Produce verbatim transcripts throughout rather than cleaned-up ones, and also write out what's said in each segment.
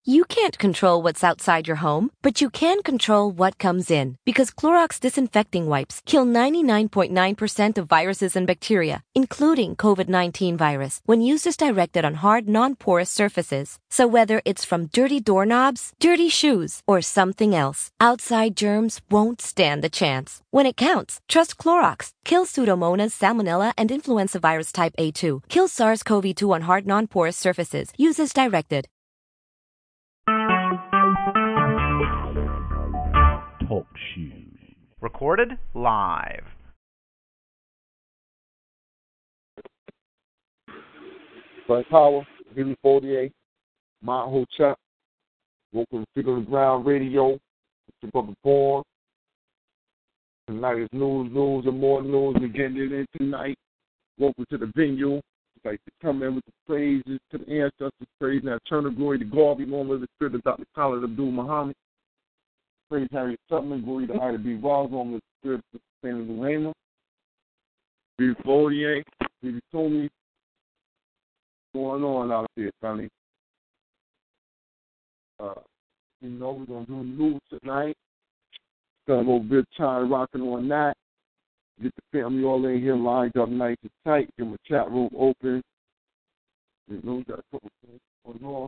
You can't control what's outside your home, but you can control what comes in. Because Clorox disinfecting wipes kill ninety-nine point nine percent of viruses and bacteria, including COVID nineteen virus, when used as directed on hard, non-porous surfaces. So whether it's from dirty doorknobs, dirty shoes, or something else, outside germs won't stand a chance. When it counts, trust Clorox. Kill Pseudomonas, Salmonella, and influenza virus type A two. Kill SARS-C o V two on hard, non-porous surfaces. Use as directed. Talk shoes. Recorded live. Black Power, Billy forty-eight, Mount Hotep, welcome to Feet on the Ground Radio. It's your brother Born. Tonight is news, news, and more news. We're getting it in tonight. Welcome to the venue. I'd like to come in with the praises to the ancestors, praise and eternal glory to God, be known as the spirit of Doctor Khalid Abdul Muhammad. Praise Harriet Tubman, glory to Ida B. Ross, on the spirit of Sustainable Rayma. B forty-eight, B told me what's going on out there, Sonny. Uh, you know, we're going to do news tonight. Got a little bit of time rocking on that. Get the family all in here lined up nice and tight. Get my chat room open. You know, we got a couple things going on.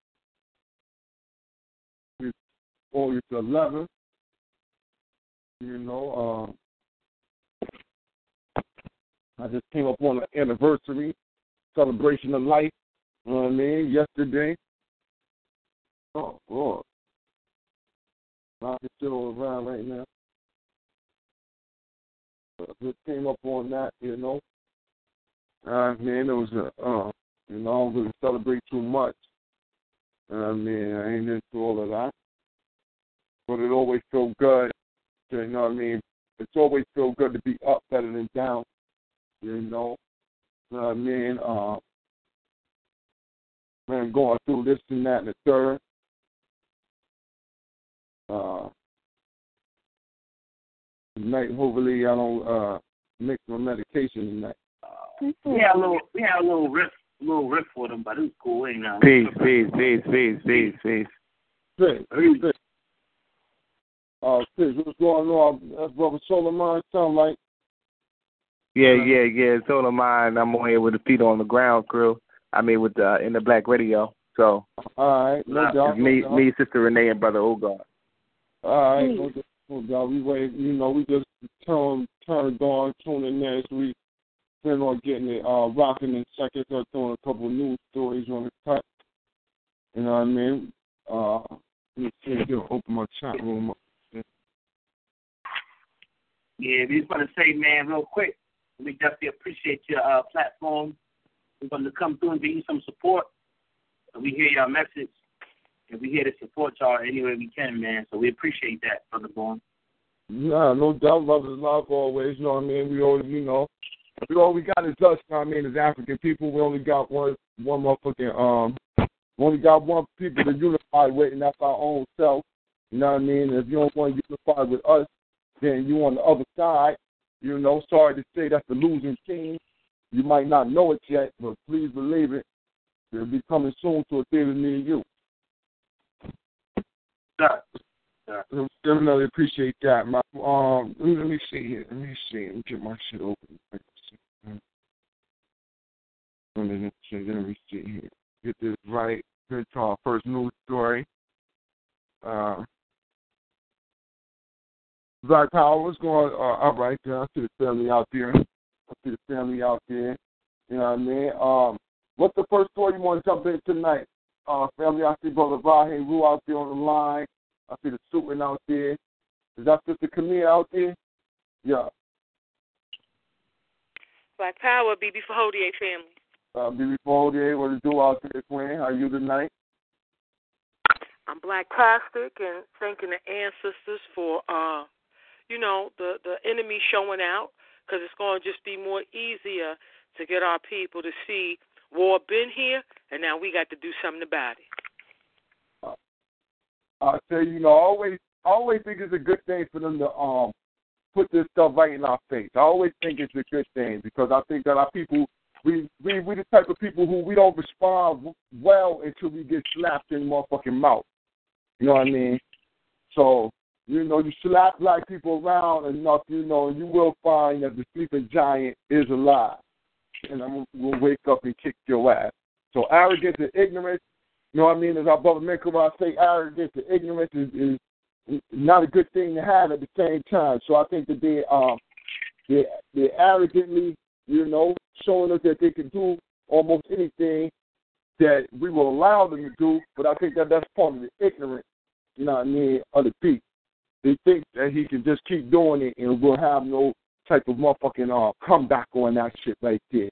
It's August eleventh. You know, um, I just came up on an anniversary celebration of life. You know what I mean? Yesterday. Oh, Lord. I can still around right now. But I just came up on that, you know. I mean, it was a, uh, you know, I don't really celebrate too much. I mean, I ain't into all of that. But it always feels good, you know what I mean? It's always feel good to be up better than down, you know. You know what I mean? Uh, man, going through this and that and the third. Uh, tonight, hopefully, I don't uh, mix my medication tonight. We had a little, we had a little riff, little riff for them, but it was cool. Ain't nothing. Peace, peace, peace, peace, peace, peace. Peace, peace. Uh, peace. What's going on? That's Brother Solomon. Sound like. Yeah, yeah, yeah. It's all of mine. I'm on here with the Feet on the Ground crew. I mean, with the in the Black Radio. So. All right, no doubt. It's me, no doubt. me, Sister Renee, and Brother Ogar. All right, no doubt. No doubt. We wait. You know, we just turn turned on, tuning in. So we plan on getting it uh, rocking in seconds. Or throwing a couple of news stories on the cut. You know what I mean? Uh, let me see if you'll open my chat room up. Yeah, we just want to say, man, real quick, we definitely appreciate your uh, platform. We're going to come through and give you some support. And we hear your message, and we here to support y'all any way we can, man. So we appreciate that, Brother Bourne. Nah, no doubt. Love is love always. You know what I mean? We always, you know, we all we got is us. You know what I mean? As African people, we only got one, one motherfucking, um, we only got one people to unify with, and that's our own self. You know what I mean? If you don't want to unify with us, then you on the other side. You know, sorry to say that's the losing team. You might not know it yet, but please believe it. It'll be coming soon to a theater near you. Sure. Sure. Definitely appreciate that. My, um, let me see here. Let me see. Let me get my shit open. Let me see, let me see here. Get this right. Here's our first news story. Uh, Black Power, what's going on? Uh, all right, I see the family out there. I see the family out there. You know what I mean? Um, what's the first story you want to jump in tonight? Uh, family, I see Brother Rahe Rue out there on the line. I see the Suitman out there. Is that Sister Camille out there? Yeah. Black Power, B B Fahodier family. Uh, B B Fahodier, what to do out there, Queen? How you tonight? I'm Black Plastic and thanking the ancestors for, uh, you know, the, the enemy showing out, because it's going to just be more easier to get our people to see war been here, and now we got to do something about it. Uh, I tell you, you know, I always, I always think it's a good thing for them to um put this stuff right in our face. I always think it's a good thing because I think that our people we we we the type of people who we don't respond well until we get slapped in the motherfucking mouth. You know what I mean? So, you know, you slap black people around enough, you know, you will find that the sleeping giant is alive. And I'm going to wake up and kick your ass. So arrogance and ignorance, you know what I mean? As our brother Minkara say, arrogance and ignorance is, is not a good thing to have at the same time. So I think that they um they they arrogantly, you know, showing us that they can do almost anything that we will allow them to do. But I think that that's part of the ignorance, you know what I mean, of the people. They think that he can just keep doing it and we'll have no type of motherfucking uh, comeback on that shit right there.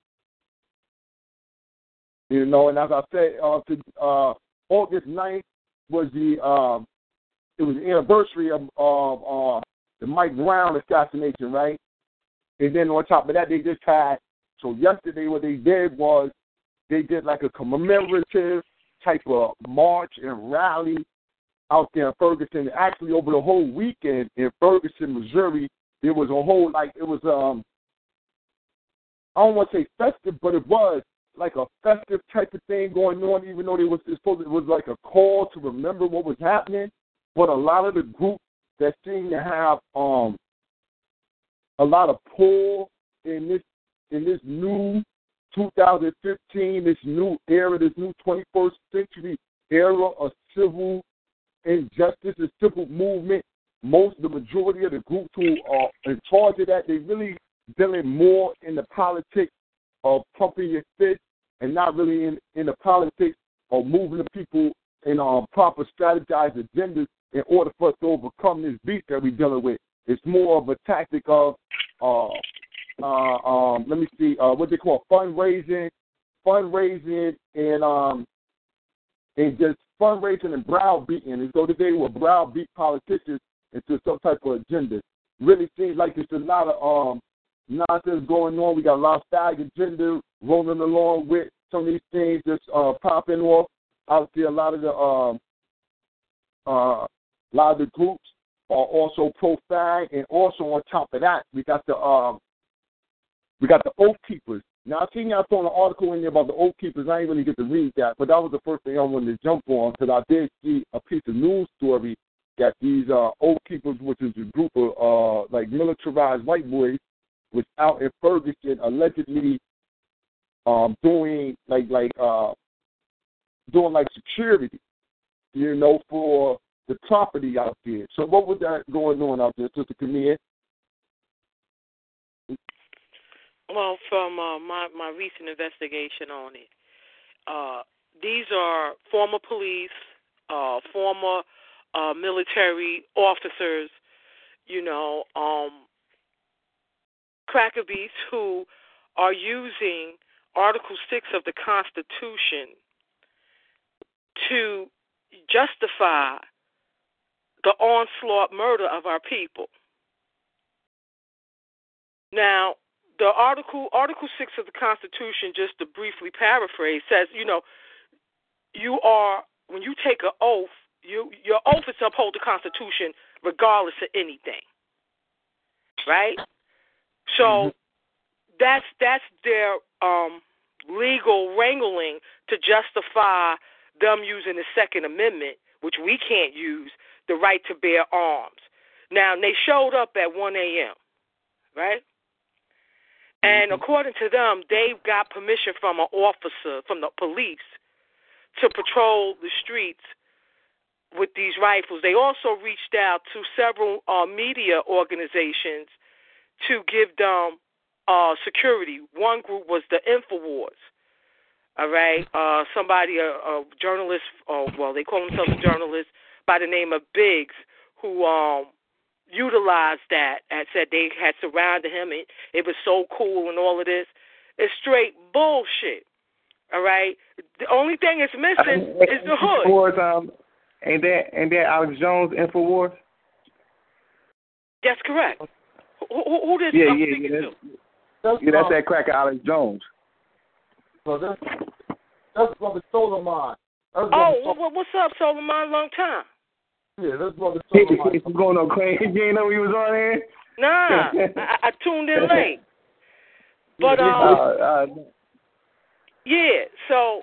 You know, and as I said, uh, to, uh, August ninth was the um, it was the anniversary of, of uh, the Mike Brown assassination, right? And then on top of that, they just had, so yesterday what they did was they did like a commemorative type of march and rally out there in Ferguson. Actually, over the whole weekend in Ferguson, Missouri, there was a whole, like, it was, um, I don't want to say festive, but it was like a festive type of thing going on, even though it was, it supposed, it was like a call to remember what was happening. But a lot of the groups that seem to have um, a lot of pull in this in this new two thousand fifteen, this new era, this new twenty-first century era of civil injustice and civil movement, most, the majority of the groups who are in charge of that, they really dealing more in the politics of pumping your fist and not really in, in the politics of moving the people in um, proper strategized agendas in order for us to overcome this beast that we're dealing with. It's more of a tactic of, uh, uh, um, let me see, uh, what they call fundraising, fundraising and um, and just fundraising and browbeating. And so today we're browbeat politicians into some type of agenda. Really seems like there's a lot of um, nonsense going on. We got a lot of fag agenda rolling along with some of these things just uh, popping off. Obviously, a lot of the um, uh, a lot of the groups are also pro-fag, and also on top of that, we got the um, we got the Oath Keepers. Now, I seen y'all throwing an article in there about the Oath Keepers. I didn't really get to read that, but that was the first thing I wanted to jump on because I did see a piece of news story that these uh, Oath Keepers, which is a group of uh, like militarized white boys, was out in Ferguson allegedly um, doing like like uh, doing like security, you know, for the property out there. So what was that going on out there, Sister Camille? Well, from uh, my, my recent investigation on it, uh, these are former police, uh, former uh, military officers, you know, um, cracker beasts who are using Article six of the Constitution to justify the onslaught murder of our people. Now, the article, Article six of the Constitution, just to briefly paraphrase, says, you know, you are, when you take an oath, you, your oath is to uphold the Constitution regardless of anything, right? So mm-hmm. that's that's their um, legal wrangling to justify them using the Second Amendment, which we can't use, the right to bear arms. Now, they showed up at one a.m., right? And according to them, they got permission from an officer, from the police, to patrol the streets with these rifles. They also reached out to several uh, media organizations to give them uh, security. One group was the InfoWars, all right? Uh, somebody, a, a journalist, uh, well, they call themselves a journalist by the name of Biggs, who um, utilized that and said they had surrounded him. It, it was so cool and all of this. It's straight bullshit, all right? The only thing it's missing uh, is the hood. InfoWars, um, ain't that, ain't that Alex Jones, InfoWars? That's correct. Who, who, who did yeah, I'm yeah, speaking yeah, to? That's, yeah, that's that cracker Alex Jones. So that's, that's Brother Solomon. That's oh, Sol- well, what's up, Solomon? Long time. Yeah, that's Brother Solomon. You going on crazy? You ain't know he was on here? Nah, I, I tuned in late. But um, uh, uh, yeah. So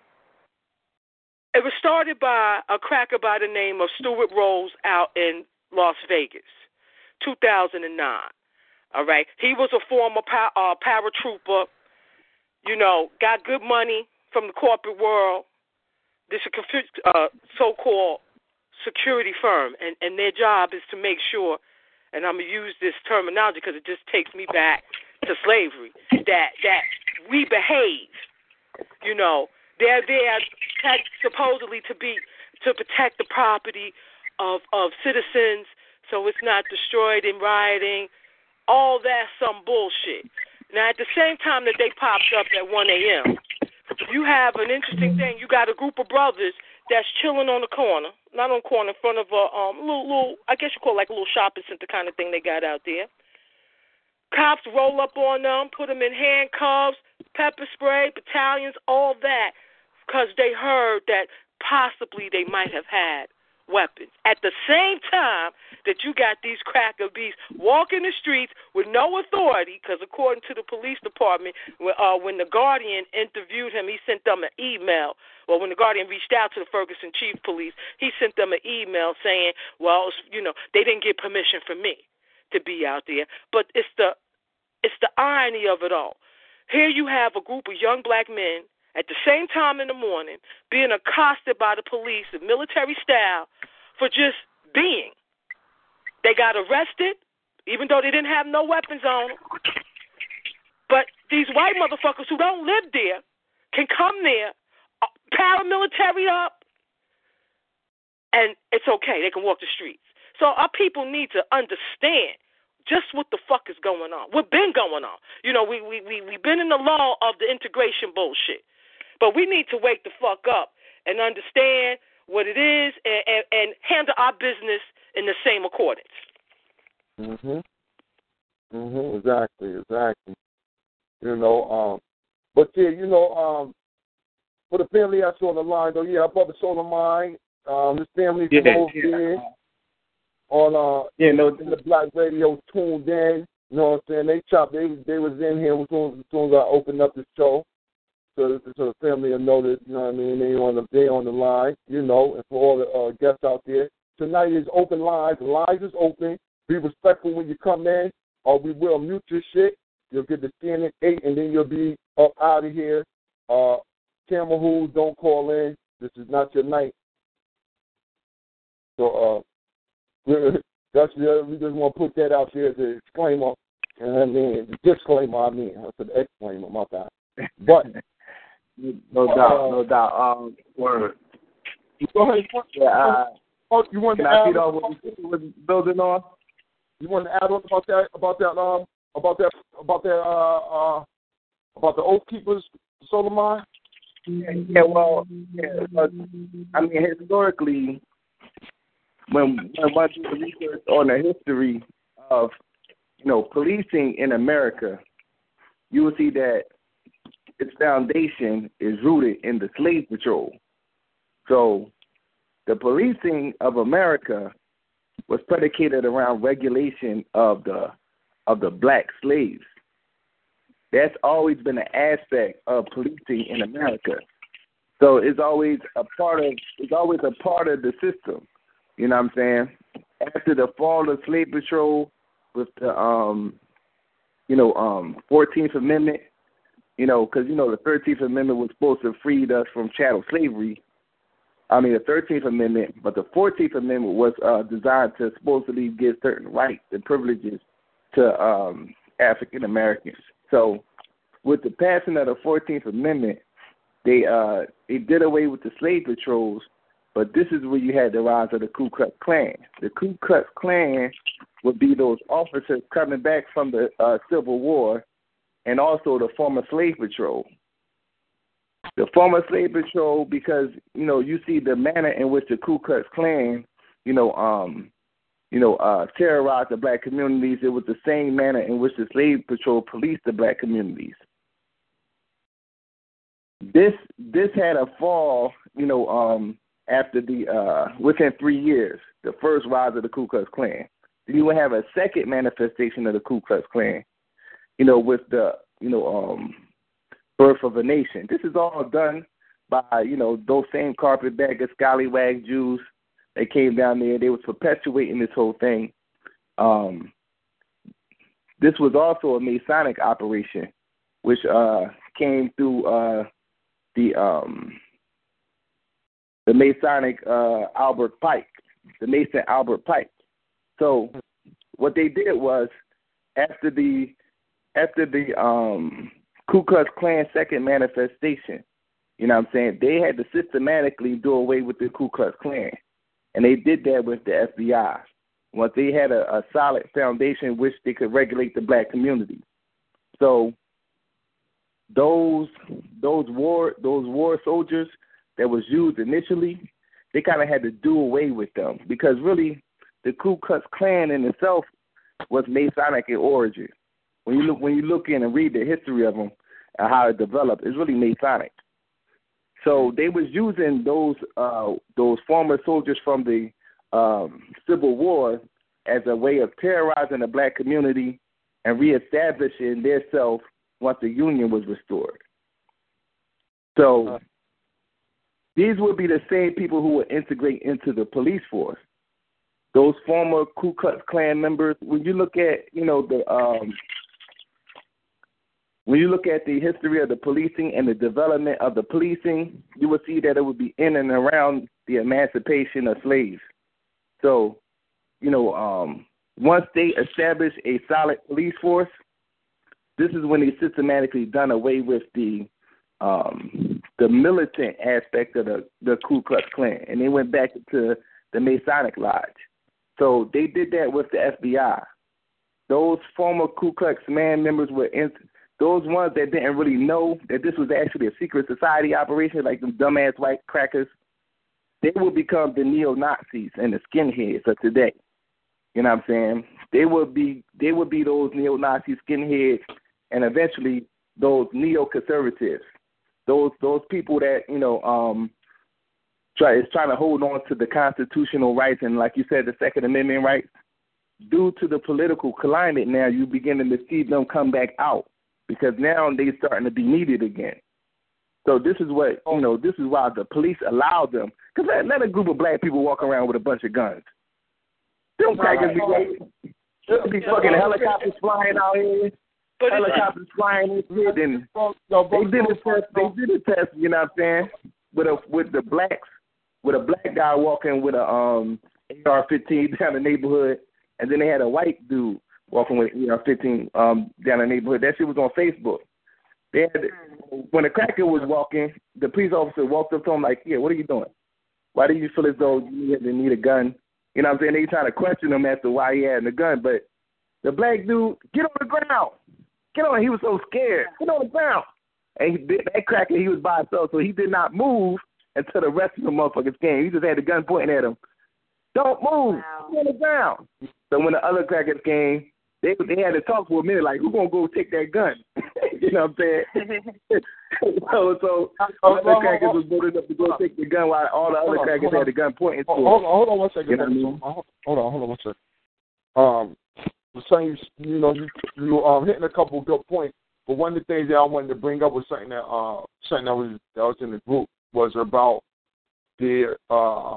it was started by a cracker by the name of Stuart Rose out in Las Vegas, two thousand nine. All right, he was a former pa- uh, paratrooper. You know, got good money from the corporate world. This is a uh, so-called security firm, and, and their job is to make sure, and I'm going to use this terminology because it just takes me back to slavery, that that we behave. You know, they're there supposedly to be to protect the property of, of citizens so it's not destroyed in rioting. All that's some bullshit. Now, at the same time that they popped up at one a.m., you have an interesting thing. You got a group of brothers that's chilling on the corner, not on the corner, in front of a um, little, little, I guess you call it like a little shopping center kind of thing they got out there. Cops roll up on them, put them in handcuffs, pepper spray, battalions, all that, because they heard that possibly they might have had weapons. At the same time that you got these cracker beasts walking the streets with no authority, because according to the police department, uh, when the Guardian interviewed him, he sent them an email. Well, when the Guardian reached out to the Ferguson Chief Police, he sent them an email saying, well, you know, they didn't get permission from me to be out there. But it's the it's the irony of it all. Here you have a group of young black men at the same time in the morning being accosted by the police in military style for just being. They got arrested, even though they didn't have no weapons on them. But these white motherfuckers who don't live there can come there, paramilitary up, and it's okay. They can walk the streets. So our people need to understand just what the fuck is going on. What's been going on. You know, we, we, we, we've been in the law of the integration bullshit. But we need to wake the fuck up and understand what it is and, and, and handle our business in the same accordance. Mhm. Mhm. Exactly. Exactly. You know. Um. But yeah, you know. Um. For the family that's on the line, though, yeah, our brother Solomon, um, his family from yeah, over yeah. there on uh, yeah, no, in the Black Radio tuned in. You know what I'm saying? They chopped. They they was in here as soon as, as soon as I opened up the show. So, so the family will know that, you know what I mean, they on the they on the line, you know, and for all the uh, guests out there. Tonight is open lines. The lines is open. Be respectful when you come in, or we will mute your shit. You'll get the stand at eight, and then you'll be up out of here. Uh, camera who don't call in. This is not your night. So uh, that's the, we just want to put that out there as a disclaimer. And I mean, the disclaimer. I mean, I said exclaimer. My bad. But. No doubt, uh, no doubt. Um, word. Go ahead. Yeah, uh, oh, you want to add add on what you was building on? You want to add on about that? About that? Um, about that? About that? Uh, uh, about the Oath Keepers, Solomon? Yeah, yeah. Well, yeah, but, I mean, historically, when when one does research on the history of, you know, policing in America, you will see that its foundation is rooted in the slave patrol. So the policing of America was predicated around regulation of the of the black slaves. That's always been an aspect of policing in America. So it's always a part of it's always a part of the system. You know what I'm saying? After the fall of slave patrol with the um you know um fourteenth Amendment. You know, because, you know, the thirteenth Amendment was supposed to free us from chattel slavery. I mean, the thirteenth Amendment, but the fourteenth Amendment was uh, designed to supposedly give certain rights and privileges to um, African Americans. So with the passing of the fourteenth Amendment, they uh, they did away with the slave patrols, but this is where you had the rise of the Ku Klux Klan. The Ku Klux Klan would be those officers coming back from the uh, Civil War, and also the former slave patrol. The former slave patrol, because, you know, you see the manner in which the Ku Klux Klan, you know, um, you know, uh, terrorized the black communities. It was the same manner in which the slave patrol policed the black communities. This this had a fall, you know, um, after the uh, within three years, the first rise of the Ku Klux Klan. Then you would have a second manifestation of the Ku Klux Klan. You know, with the you know, um, Birth of a Nation. This is all done by, you know, those same carpetbagger, scallywag Jews. They came down there. They was perpetuating this whole thing. Um, this was also a Masonic operation, which uh, came through uh, the um, the Masonic uh, Albert Pike, the Mason Albert Pike. So what they did was after the after the um, Ku Klux Klan second manifestation, you know what I'm saying, they had to systematically do away with the Ku Klux Klan. And they did that with the F B I. Once they had a, a solid foundation which they could regulate the black community. So those those war those war soldiers that was used initially, they kind of had to do away with them because really the Ku Klux Klan in itself was Masonic in origin. When you look when you look in and read the history of them and how it developed, it's really Masonic. So they was using those uh, those former soldiers from the um, Civil War as a way of terrorizing the black community and reestablishing their self once the Union was restored. So these would be the same people who would integrate into the police force. Those former Ku Klux Klan members, when you look at, you know, the um, when you look at the history of the policing and the development of the policing, you will see that it would be in and around the emancipation of slaves. So, you know, um, once they establish a solid police force, this is when they systematically done away with the um, the militant aspect of the, the Ku Klux Klan, and they went back to the Masonic Lodge. So they did that with the F B I. Those former Ku Klux Klan members were in. Those ones that didn't really know that this was actually a secret society operation, like them dumbass white crackers, they will become the neo-Nazis and the skinheads of today. You know what I'm saying? They will be they will be those neo-Nazi skinheads and eventually those neo-conservatives, those those people that, you know, um, try is trying to hold on to the constitutional rights and, like you said, the Second Amendment rights. Due to the political climate now, you're beginning to see them come back out. Because now they're starting to be needed again. So this is what, you know, this is why the police allow them. Because let, let a group of black people walk around with a bunch of guns. Them crackers be, there'll be fucking helicopters flying out here, helicopters flying in shit, and they did a test, they did a test, you know what I'm saying, with a, with the blacks, with a black guy walking with a um A R fifteen down the neighborhood, and then they had a white dude walking with A R fifteen um, down the neighborhood. That shit was on Facebook. They had, when the cracker was walking, the police officer walked up to him like, yeah, what are you doing? Why do you feel as though you need a gun? You know what I'm saying? They trying to question him as to why he had the gun. But the black dude, get on the ground. Get on. He was so scared. Get on the ground. And he, that cracker, he was by himself, so he did not move until the rest of the motherfuckers came. He just had the gun pointing at him. Don't move. Wow. Get on the ground. So when the other crackers came, They they had to talk for a minute, like, who's going to go take that gun? You know what I'm saying? so so all the crackers was voted up to go take the gun while all the other hold crackers on, had the gun pointing to them. Hold on, hold on one second. You know what I mean? Hold on, hold on one second. Um, the same, you know, you, you um hitting a couple of good points, but one of the things that I wanted to bring up was something that uh something that was that was in the group was about the uh,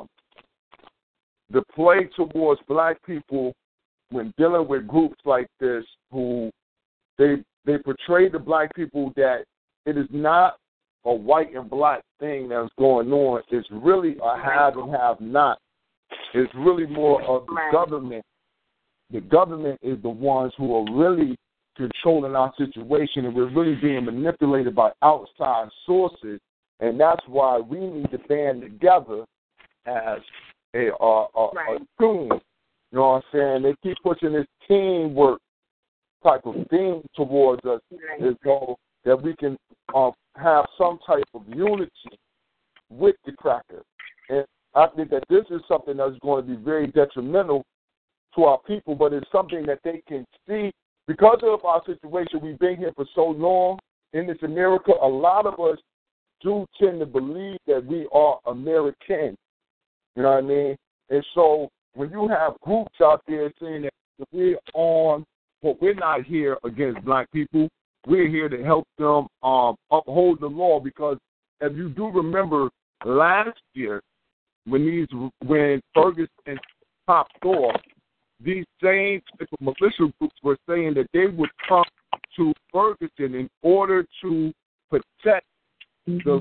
the play towards black people when dealing with groups like this, who they they portray the black people that it is not a white and black thing that's going on. It's really a have and have not. It's really more of the government. The government is the ones who are really controlling our situation, and we're really being manipulated by outside sources. And that's why we need to band together as a, a, a, right. a team. You know what I'm saying? They keep pushing this teamwork type of thing towards us, as though that we can uh, have some type of unity with the crackers. And I think that this is something that's going to be very detrimental to our people, but it's something that they can see. Because of our situation, we've been here for so long in this America, a lot of us do tend to believe that we are American. You know what I mean? And so when you have groups out there saying that we're on, well, we're not here against black people, we're here to help them um, uphold the law. Because if you do remember last year, when these when Ferguson popped off, these same militia groups were saying that they would come to Ferguson in order to protect the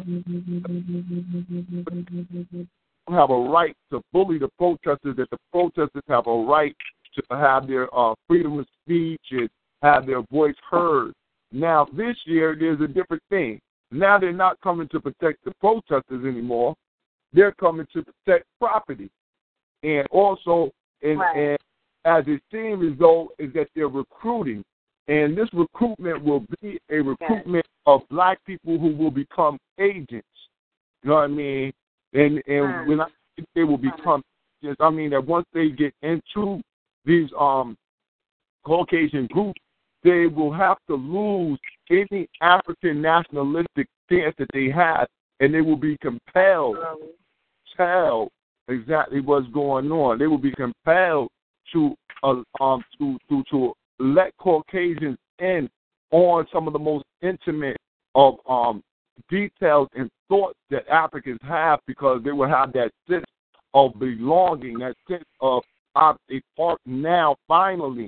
have a right to bully the protesters, that the protesters have a right to have their uh, freedom of speech and have their voice heard. Now, this year, there's a different thing. Now they're not coming to protect the protesters anymore. They're coming to protect property. And also, and, right. and as a seen result, is that they're recruiting. And this recruitment will be a recruitment of black people who will become agents. You know what I mean? And and right. when I think they will become agents, I mean that once they get into these um Caucasian groups, they will have to lose any African nationalistic stance that they have, and they will be compelled to tell exactly what's going on. They will be compelled to uh, um to to to let Caucasians in on some of the most intimate of um details and thoughts that Africans have, because they will have that sense of belonging, that sense of I'm a part now, finally,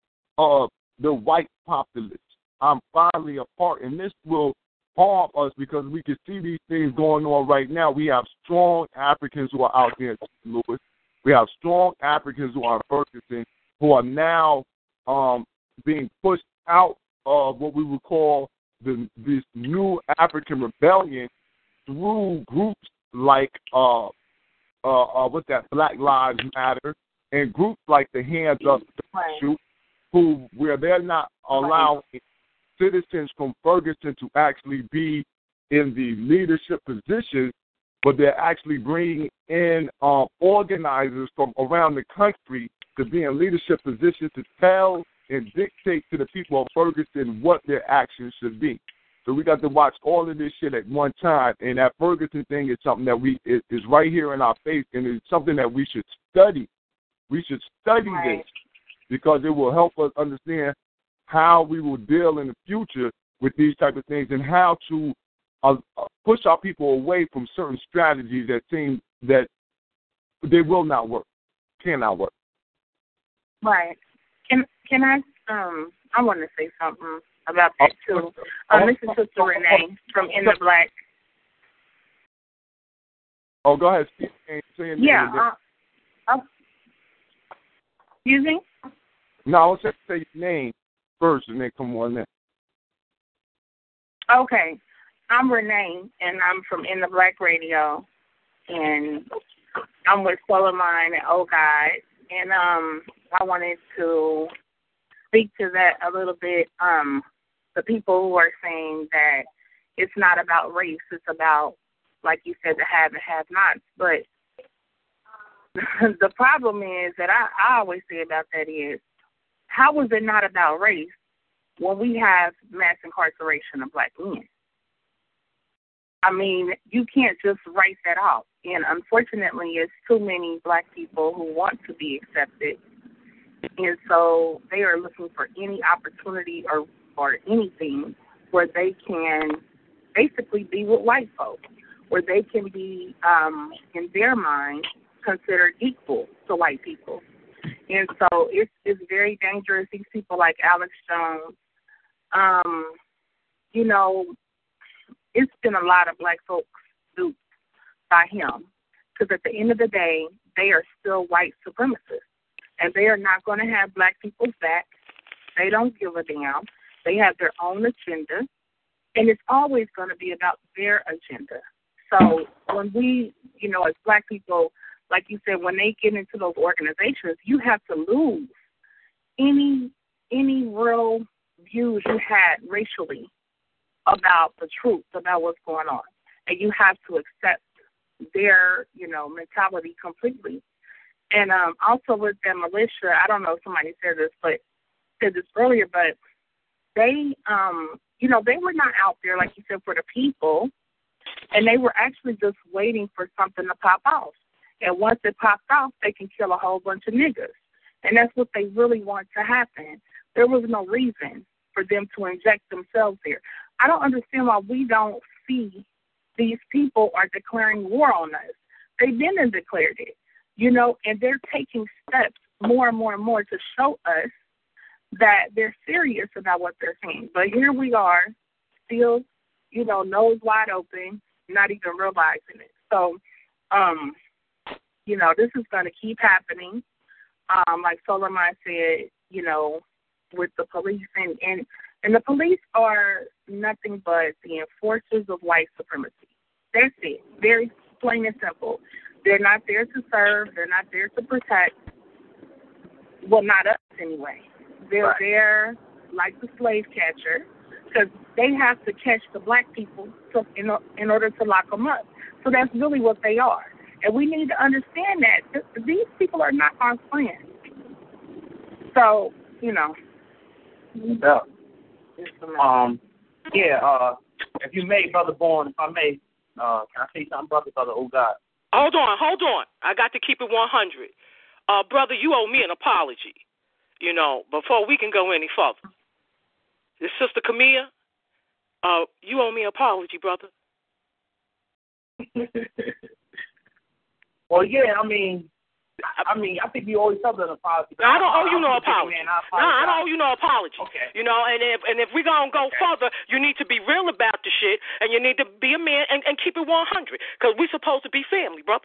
of the white populace. I'm finally a part, and this will harm us because we can see these things going on right now. We have strong Africans who are out there in Saint Louis. We have strong Africans who are in Ferguson who are now um, being pushed out of what we would call the, this new African rebellion through groups like uh, uh, uh, what's that, Black Lives Matter, and groups like the Hands Up right. who where they're not allowing right. citizens from Ferguson to actually be in the leadership positions, but they're actually bringing in um, organizers from around the country to be in leadership positions to tell and dictate to the people of Ferguson what their actions should be. So we got to watch all of this shit at one time, and that Ferguson thing is something that we is, is right here in our face, and it's something that we should study. We should study right. this because it will help us understand how we will deal in the future with these type of things and how to uh, push our people away from certain strategies that seem that they will not work, cannot work. Right. Can can I um I want to say something about that too. Um, this is Sister Renee from In the Black. Oh, go ahead. Say yeah. Uh, uh, excuse me? No, I was just say your name first and then come on in. Okay. I'm Renee, and I'm from In the Black Radio, and I'm with Solomon and Oh God, and um, I wanted to speak to that a little bit. Um, the people who are saying that it's not about race, it's about, like you said, the have and have-nots. But the problem is that I, I always say about that is, how is it not about race when we have mass incarceration of black men? I mean, you can't just write that off. And unfortunately, it's too many black people who want to be accepted. And so they are looking for any opportunity or, or anything where they can basically be with white folks, where they can be, um, in their mind, considered equal to white people. And so it's, it's very dangerous. These people like Alex Jones, um, you know, it's been a lot of black folks duped by him, because at the end of the day, they are still white supremacists, and they are not going to have black people's back. They don't give a damn. They have their own agenda, and it's always going to be about their agenda. So when we, you know, as black people, like you said, when they get into those organizations, you have to lose any any real views you had racially about the truth, about what's going on. And you have to accept their, you know, mentality completely. And um, also with the militia, I don't know if somebody said this, but said this earlier, but they, um, you know, they were not out there, like you said, for the people, and they were actually just waiting for something to pop off. And once it pops off, they can kill a whole bunch of niggas. And that's what they really want to happen. There was no reason for them to inject themselves here. I don't understand why we don't see these people are declaring war on us. They've been and declared it, you know, and they're taking steps more and more and more to show us that they're serious about what they're saying. But here we are, still, you know, nose wide open, not even realizing it. So, um, you know, this is going to keep happening. Um, like Solomon said, you know, with the police. And, and, and the police are nothing but the enforcers of white supremacy. That's it. Very plain and simple. They're not there to serve. They're not there to protect. Well, not us anyway. They're right. there like the slave catcher because they have to catch the black people to, in, in order to lock them up. So that's really what they are. And we need to understand that these people are not our friends. So, you know. Yeah. Um, yeah, uh, if you may, Brother Bourne, if I may, uh, can I say something, Brother, Brother, oh God? Hold on, hold on. I got to keep it one hundred. Uh, brother, you owe me an apology, you know, before we can go any further. This Sister Camilla, uh, you owe me an apology, brother. Well, yeah, I mean, I mean, I think you always have an apology. No, I don't owe you no apology. Man, I no, I don't owe you no apology. Okay. You know, and if and if we're gonna go okay. further, you need to be real about the shit, and you need to be a man and, and keep it one hundred, because we're supposed to be family, brother.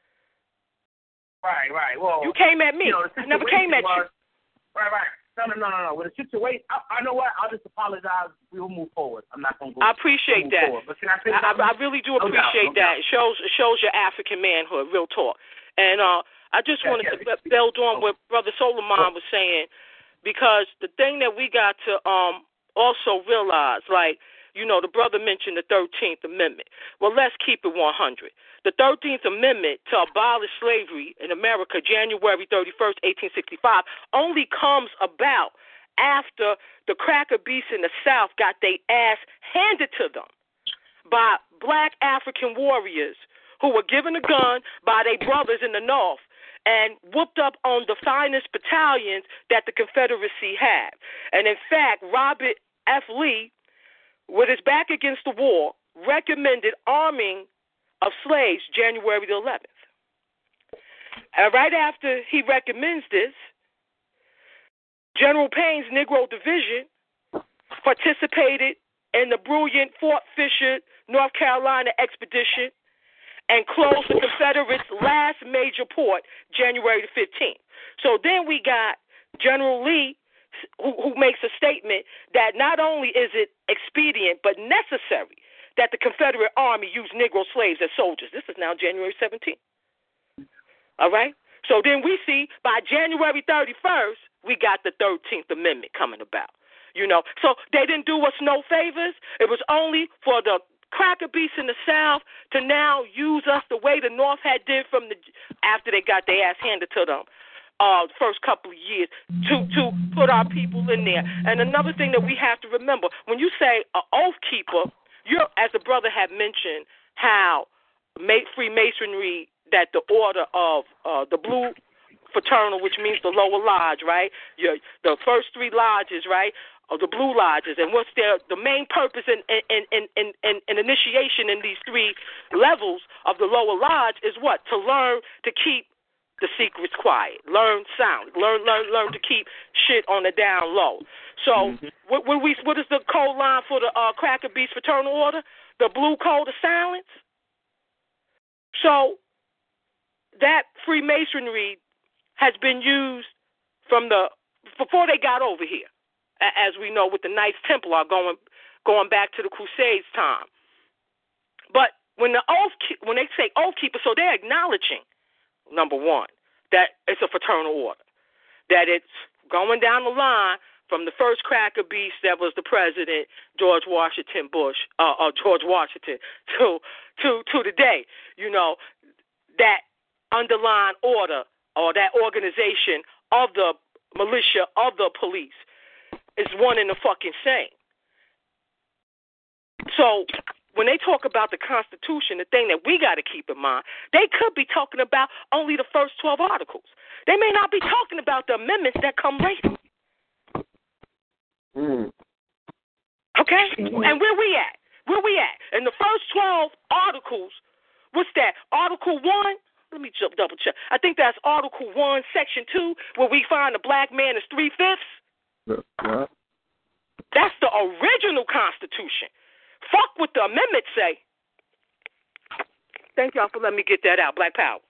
Right, right. Well, you came at me. You know, I never came at was, you. Right, right. No, no, no, no, no. With the situation, I, I know what. I'll just apologize. We will move forward. I'm not gonna go. I appreciate that. Forward. But can I say I, I really do appreciate no doubt, no that. doubt. It shows it shows your African manhood. Real talk. And uh, I just yeah, wanted yeah, to build on what Brother Solomon was saying, because the thing that we got to um also realize, like, you know, the brother mentioned the thirteenth Amendment. Well, let's keep it one hundred. The thirteenth Amendment to abolish slavery in America, January thirty-first, eighteen sixty-five, only comes about after the cracker beasts in the South got their ass handed to them by black African warriors who were given a gun by their brothers in the North and whooped up on the finest battalions that the Confederacy had. And in fact, Robert F. Lee, with his back against the wall, recommended arming of slaves January the eleventh. And right after he recommends this, General Payne's Negro Division participated in the brilliant Fort Fisher, North Carolina expedition and closed the Confederates' last major port January the fifteenth. So then we got General Lee, who, who makes a statement that not only is it expedient but necessary that the Confederate Army use Negro slaves as soldiers. This is now January seventeenth. All right? So then we see by January thirty-first, we got the thirteenth Amendment coming about. You know, so they didn't do us no favors. It was only for the cracker beasts in the South to now use us the way the North had did from the after they got their ass handed to them uh first couple of years to to put our people in there. And another thing that we have to remember, when you say an oath keeper, you're, as the brother had mentioned, how Freemasonry, that the order of uh the blue fraternal, which means the lower lodge, right? Your, the first three lodges, right? Or the blue lodges, and what's their the main purpose in in, in, in, in in initiation in these three levels of the lower lodge is what? To learn to keep the secrets quiet, learn sound, learn learn learn to keep shit on the down low. So mm-hmm. what, what we what is the code line for the uh, Cracker Beast Fraternal Order? The blue code of silence. So that Freemasonry has been used from the before they got over here. As we know, with the Knights Templar going going back to the Crusades time. But when the oath, when they say oath keeper, so they're acknowledging, number one, that it's a fraternal order, that it's going down the line from the first cracker beast that was the president, George Washington Bush, uh, uh, George Washington, to to to today. You know, that underlying order or that organization of the militia of the police is one and the fucking same. So when they talk about the Constitution, the thing that we got to keep in mind, they could be talking about only the first twelve articles. They may not be talking about the amendments that come later. Mm. Okay? Mm-hmm. And where we at? Where we at? In the first twelve articles, what's that? Article one? Let me jump, double check. I think that's Article one, Section two, where we find the black man is three-fifths. Yeah. That's the original Constitution. Fuck what the amendments say. Thank y'all for letting me get that out. Black Power.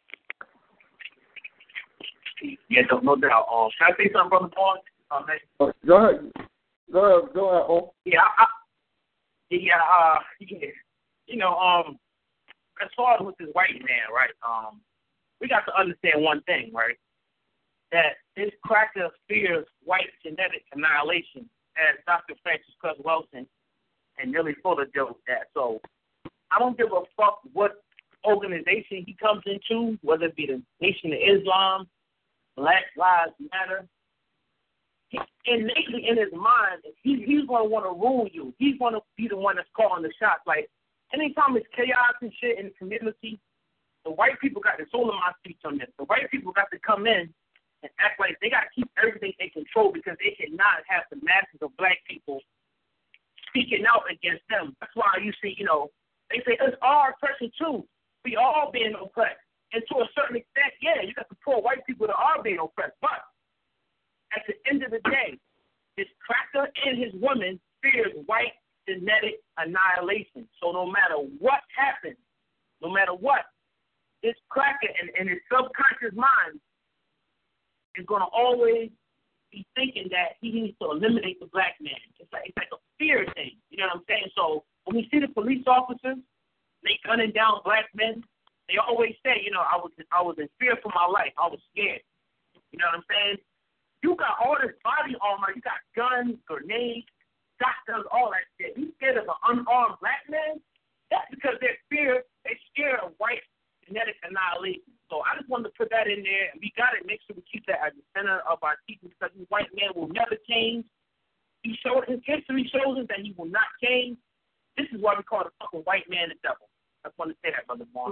Yeah, no, no doubt. Um, can I say something, Brother Paul? Um, go ahead. Go ahead. Go ahead. Oh. Yeah, I, yeah, uh, yeah. You know, um, as far as with this white man, right? Um, we got to understand one thing, right? That this cracker fears white genetic annihilation, as Doctor Francis Cress Welsing and Neely Fuller dealt with that. So I don't give a fuck what organization he comes into, whether it be the Nation of Islam, Black Lives Matter. He, innately in his mind, he, he's going to want to rule you. He's going to be the one that's calling the shots. Like, anytime it's chaos and shit in the community, the white people got the soul of my speech on this. The white people got to come in and act like they got to keep everything in control because they cannot have the masses of black people speaking out against them. That's why you see, you know, they say it's our oppression too. We all being oppressed. And to a certain extent, yeah, you got the poor white people that are being oppressed. But at the end of the day, this cracker and his woman fears white genetic annihilation. So no matter what happens, no matter what, this cracker in, in his subconscious mind is going to always be thinking that he needs to eliminate the black man. It's like, it's like a fear thing. You know what I'm saying? So when we see the police officers, they gunning down black men, they always say, you know, I was I was in fear for my life. I was scared. You know what I'm saying? You got all this body armor. You got guns, grenades, shotguns, all that shit. You scared of an unarmed black man? That's because they're fear. They're scared of white genetic annihilation. So I just wanted to put that in there, and we got to make sure we keep that at the center of our teaching because this white man will never change. He showed his history shows us that he will not change. This is why we call the fucking white man the devil. I just want to say that, Brother Vaughn.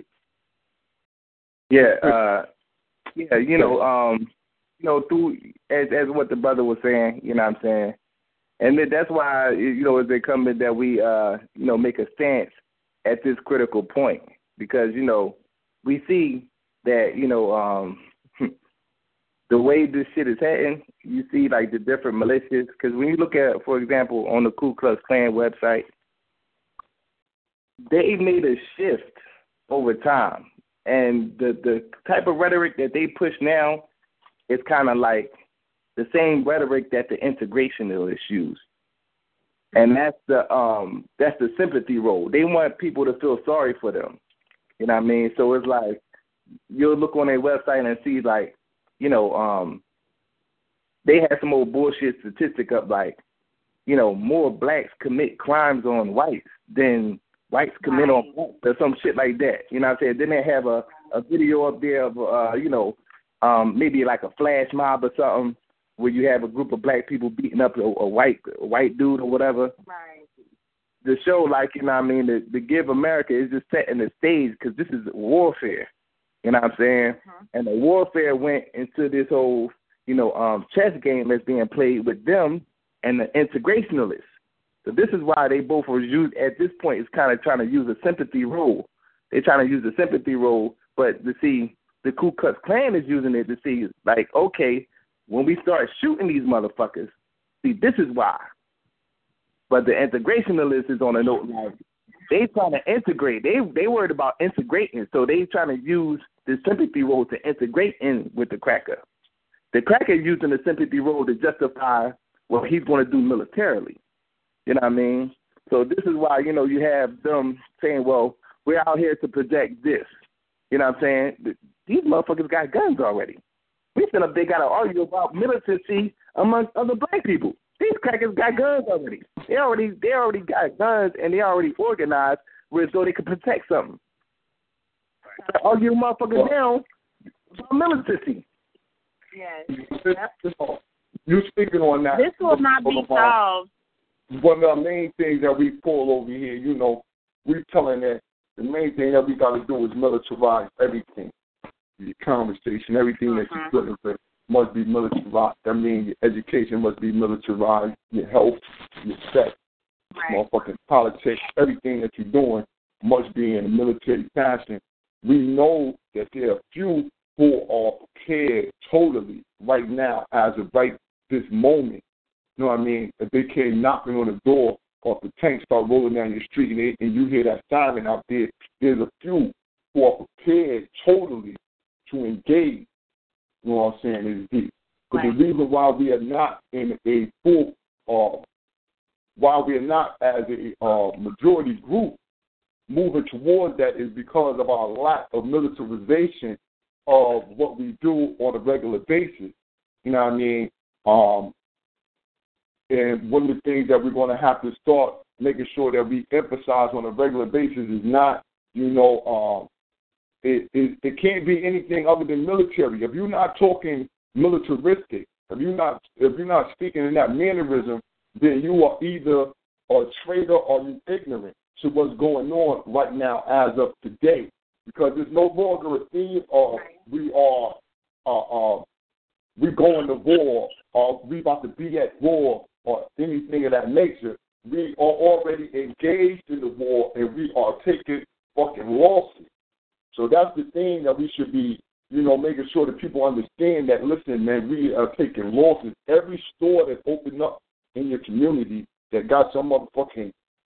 Yeah, uh, yeah, you know, um, you know, through as as what the brother was saying, you know what I'm saying, and that's why, you know, as they come in that we, uh, you know, make a stance at this critical point because, you know, we see that, you know, um, the way this shit is heading, you see like the different militias, because when you look at, for example, on the Ku Klux Klan website, they made a shift over time. And the, the type of rhetoric that they push now is kind of like the same rhetoric that the integrationists use. And that's the um that's the sympathy role. They want people to feel sorry for them. You know what I mean? So it's like you'll look on their website and see like, you know, um they have some old bullshit statistic up like, you know, more blacks commit crimes on whites than whites commit right. on blacks or some shit like that. You know what I'm saying? Then they have a, a video up there of, uh, you know, um, maybe like a flash mob or something where you have a group of black people beating up a, a white a white dude or whatever. Right. The show, like, you know what I mean, to, to give America is just setting the stage because this is warfare. You know what I'm saying? Mm-hmm. And the warfare went into this whole, you know, um, chess game that's being played with them and the integrationalists. So this is why they both were used at this point is kind of trying to use a sympathy role. They're trying to use a sympathy role, but to see the Ku Klux Klan is using it to see, like, okay, when we start shooting these motherfuckers, see, this is why. But the integrationalist is on a note like they trying to integrate. They they worried about integrating, so they trying to use the sympathy role to integrate in with the cracker. The cracker is using the sympathy role to justify what he's going to do militarily. You know what I mean? So this is why, you know, you have them saying, well, we're out here to protect this. You know what I'm saying? These motherfuckers got guns already. We still up they got to argue about militancy amongst other black people. These crackers got guns already. They already they already got guns and they already organized where so they can protect something. Right. Argue motherfuckers down about militancy. Yes. You speaking on that. This will not be solved. One of the main things that we pull over here, you know, we're telling that the main thing that we got to do is militarize everything. Your conversation, everything that you're putting in must be militarized. That means your education must be militarized, your health, your sex, right. motherfucking politics, everything that you're doing must be in a military fashion. We know that there are few who are prepared totally right now as of right this moment. You know what I mean? If they came knocking on the door or if the tanks start rolling down your street and, they, and you hear that siren out there, there's a few who are prepared totally to engage. You know what I'm saying? Is deep. But right. the reason why we are not in a full, uh, why we are not as a uh, majority group moving towards that is because of our lack of militarization of what we do on a regular basis. You know what I mean? Um, and one of the things that we're going to have to start making sure that we emphasize on a regular basis is not, you know, um, it, it, it can't be anything other than military. If you're not talking militaristic, if you're not if you're not speaking in that mannerism, then you are either a traitor or you ignorant to what's going on right now as of today. Because there's no longer a theme of we are uh, uh, we going to war or we about to be at war or anything of that nature. We are already engaged in the war and we are taking fucking losses. So that's the thing that we should be, you know, making sure that people understand that, listen, man, we are taking losses. Every store that opened up in your community that got some motherfucking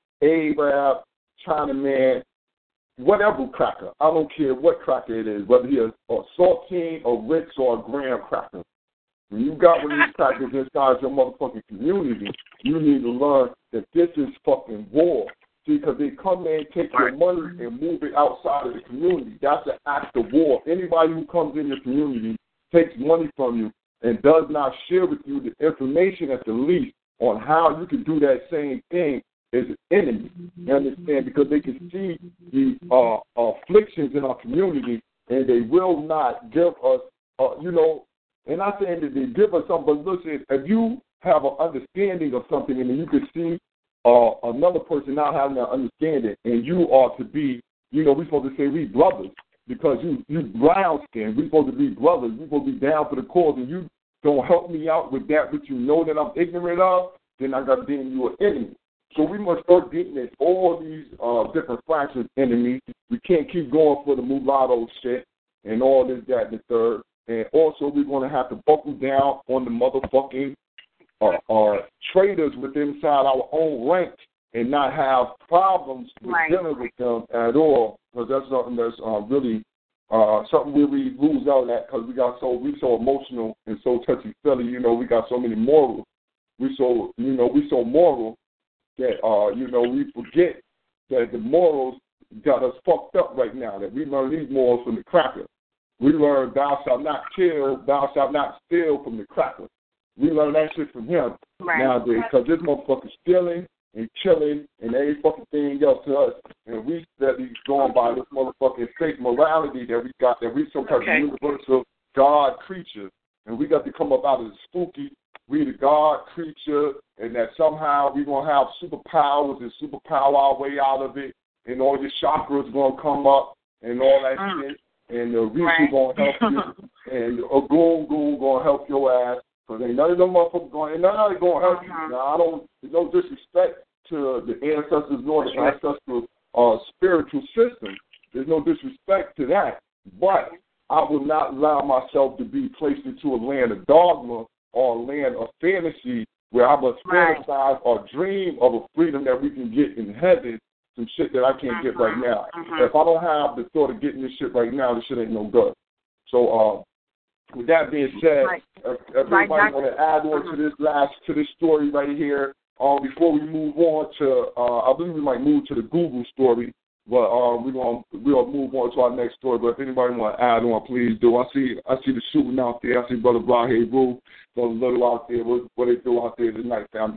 Arab, Chinaman, whatever cracker. I don't care what cracker it is, whether it's a saltine, a Ritz, or a graham cracker. When you got one of these crackers inside your motherfucking community, you need to learn that this is fucking war. See, because they come in, take your money, and move it outside of the community. That's an act of war. Anybody who comes in your community, takes money from you, and does not share with you the information at the least on how you can do that same thing is an enemy. You understand? Because they can see the uh, afflictions in our community, and they will not give us, uh, you know, and not saying that they give us something, but listen, if you have an understanding of something and you can see uh, another person not having an understanding, and you are to be, you know, we're supposed to say we brothers because you you brown skin. We're supposed to be brothers. We're supposed to be down for the cause, and you don't help me out with that which you know that I'm ignorant of, then I got to deem you an enemy. So we must start getting at all these uh, different fractions enemies. We can't keep going for the mulatto shit and all this, that, and the third. And also we're going to have to buckle down on the motherfucking uh, uh, traders within inside our own ranks and not have problems with right. dealing with them at all, because that's something that's uh, really uh, something where we lose out at because we got so we so emotional and so touchy-feely. You know, we got so many morals. We so you know we so moral that uh, you know we forget that the morals got us fucked up right now. That we learn these morals from the cracker. We learn thou shalt not kill, thou shalt not steal from the cracker. We learn that shit from him right. nowadays because this motherfucker stealing and killing and every fucking thing else to us. And we steady going by this motherfucking fake morality that we got, that we some type okay. of universal God creature. And we got to come up out of the spooky, we the God creature, and that somehow we're going to have superpowers and superpower our way out of it, and all your chakras going to come up and all that mm. shit. And the Rishi right. going to help you, and a goon goon going to help your ass. Because ain't none of them motherfuckers going, ain't none of them going to help uh-huh. you. Now, I don't, there's no disrespect to the ancestors nor the ancestral uh, spiritual system. There's no disrespect to that. But I will not allow myself to be placed into a land of dogma or a land of fantasy where I must right. fantasize or dream of a freedom that we can get in heaven. Some shit that I can't uh-huh, get right now. Uh-huh. If I don't have the thought of getting this shit right now, this shit ain't no good. So, uh, with that being said, right. if, if everybody right. want to add on uh-huh. to this last to this story right here, um, before we move on to, uh, I believe we might move to the Google story, but um, we're gonna we'll move on to our next story. But if anybody want to add on, please do. I see I see the shooting out there. I see Brother Brahe Rue, Brother Little out there. What, what they do out there tonight, family?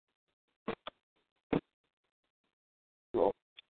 So.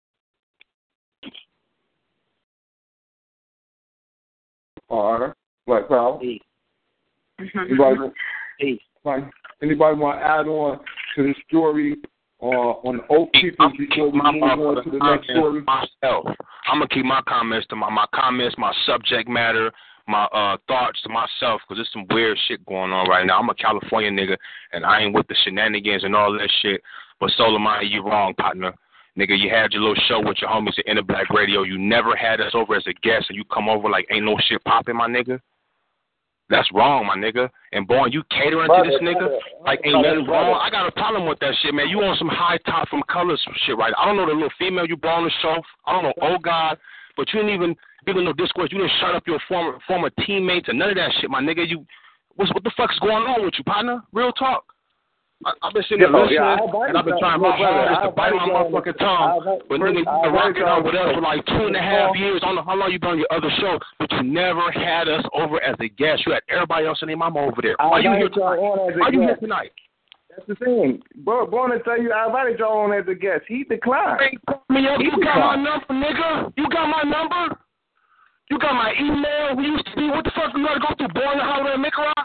All right. Black Power. Hey. Anybody, hey. anybody want to add on to this story uh, on the Oath Keepers before we move on to the next story? Myself. I'm going to keep my comments to my, my comments, my subject matter, my uh, thoughts to myself, because there's some weird shit going on right now. I'm a California nigga, and I ain't with the shenanigans and all that shit. But Solomon, you wrong, partner. Nigga, you had your little show with your homies at Inner Black Radio. You never had us over as a guest, and you come over like ain't no shit popping, my nigga. That's wrong, my nigga. And boy, you catering brother, to this nigga brother, like ain't brother, nothing wrong. I got a problem with that shit, man. You on some high top from colors shit, right? I don't know the little female you brought on the show. I don't know, oh God, but you didn't even give no discourse. You didn't shut up your former former teammates and none of that shit, my nigga. You, what's, what the fuck's going on with you, partner? Real talk. I, I've been sitting there listening, yeah, and I've been trying my hardest to bite my motherfucking tongue. But nigga, you've been rocking out with us for like two and a half years. I don't know how long you've been on your other show, but you never had us over as a guest. You had everybody else and their mama over there. Why are you here tonight? Why are you here tonight? That's the thing. Bro, born to tell you, I invited y'all on as a guest. He declined. Hey, me up. You got my number, nigga. You got my number. You got my email. We used to be. What the fuck? You gotta go through Boy in the Holiday in Nicaragua?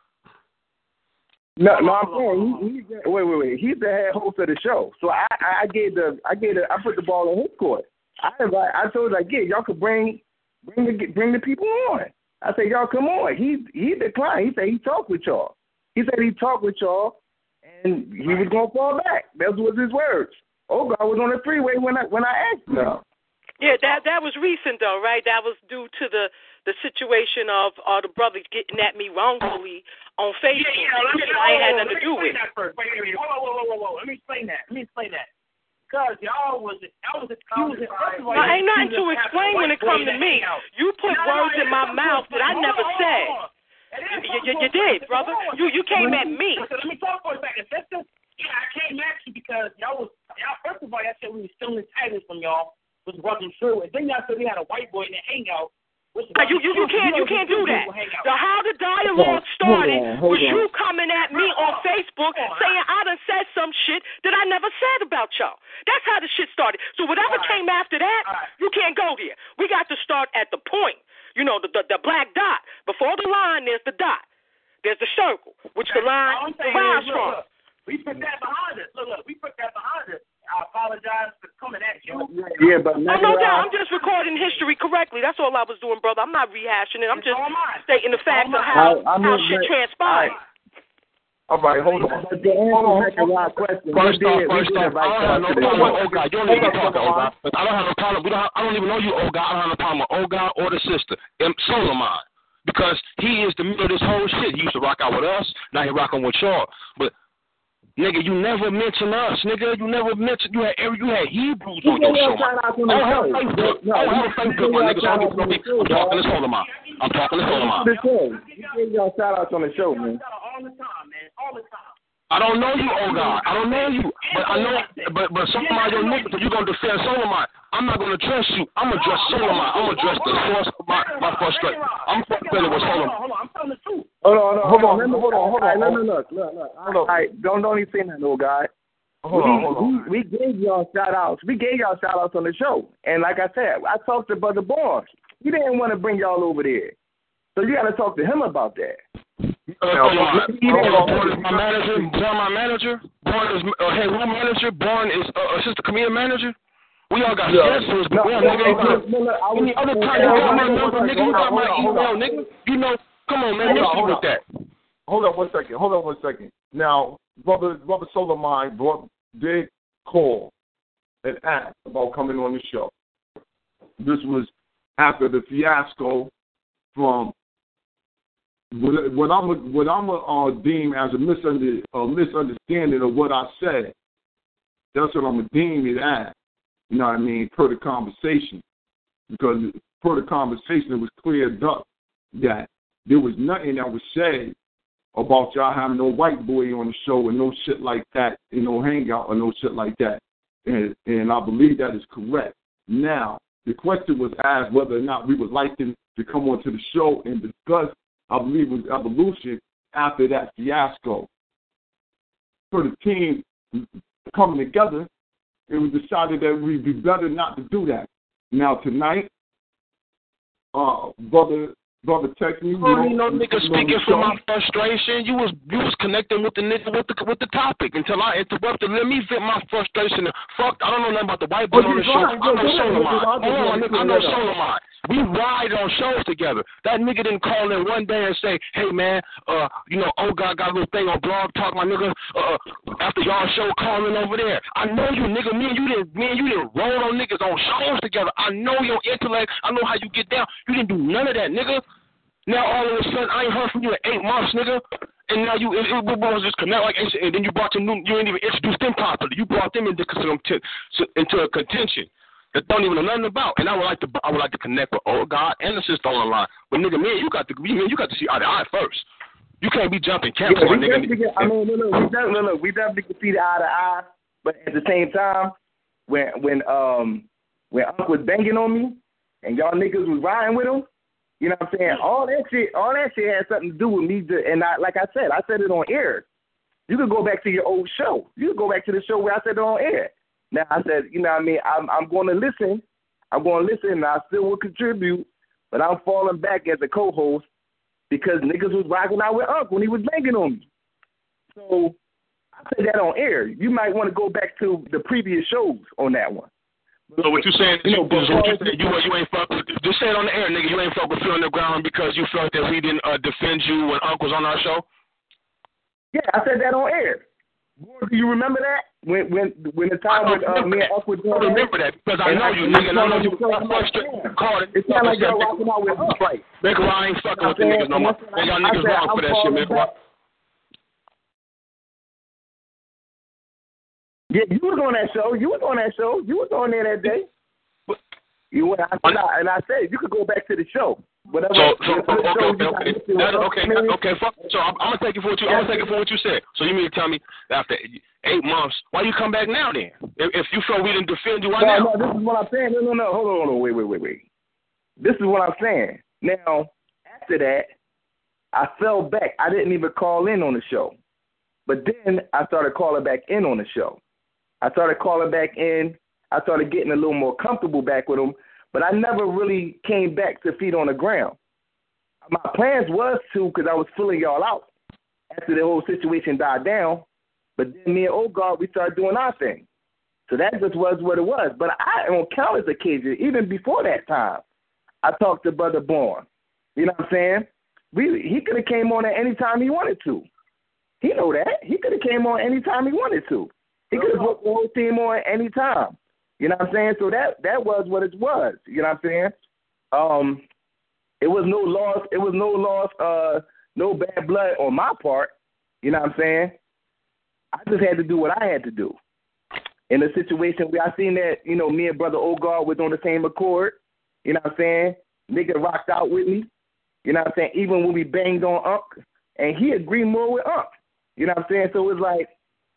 No, no, I'm saying he, he's the, wait, wait, wait. He's the head host of the show, so I, I gave the, I gave the, I put the ball in his court. I invite, I told like, yeah, y'all could bring, bring the, bring the people on. I said, y'all come on. He, he declined. He said he talked with y'all. He said he talked with y'all, and he was gonna fall back. That was his words. Oh God was on the freeway when I, when I asked him. Yeah, that that was recent though, right? That was due to the, the situation of uh, the brothers getting at me wrongfully on Facebook. Yeah, yeah, let me, I ain't had nothing to do with. That first. Wait, wait, wait, whoa, whoa, whoa, whoa, whoa. Let me explain that. Let me explain that. Because y'all was y'all was accusing. Well, ain't nothing to explain when it comes to me. You put words in my mouth that I never said. You, you, you did, brother. You you came at me. Let me talk for a second. Yeah, I came at you because y'all was y'all. First of all, y'all said we were stealing titles from y'all. Was wasn't true. And then y'all said we had a white boy in the hangout. Uh, you, you you can't you can't do that. The how the dialogue started hold on, hold was on. You coming at me on Facebook saying I done said some shit that I never said about y'all. That's how the shit started. So whatever right. came after that, right. you can't go there. We got to start at the point. You know, the the, the black dot. Before the line, there's the dot. There's the circle, which the line derives from. Look, we put that behind us. Look, look, we put that behind us. I apologize for coming at you. Yeah, but oh, no doubt. I'm just recording history correctly. That's all I was doing, brother. I'm not rehashing it. I'm just stating the facts of how, I, how shit transpired. All right, hold on. But the answer to my question. First off, first off, I don't have no problem with Oga. You don't even talk to Oga. I don't have no problem. We don't have, I don't even know you, Oga. I don't have no problem with Oga or the sister, M. Solomon, because he is the middle of this whole shit. He used to rock out with us. Now he rocking with y'all. But nigga, you never mention us, nigga. You never mention you had you had Hebrews on your show. Oh, have Facebook. Oh, have Facebook, my nigga. So I'm talking to Solomon. I'm talking to Solomon. You gave y'all shout outs on the show, man. All the time, man. All the time. I don't know you, oh God. I don't know you. But I know but but some of your niggas, if you're gonna defend Solomon, I'm not gonna address you. I'm gonna address Solomon. I'm gonna address the source of my, my frustration. I'm frustrated with Solomon. Hold on, I'm telling the truth. Hold on, hold on, hold on, hold on, hold on. No, no, look, look, look. All right, don't don't even say that, little guy. Hold we, on, hold on. We, we gave y'all shout outs. We gave y'all shout outs on the show. And like I said, I talked to Brother Barnes. He didn't want to bring y'all over there. So you gotta talk to him about that. Uh, uh, Born is my manager. Born my manager. Born is uh, hey, who manager? Born is uh, assistant comedian manager. We all got yeah. schedules, but no, we all nigga ain't got no, no, no, any other time you got my number, nigga. You got my email, nigga. You know, come on, man. Let's with that. Hold on one second. Hold on one second. Now, brother, brother Solomon brought did call and ask about coming on the show. This was after the fiasco from. What, what I'm a, what I'm a, uh, deem as a, misunder, a misunderstanding of what I said, that's what I'm a deem it as. You know what I mean? Per the conversation, because per the conversation, it was cleared up that there was nothing that was said about y'all having no white boy on the show and no shit like that, and no hangout or no shit like that, and and I believe that is correct. Now the question was asked whether or not we would like them to come onto the show and discuss. I believe it was evolution after that fiasco. For the team coming together, it was decided that we'd be better not to do that. Now tonight, uh, brother, brother, texting you. You know, no nigga speaking from my frustration. You was you was connecting with the nigga with the with the topic until I interrupted. Let me vent my frustration. Fuck, I don't know nothing about the white boy on the show. I know Solomon. Hold on, nigga, I know Solomon. We ride on shows together. That nigga didn't call in one day and say, hey, man, uh, you know, oh, God, got a little thing on Blog Talk, my nigga, uh, after y'all show calling over there. I know you, nigga. Me and you didn't, me and you didn't roll on niggas on shows together. I know your intellect. I know how you get down. You didn't do none of that, nigga. Now, all of a sudden, I ain't heard from you in eight months, nigga. And now you, it, it was just connect like, and then you brought them, you didn't even introduce them properly. You brought them into, into a contention that don't even know nothing about. And I would like to, I would like to connect with old God and the sister on the line. But nigga, man, you got to, man, you got to see eye to eye first. You can't be jumping camps yeah, on nigga. Get, I mean, look, look, we definitely, look, we definitely can see the eye to eye. But at the same time, when when um when Unc was banging on me and y'all niggas was riding with him. You know what I'm saying? All that shit, all that shit had something to do with me. To, and I, like I said, I said it on air. You could go back to your old show. You could go back to the show where I said it on air. Now I said, you know what I mean? I'm, I'm going to listen. I'm going to listen, and I still will contribute. But I'm falling back as a co-host because niggas was rocking out with Unc when he was banging on me. So I said that on air. You might want to go back to the previous shows on that one. So what you saying? You know, you, what you, saying, you, you ain't fuck with. Just say it on the air, nigga. You ain't fuck with Phil on the ground because you felt that we didn't uh, defend you when Unc was on our show. Yeah, I said that on air. Do you remember that when when when the time when uh, me and Unc were doing? I remember that because I know you, nigga. And I know you called it. It's not like y'all rocking out with Unc. Right, nigga. I ain't fucking with the niggas no more. Man, y'all niggas wrong for that shit, man. Yeah, you was on that show. You was on that show. You was on there that day. You went, I said, and I said you could go back to the show. Whatever. So, so okay, okay, okay, okay, okay, okay. Fuck. So I'm, I'm gonna take it for what you. I'm gonna take it for what you said. So you mean to tell me after eight months, why you come back now then? If, if you feel we didn't defend you, why no, now? No, this is what I'm saying. No, no, no. Hold on, hold on. Wait, wait, wait, wait. This is what I'm saying. Now, after that, I fell back. I didn't even call in on the show, but then I started calling back in on the show. I started calling back in. I started getting a little more comfortable back with them, but I never really came back to feet on the ground. My plans was to, because I was filling y'all out after the whole situation died down, but then me and Old Guard, we started doing our thing. So that just was what it was. But I, on countless occasions, even before that time, I talked to Brother Bourne. You know what I'm saying? We, he could have came on at any time he wanted to. He know that. He could have came on any time he wanted to. He could have put the whole team on at any time. You know what I'm saying? So that that was what it was. You know what I'm saying? Um, it was no loss. It was no loss. Uh, no bad blood on my part. You know what I'm saying? I just had to do what I had to do. In a situation where I seen that, you know, me and Brother Ogard was on the same accord. You know what I'm saying? Nigga rocked out with me. You know what I'm saying? Even when we banged on Unc, and he agreed more with Unc. You know what I'm saying? So it was like,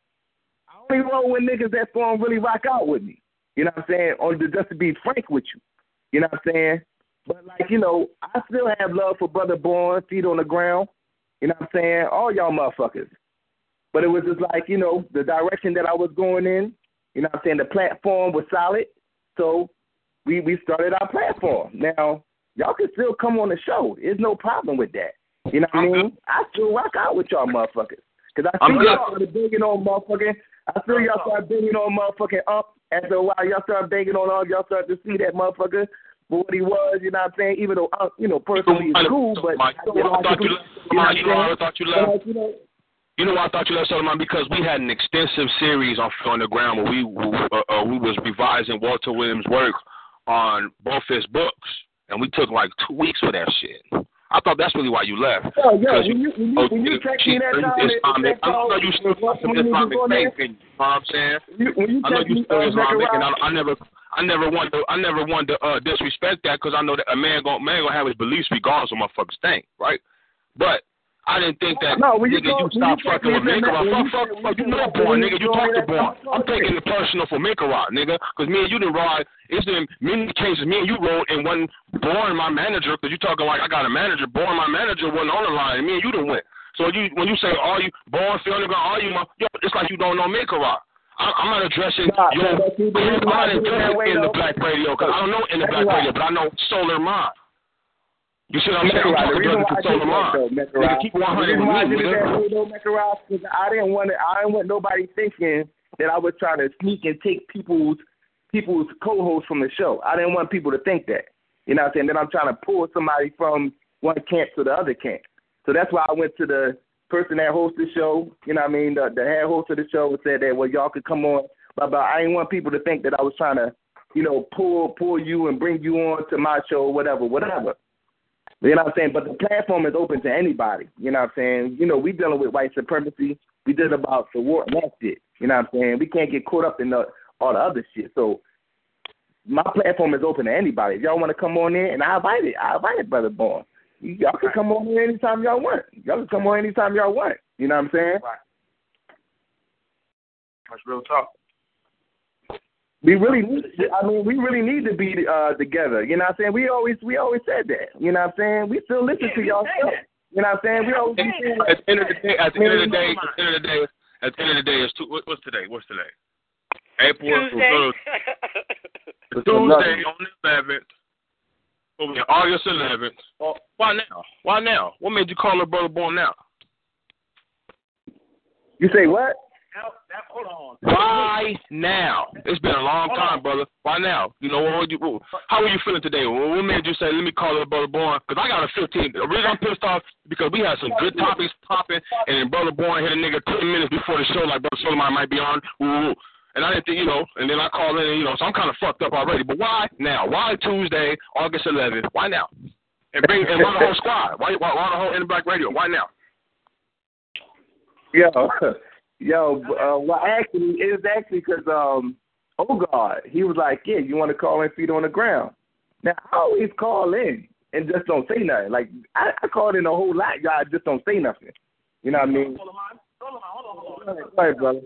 I only roll with niggas that's going to really rock out with me. You know what I'm saying? Or just to be frank with you. You know what I'm saying? But, like, you know, I still have love for Brother Bourne, feet on the ground. You know what I'm saying? All y'all motherfuckers. But it was just like, you know, the direction that I was going in, you know what I'm saying? The platform was solid. So we, we started our platform. Now, y'all can still come on the show. There's no problem with that. You know what I mean? I still rock out with y'all motherfuckers. Because I see y'all started banging on motherfucking, I feel y'all started banging on motherfucking up. After a while, y'all started banging on all, y'all started to see that motherfucker for what he was, you know what I'm saying? Even though, uh, you know, personally it's cool, but you know, I thought you, you know, you know, I thought you left. You know, You know why I thought you left Solomon? Because we had an extensive series on Phil on the Ground where we uh, uh, we was revising Walter Williams' work on both his books, and we took like two weeks for that shit. I thought that's really why you left. Oh, yeah, when you, when you, when you text me that time, Islamic, I know you still got some Islamic faith in you, you know what I'm saying? You, when you I know you still uh, Islamic, and I, I never I never want to I never want to uh, disrespect that because I know that a man going man gonna have his beliefs regardless of motherfuckers think, right? But I didn't think that, no, when you, nigga, you stop fucking with Minkarot. Fuck, fuck, fuck, you know Born, nigga. You talk to Born. I'm taking it personal for Minkarot, nigga, because me and you didn't ride. It's in many cases, me and you rode and wasn't Born my manager, because you talking like I got a manager. Born my manager wasn't on the line, and me and you didn't win. So you, when you say, are you, Born, Phil, nigga, are you, my, yo, it's like you don't know Minkarot. I'm not addressing nah, your, I'm not addressing in the black radio, because I don't know in the black radio, but I know Solar Mind. You see what I'm saying? I'm talking about the Solar Mind. Nigga, keep one hundred with me, nigga. Because I didn't want to, I didn't want nobody thinking that I was trying to sneak and take people's people's co-hosts from the show. I didn't want people to think that. You know what I'm saying? Then I'm trying to pull somebody from one camp to the other camp. So that's why I went to the person that hosted the show, you know what I mean, the, the head host of the show, and said that, well, y'all could come on. But, but I didn't want people to think that I was trying to, you know, pull pull you and bring you on to my show or whatever, whatever. You know what I'm saying? But the platform is open to anybody. You know what I'm saying? You know, we dealing with white supremacy. We did about the war and that shit. You know what I'm saying? We can't get caught up in the, all the other shit. So my platform is open to anybody. If y'all want to come on in, and I invite it. I invite it, Brother Born. Y'all can come on here anytime y'all want. Y'all can come on anytime y'all want. You know what I'm saying? Right. That's real talk. We really need, I mean, we really need to be uh, together. You know what I'm saying? We always we always said that. You know what I'm saying? We still listen yeah, to y'all stuff. You know what I'm saying? We always at the end of the day, at the end of the day, at the end of the day, at the end of the day, it's two, what, what's today? What's today? April Tuesday. Tuesday on the eleventh. Okay, August eleventh. Oh, why now? Why now? What made you call her Brother Born now? You say what? Now, now, hold on. Why now? It's been a long hold time, on. brother. Why now? You know, what, what, how are you feeling today? What made you say, let me call her Brother Born? Because I got a fifteen. The reason I'm pissed off because we had some good topics popping, and then Brother Born hit a nigga ten minutes before the show, like Brother Solomon might be on. Ooh, and I didn't think, you know, and then I called in, and, you know, so I'm kind of fucked up already. But why now? Why Tuesday, August eleventh? Why now? And bring and why the whole squad? Why, why, why the whole In Black Radio? Why now? Yo, yo, uh, well, actually, it's actually because, um, oh, God, he was like, yeah, you want to call in feet on the ground. Now, I always call in and just don't say nothing. Like, I, I called in a whole lot, y'all just don't say nothing. You know what I mean? Hold on, hold on, hold on, hold on. Go ahead, brother.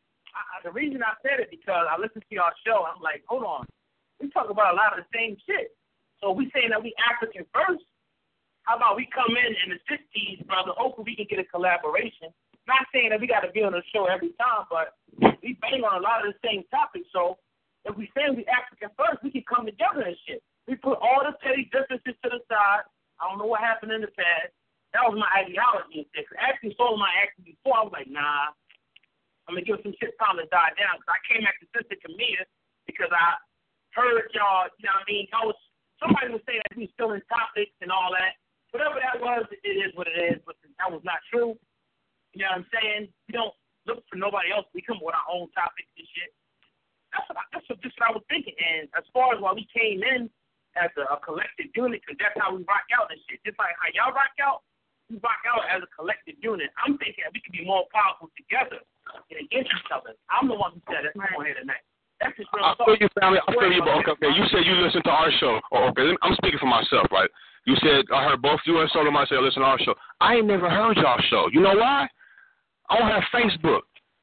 I, the reason I said it because I listened to y'all show. I'm like, hold on, we talk about a lot of the same shit. So we saying that we African first. How about we come in and assist these brother? Hopefully we can get a collaboration. Not saying that we got to be on the show every time, but we bang on a lot of the same topics. So if we say we African first, we can come together and shit. We put all the petty differences to the side. I don't know what happened in the past. That was my ideology. Actually, Solomon asked me before. I was like, nah. I'm going to give some shit time to die down because I came after Sister Camilla because I heard y'all, you know what I mean? I was, somebody was saying that we were still in topics and all that. Whatever that was, it is what it is, but that was not true. You know what I'm saying? We don't look for nobody else. We come with our own topics and shit. That's what I, that's what, just what I was thinking. And as far as why we came in as a, a collective unit, because that's how we rock out and shit. Just like how y'all rock out, we rock out as a collective unit. I'm thinking we could be more powerful together and against each other. I'm the one who said it. I'm on here tonight. That's just real I talk. feel you, family. I feel you, but okay, okay. You said you listened to our show. Oh, okay, I'm speaking for myself, right? You said, I heard both you and Solomon say, listen to our show. I ain't never heard y'all show. You know why? I don't have Facebook.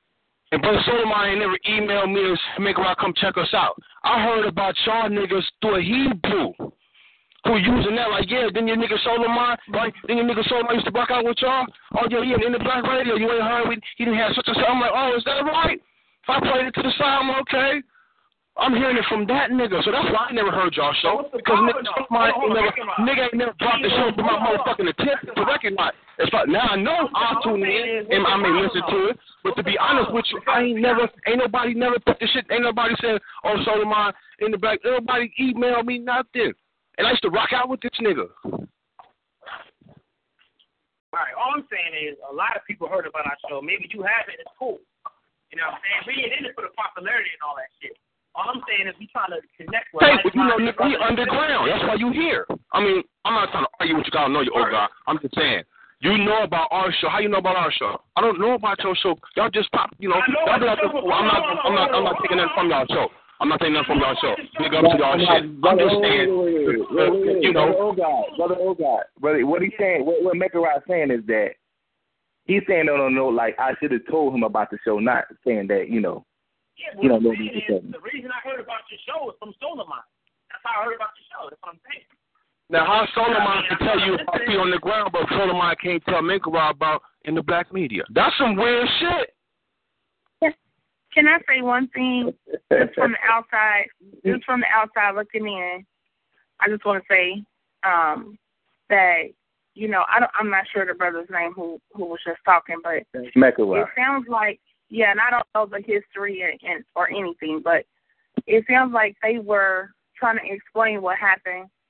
And Brother Solomon ain't never emailed me to make her come check us out. I heard about y'all niggas through a Hebrew who using that like, yeah, then your nigga Solomon, right? Then your nigga Solomon used to rock out with y'all. Oh, yeah, yeah, in the Black Radio, you ain't heard we, he didn't have such and such. I'm like, oh, is that right? If I played it to the side, I'm okay. I'm hearing it from that nigga, so that's why I never heard y'all show. Because nigga, my, ain't never, nigga ain't never brought the show to my motherfucking attention to recognize. It's like, now I know I'm tuning in and I may listen to it, but to be honest with you, I ain't never, ain't nobody never put the shit, ain't nobody said, oh, Solomon in the back, nobody emailed me nothing. And I used to rock out with this nigga. All right, all I'm saying is a lot of people heard about our show. Maybe you haven't, it's cool. You know what I'm saying? We ain't in it for the popularity and all that shit. All I'm saying is we trying to connect with. Hey, but you know, nigga, we underground. That's why you here. I mean, I'm not trying to argue with you. I don't know you, old guy. I'm just saying. You know about our show. How you know about our show? I don't know about your show. Y'all just pop, you know. know y'all be like, well, I'm not, I'm not, I'm not taking nothing from y'all show. I'm not taking nothing from y'all show. Nigga, up to y'all shit. I'm just saying, you know. Brother Ogod, Brother Ogod, brother, what he's saying, what, what Mekarai saying is that he's saying, no, no, no, like I should have told him about the show, not saying that, you know. Yeah, you know, what I'm saying is, the reason I heard about your show is from Solomon. That's how I heard about your show. That's what I'm saying. Now, how Solomon can tell you about feet on the ground, but Solomon can't tell Mekarai about in the black media? That's some weird shit. Can I say one thing? Just from the outside, just from the outside looking in, I just want to say um, that, you know, I don't, I'm not sure the brother's name who, who was just talking, but Mekarai. It sounds like, yeah, and I don't know the history and, and or anything, but it sounds like they were trying to explain what happened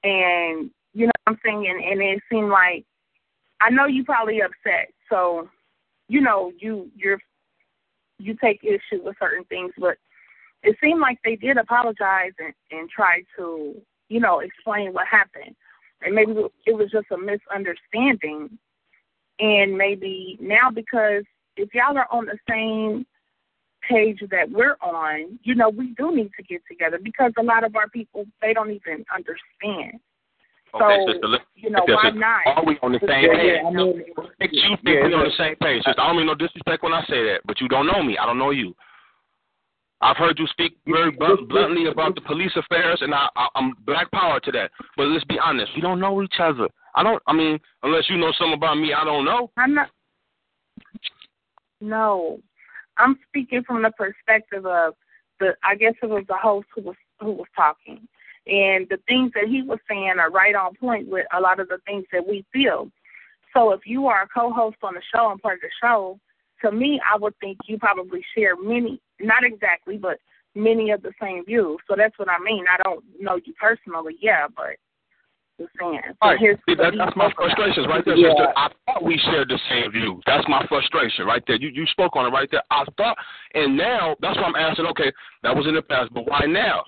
And, you know what I'm saying? And, and it seemed like, I know you probably upset. So, you know, you, you're, you take issue with certain things, but it seemed like they did apologize and, and try to, you know, explain what happened. And maybe it was just a misunderstanding. And maybe now, because if y'all are on the same page that we're on, you know, we do need to get together, because a lot of our people, they don't even understand. Okay, so, sister, look, you know, sister, why not? Are we on the same yeah, page? Yeah, I mean, you think yeah, we on the same page, sister. I don't mean no disrespect when I say that, but you don't know me. I don't know you. I've heard you speak very blunt, bluntly about the police affairs, and I, I, I'm black power to that. But let's be honest, we don't know each other. I don't. I mean, unless you know something about me, I don't know. I'm not. No, I'm speaking from the perspective of the. I guess it was the host who was who was talking, and the things that he was saying are right on point with a lot of the things that we feel. So if you are a co-host on the show and part of the show, to me, I would think you probably share many, not exactly, but many of the same views. So that's what I mean. I don't know you personally, yeah, but just saying. So right. here's See, that, that's my frustrations right there, yeah. sister. I thought we shared the same views. That's my frustration right there. You you spoke on it right there. I thought, and now that's why I'm asking, okay, that was in the past, but why now?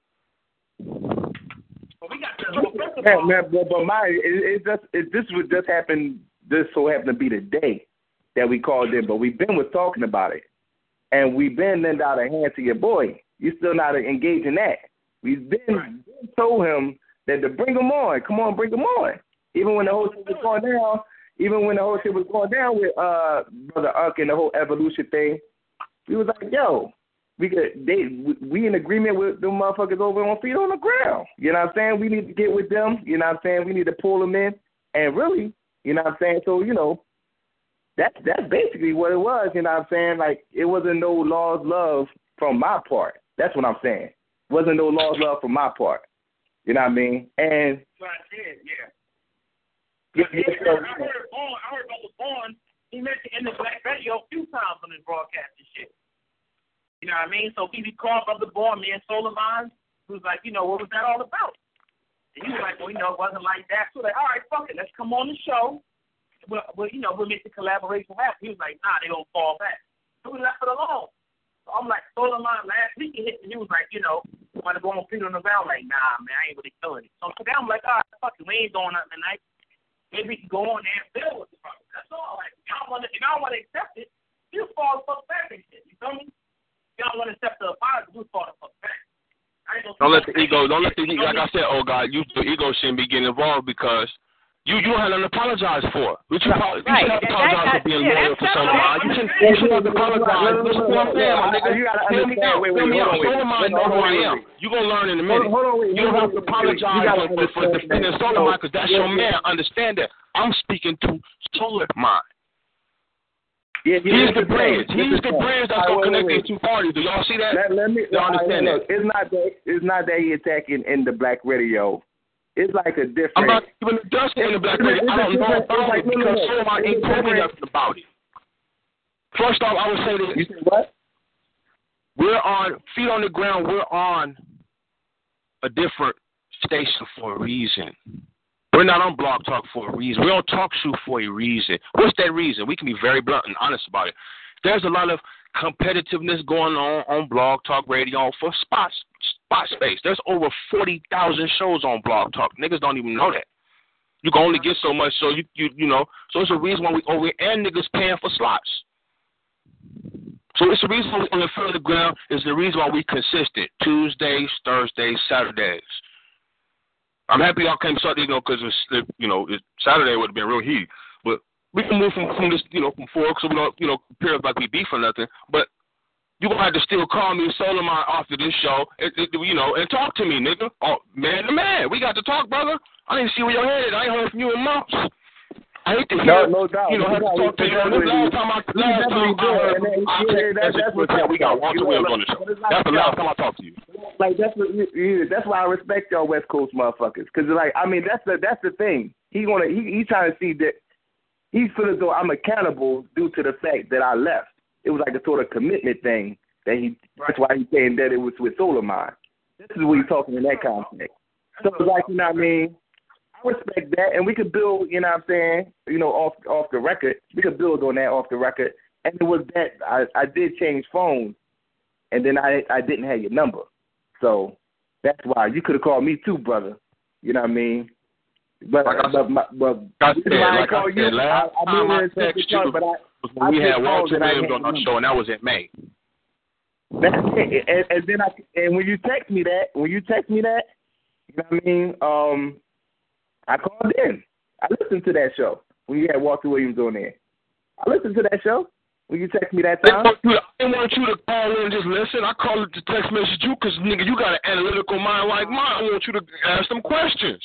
Well, we got the, man, man, but, but my, it, it just, it, this would just happen, this so happened to be the day that we called in, but we've been was talking about it. And we've been lend out a hand to your boy. You're still not engaged in that. We've been, right. been told him that to bring him on. Come on, bring him on. Even when the whole shit was going down, even when the whole shit was going down with uh Brother Unc and the whole evolution thing, we was like, yo, we could, they we in agreement with them motherfuckers over on Feet on the Ground. You know what I'm saying? We need to get with them. You know what I'm saying? We need to pull them in. And really, you know what I'm saying? So, you know, That's that's basically what it was, you know what I'm saying? Like, it wasn't no lost love from my part. That's what I'm saying. It wasn't no lost love from my part. You know what I mean? And that's what I said, yeah. Yeah, I, yeah, heard, I heard Vaughn, I heard Brother Vaughn, he mentioned in the Black Radio a few times on his broadcast and shit. You know what I mean? So he called Brother Vaughn, me and Soleiman, who was like, you know, what was that all about? And he was like, well, you know, it wasn't like that. So like, all right, fuck it, let's come on the show. Well, well, you know, we'll make the collaboration happen. He was like, nah, they don't fall back. So we left it alone. So I'm like, Soleiman, last week he hit me, he was like, you know, want to go on Feet on the Ground? Like, nah, man, I ain't really feeling it. So today I'm like, all right, fuck it, we ain't doing nothing tonight. Maybe we can go on there and build with the problem. That's all. Like, if y'all want to, if y'all want to accept it, you fall the fuck back and shit. You feel me? If y'all want to accept the apology, you fall the fuck back. Don't let the ego, don't let the ego, like I said, oh God, you, the ego shouldn't be getting involved because you, you don't have nothing to apologize for. You should right. you have to apologize for being loyal to someone. You shouldn't you should have to apologize. Listen to what I'm saying, my nigga. You gotta Hear me out. Hear me out. Soleiman know who I am. You're going to learn in a minute. Hold on, wait. You don't have to apologize for, for defending Soleiman because that's your man. Understand that. I'm speaking to Soleiman. Yeah, yeah, He's the bridge. He's the bridge that's going to connect these two parties. Do y'all see that? Let, let me, y'all understand look, that? It's not that, it's not that he attacking in the Black Radio. It's like a different. I'm not even discussing in the Black Radio. I don't know about like, it because Soleiman ain't told me nothing about it. First off, I would say this. You said what? We're on, Feet on the Ground, we're on a different station for a reason. We're not on Blog Talk for a reason. We're on Talk Shoe for a reason. What's that reason? We can be very blunt and honest about it. There's a lot of competitiveness going on on Blog Talk Radio for spots, spot space. There's over forty thousand shows on Blog Talk. Niggas don't even know that. You can only get so much, so you you you know. So it's a reason why we over and niggas paying for slots. So it's the reason why we on the Feet on the Ground is the reason why we consistent Tuesdays, Thursdays, Saturdays. I'm happy y'all came Sunday, you know, because it's, you know, it, Saturday would have been real heat. But we can move from, from this, you know, from four, so we don't, you know, compare it like we beef or nothing. But you're going to have to still call me Soleiman after this show, and, you know, and talk to me, nigga. Oh, man to man. We got to talk, brother. I didn't see where your head is. I ain't heard from you in months. I hate to hear, no, no doubt. you know, have to talk to you. This last time I, last time I heard, I checked, that's, that's what we got Walter Williams on the show. That's the last time I talked to you. Like, that's what, that's why I respect y'all West Coast motherfuckers. Because, like, I mean, that's the that's the thing. He gonna he, he trying to see that he feels as though I'm accountable due to the fact that I left. It was like a sort of commitment thing that he. Right. That's why he's saying that it was with Soleiman. This is what he's talking in that context. So it's like, you know what I mean? I respect that, and we could build, you know what I'm saying, you know, off off the record. We could build on that off the record. And it was that I, I did change phones, and then I I didn't have your number. So that's why. You could have called me too, brother. You know what I mean? But, like I, but, my, but I said, I like I said, you, last I, I time I texted you but I, was when we I had Walter Williams on our number. show, and that was in May. That's it. And, and then I, and when you text me that, when you text me that, you know what I mean? Um, I called in. I listened to that show when you had Walter Williams on there. I listened to that show when you text me that time. I didn't want you to call in and just listen. I called it to text message you because, nigga, you got an analytical mind like mine. I want you to ask them questions.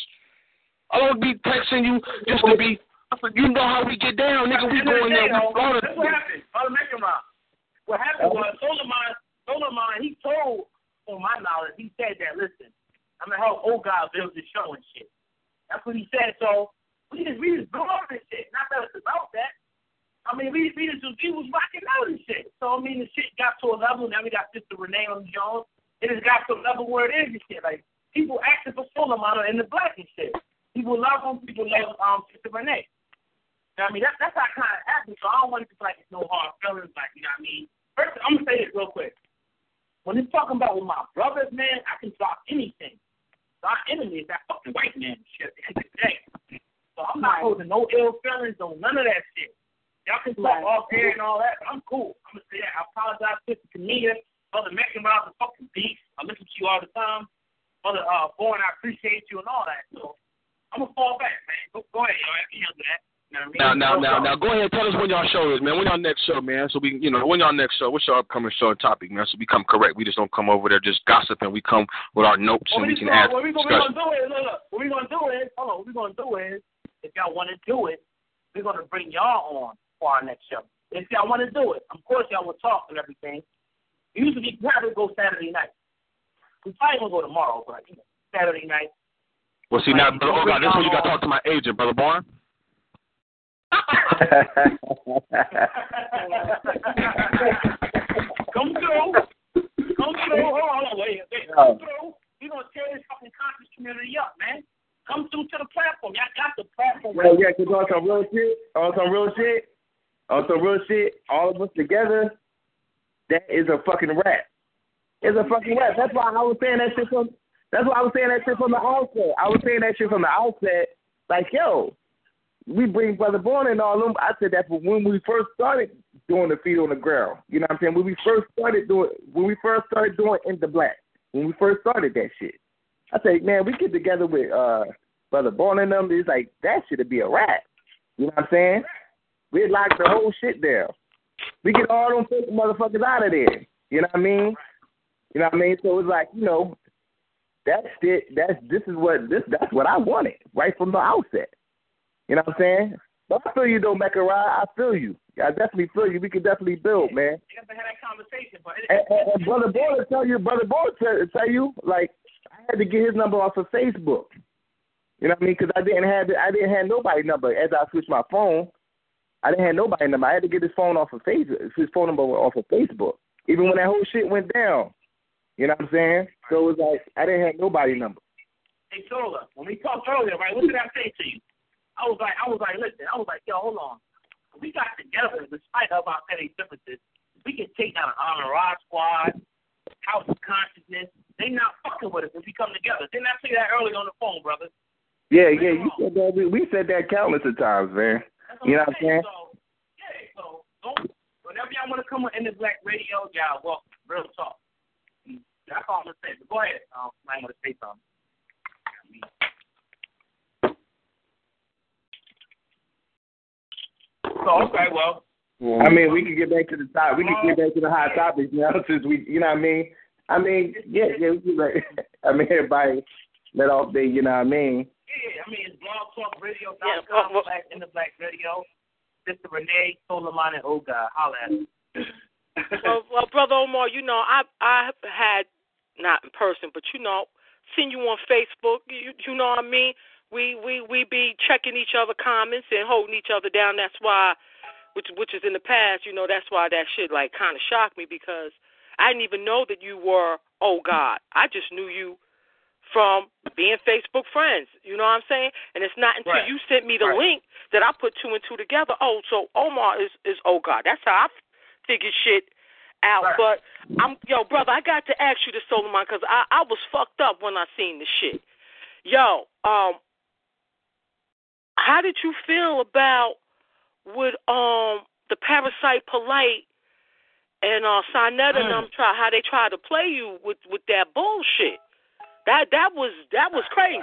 I don't be texting you just to be, you know how we get down, nigga. We go in there. That's what happened. I'll make him out. What happened was, Solomon, Solomon, he told, on my knowledge, he said that, listen, I'm going to help old guy build the show and shit. That's what he said. So we just, we just blew up this shit. Not that it's about that. I mean, we, we just, we was rocking out and shit. So, I mean, the shit got to a level. Now we got Sister Renee on Jones. It has got to a level where it is and shit. Like, people asking for Solomon in the black and shit. People love him. People love um, Sister Renee. You know what I mean? That, that's how it kind of happened. So I don't want it to be like it's no hard feelings. Like, you know what I mean? First, I'm going to say this real quick. When it's talking about with my brothers, man, I can drop anything. So our enemy is that fucking white man and shit at the end of the day. So I'm not holding no ill feelings on none of that shit. Y'all can talk right. off air and all that, but I'm cool. I'm going to say that. I apologize to the comedian. Brother Megan Rob, the fucking beast. I listen to you all the time. Brother uh, Born, I appreciate you and all that. So I'm going to fall back, man. Go, go ahead, y'all. I can handle that. You know what I mean? Now, now, now, now, go ahead. Tell us when y'all show is, man. When y'all next show, man. So we, you know, when y'all next show. What's your upcoming show and topic, man? So we come correct. We just don't come over there just gossiping. We come with our notes well, and we can ask. What we're gonna do is, look, look. What we're gonna do is, hold on. What we're gonna do is, if y'all want to do it, we're gonna bring y'all on for our next show. If y'all want to do it, of course y'all will talk and everything. Usually, we probably go Saturday night. We probably gonna go tomorrow, but you know, Saturday night. Well, see now, brother, oh God, this is when you got to talk to my agent, brother Born. Come through. Come through. Hold on, wait, wait. Come through. We're going to tear this fucking conscious community up, man. Come through to the platform. Y'all got the platform. Well, yeah, because on some real shit, on some real shit, on some real shit, all of us together, that is a fucking rap. It's a fucking rap. That's why I was saying that shit from, that's why I was saying that shit from the outset. I was saying that shit from the outset, like, yo, we bring Brother Born and all them. I said that for when we first started doing the feet on the ground. You know what I'm saying? When we first started doing, when we first started doing In the Black, when we first started that shit, I said, man, we get together with uh, Brother Born and them. It's like that should be a rap. You know what I'm saying? We lock the whole shit down. We get all them fake motherfuckers out of there. You know what I mean? You know what I mean? So it's like, you know, that's it. That's this is what this that's what I wanted right from the outset. You know what I'm saying? But I feel you though, Mecca Rod. I feel you. I definitely feel you. We can definitely build, man. You have to have that conversation, but and, and, and Brother Boy will tell you, Brother Boy will tell, tell you, like I had to get his number off of Facebook. You know what I mean? Because I didn't have I didn't have nobody's number as I switched my phone. I didn't have nobody's number. I had to get his phone off of Facebook. His phone number off of Facebook. Even when that whole shit went down. You know what I'm saying? So it was like I didn't have nobody's number. Hey, Tola, when we talked earlier, right? What did I say to you? I was like, I was like, listen, I was like, yo, hold on. We got together, despite of our petty differences, we can take down an Honor Rod squad, House of Consciousness. They not fucking with us if we come together. Didn't I say that earlier on the phone, brother? Yeah, yeah, you said that. We said that countless of times, man. You know what I'm saying? So, yeah, so don't, whenever y'all want to come on In the Black Radio, y'all welcome. Real talk. That's all I'm gonna say. But go ahead. Um, I want to say something. So, okay, well. I mean, we can get back to the top. We can get back to the hot topics now, since we, you know what I mean? I mean, yeah, yeah. We can, like, I mean, everybody let off there, you know what I mean? Yeah, I mean, it's blog talk radio dot com, yeah, Black In the Black Radio. Sister Renee, Solomon, and Oga. Holla at us. well, well, Brother Omar, you know, I I had, not in person, but, you know, seen you on Facebook. You, you know what I mean? We, we, we be checking each other comments and holding each other down. That's why, which which is in the past, you know, that's why that shit, like, kind of shocked me because I didn't even know that you were, oh, God. I just knew you from being Facebook friends. You know what I'm saying? And it's not until right. you sent me the right. link that I put two and two together. Oh, so Omar is, is oh God. That's how I figured shit out. Right. But I'm yo, brother, I got to ask you this, Solomon, because I, I was fucked up when I seen the shit. Yo, um, how did you feel about with um the Parasite Polite and uh Sinetta and them try how they try to play you with, with that bullshit? That that was that was crazy.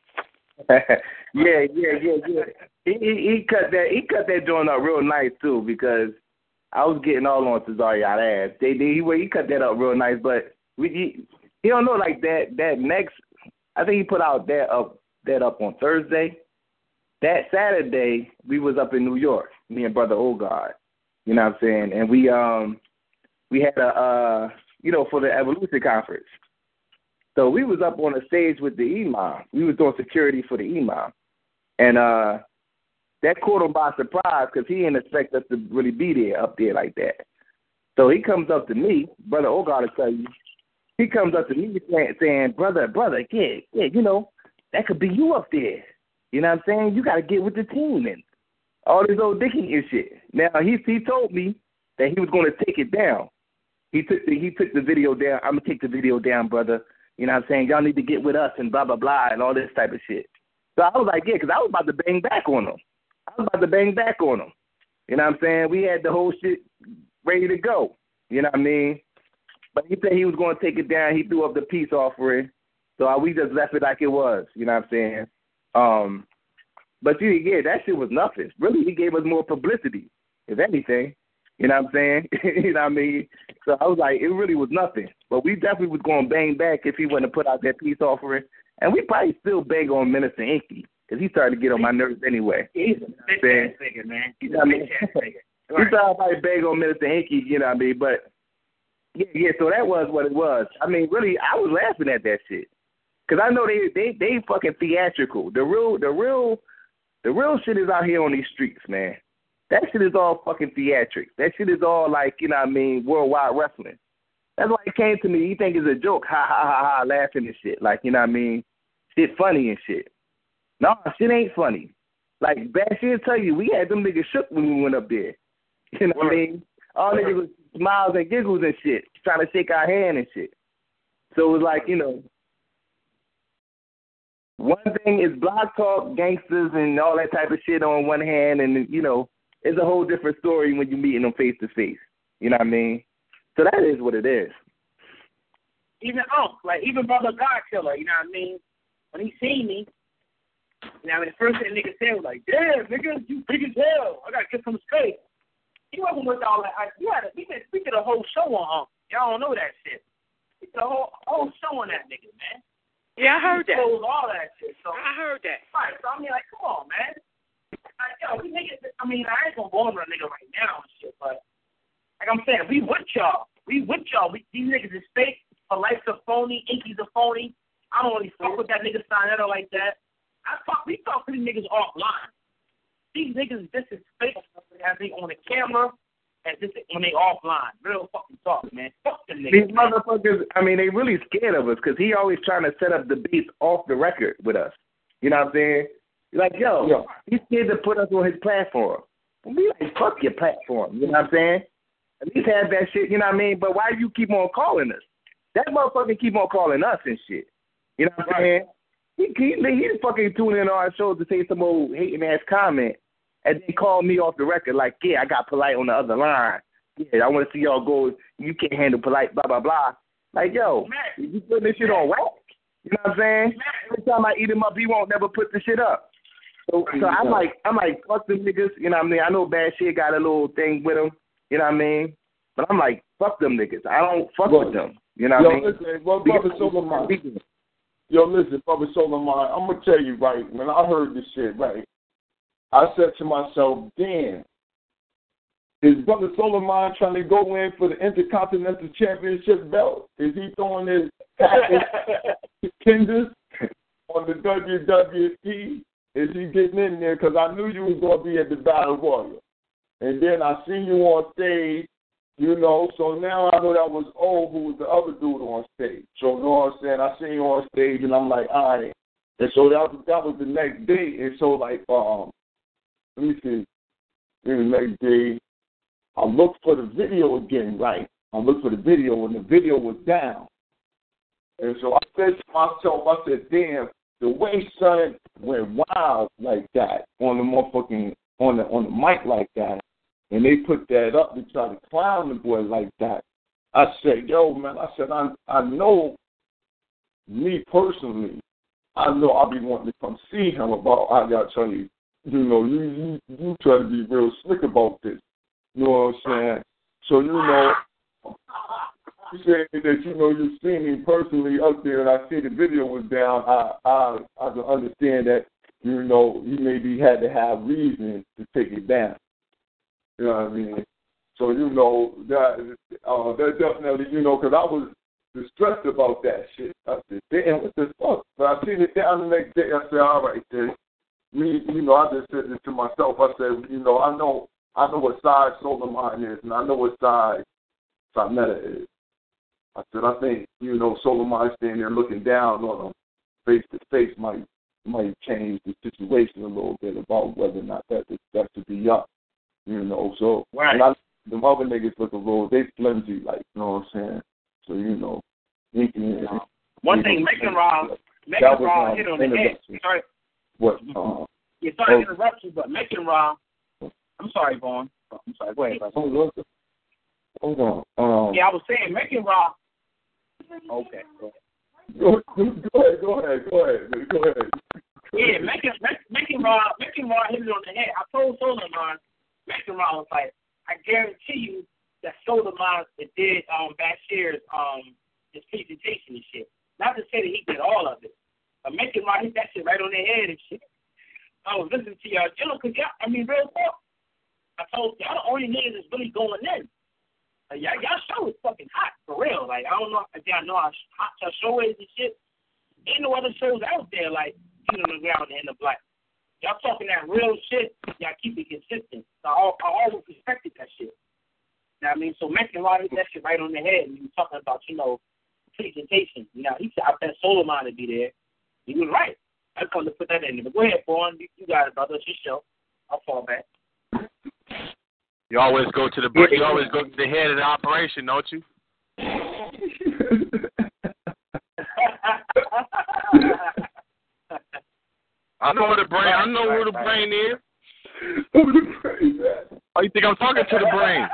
yeah, yeah, yeah, yeah. He, he he cut that he cut that joint up real nice too, because I was getting all on Cesario ass. They, they he he cut that up real nice, but we he, he don't know like that that next. I think he put out that up that up on Thursday. That Saturday we was up in New York, me and Brother Ogard. You know what I'm saying? And we um we had a uh you know for the Evolution conference. So we was up on the stage with the imam. We was doing security for the imam, and uh, that caught him by surprise because he didn't expect us to really be there up there like that. So he comes up to me, Brother Ogard will tell you. He comes up to me saying, saying brother, brother, yeah, yeah, you know, that could be you up there. You know what I'm saying? You got to get with the team and all this old dicking and shit. Now he he told me that he was going to take it down. He took the he took the video down. I'm gonna take the video down, brother. You know what I'm saying? Y'all need to get with us and blah, blah, blah, and all this type of shit. So I was like, yeah, because I was about to bang back on them. I was about to bang back on them. You know what I'm saying? We had the whole shit ready to go. You know what I mean? But he said he was going to take it down. He threw up the peace offering. So I, we just left it like it was. You know what I'm saying? Um, but, yeah, yeah, that shit was nothing. Really, he gave us more publicity, if anything. You know what I'm saying? You know what I mean? So I was like, it really was nothing. But we definitely was going to bang back if he wouldn't have put out that peace offering. And we probably still bang on Minister Inky because he started to get on my nerves anyway. He's a bitch-ass nigga, man. He's you know a bitch-ass nigga. Right. He started probably bang on Minister Inky, you know what I mean? But, yeah, yeah, so that was what it was. I mean, really, I was laughing at that shit. Because I know they, they, they fucking theatrical. The real, the real, the real shit is out here on these streets, man. That shit is all fucking theatrics. That shit is all like, you know what I mean, worldwide wrestling. That's why it came to me. You think it's a joke, ha, ha, ha, ha, laughing and shit. Like, you know what I mean? Shit funny and shit. No, shit ain't funny. Like, Bashir will tell you, we had them niggas shook when we went up there. You know what I mean? All niggas was smiles and giggles and shit, trying to shake our hand and shit. So it was like, you know, one thing is block talk, gangsters, and all that type of shit on one hand, and, you know, it's a whole different story when you're meeting them face to face. You know what I mean? So that is what it is. Even Unc, like even Brother God Killer, you know what I mean? When he seen me, you know, I mean, the first thing the nigga said was like, "Damn, nigga, you big as hell. I gotta get some space." He wasn't with all that. I, you had a, we did we did a whole show on Unc. Y'all don't know that shit. We did a whole whole show on that nigga, man. Yeah, I heard he that. All that shit. So I heard that. Right. So I mean, like, come on, man. Like, yo, we niggas, I mean, I ain't gonna go over a nigga right now and shit, but like I'm saying, we with y'all. We with y'all. We, these niggas is fake. Polite's a phony. Inky's a phony. I don't really fuck with that nigga Sinetta like that. I talk, we talk to these niggas offline. These niggas, this is fake as they on the camera and this is when they offline. Real fucking talk, man. Fuck them niggas. These man. motherfuckers, I mean, they really scared of us because he always trying to set up debates off the record with us. You know what I'm saying? Like, yo, yo, he's scared to put us on his platform. We like, fuck your platform. You know what I'm saying? At least have that shit, you know what I mean? But why do you keep on calling us? That motherfucker keep on calling us and shit. You know what I'm saying? He, he, he fucking tune in on our show to say some old hating ass comment and then call me off the record like, yeah, I got Polite on the other line. Yeah, I want to see y'all go. You can't handle Polite, blah, blah, blah. Like, yo, man, you putting this shit on whack. You know what I'm saying? Every time I eat him up, he won't never put the shit up. So, so I'm like, I'm like, fuck them niggas. You know what I mean? I know Bad Shit got a little thing with him. You know what I mean? But I'm like, fuck them niggas. I don't fuck well, with them. You know what I mean? Listen, well, Brother Solomon. Yo, listen, Brother Solomon, I'm going to tell you, right, when I heard this shit, right, I said to myself, damn, is Brother Solomon trying to go in for the Intercontinental Championship belt? Is he throwing his contenders on the W W E? Is he getting in there? Because I knew you was going to be at the Battle Royal. And then I seen you on stage You know, so now I know that was O, who was the other dude on stage. So, you know what I'm saying? I seen you on stage, and I'm like, all right. And so that was, that was the next day. And so, like, um, let me see. Then the next day, I looked for the video again, right? I looked for the video, and the video was down. And so I said to myself, I said, damn, the way son went wild like that on the motherfucking, on the, on the mic like that, and they put that up to try to clown the boy like that. I said, yo, man, I said, I I know, me personally, I know I'll be wanting to come see him about, I got to tell you, you know, you, you, you try to be real slick about this. You know what I'm saying? So, you know, you saying that, you know, you've seen me personally up there and I see the video was down, I, I, I can understand that, you know, you maybe had to have reason to take it down. You know what I mean? So, you know, that uh, that definitely, you know, because I was distressed about that shit. I said, damn, what the fuck? But I seen it down the next day. I said, all right, then. Me, you know, I just said it to myself. I said, you know, I know I know what side Solar Mind is, and I know what side Sameta is. I said, I think, you know, Solar Mind standing there looking down on them face to face might might change the situation a little bit about whether or not that that should be up. You know, so right. And I, the other niggas look a little, they flimsy, like, you know what I'm saying? So, you know. You can, uh, one you thing, know, making Raw, making Raw hit on the head. Sorry. What? Uh, yeah, sorry oh, to interrupt you, but making Raw, I'm sorry, Vaughn. I'm sorry, go ahead. Hold on. Hold on. Um, yeah, I was saying, making Raw. Okay, go ahead. Go, go ahead, go ahead, go ahead, go ahead. Yeah, making, making Raw, making Raw hit it on the head. I told Solar Mind, making Raw was like, I guarantee you that Solar Mind did um, Bashir's um, his presentation and shit. Not to say that he did all of it, but making Raw hit that shit right on their head and shit. I was listening to y'all, you know, because y'all, I mean, real talk. I told y'all the only niggas that's really going in. Like, y'all, y'all show is fucking hot, for real. Like, I don't know if y'all know how hot your show is and shit. Ain't no other shows out there like Feet on the Ground and the Black. Y'all talking that real shit, y'all keep it consistent. So I, I always respected that shit. You know what I mean? So making a lot of that shit right on the head, and you were talking about, you know, presentation. You know, he said, I bet Solar Mind to be there. He was right. I just wanted to put that in there. But go ahead, Vaughn. You, you got it, brother. It's your show. I'll fall back. You always go to the you always go to the head of the operation, don't you? I know where the brain. I know who the brain is. Who the brain is? Oh, you think I'm talking to the brain?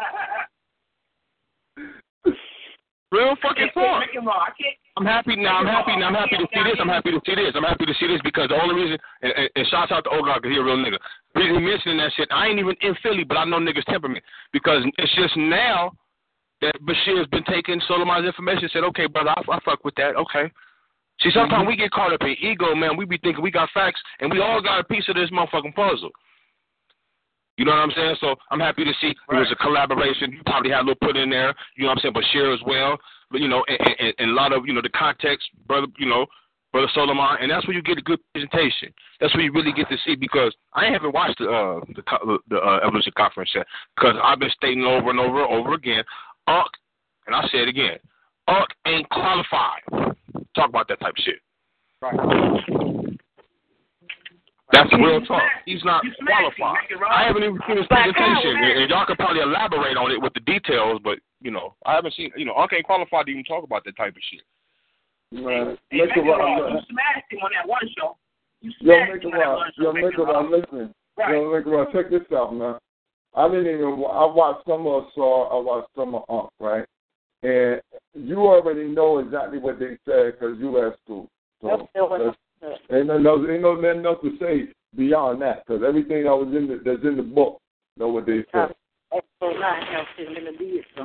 Real fucking talk. I'm happy now. I'm happy now. I'm happy to see this. I'm happy to see this. I'm happy to see this because the only reason, and, and, and shouts out to Ogard because he's a real nigga. The reason he mentioning that shit, I ain't even in Philly, but I know niggas' temperament because it's just now that Bashir's been taking Soleiman's information and said, okay, brother, I, I fuck with that. Okay. See, sometimes mm-hmm. we get caught up in ego, man. We be thinking we got facts, and we all got a piece of this motherfucking puzzle. You know what I'm saying? So I'm happy to see right. There was a collaboration. You probably had a little put in there. You know what I'm saying? Bashir as well. But, you know, and, and, and a lot of, you know, the context, brother, you know, Brother Soleiman. And that's where you get a good presentation. That's where you really get to see because I haven't watched the uh, the, the uh, Evolution Conference yet because I've been stating over and over and over again, U N C, and I say it again, U N C ain't qualified. Talk about that type of shit. Right. That's real talk. He's not qualified. I haven't even seen his presentation, and, and y'all could probably elaborate on it with the details, but, you know, I haven't seen, you know, U N C ain't qualified to even talk about that type of shit. Man, hey, make it raw. You smashed him on that one show. You yo, smashed make him on that one show. Yo, make it raw. Listen. Right. Yo, make it raw. Check this out, man. I didn't even, I watched some of Saw, I watched some of U N C, right? And you already know exactly what they said because you left school. So, ain't nothing else, ain't no nothing else to say beyond that, because everything that was in the that's in the book, know what they said. So nine helps him in the beard, so.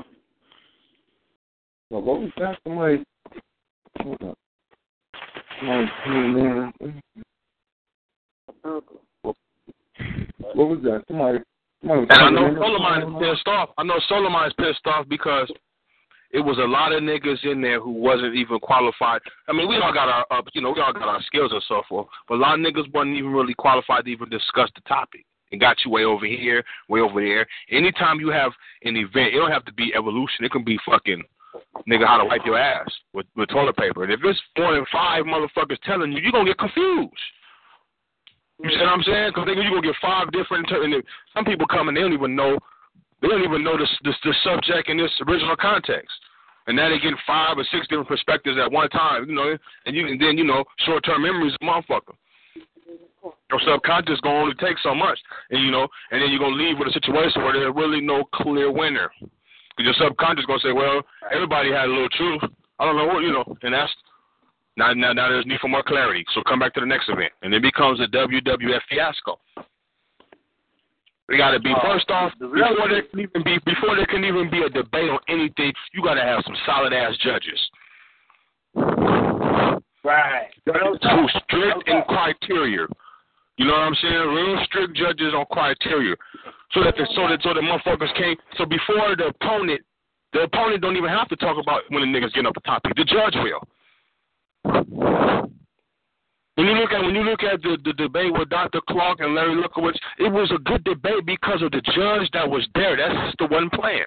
So what was that? Somebody, hold up. Somebody came in. What was that? Somebody. somebody was and I know Soleiman is pissed off. I know Soleiman is pissed off because it was a lot of niggas in there who wasn't even qualified. I mean, we all got our, uh, you know, we all got our skills and so forth, but a lot of niggas wasn't even really qualified to even discuss the topic. and got you way over here, way over there. Anytime you have an event, it don't have to be evolution. It can be fucking, nigga, how to wipe your ass with, with toilet paper. And if it's four and five motherfuckers telling you, you're going to get confused. You see what I'm saying? Because you're going to get five different, and some people come and they don't even know, they don't even know the, the, the subject in this original context. And now they get five or six different perspectives at one time, you know, and you and then, you know, short-term memory is a motherfucker. Your subconscious going to only take so much, and, you know, and then you're going to leave with a situation where there's really no clear winner. Because your subconscious going to say, well, everybody had a little truth. I don't know what, you know, and that's, now, now, now there's need for more clarity. So come back to the next event. And it becomes a W W F fiasco. We got to be, first off, before there can even be, before there can even be a debate on anything, you got to have some solid-ass judges. Right. Too strict in criteria. You know what I'm saying? Real strict judges on criteria. So that the, so that so the motherfuckers can't, so before the opponent, the opponent don't even have to talk about when the niggas get up the topic. The judge will. When you look at when you look at the, the debate with Doctor Clark and Larry Lukowitz, it was a good debate because of the judge that was there. That's the one playing.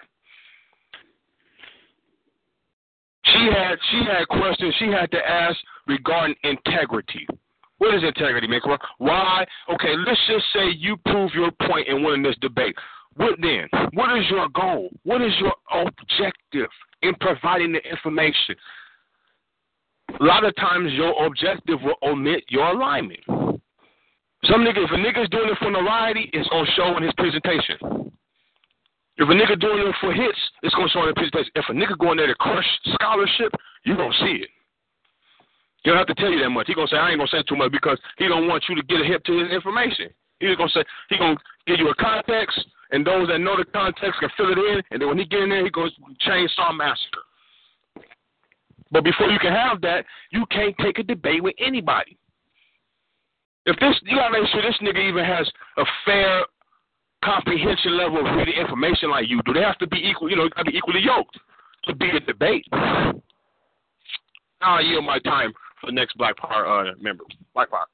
She had she had questions she had to ask regarding integrity. What is integrity, man? Why? Okay, let's just say you prove your point in winning this debate. What then? What is your goal? What is your objective in providing the information? A lot of times your objective will omit your alignment. Some nigga, if a nigga's doing it for notoriety, it's gonna show in his presentation. If a nigga doing it for hits, it's gonna show in his presentation. If a nigga going there to crush scholarship, you gonna see it. He don't have to tell you that much. He gonna say, I ain't gonna say too much because he don't want you to get a hip to his information. He's gonna say he gonna give you a context, and those that know the context can fill it in, and then when he get in there, he goes chainsaw massacre. But before you can have that, you can't take a debate with anybody. If this, you gotta make sure this nigga even has a fair comprehension level of reading information like you do. They have to be equal, you know, gotta be equally yoked to be a debate. Now I yield my time for the next Black Power uh, member. Black Power.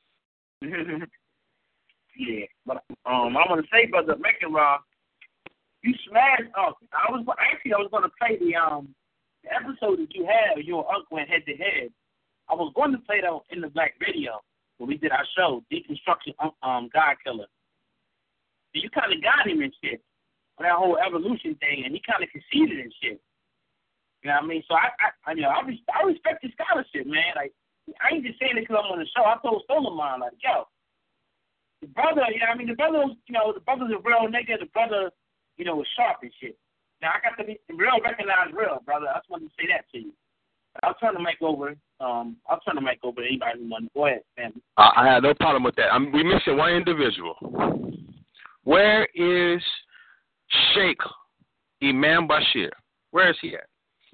Yeah, but um, I want to say, brother, Macon Rob, you smashed. Oh, I was actually I was going to play the um. The episode that you had, you and Uncle went head to head. I was going to play that in the Black video when we did our show, Deconstruction um, God Killer. So you kind of got him and shit on that whole evolution thing, and he kind of conceded and shit. You know what I mean? So I, I, I you know, I, res- I respect his scholarship, man. Like, I ain't just saying it because I'm on the show. I told Solomon, like, yo, the brother, you know what I mean? The brother, was, you know, the brother's a real nigga. The brother, you know, was sharp and shit. Now, I got to be real, recognize real, brother. I just wanted to say that to you. I'll turn the mic over. Um, I'll turn the mic over to anybody who wants. Go ahead, family. Uh, I have no problem with that. I'm, we're missing one individual. Where is Sheikh Imam Bashir? Where is he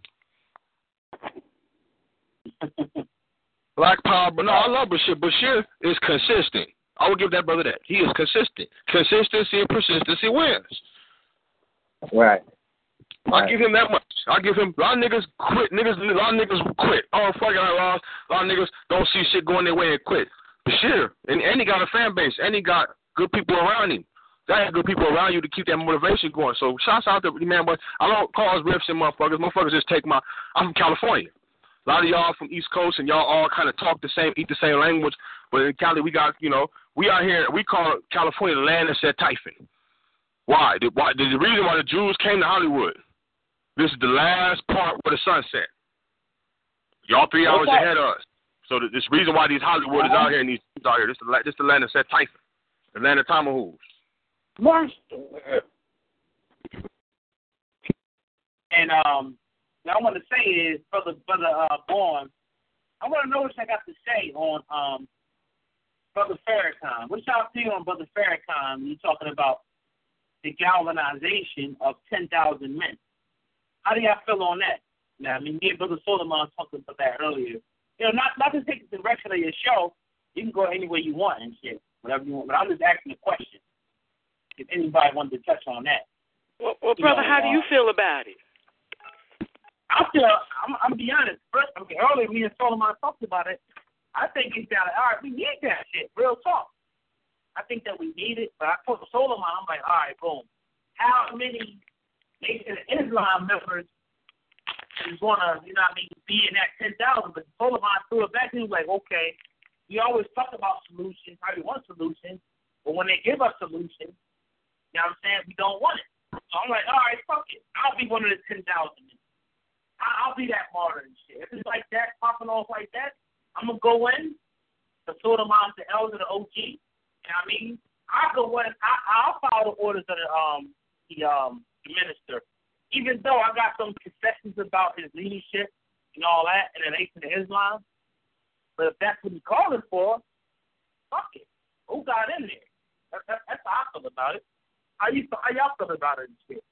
at? Black Power, but no, I love Bashir. Bashir is consistent. I will give that brother that. He is consistent. Consistency and persistency wins. Right. I'll give him that much. I'll give him, a lot of niggas quit. Niggas, a lot of niggas quit. Oh, fuck it, I lost. A lot of niggas don't see shit going their way and quit. Bashir, and, and he got a fan base, and he got good people around him. Got have good people around you to keep that motivation going. So, shouts out to man, but I don't cause riffs and motherfuckers. Motherfuckers just take my, I'm from California. A lot of y'all from East Coast, and y'all all kind of talk the same, eat the same language. But in Cali, we got, you know, we out here, we call California the land that said typhon. Why? The, why? The reason why the Jews came to Hollywood. This is the last part where the sun set. Y'all three hours okay. ahead of us. So the, this reason why these Hollywood is out here and these Jews out here. This is the, this the land that said typhon. The land of tomahawks. And um, what I want to say is, brother, brother uh, Born, I want to know what I got to say on um, brother Farrakhan. What y'all think on brother Farrakhan when you're talking about the galvanization of ten thousand men? How do y'all feel on that? Now, I mean, me and Brother Solomon talked about that earlier. You know, not not to take the direction of your show. You can go any way you want and shit, whatever you want. But I'm just asking a question. If anybody wanted to touch on that. Well, well brother, know, how uh, do you feel about it? I feel, I'm, I'm be honest. First, I mean, earlier, me and Solomon talked about it. I think it's down. All right, we need that shit. Real talk. I think that we need it, but I told Solomon, I'm like, all right, boom. How many Nation of Islam members is going to, you know what I mean, be in that ten thousand? But Solomon threw it back, and he was like, okay, we always talk about solutions, probably one solution, but when they give us solutions, you know what I'm saying, we don't want it. So I'm like, all right, fuck it. I'll be one of the ten thousand. I'll be that martyr and shit. If it's like that, popping off like that, I'm going to go in, the Solomon, the elder, the O G. You know what I mean? I'll go in, I, I'll follow the orders of the, um, the, um, the minister. Even though I got some concessions about his leadership and all that in the Nation of Islam, but if that's what he's calling for, fuck it. Who got in there? That, that, that's how I feel about it. How, you, how y'all feel about it and shit?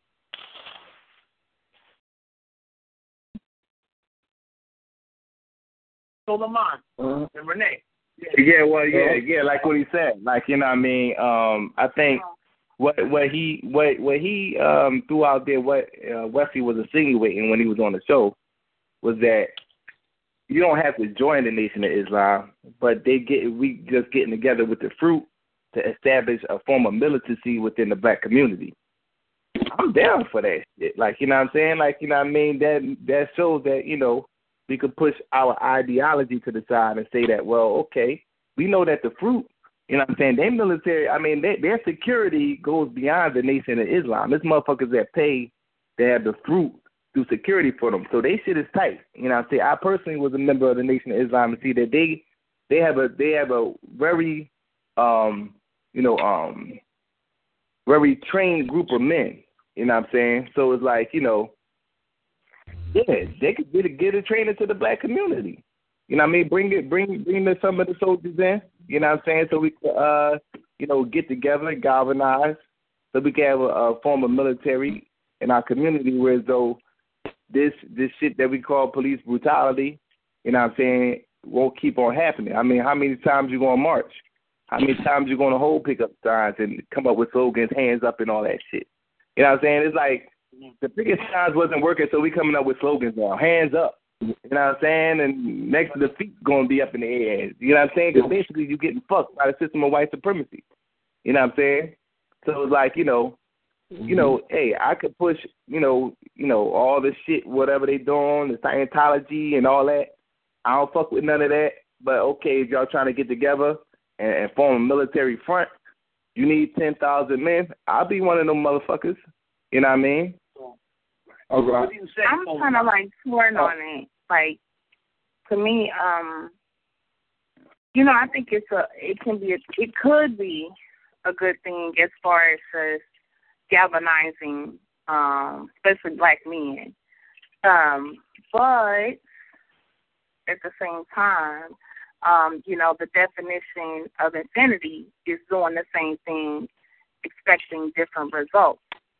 Solomon uh-huh. and Renee. Yeah. yeah, well, yeah, yeah, like what he said. Like, you know what I mean? Um, I think what what he what what he um threw out there, what uh, Wesley was insinuating when he was on the show, was that you don't have to join the Nation of Islam, but they get we just getting together with the fruit to establish a form of militancy within the black community. I'm down for that shit. Like, you know what I'm saying? Like, you know what I mean? That that shows that, you know, we could push our ideology to the side and say that, well, okay, we know that the fruit, you know what I'm saying, their military, I mean, they, their security goes beyond the Nation of Islam. There's motherfuckers that pay to have the fruit do security for them. So they shit is tight. You know what I'm saying? I personally was a member of the Nation of Islam and see that they they have a they have a very um you know um very trained group of men. You know what I'm saying? So it's like, you know, yeah, they could get a, get a training to the black community. You know what I mean? Bring it, bring bring the, some of the soldiers in. You know what I'm saying? So we could, uh, you know, get together, galvanize, so we can have a, a form of military in our community. Whereas though this this shit that we call police brutality, you know what I'm saying, won't keep on happening. I mean, how many times you gonna march? How many times you gonna hold pickup signs and come up with slogans, hands up and all that shit? You know what I'm saying? It's like the biggest signs wasn't working, so we coming up with slogans now. Hands up. You know what I'm saying? And next to the feet going to be up in the air. You know what I'm saying? Because basically you're getting fucked by the system of white supremacy. You know what I'm saying? So it's like, you know, mm-hmm. you know, hey, I could push, you know, you know, all this shit, whatever they doing, the Scientology and all that. I don't fuck with none of that. But okay, if y'all trying to get together and, and form a military front, you need ten thousand men. I'll be one of them motherfuckers. You know what I mean? Okay. I'm kind of like torn on it. Like, to me, um, you know, I think it's a, it can be, a, it could be a good thing as far as just galvanizing, um, especially black men. Um, but at the same time, um, you know, the definition of infinity is doing the same thing, expecting different results.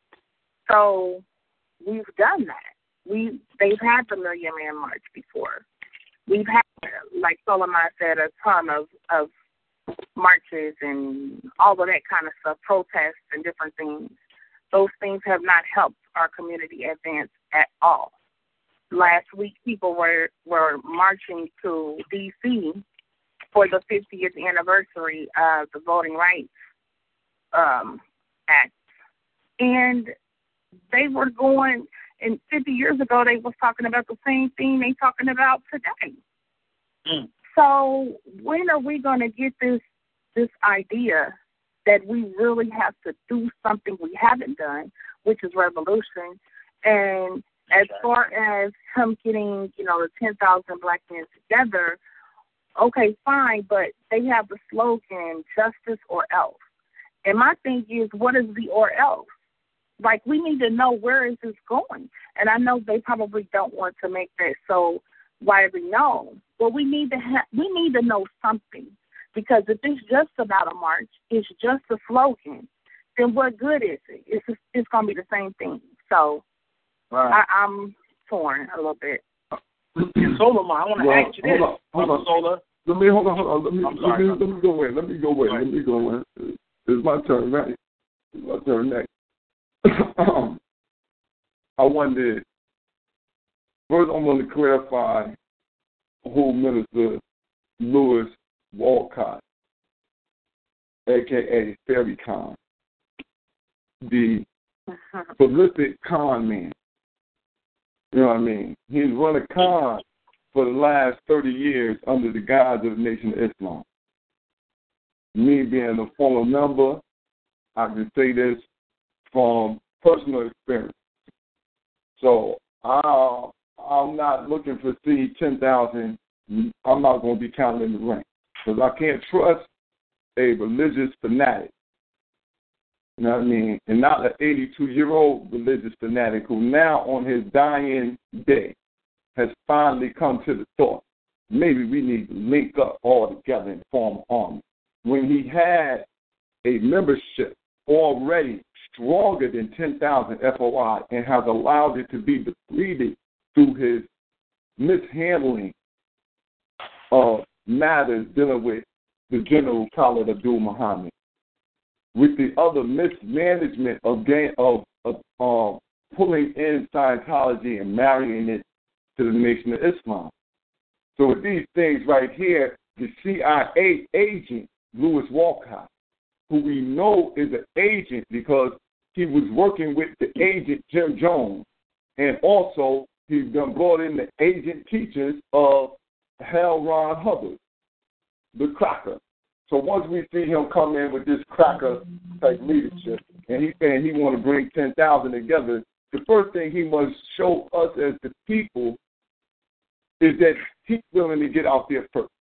So we've done that. We they've had the Million Man March before. We've had, like Solomon said, a ton of, of marches and all of that kind of stuff, protests and different things. Those things have not helped our community advance at all. Last week, people were, were marching to D C for the fiftieth anniversary of the Voting Rights um, Act. And they were going, and fifty years ago, they was talking about the same thing they talking about today. Mm. So when are we going to get this this idea that we really have to do something we haven't done, which is revolution? And as far as him getting, you know, the ten thousand black men together, okay, fine, but they have the slogan, justice or else. And my thing is, what is the or else? Like, we need to know where is this going. And I know they probably don't want to make that so widely known, but we need to ha- we need to know something. Because if it's just about a march, it's just a slogan, then what good is it? It's just, it's going to be the same thing. So right. I, I'm torn a little bit. Solomon, I want to well, ask you this. Hold on, hold on. Sola. Let me hold on, hold on. Let me, let me, let me go in. Let me go in. Right. Let me go in. It's my turn, right? It's my turn next. um, I wondered, first I want to clarify who Minister Lewis Walcott a k a. Fairy Khan, the prolific con man. You know what I mean? He's run a con for the last thirty years under the guise of the Nation of Islam. Me being a former member, I can say this from personal experience. So I, I'm not looking to see ten thousand. I'm not going to be counting in the rank because I can't trust a religious fanatic. You know what I mean? And not an eighty-two-year-old religious fanatic who now on his dying day has finally come to the thought, maybe we need to link up all together and form an army. When he had a membership already stronger than ten thousand F O I and has allowed it to be depleted through his mishandling of matters dealing with the General Khalid Abdul Muhammad, with the other mismanagement of, game, of, of uh, pulling in Scientology and marrying it to the Nation of Islam. So with these things right here, the C I A agent, Louis Walcott, who we know is an agent because he was working with the agent Jim Jones, and also he's done brought in the agent teachers of L. Ron Hubbard, the cracker. So once we see him come in with this cracker-type leadership, and he's saying he want to bring ten thousand together, the first thing he must show us as the people is that he's willing to get out there first.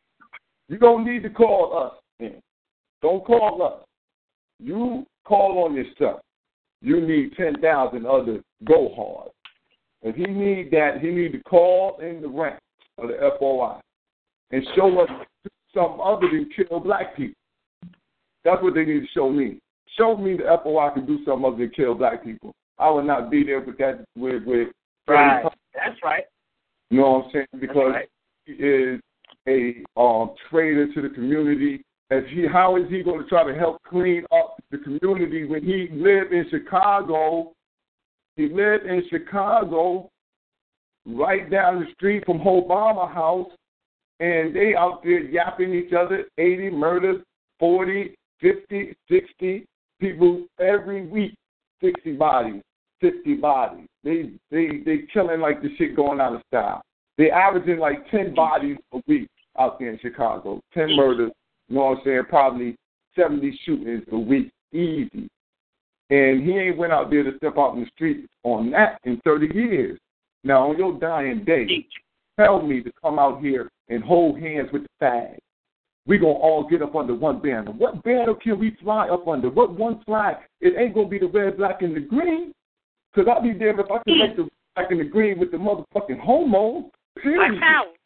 You don't need to call us in. Don't call us. You call on yourself. You need ten thousand other go hard. If he need that, he need to call in the ranks of the F O I and show us something other than kill black people. That's what they need to show me. Show me the F O I can do something other than kill black people. I would not be there with that. With, with right. That's right. You know what I'm saying? Because right. he is a um, traitor to the community. As he, how is he going to try to help clean up the community when he lived in Chicago? He lived in Chicago, right down the street from Obama House, and they out there yapping each other, eighty murders, forty, fifty, sixty people every week, sixty bodies, fifty bodies. They they they killing like the shit going out of style. They averaging like ten bodies a week out there in Chicago, ten murders. You know what I'm saying? Probably seventy shootings a week, easy. And he ain't went out there to step out in the street on that in thirty years. Now, on your dying day, tell me to come out here and hold hands with the fag. We're going to all get up under one banner. What banner can we fly up under? What one flag? It ain't going to be the red, black, and the green. Because I'll be damned if I can make the black and the green with the motherfucking homos. Period.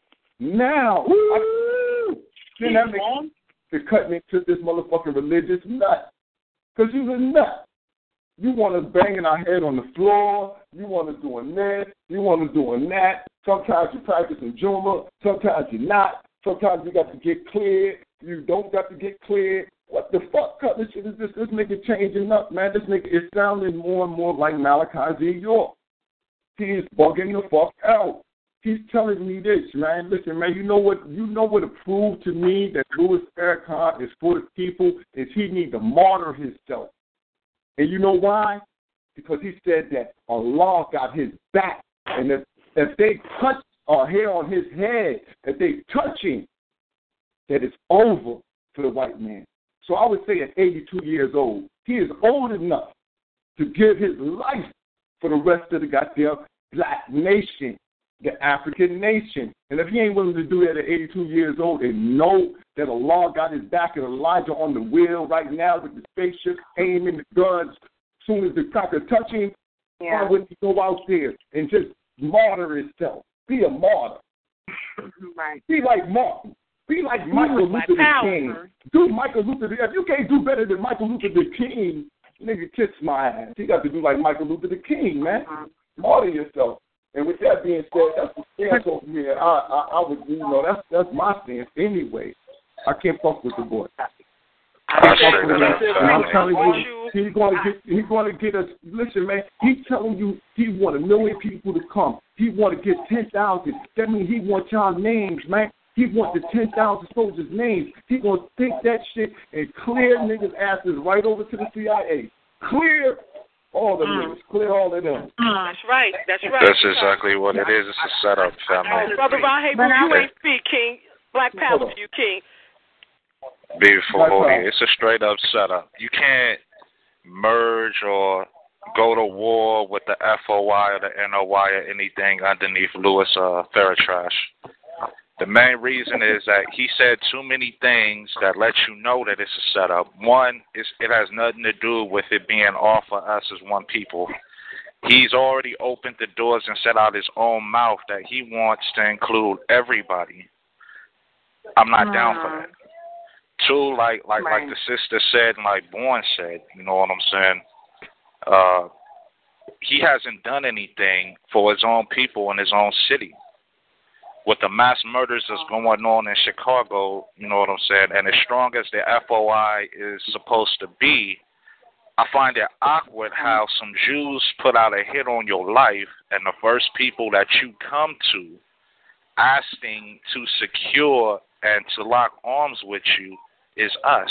Now, I, then that makes to cut me to this motherfucking religious nut. Because you're a nut. You want us banging our head on the floor. You want us doing this. You want us doing that. Sometimes you're practicing Juma. Sometimes you're not. Sometimes you got to get cleared. You don't got to get cleared. What the fuck kind of shit is this? This nigga changing up, man. This nigga is sounding more and more like Malachi Z. York. He is bugging the fuck out. He's telling me this, man. Listen, man, you know what you know what it proved to me that Louis Farrakhan is for the people is he need to martyr himself. And you know why? Because he said that Allah got his back. And if, if they touch a hair on his head, if they touch him, that it's over for the white man. So I would say at eighty-two years old, he is old enough to give his life for the rest of the goddamn black nation, the African nation. And if he ain't willing to do that at eighty-two years old and know that Allah got his back and Elijah on the wheel right now with the spaceship aiming the guns, as soon as the cracker touch him, yeah. why wouldn't he go out there and just martyr himself? Be a martyr. Right. Be like Martin. Be like Michael Luther the King. Do Michael Luther the King. If you can't do better than Michael Luther the King, nigga, kiss my ass. You got to do like Michael Luther the King, man. Uh-huh. Martyr yourself. And with that being said, that's the stance over here. I, I, I would, you know, that's that's my stance anyway. I can't fuck with the boy. I can't fuck with him. And I'm telling you, he's going to get, he's going to get us. Listen, man, he's telling you he want a million people to come. He want to get ten thousand. That means he wants y'all names, man. He wants the ten thousand soldiers' names. He going to take that shit and clear niggas' asses right over to the C I A. Clear all the mm. niggas. Clear all of them. Mm. That's right. That's right. That's exactly what it is. It's a setup, family. Oh, Brother Ron, hey, you ain't speak, King. Black power to you, King. Beautiful, holy. It's a straight up setup. You can't merge or go to war with the F O Y or the N O Y or anything underneath Louis uh, Farrakhan. The main reason is that he said too many things that let you know that it's a setup. One, is it has nothing to do with it being all for us as one people. He's already opened the doors and set out his own mouth that he wants to include everybody. I'm not uh, down for that. Two, like like right. like the sister said and like Bourne said, you know what I'm saying? Uh, he hasn't done anything for his own people in his own city. With the mass murders that's going on in Chicago, you know what I'm saying, and as strong as the F O I is supposed to be, I find it awkward how some Jews put out a hit on your life, and the first people that you come to asking to secure and to lock arms with you is us.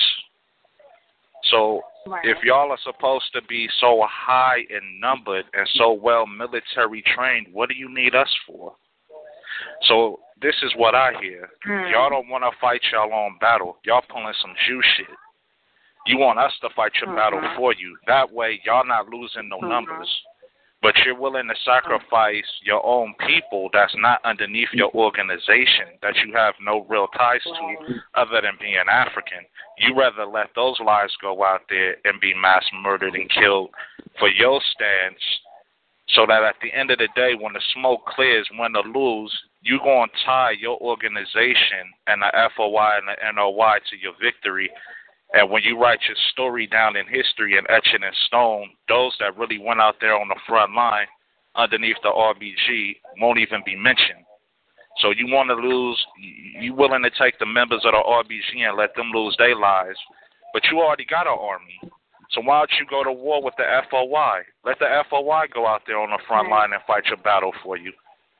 So right. if y'all are supposed to be so high in numbered and so well military trained, what do you need us for? So this is what I hear. Mm. Y'all don't want to fight y'all own battle. Y'all pulling some Jew shit. You want us to fight your mm-hmm. battle for you. That way, y'all not losing no mm-hmm. numbers. But you're willing to sacrifice your own people that's not underneath your organization, that you have no real ties to other than being African. You rather let those lives go out there and be mass murdered and killed for your stance, so that at the end of the day, when the smoke clears, win or lose, you're going to tie your organization and the F O Y and the N O Y to your victory. And when you write your story down in history and etch it in stone, those that really went out there on the front line underneath the R B G won't even be mentioned. So you want to lose, you willing to take the members of the R B G and let them lose their lives, but you already got an army. So why don't you go to war with the F O Y? Let the F O Y go out there on the front line and fight your battle for you.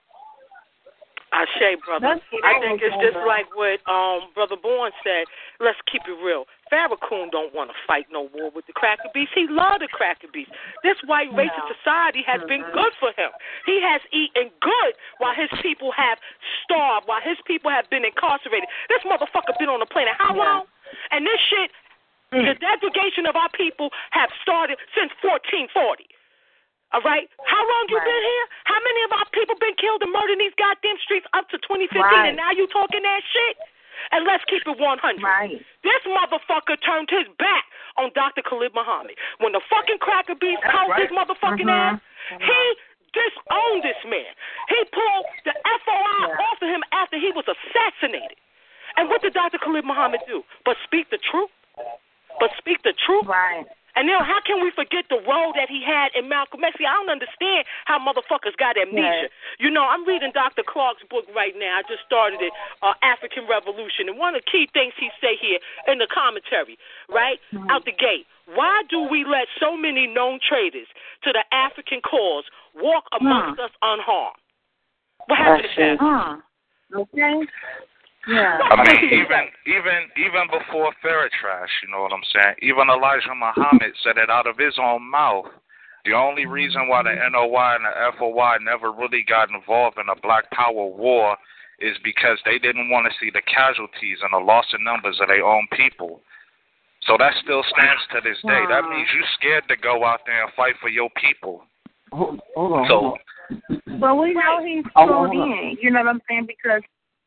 I say, brother. I think it's just like what um, Brother Bourne said. Let's keep it real. Farrakhan don't want to fight no war with the cracker beasts. He love the cracker beasts. This white racist no. society has mm-hmm. been good for him. He has eaten good while his people have starved, while his people have been incarcerated. This motherfucker been on the planet how yeah. long? And this shit, mm. the degradation of our people have started since fourteen forty. All right? How long you right. been here? How many of our people been killed and murdered in these goddamn streets up to twenty fifteen, right. and now you talking that shit? And let's keep it one hundred. Right. This motherfucker turned his back on Doctor Khalid Muhammad. When the fucking cracker beast called right. his motherfucking mm-hmm. ass, mm-hmm. he disowned this man. He pulled the F O I yeah. off of him after he was assassinated. And what did Doctor Khalid Muhammad do? But speak the truth? But speak the truth? Right. And now, how can we forget the role that he had in Malcolm X? See, I don't understand how motherfuckers got amnesia. Yes. You know, I'm reading Doctor Clark's book right now. I just started it, uh, African Revolution. And one of the key things he say here in the commentary, right, mm-hmm. out the gate, why do we let so many known traitors to the African cause walk amongst mm. us unharmed? What happened to that? Uh, okay. Yeah. I mean, even even even before Farrakhan, you know what I'm saying? Even Elijah Muhammad said it out of his own mouth. The only reason why the N O Y and the F O Y never really got involved in a Black Power war is because they didn't want to see the casualties and the loss in numbers of their own people. So that still stands to this day. That means you're scared to go out there and fight for your people. Hold, hold on. So, hold on. But we know he's pulled in. You know what I'm saying? Because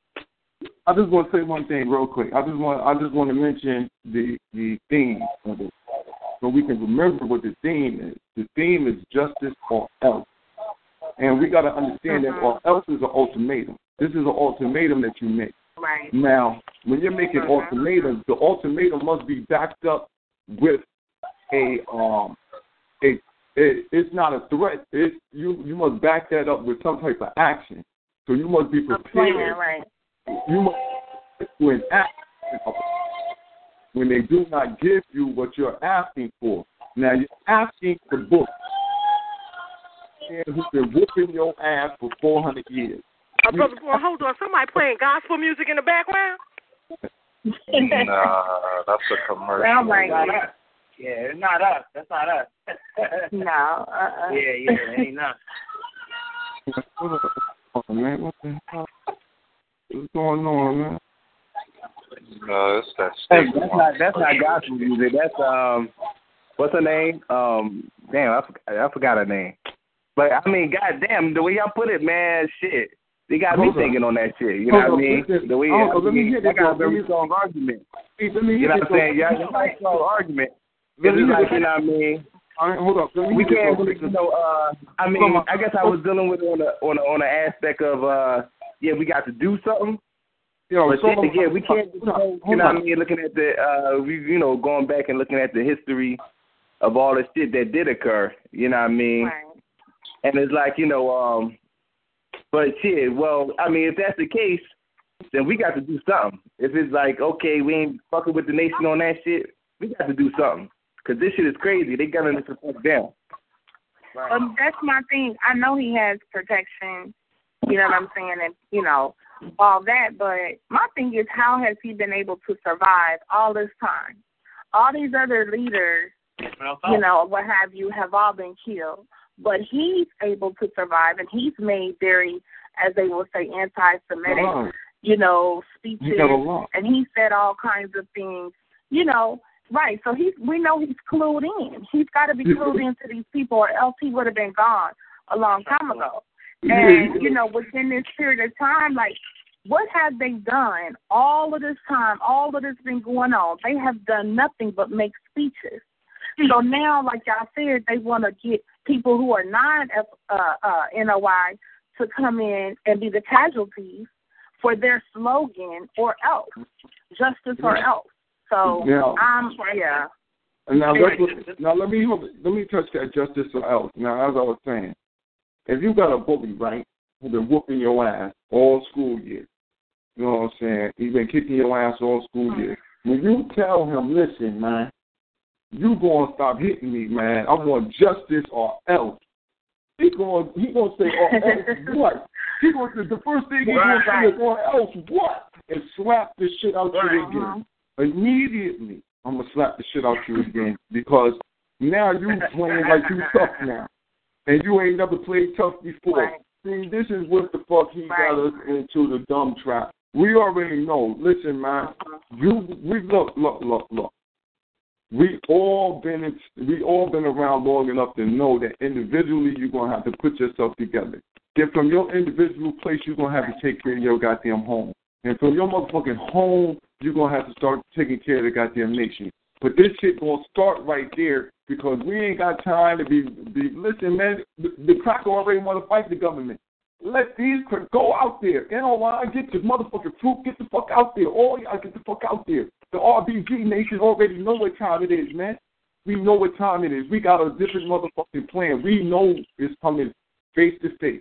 I just want to say one thing real quick. I just want I just want to mention the the theme of it, so we can remember what the theme is. The theme is justice or else, and we got to understand mm-hmm. that or else is an ultimatum. This is an ultimatum that you make. Right. Now, when you're making mm-hmm. ultimatums, the ultimatum must be backed up with a um a it, it's not a threat. It's you you must back that up with some type of action. So you must be prepared. Plan, right. You must when when they do not give you what you're asking for. Now you're asking for books. And who's been whooping your ass for four hundred years. Uh, Brother Boy, hold on. Somebody playing gospel music in the background? Nah, that's a commercial. Oh my God. Yeah, it's not us. That's not us. No. Uh-uh. Yeah, yeah, it ain't us. Oh, man, what the hell? What's going on, man? No, it's that Hey, state. that's not that's not gospel music. That's um, what's her name? Um, damn, I forgot, I forgot her name. But I mean, goddamn, the way y'all put it, man, shit, they got me Hold thinking up. on that shit. You know Hold what I up, mean? listen. The way Oh, I let me mean, hear that this, got a though. very Let me- strong argument. Hey, let me You hear know this, what I'm saying? though. Yeah, it's like a strong argument. Let It's me just hear like, this. you know what I mean? All right, hold up. Let me We hear can't this, really, though. you know, uh, I mean, Come on. I guess I was dealing with it on the on the, on the aspect of, uh, yeah, we got to do something. Yo, But so then again, we can't, you hold on, know, hold what I on. mean, looking at the, uh, we, you know, going back and looking at the history of all the shit that did occur, you know what I mean? Right. And it's like, you know, um, but shit, well, I mean, if that's the case, then we got to do something. If it's like, okay, we ain't fucking with the nation on that shit, we got to do something. Because this shit is crazy. They got us to fuck down. Right. Um, that's my thing. I know he has protection, you know what I'm saying, and, you know, all that, but my thing is, how has he been able to survive all this time? All these other leaders, you know, what have you, have all been killed, but he's able to survive, and he's made very, as they will say, anti-Semitic, Right. you know, He speeches, got a lot. and he said all kinds of things, you know, right, so he's, we know he's clued in. He's got to be clued into these people, or else he would have been gone a long time ago. And, you know, within this period of time, like, what have they done all of this time, all of this been going on? They have done nothing but make speeches. So now, like y'all said, they want to get people who are non uh, uh, N O I to come in and be the casualties for their slogan, or else, justice or else. So, Yeah. um, yeah. And now, that's what, now let me let me touch that justice or else. Now, as I was saying, if you got a bully, right, who's been whooping your ass all school year, you know what I'm saying? He's been kicking your ass all school year. When you tell him, listen, man, you gonna stop hitting me, man. I want justice or else. He gonna he gonna say, or else what? He gonna the first thing he gonna say is, or else what? And slap the shit out you again. Immediately, I'm gonna slap the shit out you again, because now you playing like you tough now, and you ain't never played tough before. Right. See, this is what the fuck he Right. got us into, the dumb trap. We already know. Listen, man, you we look look look look. We all been in, we all been around long enough to know that individually you're gonna have to put yourself together. Then from your individual place, you're gonna have to take care of your goddamn home. And from your motherfucking home, you're going to have to start taking care of the goddamn nation. But this shit going to start right there, because we ain't got time to be, be listen, man, the, the cracker already want to fight the government. Let these crackers go out there. You know why? Get the motherfucking fruit, get the fuck out there. All y'all get the fuck out there. The R B G nation already know what time it is, man. We know what time it is. We got a different motherfucking plan. We know it's coming face to face.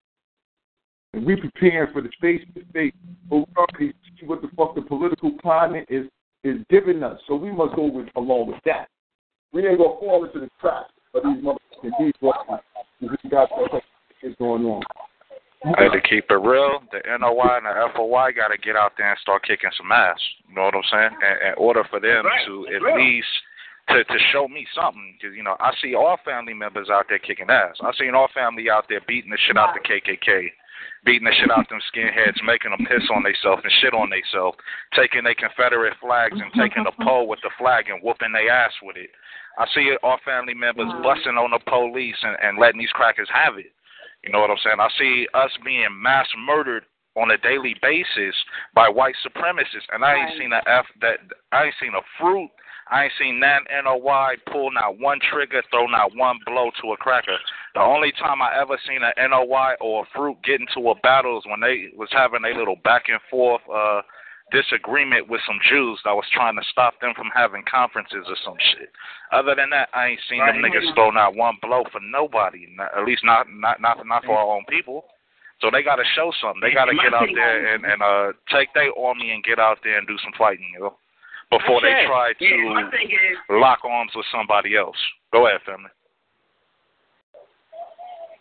And we preparing for the face to face, but we already see what the fuck the political climate is is giving us. So we must go with along with that. We ain't gonna fall into the trap of these motherfucking people. We got what is going on. Hey, to keep it real, the N O Y and the F O Y got to get out there and start kicking some ass. You know what I'm saying? In, in order for them right. to at real. least to, to show me something, because you know I see all family members out there kicking ass. I seen all family out there beating the shit out the K K K. Beating the shit out them skinheads, making them piss on themselves and shit on themselves, taking their Confederate flags and taking a pole with the flag and whooping their ass with it. I see it, our family members busting on the police and, and letting these crackers have it. You know what I'm saying? I see us being mass murdered on a daily basis by white supremacists, and I ain't seen a F that I ain't seen a fruit. I ain't seen that N O Y pull not one trigger, throw not one blow to a cracker. The only time I ever seen an N O Y or a fruit get into a battle is when they was having a little back and forth uh, disagreement with some Jews that was trying to stop them from having conferences or some shit. Other than that, I ain't seen right. them niggas throw not one blow for nobody. Not, at least not not not not for our own people. So they got to show something. They got to get out there and, and uh, take their army and get out there and do some fighting, you know, before okay. they try to yeah, is, lock arms with somebody else. Go ahead, family.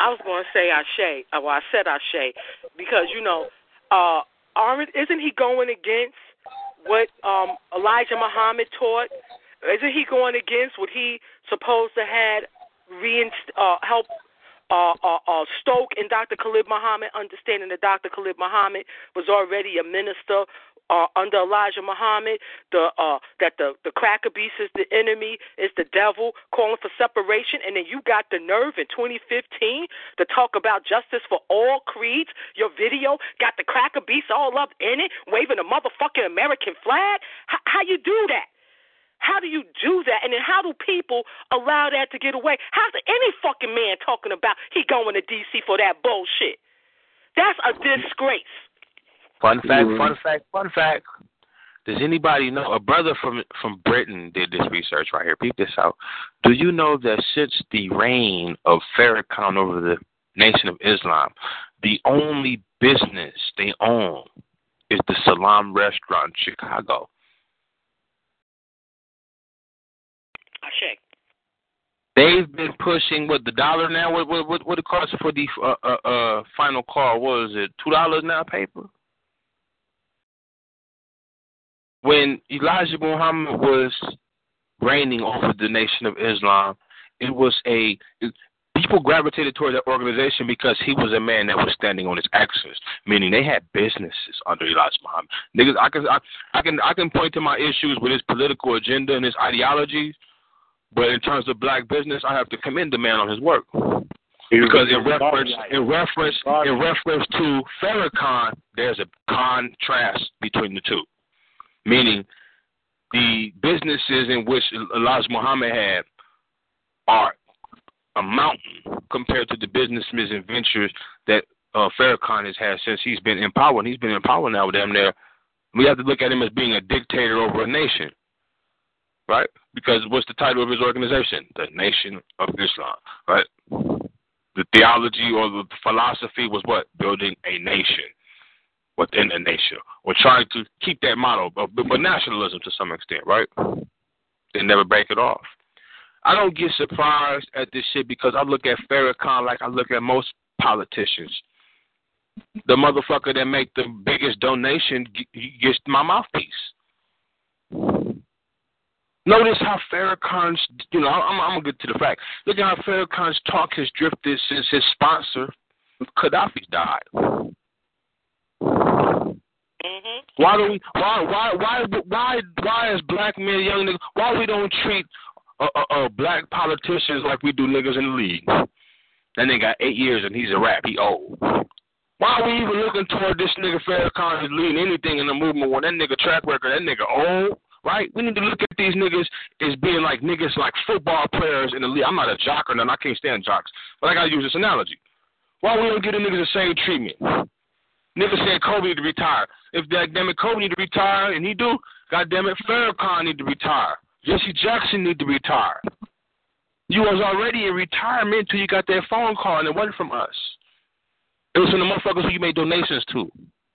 I was going to say Ashe. Well, I said Ashe because, you know, uh, aren't, isn't he going against what um, Elijah Muhammad taught? Isn't he going against what he supposed to had reinst- uh, help uh, uh, uh, stoke in Doctor Khalid Muhammad, understanding that Doctor Khalid Muhammad was already a minister Uh, under Elijah Muhammad, the uh, that the, the cracker beast is the enemy, is the devil, calling for separation, and then you got the nerve in twenty fifteen to talk about justice for all creeds. Your video got the cracker beast all up in it, waving a motherfucking American flag. H- how you do that? How do you do that? And then how do people allow that to get away? How's any fucking man talking about he going to D C for that bullshit? That's a disgrace. Fun fact, fun fact, fun fact. Does anybody know, a brother from from Britain did this research right here. Peep this out. Do you know that since the reign of Farrakhan over the Nation of Islam, the only business they own is the Salam Restaurant in Chicago? Ashe. They've been pushing, what, the dollar now? What what what, what it costs for the uh, uh, uh, final call? What is it, two dollars now paper? When Elijah Muhammad was reigning over the Nation of Islam, it was a it, people gravitated toward that organization because he was a man that was standing on his axis, meaning they had businesses under Elijah Muhammad. Niggas, I can I, I can I can point to my issues with his political agenda and his ideologies, but in terms of black business, I have to commend the man on his work. Because in reference in reference in reference to Farrakhan, there's a contrast between the two. Meaning, the businesses in which Elijah Muhammad had are a mountain compared to the businesses and ventures that uh, Farrakhan has had since he's been in power. And he's been in power now, damn near. We have to look at him as being a dictator over a nation, right? Because what's the title of his organization? The Nation of Islam, right? The theology or the philosophy was what? Building a nation within a nation, or trying to keep that model of but nationalism to some extent, right? They never break it off. I don't get surprised at this shit because I look at Farrakhan like I look at most politicians. The motherfucker that make the biggest donation gets my mouthpiece. Notice how Farrakhan's, you know, I'm, I'm going to get to the fact. Look at how Farrakhan's talk has drifted since his sponsor, Gaddafi, died. Mm-hmm. Why do we? Why? Why? Why? Why? Why as black men, young niggas, why we don't treat uh, uh, uh, black politicians like we do niggas in the league? That nigga got eight years and he's a rap. He old. Why are we even looking toward this nigga Farrakhan is leading anything in the movement when that nigga track record, that nigga old, right? We need to look at these niggas as being like niggas like football players in the league. I'm not a jock or nothing. I can't stand jocks, but I gotta use this analogy. Why we don't give the niggas the same treatment? Niggas said Kobe need to retire. If that damn it Kobe need to retire, and he do, goddamn it, Farrakhan need to retire. Jesse Jackson need to retire. You was already in retirement until you got that phone call, and it wasn't from us. It was from the motherfuckers who you made donations to.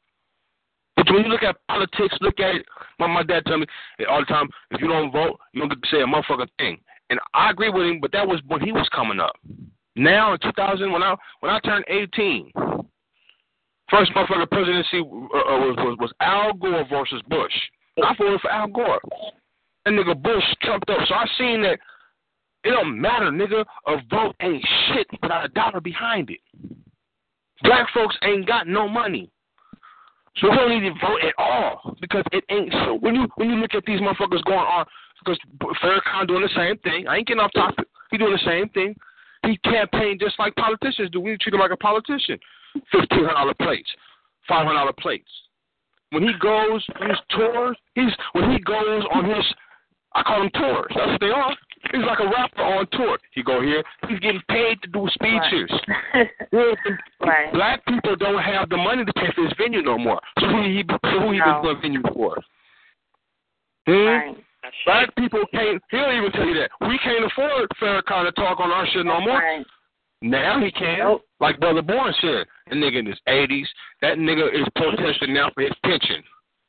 But when you look at politics, look at it. My, my dad tell me all the time, if you don't vote, you don't get to say a motherfucking thing. And I agree with him, but that was when he was coming up. Now in two thousand, when I when I turned eighteen. First motherfucker presidency uh, was, was was Al Gore versus Bush. I voted for Al Gore. That nigga Bush trumped up. So I seen that it don't matter, nigga. A vote ain't shit without a dollar behind it. Black folks ain't got no money. So we don't need to vote at all because it ain't so. When you when you look at these motherfuckers going on, because Farrakhan doing the same thing. I ain't getting off topic. He doing the same thing. He campaigned just like politicians do. We treat him like a politician. Fifteen hundred dollar plates, five hundred dollar plates. When he goes on his tours, he's when he goes on his, I call them tours. That's what they are. He's like a rapper on tour. He go here. He's getting paid to do speeches. Right. Right. Black people don't have the money to pay for his venue no more. So who he so who he no. been doing venue for? Hmm? Right. Black people can't. He'll even tell you that we can't afford Farrakhan to talk on our shit no more. Right. Now he can. Nope. Like Brother Bourne said, the nigga in his eighties, that nigga is protesting now for his pension.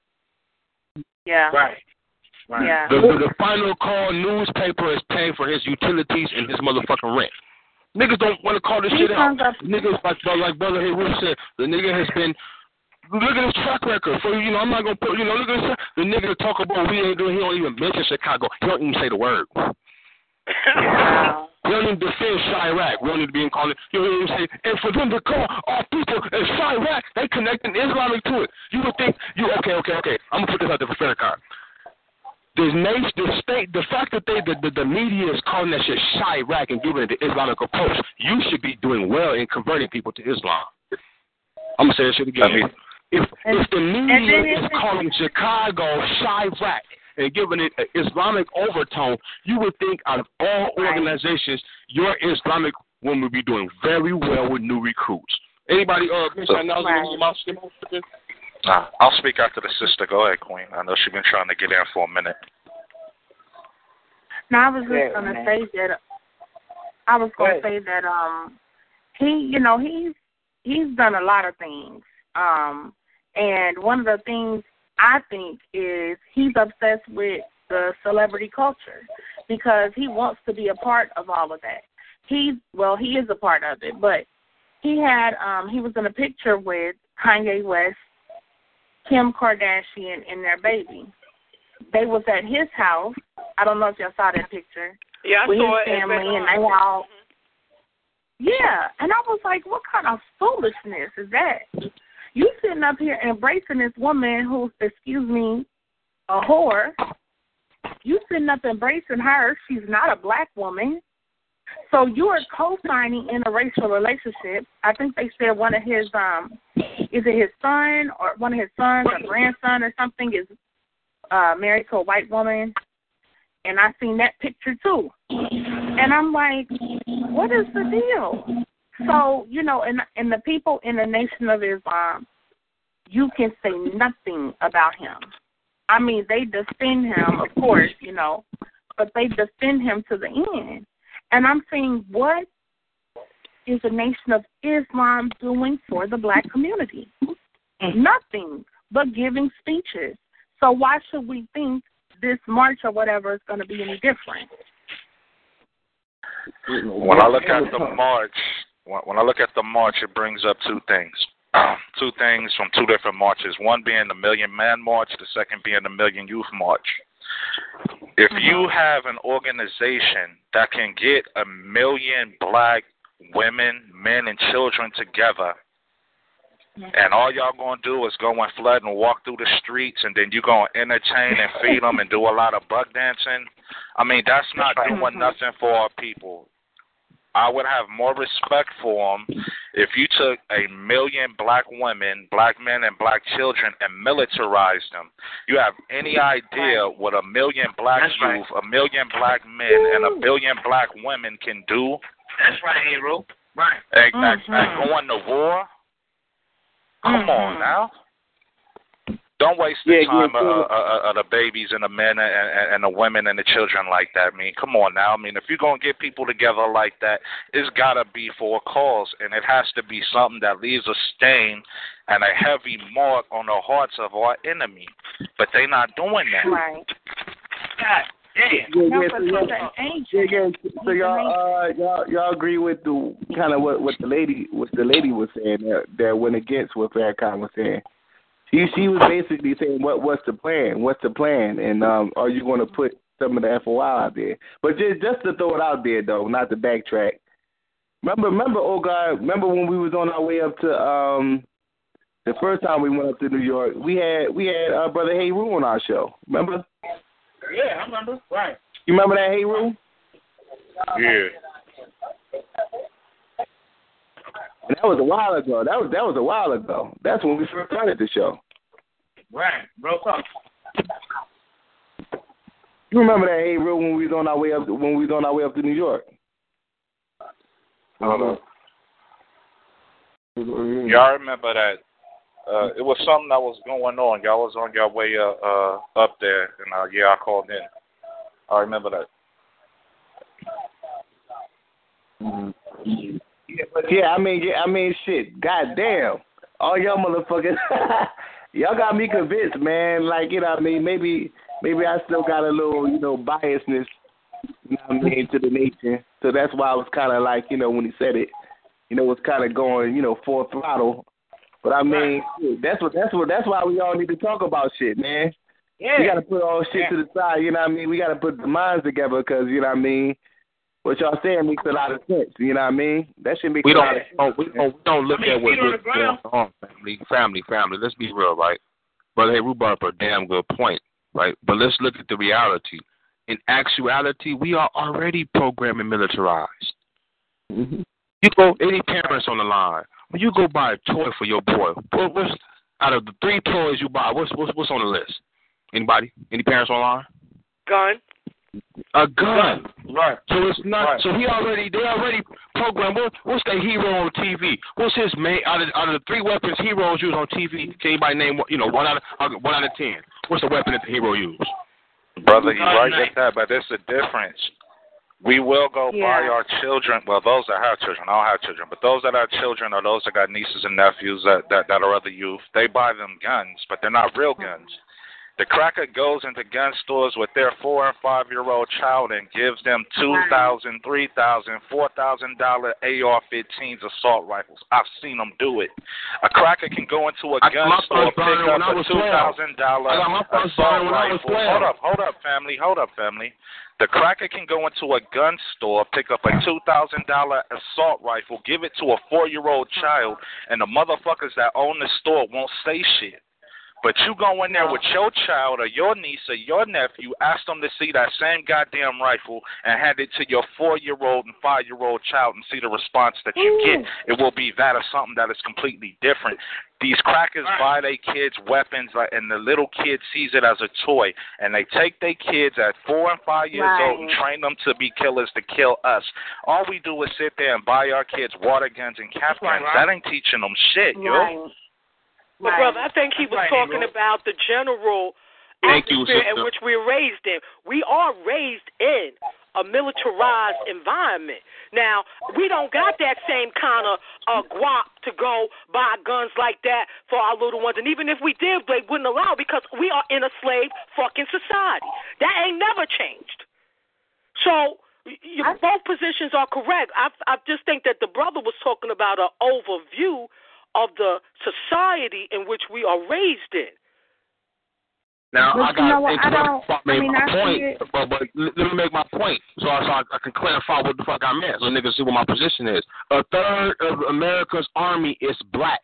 Yeah. Right. Right. Yeah. The, the, the final call newspaper is paying for his utilities and his motherfucking rent. Niggas don't want to call this he shit out. hung up. Niggas, like, like Brother Haywood said, the nigga has been, look at his track record. For, you know, I'm not going to put, you know, look at this, the nigga talk about we ain't doing, he don't even mention Chicago. He don't even say the word. Wow. We don't even defend Chirac. We don't need to be in calling. You don't even say, and for them to call our people as Chirac, they connecting Islamic to it. You would think, you okay, okay, okay. I'm gonna put this out there for Farrakhan. This nation, the state, the fact that they, the, the, the media is calling that shit Chirac and giving it the Islamic approach, you should be doing well in converting people to Islam. I'm gonna say that shit again. If if the media is calling Chicago Chirac and giving it an Islamic overtone, you would think out of all organizations, your Islamic woman would be doing very well with new recruits. Anybody uh, mention that right. Nah, I'll speak after the sister. Go ahead, Queen. I know she's been trying to get in for a minute. No, I was just yeah, gonna man. say that. I was gonna say that um, he, you know, he's he's done a lot of things. Um, and one of the things I think is he's obsessed with the celebrity culture because he wants to be a part of all of that. He, well, he is a part of it, but he had, um, he was in a picture with Kanye West, Kim Kardashian, and their baby. They was at his house. I don't know if y'all saw that picture. Yeah, I with saw his it. family, and they all. Yeah, and I was like, what kind of foolishness is that? You sitting up here embracing this woman who's, excuse me, a whore. You sitting up embracing her. She's not a black woman. So you are co-signing interracial relationship. I think they said one of his, um, is it his son or one of his sons or grandson or something is uh, married to a white woman. And I seen that picture too. And I'm like, what is the deal? So, you know, and, and the people in the Nation of Islam, you can say nothing about him. I mean, they defend him, of course, you know, but they defend him to the end. And I'm saying, what is the Nation of Islam doing for the black community? Mm-hmm. Nothing but giving speeches. So why should we think this march or whatever is going to be any different? When I look at the march, when I look at the march, it brings up two things. two things from two different marches. One being the Million Man March, the second being the Million Youth March. If you have an organization that can get a million black women, men, and children together, and all y'all going to do is go and flood and walk through the streets, and then you going to entertain and feed them and do a lot of buck dancing, I mean, that's not doing nothing for our people. I would have more respect for them if you took a million black women, black men, and black children and militarized them. You have any idea what a million black That's youth, right. a million black men, and a billion black women can do? That's right, Hero. Right. And, mm-hmm. and going to war? Come mm-hmm. on now. Don't waste the yeah, time yeah, yeah. Of, of, of the babies and the men and, and, and the women and the children like that. I mean, come on now. I mean, if you're going to get people together like that, it's got to be for a cause, and it has to be something that leaves a stain and a heavy mark on the hearts of our enemy. But they're not doing that. Right. God damn. Yeah, yeah, so, y'all, yeah, yeah, so y'all, uh, y'all, y'all agree with the kind of what, what the lady, what the lady was saying that, that went against what Farrakhan was saying. She she was basically saying, "What what's the plan? What's the plan? And um, are you going to put some of the F O I out there?" But just just to throw it out there, though, not to backtrack. Remember, remember, oh God, remember when we was on our way up to um, the first time we went up to New York, we had we had uh, Brother Heru on our show. Remember? Yeah, I remember. Right. You remember that, Heru? Yeah. And that was a while ago. That was that was a while ago. That's when we first started the show. Right, real talk. You remember that, hey, real when we was on our way up when we was on our way up to New York? Hold on. Yeah, I remember that. Uh, it was something that was going on. Y'all was on your way uh, uh, up there, and uh, yeah, I called in. I remember that. Mm-hmm. Yeah, I mean, yeah, I mean, shit. Goddamn, all y'all motherfuckers, y'all got me convinced, man. Like, you know, what I mean, maybe, maybe I still got a little, you know, biasness You know what I mean, to the nation. So that's why I was kind of like, you know, when he said it, you know, it's kind of going, you know, full throttle. But I mean, shit, that's what that's what that's why we all need to talk about shit, man. Yeah. We got to put all shit yeah. to the side. You know what I mean? We got to put the minds together because you know what I mean. What y'all saying makes a lot of sense. You know what I mean? That should make we a don't, lot of sense. oh, we don't. We don't look I mean, at what feet on really the ground. going on. Family, family, family. Let's be real, right? Brother, hey, Rue brought up a damn good point, right? But let's look at the reality. In actuality, we are already programmed and militarized. Mm-hmm. You go, any parents on the line, when you go buy a toy for your boy, what, what's out of the three toys you buy? What's what's what's on the list? Anybody? Any parents online? Gun. A gun. Right. So it's not. Right. So he already. They already programmed. What, what's the hero on T V? What's his main out of out of the three weapons heroes use on T V? Can anybody name you know one out of one out of ten? What's the weapon that the hero use? Brother, you're right with that, but there's a difference. We will go Yeah. buy our children, well, those that have children, I don't have children, but those that have children or those that got nieces and nephews that, that, that are other youth, they buy them guns, but they're not real guns. The cracker goes into gun stores with their four and five year old child and gives them two thousand, three thousand, four thousand dollar A R fifteens assault rifles. I've seen them do it. A cracker can go into a I, gun store, pick up a two thousand dollar assault rifle. Hold up, hold up, family, hold up, family. The cracker can go into a gun store, pick up a two thousand dollar assault rifle, give it to a four year old child, and the motherfuckers that own the store won't say shit. But you go in there with your child or your niece or your nephew, ask them to see that same goddamn rifle and hand it to your four-year-old and five-year-old child and see the response that you get. It will be that or something that is completely different. These crackers buy their kids weapons, like, and the little kid sees it as a toy, and they take their kids at four and five years Right. old and train them to be killers to kill us. All we do is sit there and buy our kids water guns and cap guns. Right. That ain't teaching them shit, yo. Right. But, Right. brother, I think he was Right, talking Negro. about the general Thank you, atmosphere in sister. which we're raised in. We are raised in a militarized environment. Now, we don't got that same kind of uh, guap to go buy guns like that for our little ones. And even if we did, they wouldn't allow because we are in a slave fucking society. That ain't never changed. So you, I- both positions are correct. I, I just think that the brother was talking about an overview of the society in which we are raised in. Now But I you got know what, to I don't- I I made mean, my I see point, it. but, but let me make my point so I, so I, I can clarify what the fuck I meant, so niggas see what my position is. A third of America's army is black.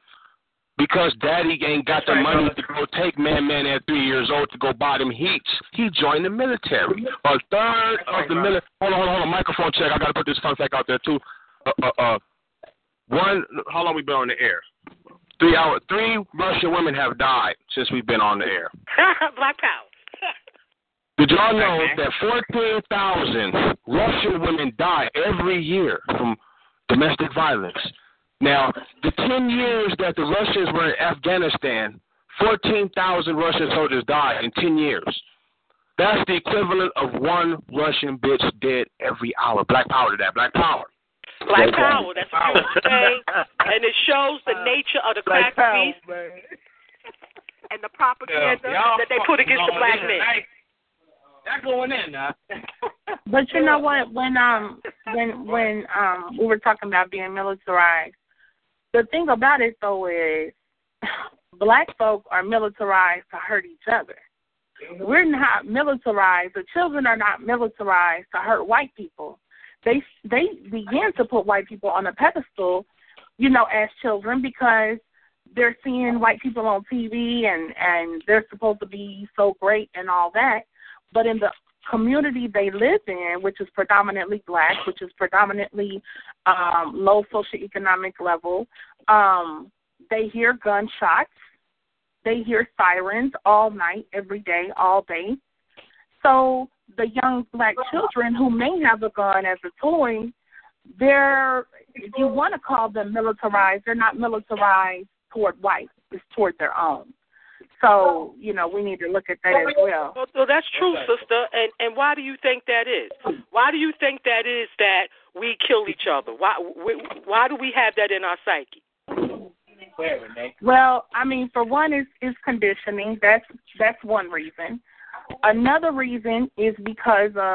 Because daddy ain't got the Right, money brother. to go take man man at three years old to go buy them heats, he joined the military. A third That's of right, the brother. military. Hold on, hold on, hold on. Microphone check. I got to put this fun fact out there too. Uh, uh, uh, one. How long we been on the air? Three hours. Three Russian women have died since we've been on the air. Black power. Did y'all know Okay. that fourteen thousand Russian women die every year from domestic violence? Now, the ten years that the Russians were in Afghanistan, fourteen thousand Russian soldiers died in ten years. That's the equivalent of one Russian bitch dead every hour. Black power to that. Black power. Black power. That's what you were saying. And it shows the nature of the crack Black power, beast man. and the propaganda Yeah, y'all that they put against the fucking black going man. in tonight. That going in now. But you know what? When um when when um we were talking about being militarized, the thing about it though is black folk are militarized to hurt each other. We're not militarized. The children are not militarized to hurt white people. They they begin to put white people on a pedestal, you know, as children because they're seeing white people on T V and and they're supposed to be so great and all that. But in the community they live in, which is predominantly black, which is predominantly um, low socioeconomic level, um, they hear gunshots, they hear sirens all night, every day, all day. So the young black children who may have a gun as a toy, they're, if you want to call them militarized, they're not militarized toward white, it's toward their own. So, you know, we need to look at that as well. Well, well, that's true, sister. And and why do you think that is? Why do you think that is that we kill each other? Why why do we have that in our psyche? Well, I mean, for one, is is conditioning. That's that's one reason. Another reason is because of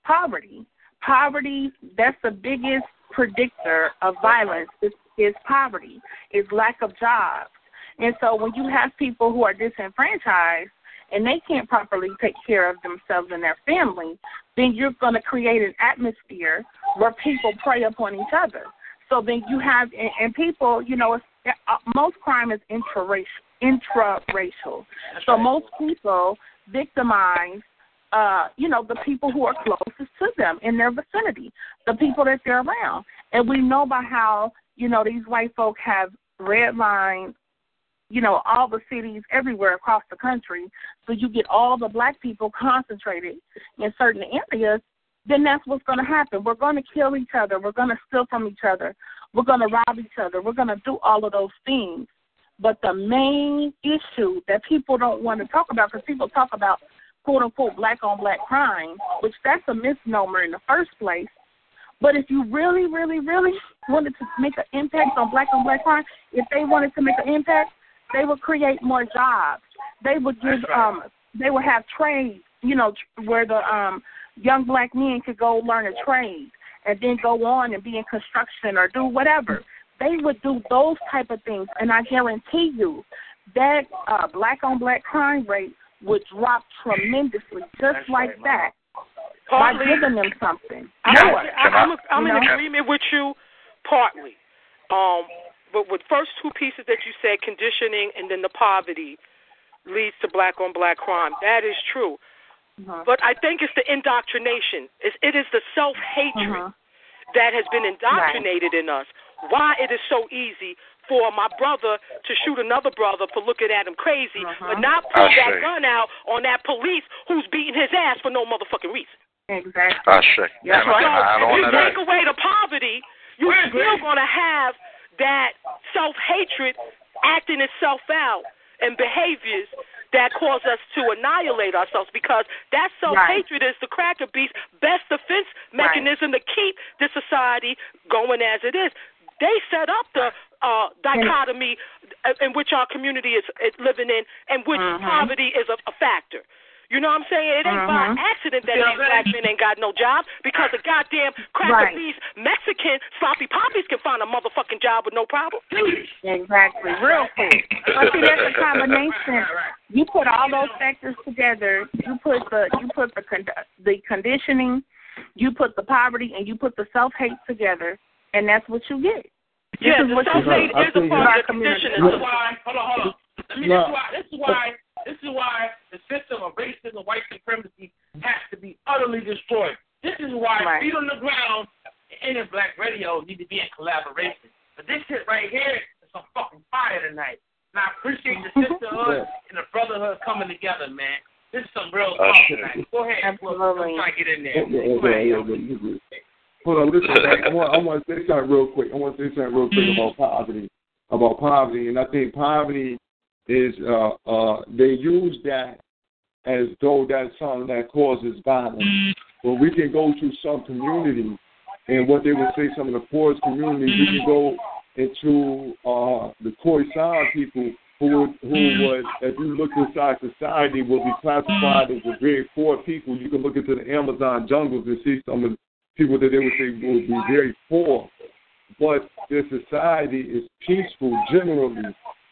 poverty. Poverty, that's the biggest predictor of violence is, is poverty, is lack of jobs. And so when you have people who are disenfranchised and they can't properly take care of themselves and their family, then you're going to create an atmosphere where people prey upon each other. So then you have, and, and people, you know, it's, uh, most crime is intraracial. intraracial. So most people victimize, uh, you know, the people who are closest to them in their vicinity, the people that they're around. And we know by how, you know, these white folk have redlined, you know, all the cities everywhere across the country, so you get all the black people concentrated in certain areas, then that's what's going to happen. We're going to kill each other. We're going to steal from each other. We're going to rob each other. We're going to do all of those things. But the main issue that people don't want to talk about, because people talk about, quote-unquote, black-on-black crime, which that's a misnomer in the first place. But if you really, really, really wanted to make an impact on black-on-black crime, if they wanted to make an impact, they would create more jobs. They would give, um, they would have trades, you know, where the um, young black men could go learn a trade and then go on and be in construction or do whatever. They would do those type of things, and I guarantee you that uh, black-on-black crime rate would drop tremendously, just That's like right, that, partly, by giving them something. I'm, More, I'm, I'm, I'm you in know? agreement with you, partly. Um, but with first two pieces that you said, conditioning and then the poverty leads to black-on-black crime. That is true. Uh-huh. But I think it's the indoctrination. It's, it is the self-hatred uh-huh. that has been indoctrinated right. in us. Why it is so easy for my brother to shoot another brother for looking at him crazy, uh-huh. but not pull I that see. gun out on that police who's beating his ass for no motherfucking reason. Exactly. I see. Yeah. So if you take away the poverty, you're still going to have that self-hatred acting itself out and behaviors that cause us to annihilate ourselves, because that self-hatred right. is the cracker beast's best defense mechanism right. to keep the society going as it is. They set up the uh, dichotomy in which our community is, is living in, and which mm-hmm. poverty is a, a factor. You know what I'm saying? It ain't mm-hmm. by accident that these black men ain't got no job, because a goddamn cracker right. beast Mexican sloppy poppies can find a motherfucking job with no problem. Exactly. Real quick. But see, that's a combination. You put all those factors together. You put the you put the the conditioning, you put the poverty, and you put the self-hate together, and that's what you get. This yeah, is the self-hate is a part of the conditioning. This is why. Hold on, hold on. I mean, this is why. This is why. This is why the system of racism, white supremacy, has to be utterly destroyed. This is why right. feet on the ground and in Black Radio need to be in collaboration. But this shit right here is some fucking fire tonight. And I appreciate the sisterhood and the brotherhood coming together, man. This is some real talk tonight. Go ahead. Absolutely. I'm trying to get in there. Yeah, yeah, yeah, yeah, yeah. Hold on, listen. I want, I want to say something real quick. I want to say something real quick about poverty. About poverty, and I think poverty is uh, uh, they use that as though that's something that causes violence. But we can go to some communities, and what they would say, some of the poorest communities, we can go into uh, the Khoisan people who would, who would, if you look inside society, will be classified as a very poor people. You can look into the Amazon jungles and see some of the people that they would say would be very poor. But their society is peaceful generally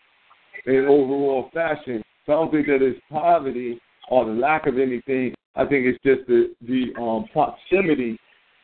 in overall fashion. So I don't think that it's poverty or the lack of anything. I think it's just the, the um, proximity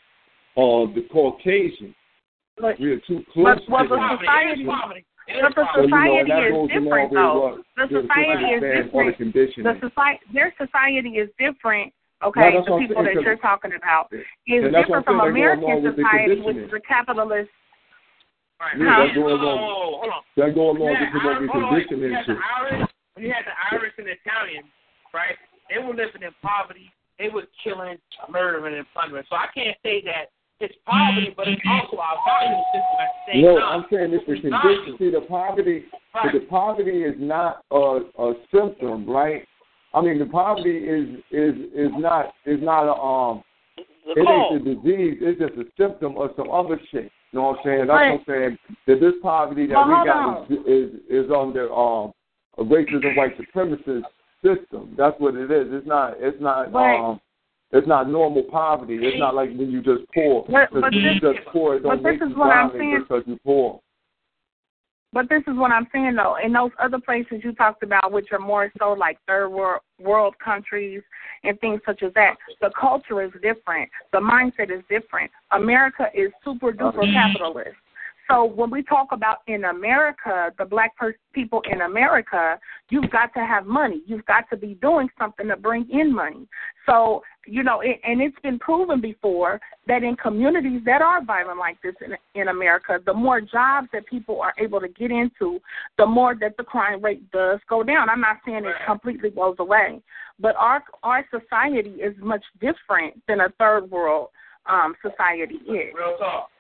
of the Caucasian. But, we are too close but, well, to the them. society, but the society so, you know, is different, though. The society is different. The society, their society is different. Okay, no, the people that you're talking about is different from American society, which is a capitalist. Right. Yeah, that's going along. That go along with what we conditioned into. When you had the Irish and the Italians, right? They were living in poverty. They were killing, murdering, and plundering. So I can't say that it's poverty, but it's also our value system at the same no, time. No, I'm saying it's the condition. See, the poverty, right. the poverty is not a, a symptom, right? I mean, the poverty is is is not is not a um. It ain't the disease. It's just a symptom of some other shit. You know what I'm saying? That's right. What I'm saying. That this poverty that well, we got is, is is under um a racism white supremacist system. That's what it is. It's not. It's not. Right. Um, It's not normal poverty. It's not like when you just poor. But, Because but when you this, just poor, it don't but make this is you what I'm violent saying. because you're poor. But this is what I'm saying, though. In those other places you talked about, which are more so like third world, world countries and things such as that, the culture is different. The mindset is different. America is super duper Uh-huh. capitalist. So when we talk about in America, the black per- people in America, you've got to have money. You've got to be doing something to bring in money. So, you know, it, and it's been proven before that in communities that are violent like this in, in America, the more jobs that people are able to get into, the more that the crime rate does go down. I'm not saying it completely goes away, but our our society is much different than a third world um, society is. Real talk.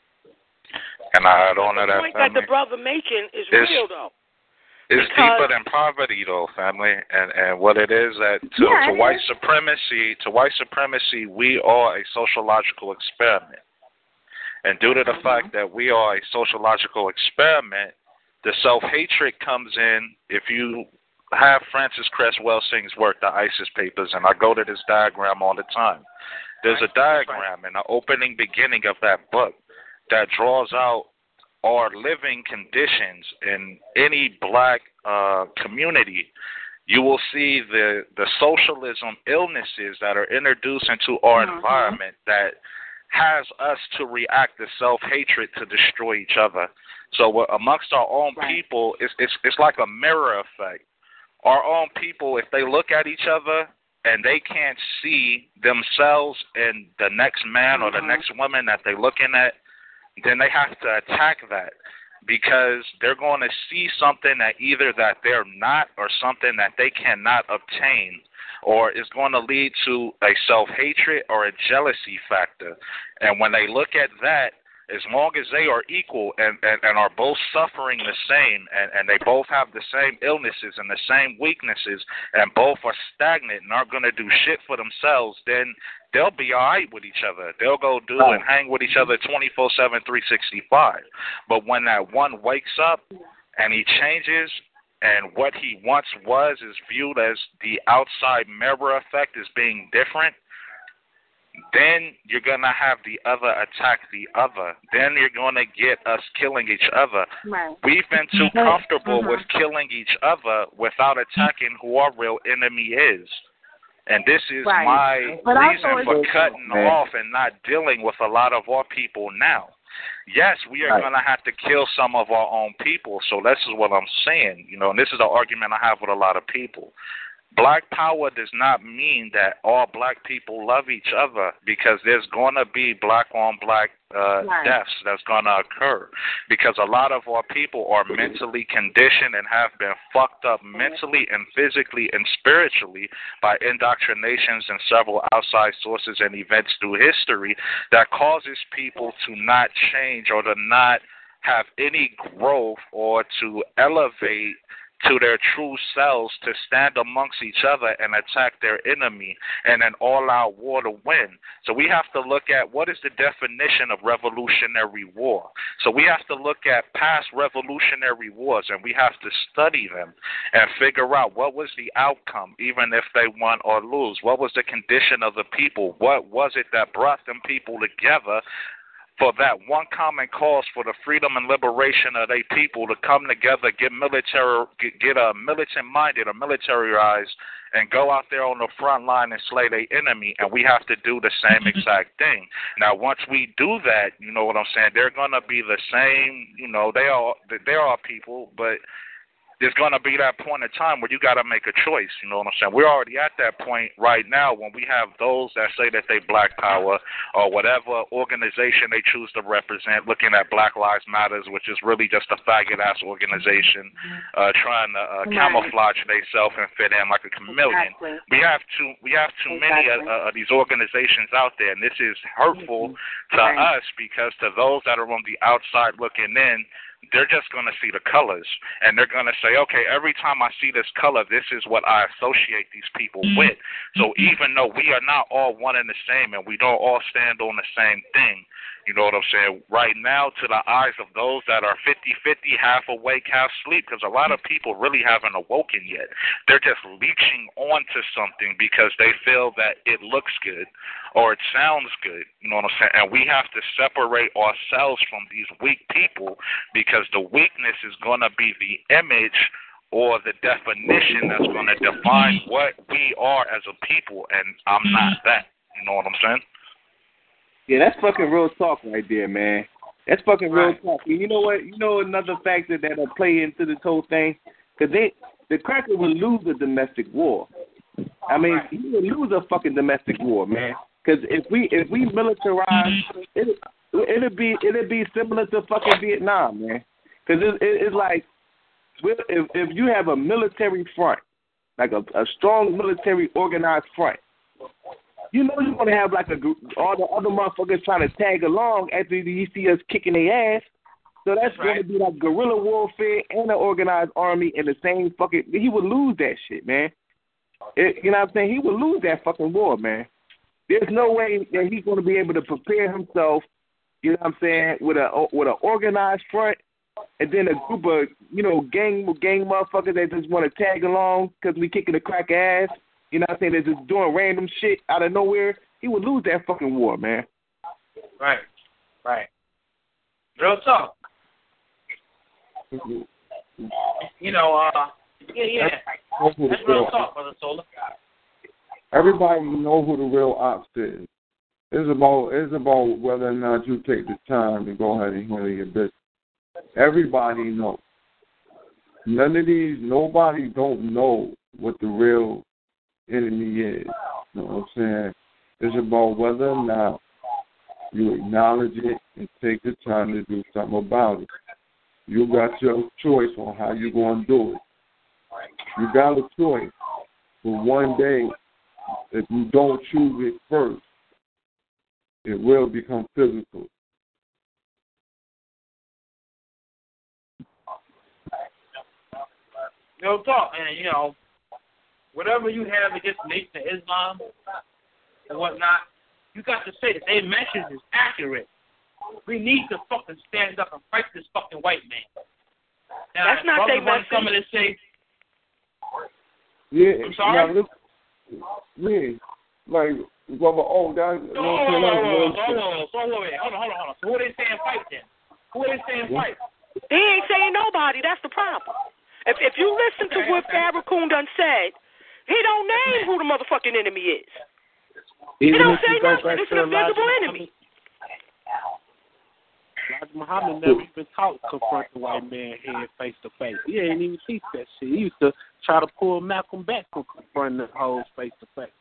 And I add on to the that, point family. that the brother mentioned is It's- real, though. It's Because- deeper than poverty, though, family, and and what it is that to, Yeah, to it white is. supremacy, to white supremacy, we are a sociological experiment, and due to the Mhm. fact that we are a sociological experiment, the self-hatred comes in. If you have Francis Cress Welsing's work, the ISIS Papers, and I go to this diagram all the time. There's a diagram in the opening beginning of that book that draws out our living conditions in any black uh, community. You will see the, the socialism illnesses that are introduced into our Mhm. environment that has us to react to self-hatred to destroy each other. So uh, amongst our own Right. people, it's, it's, it's like a mirror effect. Our own people, if they look at each other and they can't see themselves in the next man or the Mhm. next woman that they're looking at, then they have to attack that because they're going to see something that either that they're not or something that they cannot obtain, or is going to lead to a self-hatred or a jealousy factor. And when they look at that, as long as they are equal and, and, and are both suffering the same and, and they both have the same illnesses and the same weaknesses and both are stagnant and aren't going to do shit for themselves, then they'll be all right with each other. They'll go do Right. and hang with each other twenty-four seven, three sixty-five. But when that one wakes up and he changes and what he once was is viewed as the outside mirror effect as being different, then you're going to have the other attack the other. Then you're going to get us killing each other. Right. We've been too Right. comfortable Mhm. with killing each other without attacking who our real enemy is. And this is Right. my But also reason it's- for cutting Man. off and not dealing with a lot of our people now. Yes, we are Right. going to have to kill some of our own people. So this is what I'm saying, you know, and this is the argument I have with a lot of people. Black power does not mean that all black people love each other, because there's going to be black on black uh, Right. deaths that's going to occur, because a lot of our people are mentally conditioned and have been fucked up mentally and physically and spiritually by indoctrinations and several outside sources and events through history that causes people to not change or to not have any growth or to elevate to their true selves, to stand amongst each other and attack their enemy and an all-out war to win. So we have to look at what is the definition of revolutionary war. So we have to look at past revolutionary wars, and we have to study them and figure out what was the outcome, even if they won or lose. What was the condition of the people? What was it that brought them people together for that one common cause, for the freedom and liberation of their people, to come together, get military, get, get a militant-minded or militarized, and go out there on the front line and slay their enemy. And we have to do the same exact thing. Now, once we do that, you know what I'm saying, they're going to be the same, you know, they are, they are people, but there's going to be that point in time where you got to make a choice, you know what I'm saying? We're already at that point right now when we have those that say that they black power or whatever organization they choose to represent, looking at Black Lives Matters, which is really just a faggot-ass organization uh, trying to uh, Right. camouflage themselves and fit in like a chameleon. Exactly. We have too, we have too many Exactly. of, of these organizations out there, and this is hurtful to Right. us, because to those that are on the outside looking in, they're just going to see the colors, and they're going to say, okay, every time I see this color, this is what I associate these people with. So even though we are not all one and the same and we don't all stand on the same thing, You know what I'm saying? Right now, to the eyes of those that are fifty-fifty, half awake, half asleep, because a lot of people really haven't awoken yet. They're just leeching onto something because they feel that it looks good or it sounds good. You know what I'm saying? And we have to separate ourselves from these weak people, because the weakness is going to be the image or the definition that's going to define what we are as a people, and I'm not that. You know what I'm saying? Yeah, that's fucking real talk right there, man. That's fucking real Right. talk. And you know what? You know another factor that'll play into this whole thing? Because they, the cracker will lose a domestic war. I mean, Right. he will lose a fucking domestic war, man. Because if we if we militarize, it, it'll be it'll be similar to fucking Vietnam, man. Because it, it, it's like, if if you have a military front, like a, a strong military organized front, you know you're gonna have like a all the other motherfuckers trying to tag along after you see us kicking their ass. So that's, that's right. Gonna be like guerrilla warfare and an organized army in the same fucking. He would lose that shit, man. It, you know what I'm saying? He would lose that fucking war, man. There's no way that he's gonna be able to prepare himself. You know what I'm saying? With a with an organized front, and then a group of you know gang gang motherfuckers that just want to tag along because we kicking the crack ass. You know what I'm saying? They're just doing random shit out of nowhere. He would lose that fucking war, man. Right. Right. Real talk. You know, uh, yeah, yeah. That's, That's real talk, Brother Solar. Everybody know who the real ops is. It's about it's about whether or not you take the time to go ahead and handle your business. Everybody knows. None of these, nobody don't know what the real enemy is. You know what I'm saying? It's about whether or not you acknowledge it and take the time to do something about it. You got your choice on how you're going to do it. You got a choice. But one day, if you don't choose it first, it will become physical. No talk, and you know, whatever you have against the Nation of Islam and whatnot, you got to say that their message is accurate. We need to fucking stand up and fight this fucking white man. Now, that's not their message. Coming and say, yeah, I'm sorry. Now, yeah, like, brother, oh, that. No, hold on, hold on, hold on, hold on, hold on, hold on, hold on. So who are they saying fight then? Who are they saying fight? He ain't saying nobody. That's the problem. If if you listen to what Farrakhan done said, he don't name who the motherfucking enemy is. He don't say nothing. It's an invisible enemy. Elijah Muhammad never even taught to confront the white man head face to face. He ain't even teach that shit. He used to try to pull Malcolm back from confronting the hoes face to face.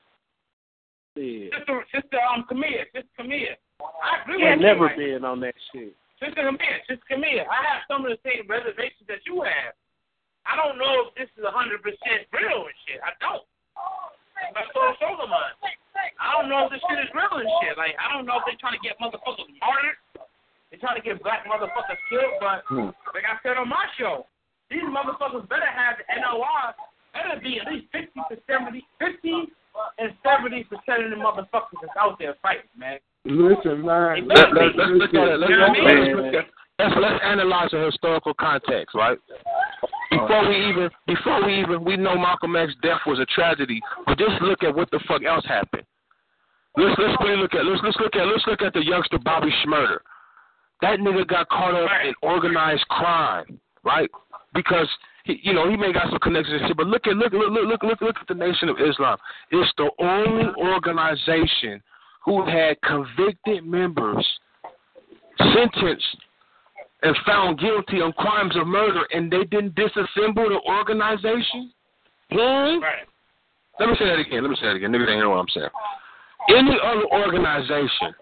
Yeah. Sister, sister, um, Camille, sister Camille. I agree yeah, with never you. been on that shit. Sister Camille, sister Camille, I have some of the same reservations that you have. I don't know if this is one hundred percent real and shit. I don't. That's so sober mine. I don't know if this shit is real and shit. Like, I don't know if they're trying to get motherfuckers martyred. They're trying to get black motherfuckers killed. But, hmm. like I said on my show, these motherfuckers better have the N O R. Better be at least fifty to seventy, fifty and seventy percent of the motherfuckers that's out there fighting, man. Listen, man. Let, let, let's look at it. Let's, let's, let's, look at, let's, let's analyze the historical context, right? Before we even, before we even, we know Malcolm X's death was a tragedy, but just look at what the fuck else happened. Let's let's really look at let's let's look at let's look at the youngster Bobby Shmurda. That nigga got caught up in organized crime, right? Because he, you know, he may got some connections and shit, but look at look look look look look look at the Nation of Islam. It's the only organization who had convicted members sentenced and found guilty on crimes of murder, and they didn't disassemble the organization? Hmm? Right. Let me say that again. Let me say that again. Niggas ain't hear what I'm saying. Any other organization,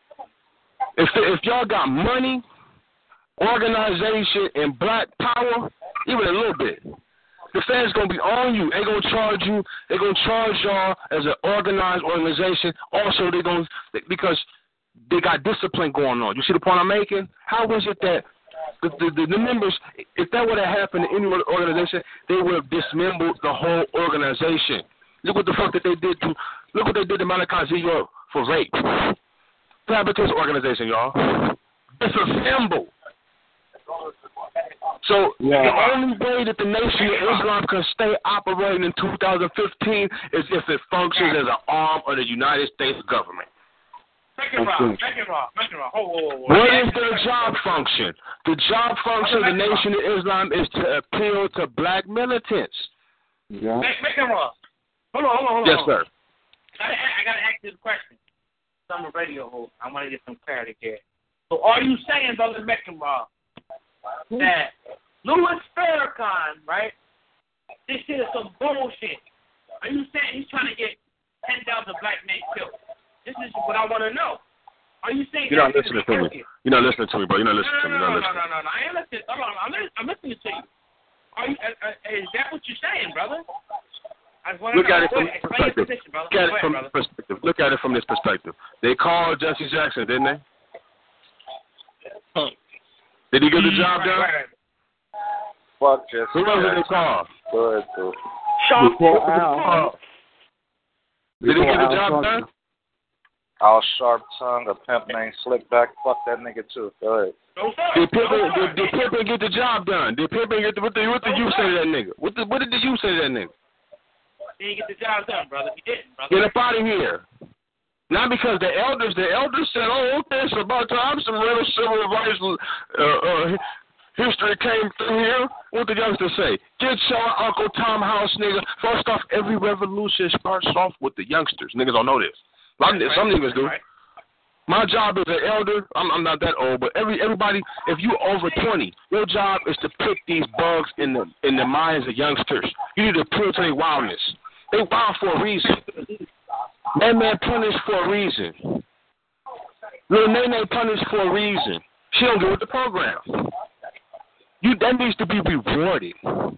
if if y'all got money, organization, and black power, even a little bit, the feds gonna be on you. They gonna charge you. They gonna charge y'all as an organized organization. Also, they gonna because they got discipline going on. You see the point I'm making? How was it that the, the, the members, if that would have happened to any organization, they would have dismembered the whole organization. Look what the fuck that they did to, look what they did to Malachi Z. York for rape. separatist organization, y'all. It's a symbol. So yeah. the only way that the Nation of Islam can stay operating in two thousand fifteen is if it functions as an arm of the United States government. Make it wrong. Make it wrong. Make it wrong. Hold, hold, hold. What is their job function? The job function of the Nation of Islam is to appeal to black militants. Yeah. Make, make it wrong. Hold on, hold on, hold on. Yes, sir. I, I got to ask you a question. I'm a radio host. I want to get some clarity here. So are you saying, Brother Meckenraw, that Louis Farrakhan, right, this shit is some bullshit? Are you saying he's trying to get ten thousand black men killed? This is what I want to know. Are you saying you're not listening to me? You're not listening to me, bro. You're not listening to me. No, no, no, no, no, no, no. I ain't listening. Hold on. I'm, I'm listening to you. Are you? Uh, uh, is that what you're saying, brother? I just want to Look know. at it from this perspective. Position, Look at it from this perspective. Look at it from this perspective. They called Jesse Jackson, didn't they? Did he get the job done? Right, right. Fuck Jesse. Who else did they call? Good, too. Sean Paul. Did he get the job done? Al Sharp Tongue, a pimp named Slickback. Fuck that nigga too. Go ahead. No, did Pimpin did, did Pimpin get the job done? Did Pimpin get the what? The, what did you say to that nigga? What, the, what did you say to that nigga? He didn't get the job done, brother. He didn't, brother. Get up out of here. Not because the elders, the elders said, "Oh, okay, it's about time some real civil rights uh, uh, history came through here." What did the youngsters say? Get your Uncle Tom House, nigga. First off, every revolution starts off with the youngsters. Niggas don't know this. Some, right. some niggas do. Right. My job as an elder, I'm, I'm not that old, but every everybody, if you over twenty, your job is to pick these bugs in the in the minds of youngsters. You need to appeal to their wildness. They wild for a reason. That man punished for a reason. Lil Nene punished for a reason. She don't get with the program. You that needs to be rewarded.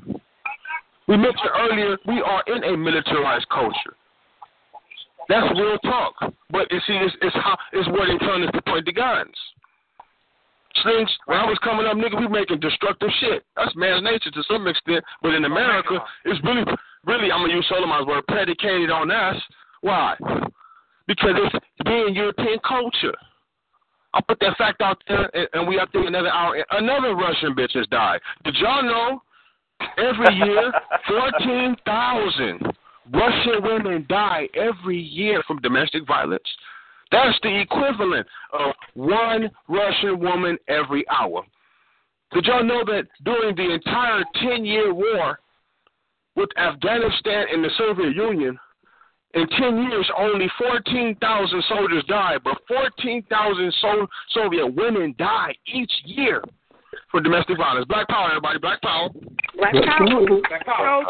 We mentioned earlier, we are in a militarized culture. That's real talk. But you see, it's, it's how it's where they turn us to point the guns. Things, when I was coming up, nigga, we making destructive shit. That's man's nature to some extent. But in America, it's really, really, I'm going to use Solomon's word, predicated on us. Why? Because it's being European culture. I'll put that fact out there, and, and we up there another hour. Another Russian bitch has died. Did y'all know every year fourteen thousand Russian women die every year from domestic violence? That's the equivalent of one Russian woman every hour. Did y'all know that during the entire ten-year war with Afghanistan and the Soviet Union, in ten years, only fourteen thousand soldiers died, but fourteen thousand so- Soviet women die each year for domestic violence. Black power, everybody. Black power. Black power. Black power.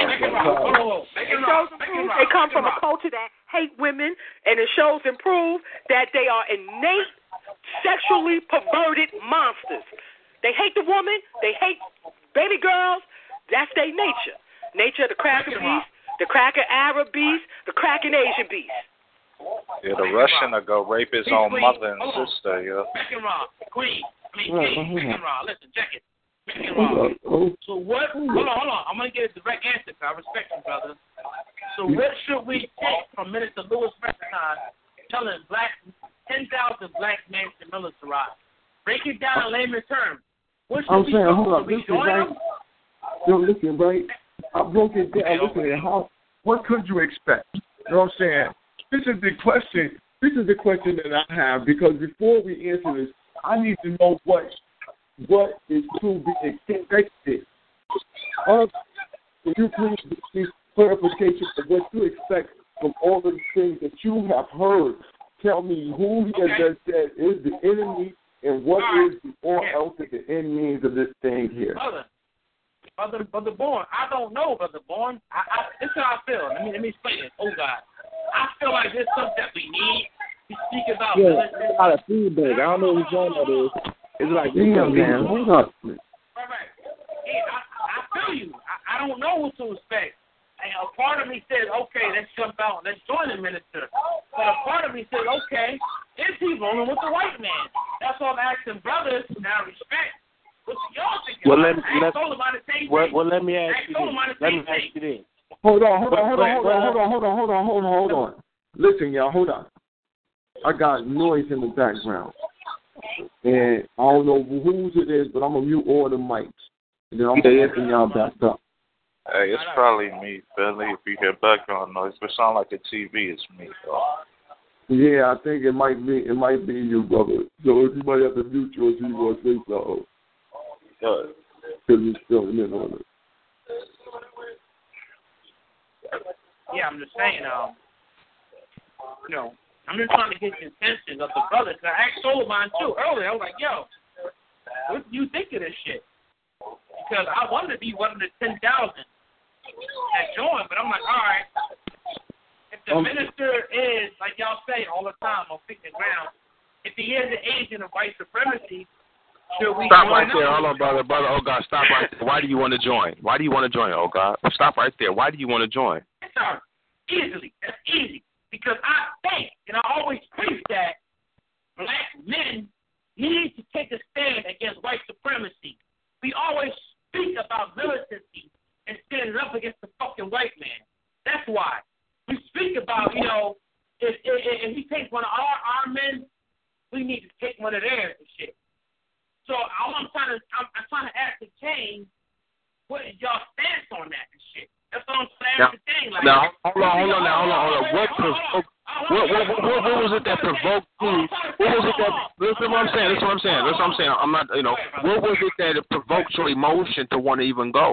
They come from a culture that hate women, and it shows and prove that they are innate, sexually perverted monsters. They hate the woman. They hate baby girls. That's their nature. Nature of the cracker beast. The cracker Arab beast, the cracking Asian beast. Yeah, the Russian will go rape his own mother and sister, yeah. Meckenraw, Queen, I mean, King, Meckenraw, listen, check it. Meckenraw. So what, hold on, hold on, I'm going to get a direct answer, because I respect you, brother. So what should we take from Minister Louis Farrakhan telling black, ten thousand black men to militarize? Break it down in layman's terms. What should I'm we saying, do? hold on, listen, right? Yo, listen, right? I broke it down. Listen, how? What could you expect? You know what I'm saying? This is the question. This is the question that I have, because before we answer this, I need to know what what is to be expected. Uh, can you please please clarification of what you expect from all of the things that you have heard? Tell me who he okay. has said is the enemy and what right. is the or yeah. else the end means of this thing here. Brother. Brother, Brother Bourne, I don't know, Brother Bourne. I, I, this is how I feel. Let me let me explain it. Oh God, I feel like there's something that we need to speak about. Yeah, a lot of feedback. I don't know what genre that is. It's like, damn, man, hold up. Right, right. Yeah, I, I feel you. I, I don't know what to expect. And a part of me says, okay, let's jump out, let's join the minister. But a part of me says, okay, is he rolling with the white man? That's why I'm asking brothers now respect. What y'all thinking? Well, let me, let, well, well, let me ask you this. Let me ask you this. Hold on, hold on, hold on, hold on, hold on, hold on, hold on, hold on, hold on. Listen, y'all, hold on. I got noise in the background. And I don't know whose it is, but I'm going to mute all the mics. And then I'm going to open y'all back up. Hey, it's probably me, Billy. If you hear background noise, if it sound like a T V, it's me, though. Yeah, I think it might be it might be you, brother. So if you might have to mute yours if you want to say something. Good. Because you're still in on it. Yeah, I'm just saying, um, you know, I'm just trying to get the attention of the brothers. I asked Solomon, too, earlier. I was like, yo, what do you think of this shit? Because I wanted to be one of the ten thousand that joined, but I'm like, all right, if the um, minister is, like y'all say all the time on Feet the Ground, if he is an agent of white supremacy, should we Stop join right there. up? Hold on, brother. Brother, oh, God, stop right there. Why do you want to join? Why do you want to join, oh, God? Stop right there. Why do you want to join? Sorry. Easily. That's easy. Because I think, and I always preach that, black men need to take a stand against white supremacy. We always speak about militancy and standing up against the fucking white man. That's why. We speak about, you know, if, if, if he takes one of our, our men, we need to take one of theirs and shit. So all I'm trying to, I'm, I'm trying to ascertain what is y'all stance on that and shit. That's what I'm trying to ascertain. Like, now, hold on, hold on, now, hold on, hold on. What provoked? What, what, what, what was it that provoked you? What was it that? Listen, what I'm saying. That's what I'm saying. That's what I'm saying. I'm not, you know. What was it that it provoked your emotion to want to even go?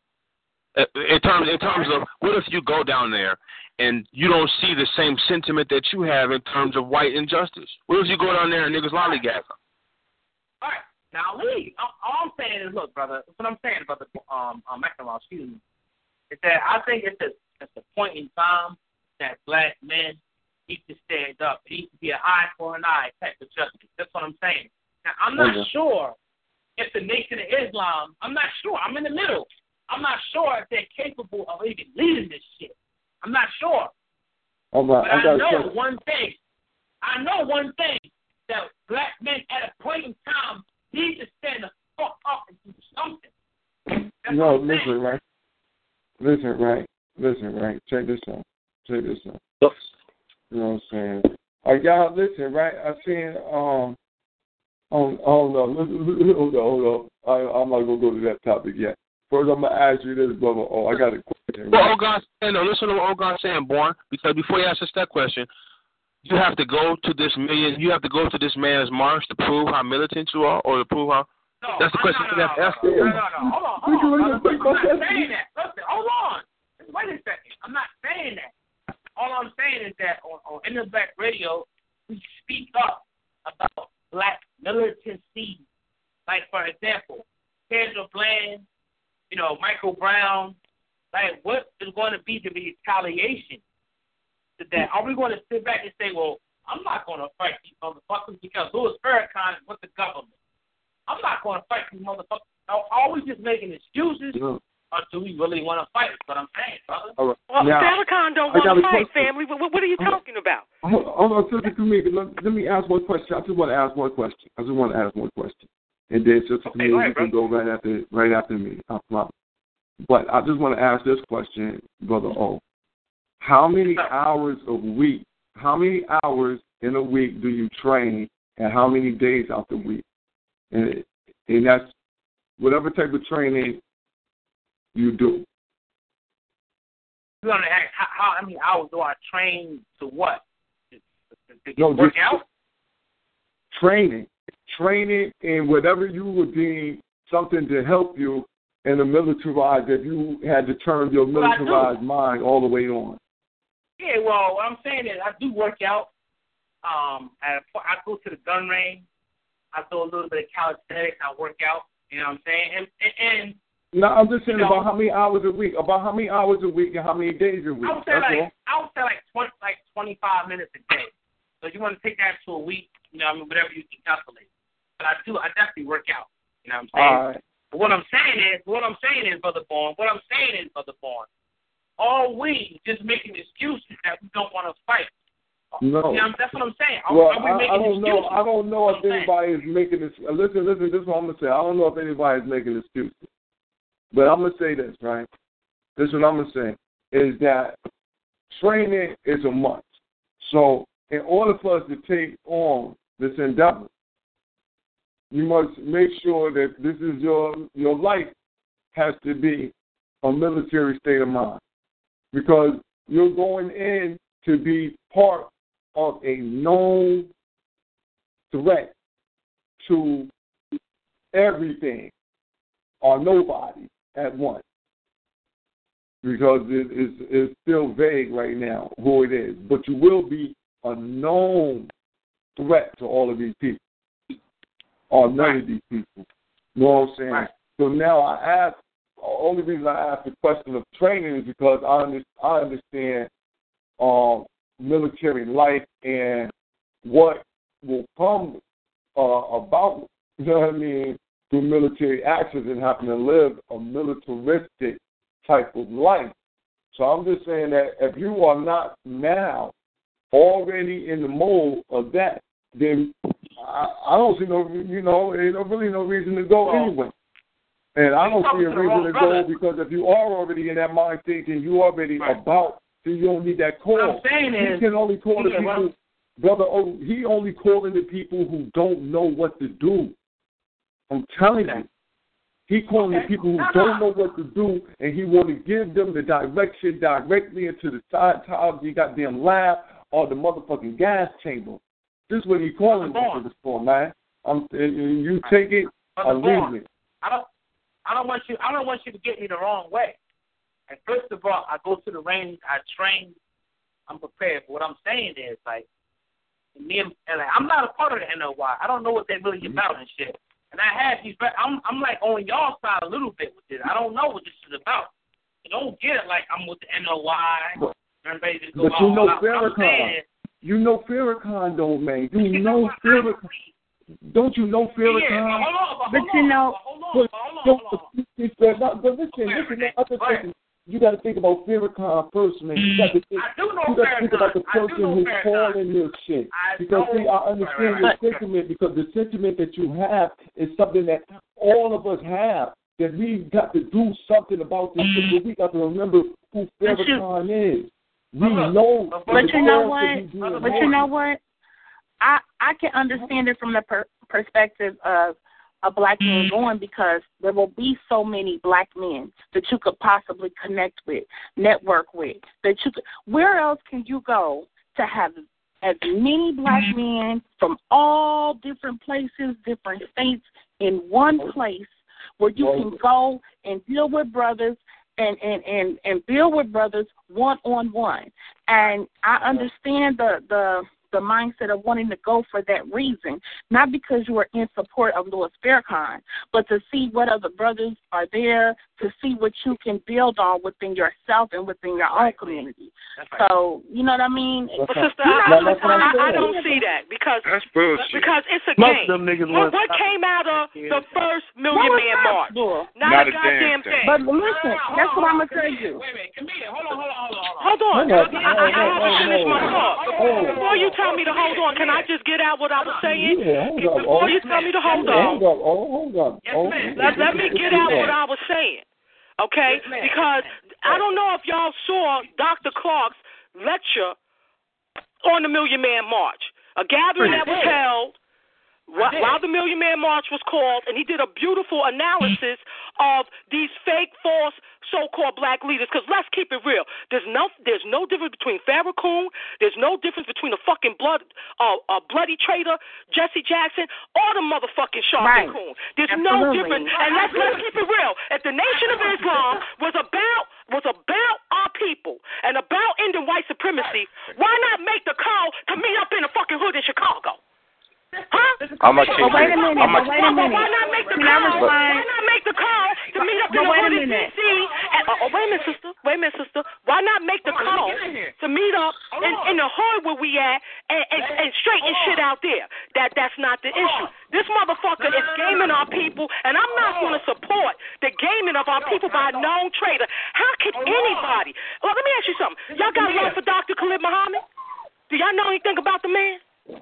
In terms, in terms of, what if you go down there and you don't see the same sentiment that you have in terms of white injustice? What if you go down there and niggas lollygag? All right, now leave. All I'm saying is, look, brother. What I'm saying, brother, um, um, McNamara, excuse me, is that I think it's a, it's a point in time that black men need to stand up. It needs to be an eye for an eye type of justice. That's what I'm saying. Now, I'm not okay. sure if the Nation of Islam, I'm not sure. I'm in the middle. I'm not sure if they're capable of even leading this shit. I'm not sure. Oh, but I, I know check. one thing. I know one thing, that black men at a point in time need to stand the fuck up and do something. That's no, listen, right? Listen, right? Listen, right? Check this out. Check this out. Yes. You know what I'm saying? All right, y'all, listen, right? I seen, um, oh, oh no, listen, hold on, hold on. I, I'm not going to go to that topic yet. First, I'm going to ask you this, brother. Oh, I got a question. Right? Well, Ogon's saying, no, listen to what Ogon's saying, Born, because before you ask us that question, you have to go to this million, you have to go to this man's march to prove how militant you are, or to prove how. No, that's the question no, no, you have to ask. No, no, no, no, hold on, hold on. I'm not saying that. Listen, hold on. Wait a second. I'm not saying that. All I'm saying is that on, on In the Black Radio, we speak up about black militancy. Like, for example, Kendra Bland, you know, Michael Brown. Like, what is going to be the retaliation to that? Are we going to sit back and say, well, I'm not going to fight these motherfuckers because Louis Farrakhan is with the government? I'm not going to fight these motherfuckers. Are we just making excuses? No. Or do we really want to fight? That's what I'm saying, brother. All right. Well, now, Farrakhan don't want to fight, family. What, what are you talking about? Hold on, sister, to me. Let, let me ask one question. I just want to ask one question. I just want to ask one question. And then, sister, okay, to me, ahead, you can bro. go right after, right after me. I promise. But I just want to ask this question, Brother O. How many hours a week, how many hours in a week do you train, and how many days out the week? And, and that's whatever type of training you do. You're going to ask how, how many hours do I train to what? To, to, to no, work just out? Training. Training in whatever you would deem something to help you in a militarized, if you had to turn your militarized mind all the way on. Yeah, well, what I'm saying is I do work out. Um, at a, I go to the gun range. I do a little bit of calisthenics. I work out. You know what I'm saying? And, and, and no, I'm just saying you know, about how many hours a week. About how many hours a week and how many days a week. I would say That's like all. I would say like twenty, like twenty-five minutes a day. So if you want to take that to a week, you know, I mean, whatever you can calculate. But I do, I definitely work out. You know what I'm saying? All right. But what I'm saying is, what I'm saying is, Brother Bourne, what I'm saying is, Brother Bourne, all we just making excuses that we don't want to fight. No. You know, that's what I'm saying. Are, well, are we I, I don't excuses? know. I don't know if I'm anybody saying. is making this. Listen, listen. This is what I'm gonna say. I don't know if anybody is making excuses, but I'm gonna say this, right? This is what I'm gonna say is that training is a must. So in order for us to take on this endeavor, you must make sure that this is your your life has to be a military state of mind, because you're going in to be part of a known threat to everything or nobody at once, because it is it's still vague right now who it is. But you will be a known threat to all of these people, or none right. of these people. You know what I'm saying? Right. So now I ask, the only reason I ask the question of training is because I, under, I understand um, military life and what will come uh, about, you know what I mean, through military actions and having to live a militaristic type of life. So I'm just saying that if you are not now already in the mold of that, then I, I don't see no, you know, there's no, really no reason to go well, anyway. And I don't see a reason to brother. go, because if you are already in that mind thinking, you already right. about, then you don't need that call. What I'm saying he is, can only call the yeah, people, well, brother. Oh, he only calling the people who don't know what to do. I'm telling okay. you. He calling okay. the people who no, don't no. know what to do, and he want to give them the direction directly into the side top of the goddamn lab or the motherfucking gas chamber. This is what he calling them for, man. I'm, you take it or leave it. I don't. I don't want you. I don't want you to get me the wrong way. And first of all, I go to the range. I train. I'm prepared. But what I'm saying is, like, me and, and like, I'm not a part of the N O Y. I don't know what they're really about and shit. And I have these. I'm I'm like on y'all side a little bit with this. I don't know what this is about. You don't get it like I'm with the N O Y. But, everybody just go but you know Farrakhan. You know Farrakhan, though, man. You, you know Farrakhan. Don't you know Farrakhan? Yeah, hold on, but, but you know, hold on, hold on, hold on. But, but listen, listen, the other thing, you got to think about Farrakhan first, man. You got to think, I do know you got to think about the Farrakhan. person who's calling this shit. I because see, I understand right, your sentiment, because the sentiment that you have is something that all of us have. That we've got to do something about this shit. But we got to remember who Farrakhan is. We know. But you know what? But you know what? I I can understand it from the per- perspective of a black man going, because there will be so many black men that you could possibly connect with, network with. That you could. Where else can you go to have as many black men from all different places, different states, in one place where you can go and deal with brothers and and and, and deal with brothers one on one? And I understand the the. the mindset of wanting to go for that reason, not because you are in support of Louis Farrakhan, but to see what other brothers are there, to see what you can build on within yourself and within your own community. So, you know what I mean? But sister, I, I, I, I don't see that, because That's bullshit. because it's a Most game. of them niggas what, want what came out of the first Million No, Man not, March? Bull. Not, Not a a goddamn damn thing. thing. But listen, that's what I'm going to tell you. Wait, wait, Camille, hold on, hold on, hold on. Hold on. Hold on. I, I, I have to finish my thought. Oh. Before you tell me to hold on, can I just get out what I was saying? Yeah, hold up. Before Oh. you tell me to hold Hold on, up. Oh, hold up. Oh. let, let me get out what I was saying, okay? Because I don't know if y'all saw Doctor Clark's lecture on the Million Man March, a gathering that was held while, while the Million Man March was called, and he did a beautiful analysis of these fake, false, so-called black leaders. Because let's keep it real, there's no, there's no difference between Farrakhan, there's no difference between the fucking blood, uh, uh, bloody traitor Jesse Jackson, or the motherfucking Sharp Right. and Coon. There's Absolutely. no difference. And let's let's keep it real. If the Nation of Islam was about was about our people and about ending white supremacy, why not make the call to meet up in the fucking hood in Chicago? Huh? How much? But wait a minute, How much? but wait a minute. Why not make the Can I call? respond? Why not make the call to meet up in But the wait a hood in D minute. C? And, oh, oh, wait a minute, sister. Wait a minute, sister. Why not make the call to meet up in, in the hood where we at and, and, and straighten shit out there? That that's not the issue. This motherfucker is gaming our people, and I'm not going to support the gaming of our people by a known traitor. How can anybody? Well, let me ask you something. Y'all got love for Doctor Khalid Muhammad? Do y'all know anything about the man?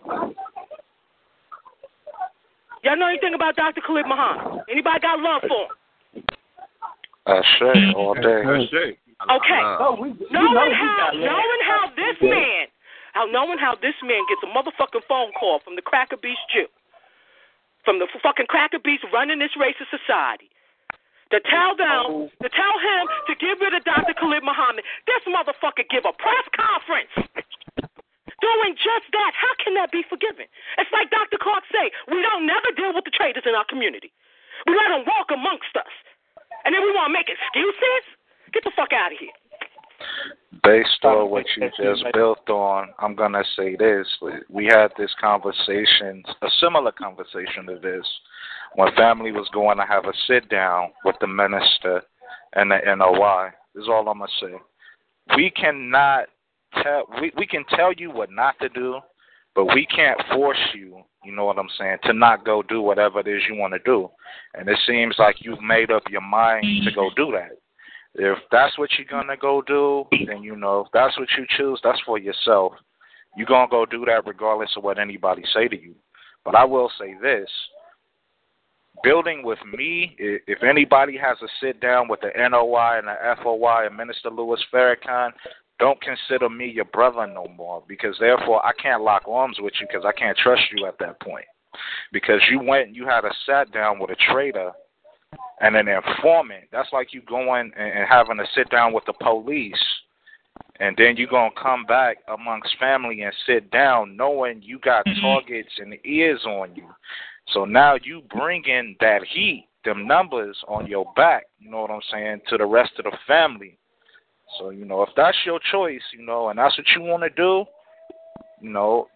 Y'all know anything about Doctor Khalid Muhammad? Anybody got love for him? I say all day. I say. Okay. No, we, we knowing know how we got knowing how this man out knowing how this man gets a motherfucking phone call from the Cracker Beast Jew, from the fucking Cracker Beast running this racist society, to tell them, to tell him to get rid of Doctor Khalid Muhammad. This motherfucker give a press conference doing just that. How can that be forgiven? It's like Doctor Clark say, we don't never deal with the traitors in our community. We let them walk amongst us. And then we want to make excuses? Get the fuck out of here. Based on what you just built on, I'm going to say this. We had this conversation, a similar conversation to this, when family was going to have a sit-down with the minister and the N O I. This is all I'm going to say. We cannot tell, we, we can tell you what not to do, but we can't force you, you know what I'm saying, to not go do whatever it is you want to do. And it seems like you've made up your mind to go do that. If that's what you're going to go do, then, you know, if that's what you choose, that's for yourself. You're going to go do that regardless of what anybody say to you. But I will say this. Building with me, if anybody has a sit-down with the N O I and the F O I and Minister Louis Farrakhan, don't consider me your brother no more, because therefore I can't lock arms with you because I can't trust you at that point. Because you went and you had a sat-down with a traitor and an informant. That's like you going and having a sit-down with the police, and then you're going to come back amongst family and sit down knowing you got targets and ears on you. So now you bring in that heat, them numbers on your back, you know what I'm saying, to the rest of the family. So, you know, if that's your choice, you know, and that's what you want to do, you know,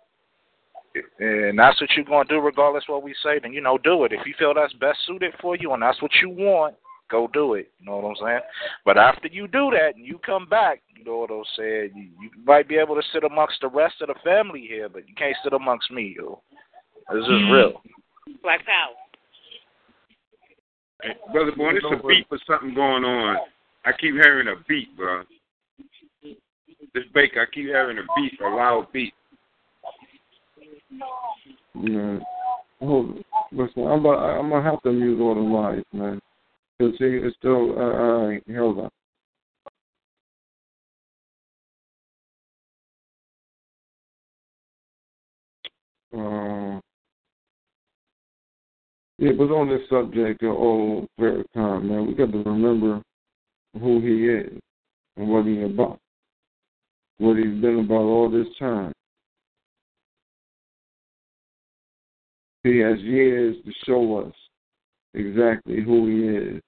and that's what you're going to do regardless of what we say, then, you know, do it. If you feel that's best suited for you and that's what you want, go do it. You know what I'm saying? But after you do that and you come back, you know what I'm saying, you, you might be able to sit amongst the rest of the family here, but you can't sit amongst me, yo. This is real. Black Power. Hey, Brother Boy, there's a beat for something going on. I keep hearing a beat, bro. This Baker, I keep hearing a beat, a loud beat. Yeah. Hold, listen, I'm about, I'm gonna have to mute all the lights, man. Cause see, it's still. Uh, all right, hold on. Uh, yeah, but on this subject of old Farrakhan, man, we got to remember who he is and what he's about, what he's been about all this time. He has years to show us exactly who he is,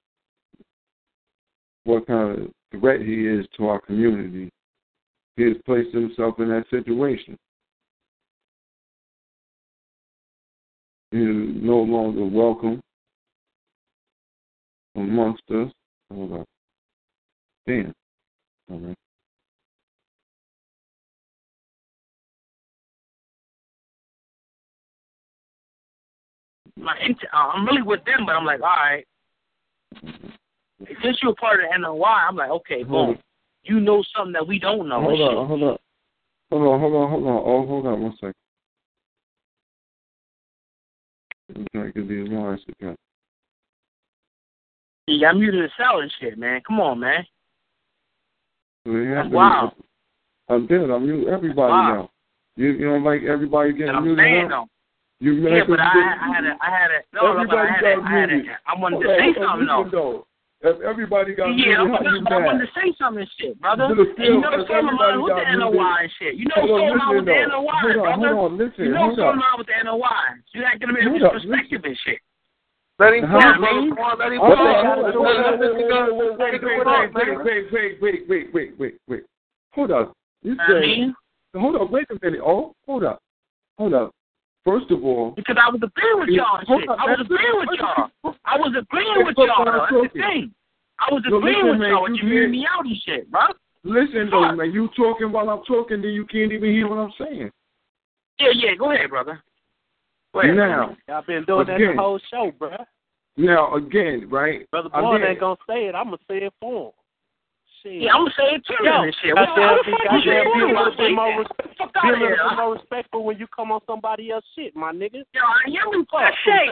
what kind of threat he is to our community. He has placed himself in that situation. He is no longer welcome amongst us. Hold on. Damn. All right. I'm really with them, but I'm like, all right. Since you're a part of the N O I, I'm like, okay, boom. You know something that we don't know. Hold on, hold on. Hold on, hold on, hold on. Oh, hold on one second. I'm trying to get these lines together. Yeah, I'm muted the cell and shit, man. Come on, man. So That's wow. I did. I mute everybody wow. now. You, you don't like everybody getting I'm muted saying, now? You yeah, but I, I had a, I had a, no, no, but I had a, I had a, I wanted to say something though. If everybody got yeah, muted, I'm, but I wanted to say something and shit, brother. And you never saw me line with the N O I and shit. You never saw me line with the N O I, brother. Hold on, listen. You never saw me line with the N O I. You acting a bit disrespectful and shit. Let him talk, brother. Let him talk. Wait, wait, wait, wait, wait, wait, wait. Hold up. You say, hold up, wait a minute. Oh, hold up. Hold up. First of all, because I was agreeing with y'all and shit. I was agreeing with y'all. I was agreeing with y'all. That's the thing. I was agreeing with y'all, but you hearing me out and shit, bro. Listen, though, man. You talking while I'm talking, then you can't even hear what I'm saying. Yeah, yeah. Go ahead, brother. Go ahead. Now, I've been doing that the whole show, bro. Now, again, right? Brother Boyd ain't gonna say it. I'm gonna say it for him. Shit. Yeah, I'm gonna say it too. Yo, and shit. Goddamn, be, goddamn, be a little bit more, respect, be a little bit more respectful when you come on somebody else's shit, my nigga. Yo, I am in fuck.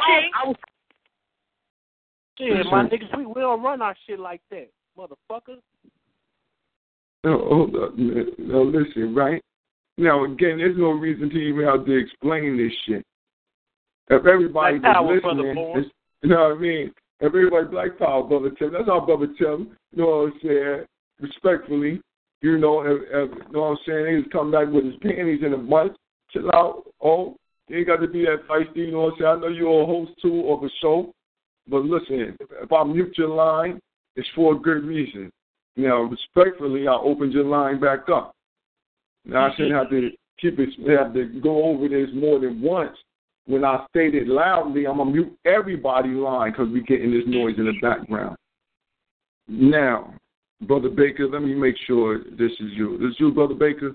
Shit, my niggas, we, we don't run our shit like that, motherfucker. No, hold up. No, listen, right? Now, again, there's no reason to even have to explain this shit. If everybody Black was power, listening, you know what I mean? If everybody Black Power, Brother Tim, that's our Brother Tim, you know what I'm saying? Respectfully, you know, if, if, you know what I'm saying? He's come back with his panties in a bunch. Chill out. Oh, you ain't got to be that feisty, you know what I'm saying? I know you're a host, too, of a show. But listen, if I mute your line, it's for a good reason. Now, respectfully, I opened your line back up. Now, I shouldn't have to keep it, have to go over this more than once. When I state it loudly, I'm going to mute everybody's line because we're getting this noise in the background. Now, Brother Baker, let me make sure this is you. This is you, Brother Baker?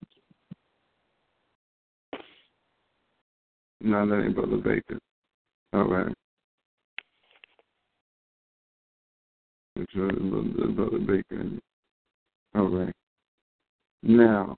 No, that ain't Brother Baker. All right. Brother Baker. All right. Now,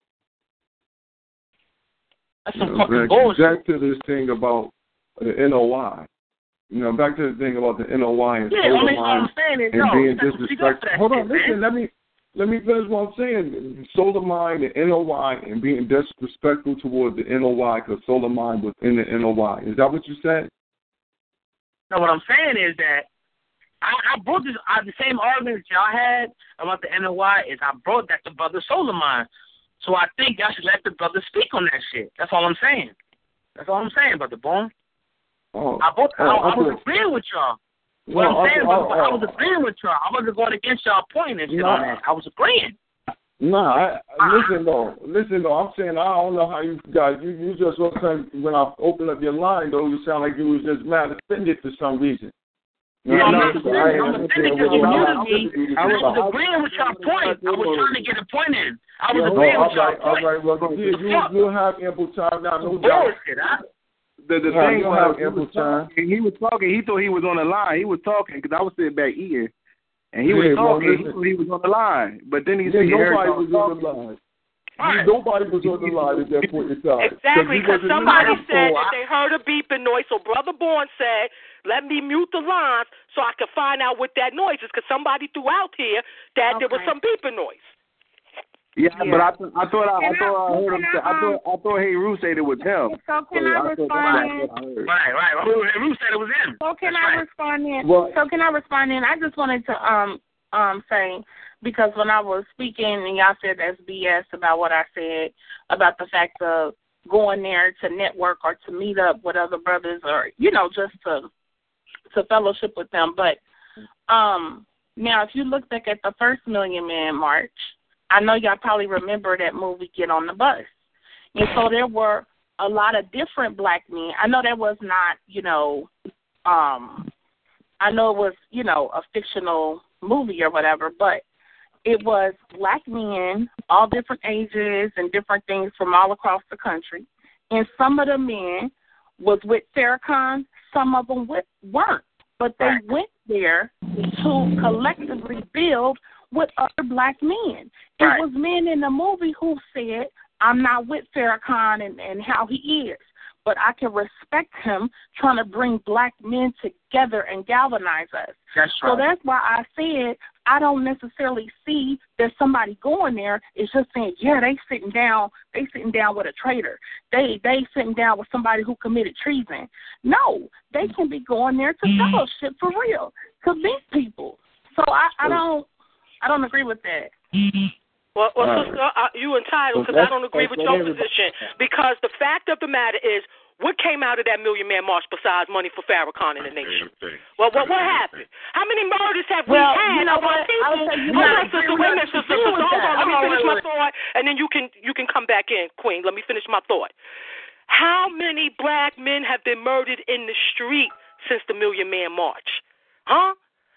That's some you know, fucking back, bullshit. back to this thing about the N O I. You know, back to the thing about the N O I and Yeah, solar only mine I'm saying is, and no, being that's what you got for disrespectful. that Hold shit, on, listen, man. let me let me finish what I'm saying. Solar mine, the N O I, and being disrespectful toward the N O I because solar mine was in the N O I. Is that what you said? No, what I'm saying is that I, I brought this, I, the same argument that y'all had about the N O I is I brought that to Brother Solar Mine. So I think y'all should let the brother speak on that shit. That's all I'm saying. That's all I'm saying, Brother Bourne. Oh, I, both, oh, I, I okay. was agreeing with y'all. No, What I'm okay, saying, oh, brother, oh, I was agreeing with y'all. I wasn't going against y'all point and shit no, on that. I was agreeing. No, I, listen though, listen though. I'm saying I don't know how you guys. You, you just when I opened up your line though, you sound like you was just mad offended for some reason. You Yeah, know, I'm not offended. I'm offended because you muted me. I was I agreeing with your point. I was trying to get a point in. I was yeah, agreeing all with your right, point. all right. Well, yeah, you you have ample time now. No doubt. Bullshit, huh? The, the Yeah, thing you was, have he ample was, time. talking, he was talking. He thought he was on the line. He was talking because I was sitting back eating, and he Yeah, was well, talking. listen. He thought he was on the line, but then he Yeah, said nobody was on the line. Right. Nobody was on the line at that point in time. Exactly, because somebody line. said So that I- they heard a beeping noise, so Brother Bourne said, let me mute the lines so I can find out what that noise is, because somebody threw out here that there was Okay. some beeping noise. Yeah, Yeah. but I, th- I thought I, I Can thought I, I- heard him. can Say, I, I thought I thought Hey Roo said it was him. So can So I I thought respond that's in? what I heard. Right, right. Ruth, Ruth said it was him. So can That's I right. respond in? Well- so can I respond in? I just wanted to um um say, because when I was speaking and y'all said that's B S about what I said about the fact of going there to network or to meet up with other brothers or, you know, just to to fellowship with them. But um now if you look back at the first Million Man March, I know y'all probably remember that movie Get on the Bus. And so there were a lot of different black men. I know that was not, you know, um, I know it was, you know, a fictional movie or whatever, but it was black men, all different ages and different things from all across the country. And some of the men was with Farrakhan, some of them with, weren't. But they Right. went there to collectively build with other black men. It Right. was men in the movie who said, I'm not with Farrakhan and, and how he is, but I can respect him trying to bring black men together and galvanize us. That's So right. that's why I said I don't necessarily see that somebody going there is just saying, yeah, they sitting down, they sitting down with a traitor. They they sitting down with somebody who committed treason. No, they can be going there to fellowship for real, to meet people. So I, I don't I don't agree with that. Well, well All sister, uh, you entitled, because I don't agree with your position, because the fact of the matter is, what came out of that Million Man March besides money for Farrakhan and the nation? Well, what what happened? How many murders have we Well, had you know of our what? people? I would say you Hold might on, agree sister, with wait a us minute, to sister, do sister, with hold that. on. Let me Hold on, finish wait, my wait. thought, and then you can you can come back in, Queen. Let me finish my thought. How many black men have been murdered in the street since the Million Man March? Huh?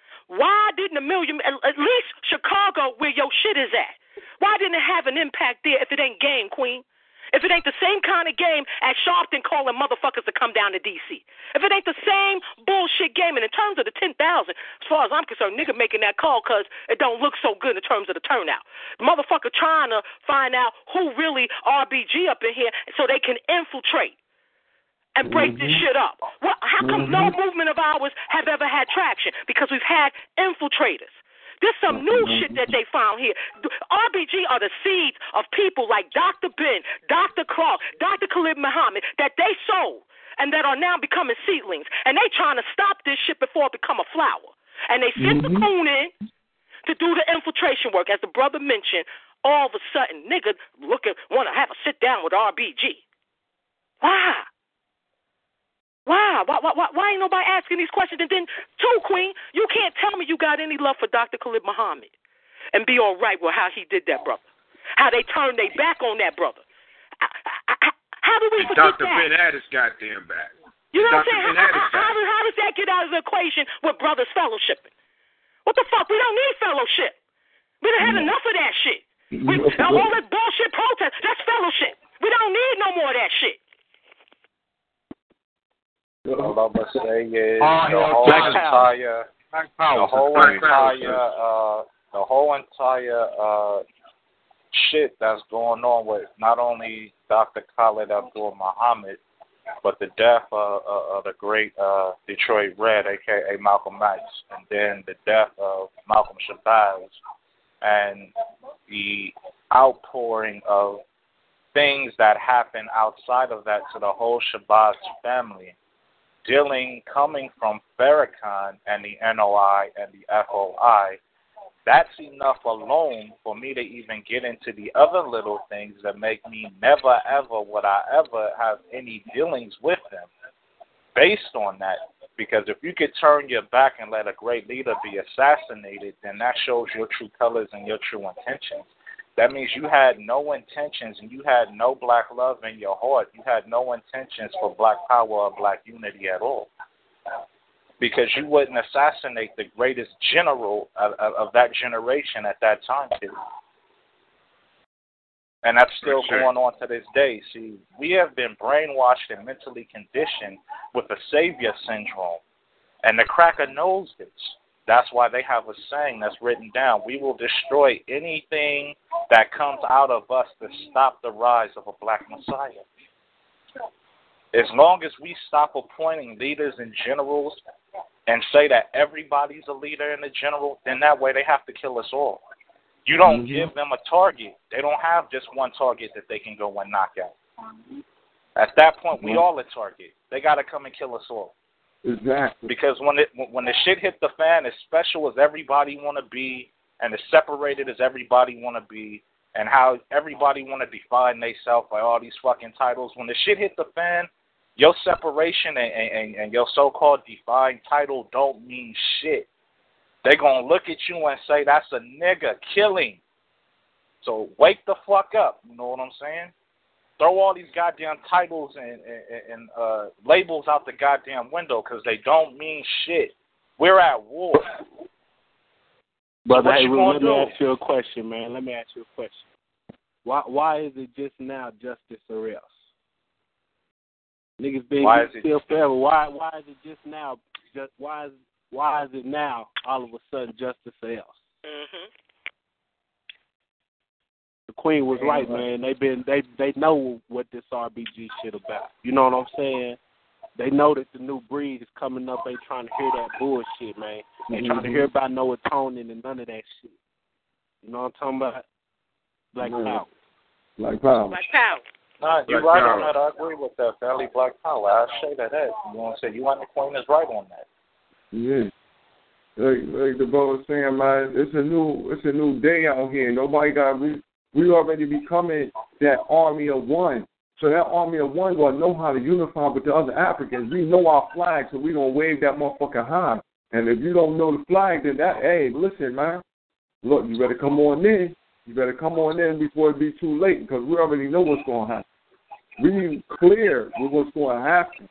Why didn't the Million, at, at least Chicago, where your shit is at, why didn't it have an impact there if it ain't game, Queen? If it ain't the same kind of game as Sharpton calling motherfuckers to come down to D C. If it ain't the same bullshit game, and in terms of the ten thousand, as far as I'm concerned, nigga making that call because it don't look so good in terms of the turnout. The motherfucker trying to find out who really R B G up in here so they can infiltrate and break Mm-hmm. this shit up. Well, how come Mm-hmm. no movement of ours have ever had traction? Because we've had infiltrators. There's some new shit that they found here. R B G are the seeds of people like Doctor Ben, Doctor Clark, Doctor Khalid Muhammad that they sold and that are now becoming seedlings. And they trying to stop this shit before it become a flower. And they sent mm-hmm. the coon in to do the infiltration work. As the brother mentioned, all of a sudden, nigga looking, want to have a sit down with R B G. Why? Why? Why, why? why? Why ain't nobody asking these questions? And then, too, Queen, you can't tell me you got any love for Doctor Khalid Muhammad and be all right with how he did that, brother. How they turned their back on that, brother. I, I, I, how do we forget Doctor that? Ben had his goddamn back. You know Doctor what I'm saying? How, how, how, how does that get out of the equation with brothers fellowshipping? What the fuck? We don't need fellowship. We done had mm. enough of that shit. We, all this bullshit protest, that's fellowship. We don't need no more of that shit. All I'm gonna say is oh, the whole entire, the whole entire, uh, the whole entire uh, shit that's going on with not only Doctor Khalid Abdul Muhammad, but the death of, of, of the great uh, Detroit Red, aka Malcolm X, and then the death of Malcolm Shabazz, and the outpouring of things that happen outside of that to the whole Shabazz family. Dealing coming from Farrakhan and the N O I and the F O I, that's enough alone for me to even get into the other little things that make me never ever would I ever have any dealings with them based on that. Because if you could turn your back and let a great leader be assassinated, then that shows your true colors and your true intentions. That means you had no intentions and you had no black love in your heart. You had no intentions for black power or black unity at all. Because you wouldn't assassinate the greatest general of, of, of that generation at that time period. And that's still sure. going on to this day. See, we have been brainwashed and mentally conditioned with the savior syndrome. And the cracker knows this. That's why they have a saying that's written down. We will destroy anything that comes out of us to stop the rise of a black messiah. As long as we stop appointing leaders and generals and say that everybody's a leader and a general, then that way they have to kill us all. You don't mm-hmm. give them a target. They don't have just one target that they can go and knock out. At that point, mm-hmm. we all a target. They got to come and kill us all. Exactly. Because when it when the shit hit the fan, as special as everybody want to be, and as separated as everybody want to be, and how everybody want to define themselves by all these fucking titles, when the shit hit the fan, your separation and, and, and your so-called defined title don't mean shit. They gonna look at you and say that's a nigga killing. So wake the fuck up. You know what I'm saying? Throw all these goddamn titles and, and, and uh, labels out the goddamn window because they don't mean shit. We're at war. Brother, so hey, well, let do? me ask you a question, man. Let me ask you a question. Why why is it just now justice or else? Niggas been why still forever. Why why is it just now? Just why is why is it now all of a sudden justice or else? Mm-hmm. The Queen was right, man. They been they they know what this R B G shit about. You know what I'm saying? They know that the new breed is coming up. They trying to hear that bullshit, man. They mm-hmm. trying to hear about no atoning and none of that shit. You know what I'm talking about? Black yeah. power. Black power. Black power. Nah, you're right on that. I agree with that. Fairly black power. I say that. that. You know what I'm saying? You and the Queen is right on that. Yeah. Like, like the brother was saying, man, it's a new it's a new day out here. Nobody got we we already becoming that army of one. So that army of one gonna know how to unify with the other Africans. We know our flag, so we gonna wave that motherfucker high. And if you don't know the flag, then that hey, listen, man. Look, you better come on in. You better come on in before it be too late, because we already know what's gonna happen. We clear with what's gonna happen.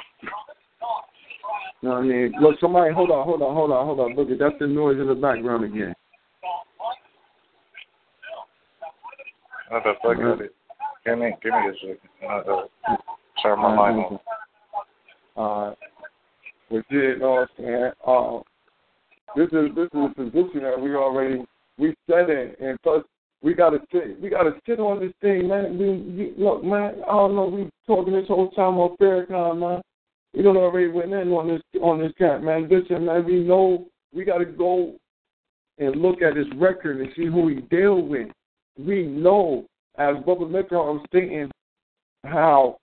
You know what I mean? Look, somebody, hold on, hold on, hold on, hold on. Look, that's the noise in the background again. What the fuck is it? Give me, give me a second. Uh, turn my line on. Uh, but yeah, you know what I'm saying? Uh, this is this is a position that we already we set in, and plus we gotta sit, we gotta sit on this thing, man. We, we, look, man, I don't know. We talking this whole time on Farrakhan, man. We don't already went in on this on this camp, man. Listen, man, we know we gotta go and look at his record and see who he dealt with, we know, as Brother Metro was stating, how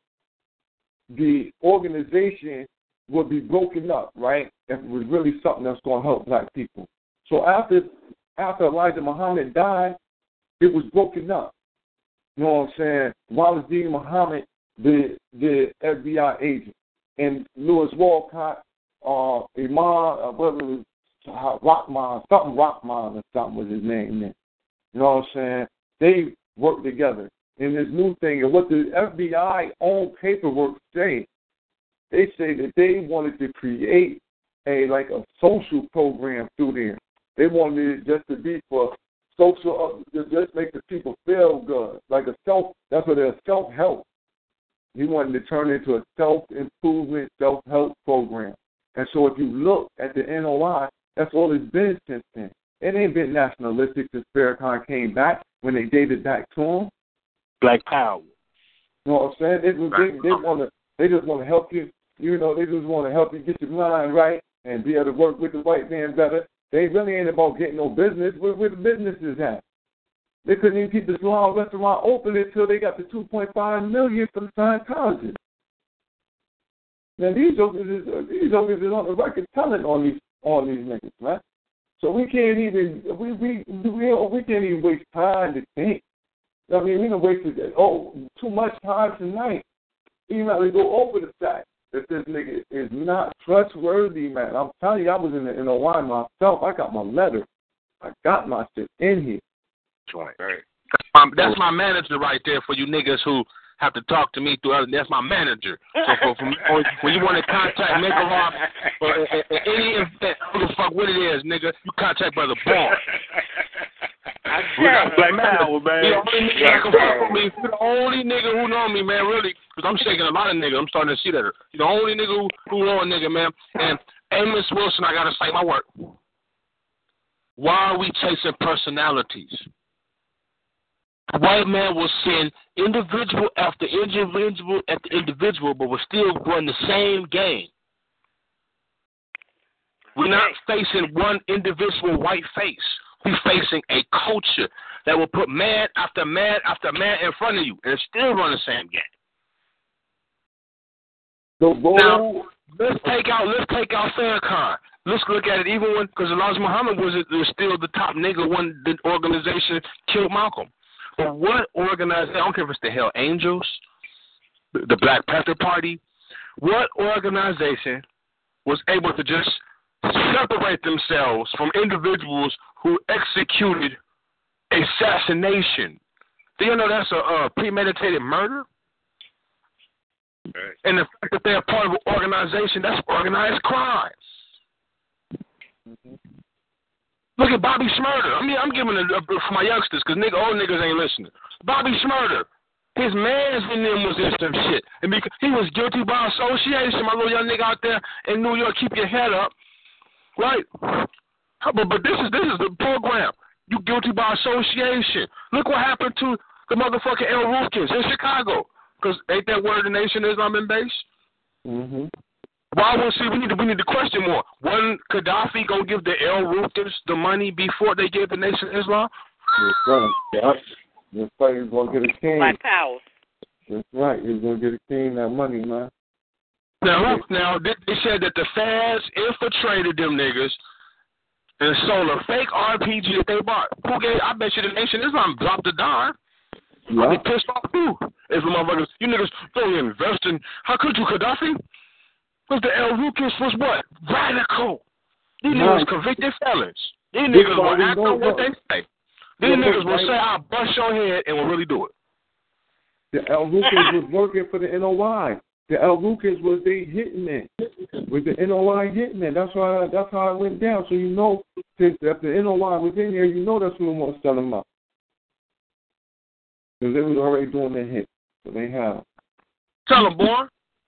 the organization would be broken up, right, if it was really something that's going to help black people. So after after Elijah Muhammad died, it was broken up. You know what I'm saying? Wallace D. Muhammad, the the F B I agent, and Lewis Walcott, uh, Iman, uh, whatever, uh, Rockman, something Rockman or something was his name then. You know what I'm saying? They worked together in this new thing. And what the F B I own paperwork say, they say that they wanted to create a like a social program through there. They wanted it just to be for social, uh, just make the people feel good, like a self. That's what they're self-help. He wanted to turn it into a self-improvement, self-help program. And so if you look at the N O I, that's all it's been since then. It ain't been nationalistic since Farrakhan came back when they dated back to him. Black Power. You know what I'm saying? They, they, they want to. They just want to help you. You know, they just want to help you get your mind right and be able to work with the white man better. They really ain't about getting no business. Where, where the business is at? They couldn't even keep the salon restaurant open until they got the two point five million for the Scientologists. Now these jokers is these jokers is on the record telling on these on these niggas, man. So we can't even we we we we can't even waste time to think. I mean, we done wasted oh too much time tonight. Even have to go over the fact that this nigga is not trustworthy, man. I'm telling you, I was in the N O I myself. I got my letter. I got my shit in here. Right. Right. Um, that's my manager right there for you niggas who have to talk to me through other. That's my manager. So for, for, when you want to contact Nigga Rock or any event, who the fuck what it is, nigga, you contact Brother Ball. We got Black Power, man. The only nigga that can fuck with me. You're the only nigga who know me, man, really. Because I'm shaking a lot of niggas. I'm starting to see that. You're the only nigga who, who know a nigga, man. And Amos Wilson, I got to say my work. Why are we chasing personalities? The white man will send individual after individual after individual, but we're still running the same game. We're not facing one individual white face. We're facing a culture that will put man after man after man in front of you, and still run the same game. Now, let's take out let's take out Farrakhan. Let's look at it even when, because Elijah Muhammad was, was still the top nigga when the organization killed Malcolm. But what organization, I don't care if it's the Hell Angels, the Black Panther Party, what organization was able to just separate themselves from individuals who executed assassination? Do you know that's a, a premeditated murder? Right. And the fact that they're part of an organization, that's organized crime. Mm-hmm. Look at Bobby Shmurda. I mean, I'm giving it up for my youngsters because nigga, old niggas ain't listening. Bobby Shmurda, his mans in them was in some shit. And because he was guilty by association, my little young nigga out there in New York, keep your head up. Right? But, but this is this is the program. You guilty by association. Look what happened to the motherfucking El Rufkins in Chicago. Because ain't that where the Nation Islam been based? Mm-hmm. Why would see we need to we need to question more. Wasn't Gaddafi gonna give the El Rufkins the money before they gave the Nation Islam? That's right. Yep. That's right. He's gonna get a king. Black Power. That's right. He's gonna get a king that money, man. Now, now they said that the fans infiltrated them niggas and sold a fake R P G that they bought. Who gave? I bet you the Nation Islam dropped a dime. Yeah. I'd be pissed off too. If the motherfuckers, you niggas don't invest in. How could you, Gaddafi? Because the El Rufkins was what? Radical. These no. niggas convicted felons. These niggas will act on what they say. These yeah, niggas will right. say, I'll bust your head and will really do it. The El Rufkins was working for the N O I. The El Rufkins was the hitman. With the N O I hitman. That's why. That's how it went down. So you know, since if the N O I was in here, you know that's who was selling them up. Because they was already doing their hit. So they have. Tell them, boy.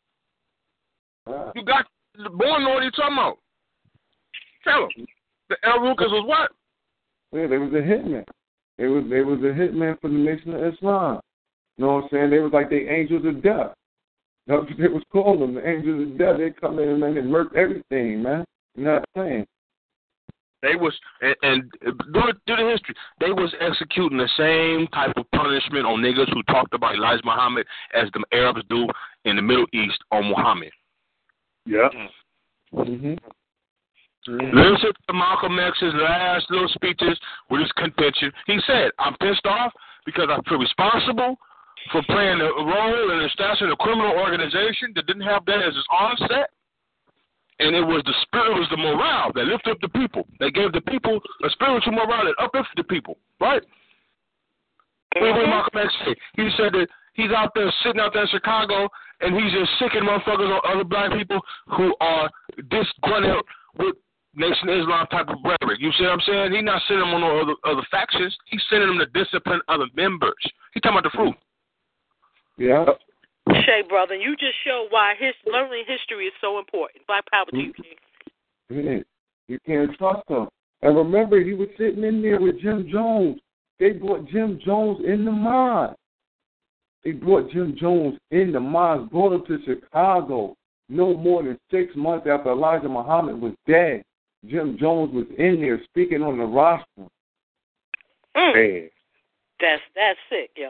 Uh, you got the boy know what he's talking about. Tell him. The El Rufkins was what? Yeah, they was a hitman. They was they was a hitman for the Nation of Islam. You know what I'm saying? They was like the angels of death. That's what they was calling them, the angels of death. They come in and, and murk everything, man. You know what I'm saying? They was and, and due, due to history, they was executing the same type of punishment on niggas who talked about Elijah Muhammad as the Arabs do in the Middle East on Muhammad. Yeah. Mm-hmm. Mm-hmm. Listen to Malcolm X's last little speeches with his convention. He said, "I'm pissed off because I feel responsible for playing a role in establishing a criminal organization that didn't have that as its onset." And it was the spirit, it was the morale that lifted up the people. They gave the people a spiritual morale that uplifted the people, right? Mm-hmm. What Malcolm X said, he said that he's out there sitting out there in Chicago, and he's just sicking motherfuckers on other black people who are disgruntled with Nation of Islam type of rhetoric. You see what I'm saying? He's not sending them on no other, other factions. He's sending them to discipline other members. He's talking about the fruit. Yeah. Shay, brother, you just showed why his, learning history is so important. Black power to you, King. You can't trust him. And remember, he was sitting in there with Jim Jones. They brought Jim Jones in the mosque. They brought Jim Jones in the mosque, brought him to Chicago. No more than six months after Elijah Muhammad was dead, Jim Jones was in there speaking on the rostrum. Mm. That's that's sick, yo.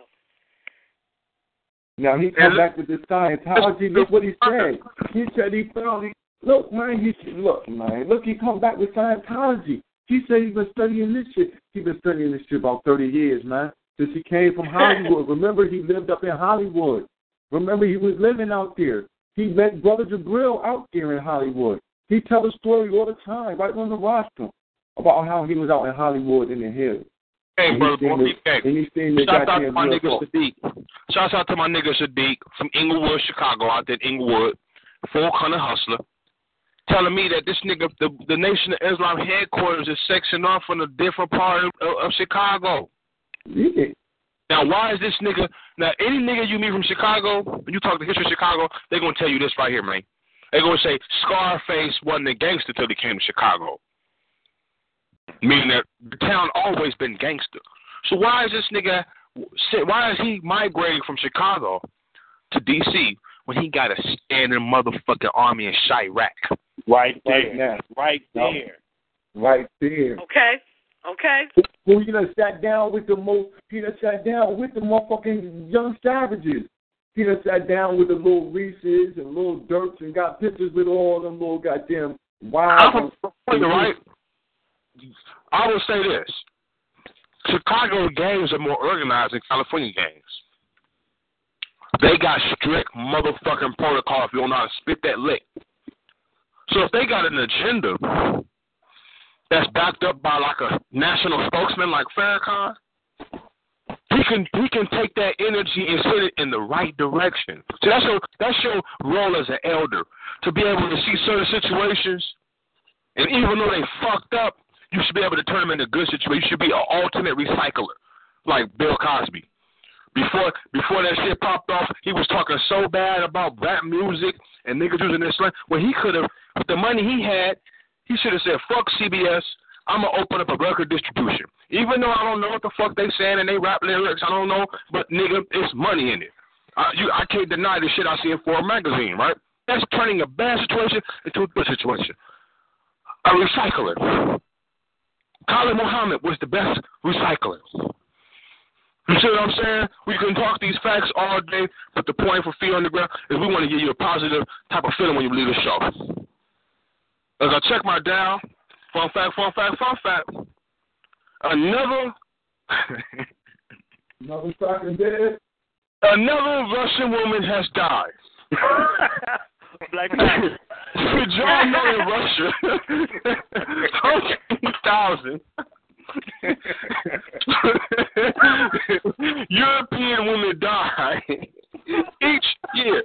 Now he come back with the Scientology. Look what he said. He said he found. He, look, man. He said, look, man. Look, he come back with Scientology. He said he's been studying this shit. He's been studying this shit about thirty years, man. Since he came from Hollywood. Remember, he lived up in Hollywood. Remember, he was living out there. He met Brother Jabril out there in Hollywood. He tell a story all the time, right on the rostrum, about how he was out in Hollywood in the hills. Hey, brother, boy, hey. Shout out to my nigga talk. Sadiq. Shout out to my nigga Sadiq from Inglewood, Chicago, out there in Inglewood, Folk Hunter Hustler, telling me that this nigga, the, the Nation of Islam headquarters is sectioned off from a different part of, of Chicago. Yeah. Now, why is this nigga, now, any nigga you meet from Chicago, when you talk the history of Chicago, they're going to tell you this right here, man. They're going to say Scarface wasn't a gangster until he came to Chicago. Meaning that the town always been gangster. So why is this nigga, why is he migrating from Chicago to D C when he got a standing motherfucking army in Chirac? Right there. Right there. Right there. Okay. Okay. Who you done sat down with the most, he done sat down with the motherfucking young savages. He done sat down with the little Reeses and little Dirks and got pictures with all them little goddamn wild. Right. I will say this. Chicago gangs are more organized than California gangs. They got strict motherfucking protocol if you don't know how to spit that lick. So if they got an agenda that's backed up by like a national spokesman like Farrakhan, he can he can take that energy and send it in the right direction. So that's your that's your role as an elder, to be able to see certain situations, and even though they fucked up, you should be able to turn them into good situations. You should be an alternate recycler, like Bill Cosby. Before before that shit popped off, he was talking so bad about rap music and niggas using this slang. When he could have, with the money he had, he should have said, fuck C B S, I'm going to open up a record distribution. Even though I don't know what the fuck they saying and they rap lyrics, I don't know, but nigga, it's money in it. Uh, you, I can't deny the shit I see in Forbes magazine, right? That's turning a bad situation into a good situation. A recycler. Khalid Muhammad was the best recycler. You see what I'm saying? We can talk these facts all day, but the point for Fear Underground is we want to give you a positive type of feeling when you leave the show. As I check my dial, fun fact, fun fact, fun fact. Another, another fucking dead. Another Russian woman has died. Black Did y'all know in Russia, fourteen thousand European women die each year.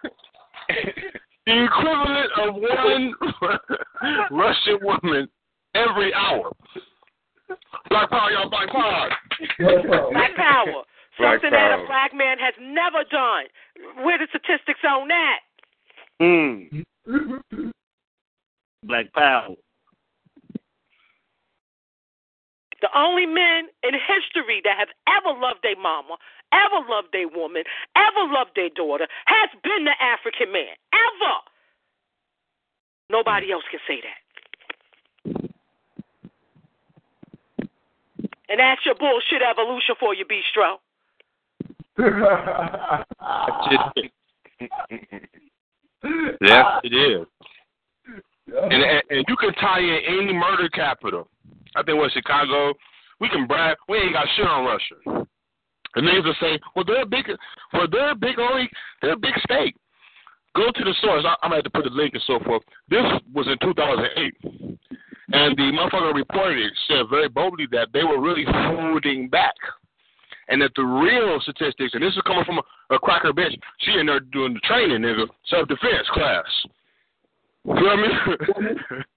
The equivalent of one Russian woman every hour. Black power, y'all, black power. Black power. Black Something power. that a black man has never done. Where the statistics on that? Mm. Black power. The only men in history that have ever loved their mama, ever loved their woman, ever loved their daughter, has been the African man. Ever. Nobody else can say that. And that's your bullshit evolution for you, Bistro. Yes, it is. And, and, and you can tie in any murder capital. I think what Chicago, we can brag. We ain't got shit on Russia. And niggas will say, well, they're a big, well, they're a big, only, they're a big state. Go to the source. I, I'm going to have to put the link and so forth. This was in two thousand eight. And the motherfucker reported it, said very boldly that they were really holding back. And that the real statistics, and this is coming from a, a cracker bitch, she in there doing the training, nigga, self-defense class. You know what I mean?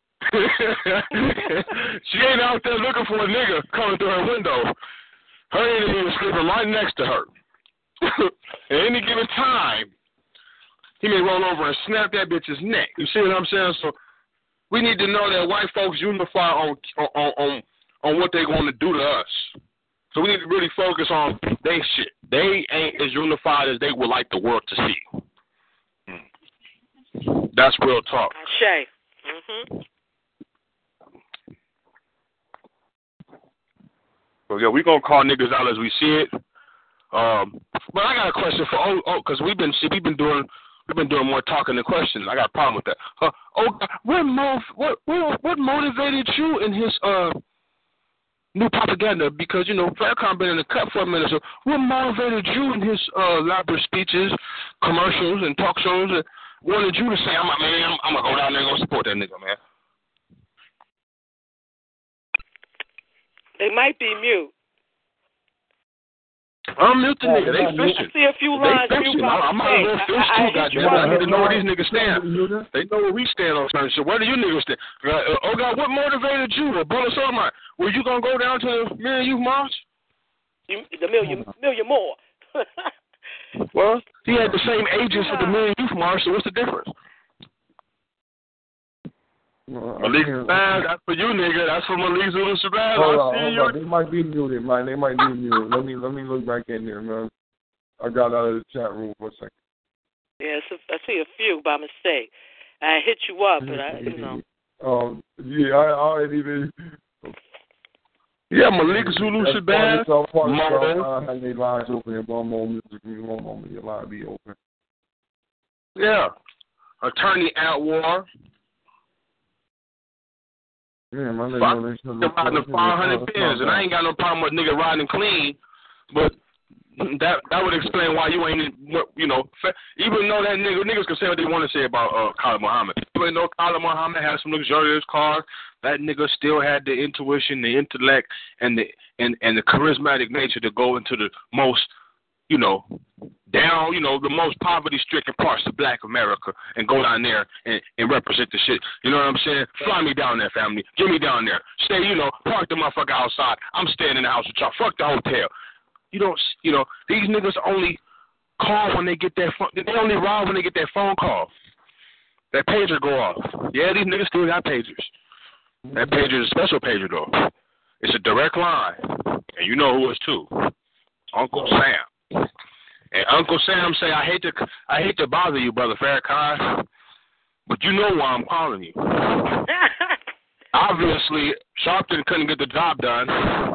She ain't out there looking for a nigga coming through her window. Her enemy was sleeping right next to her. At any given time, he may roll over and snap that bitch's neck. You see what I'm saying? So we need to know that white folks unify on on on, on what they're going to do to us. So we need to really focus on they shit. They ain't as unified as they would like the world to see. That's real talk. Shay. Mm-hmm. So yeah, we gonna call niggas out as we see it. Um, but I got a question for oh oh because we've been see, we've been doing we've been doing more talking than questions. I got a problem with that. Uh, oh, what mov what what what motivated you in his uh new propaganda? Because you know Farrakhan been in the cut for a minute. So what motivated you in his uh, elaborate speeches, commercials, and talk shows and wanted you to say, I'm, man, I'm, I'm going to go down there and go support that nigga, man? They might be mute. I'm mute the nigga. They fishing. I see a few lines. They fishing. I, I might as well fish too, goddamn. I need to know where these niggas stand. They know where we stand on certain shit. Where do you niggas stand? Uh, oh, God, what motivated you? A brother Solomon, were you going to go down to the Million Youth March? You, the million, million more. Well, he had the same agents for the Million Youth March, so what's the difference? Well, Malik Shabazz, that's for you, nigga. That's for Malik Zulu Shabazz. Hold I on, see hold you. on. They might be muted, man. They might be muted. Let me let me look back in there, man. I got out of the chat room for a second. Yeah, I see a few by mistake. I hit you up, but I, you know. Um, yeah, I already been. Yeah, Malik Zulu Shabazz. I have their lines open. In one moment, one moment, your line be open. Yeah, Attorney Atwar. Yeah, my nigga, Fuck, riding the five hundred pins, and I ain't got no problem with nigga riding clean, but that that would explain why you ain't, you know, even though that nigga, niggas can say what they want to say about uh, Khalid Muhammad. Even though Khalid Muhammad had some luxurious cars, that nigga still had the intuition, the intellect, and the and, and the charismatic nature to go into the most, you know, down, you know, the most poverty-stricken parts of Black America and go down there and, and represent the shit. You know what I'm saying? Fly me down there, family. Get me down there. Stay, you know, park the motherfucker outside. I'm staying in the house with y'all. Fuck the hotel. You don't, you know, these niggas only call when they get that phone. They only ride when they get that phone call. That pager go off. Yeah, these niggas still got pagers. That pager is a special pager, though. It's a direct line. And you know who it's to. Uncle Sam. And Uncle Sam say, I hate to I hate to bother you, Brother Farrakhan, but you know why I'm calling you. Obviously, Sharpton couldn't get the job done.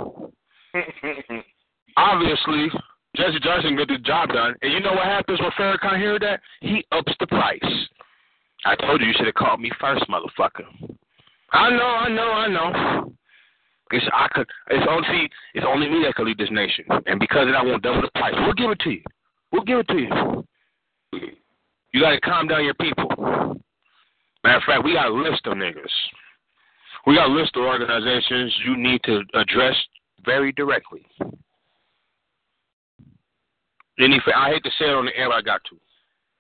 Obviously, Jesse Johnson get the job done. And you know what happens when Farrakhan hears that? He ups the price. I told you you should have called me first, motherfucker. I know, I know, I know. It's I could. It's only it's only me that can lead this nation, and because of that, I won't double the price. We'll give it to you. We'll give it to you. You got to calm down your people. Matter of fact, we got a list of niggas. We got a list of organizations you need to address very directly. Any, I hate to say it on the air, but I got to.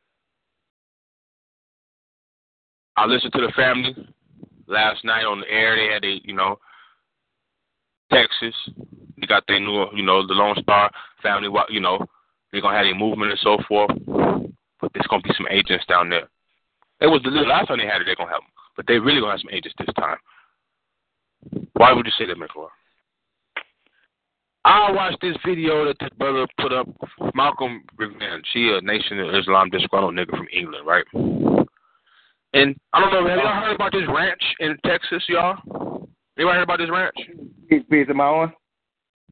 I listened to the family last night on the air. They had a, you know, Texas. They got their new, you know, the Lone Star family, you know, they're going to have a movement and so forth. But there's going to be some agents down there. It was the last time they had it, they're going to have them. But they really going to have some agents this time. Why would you say that, McClure? I watched this video that this brother put up, Malcolm Revenge. He a Nation of Islam disgruntled nigga from England, right? And I don't know, have y'all heard about this ranch in Texas, y'all? Anybody heard about this ranch? Peace, am I on?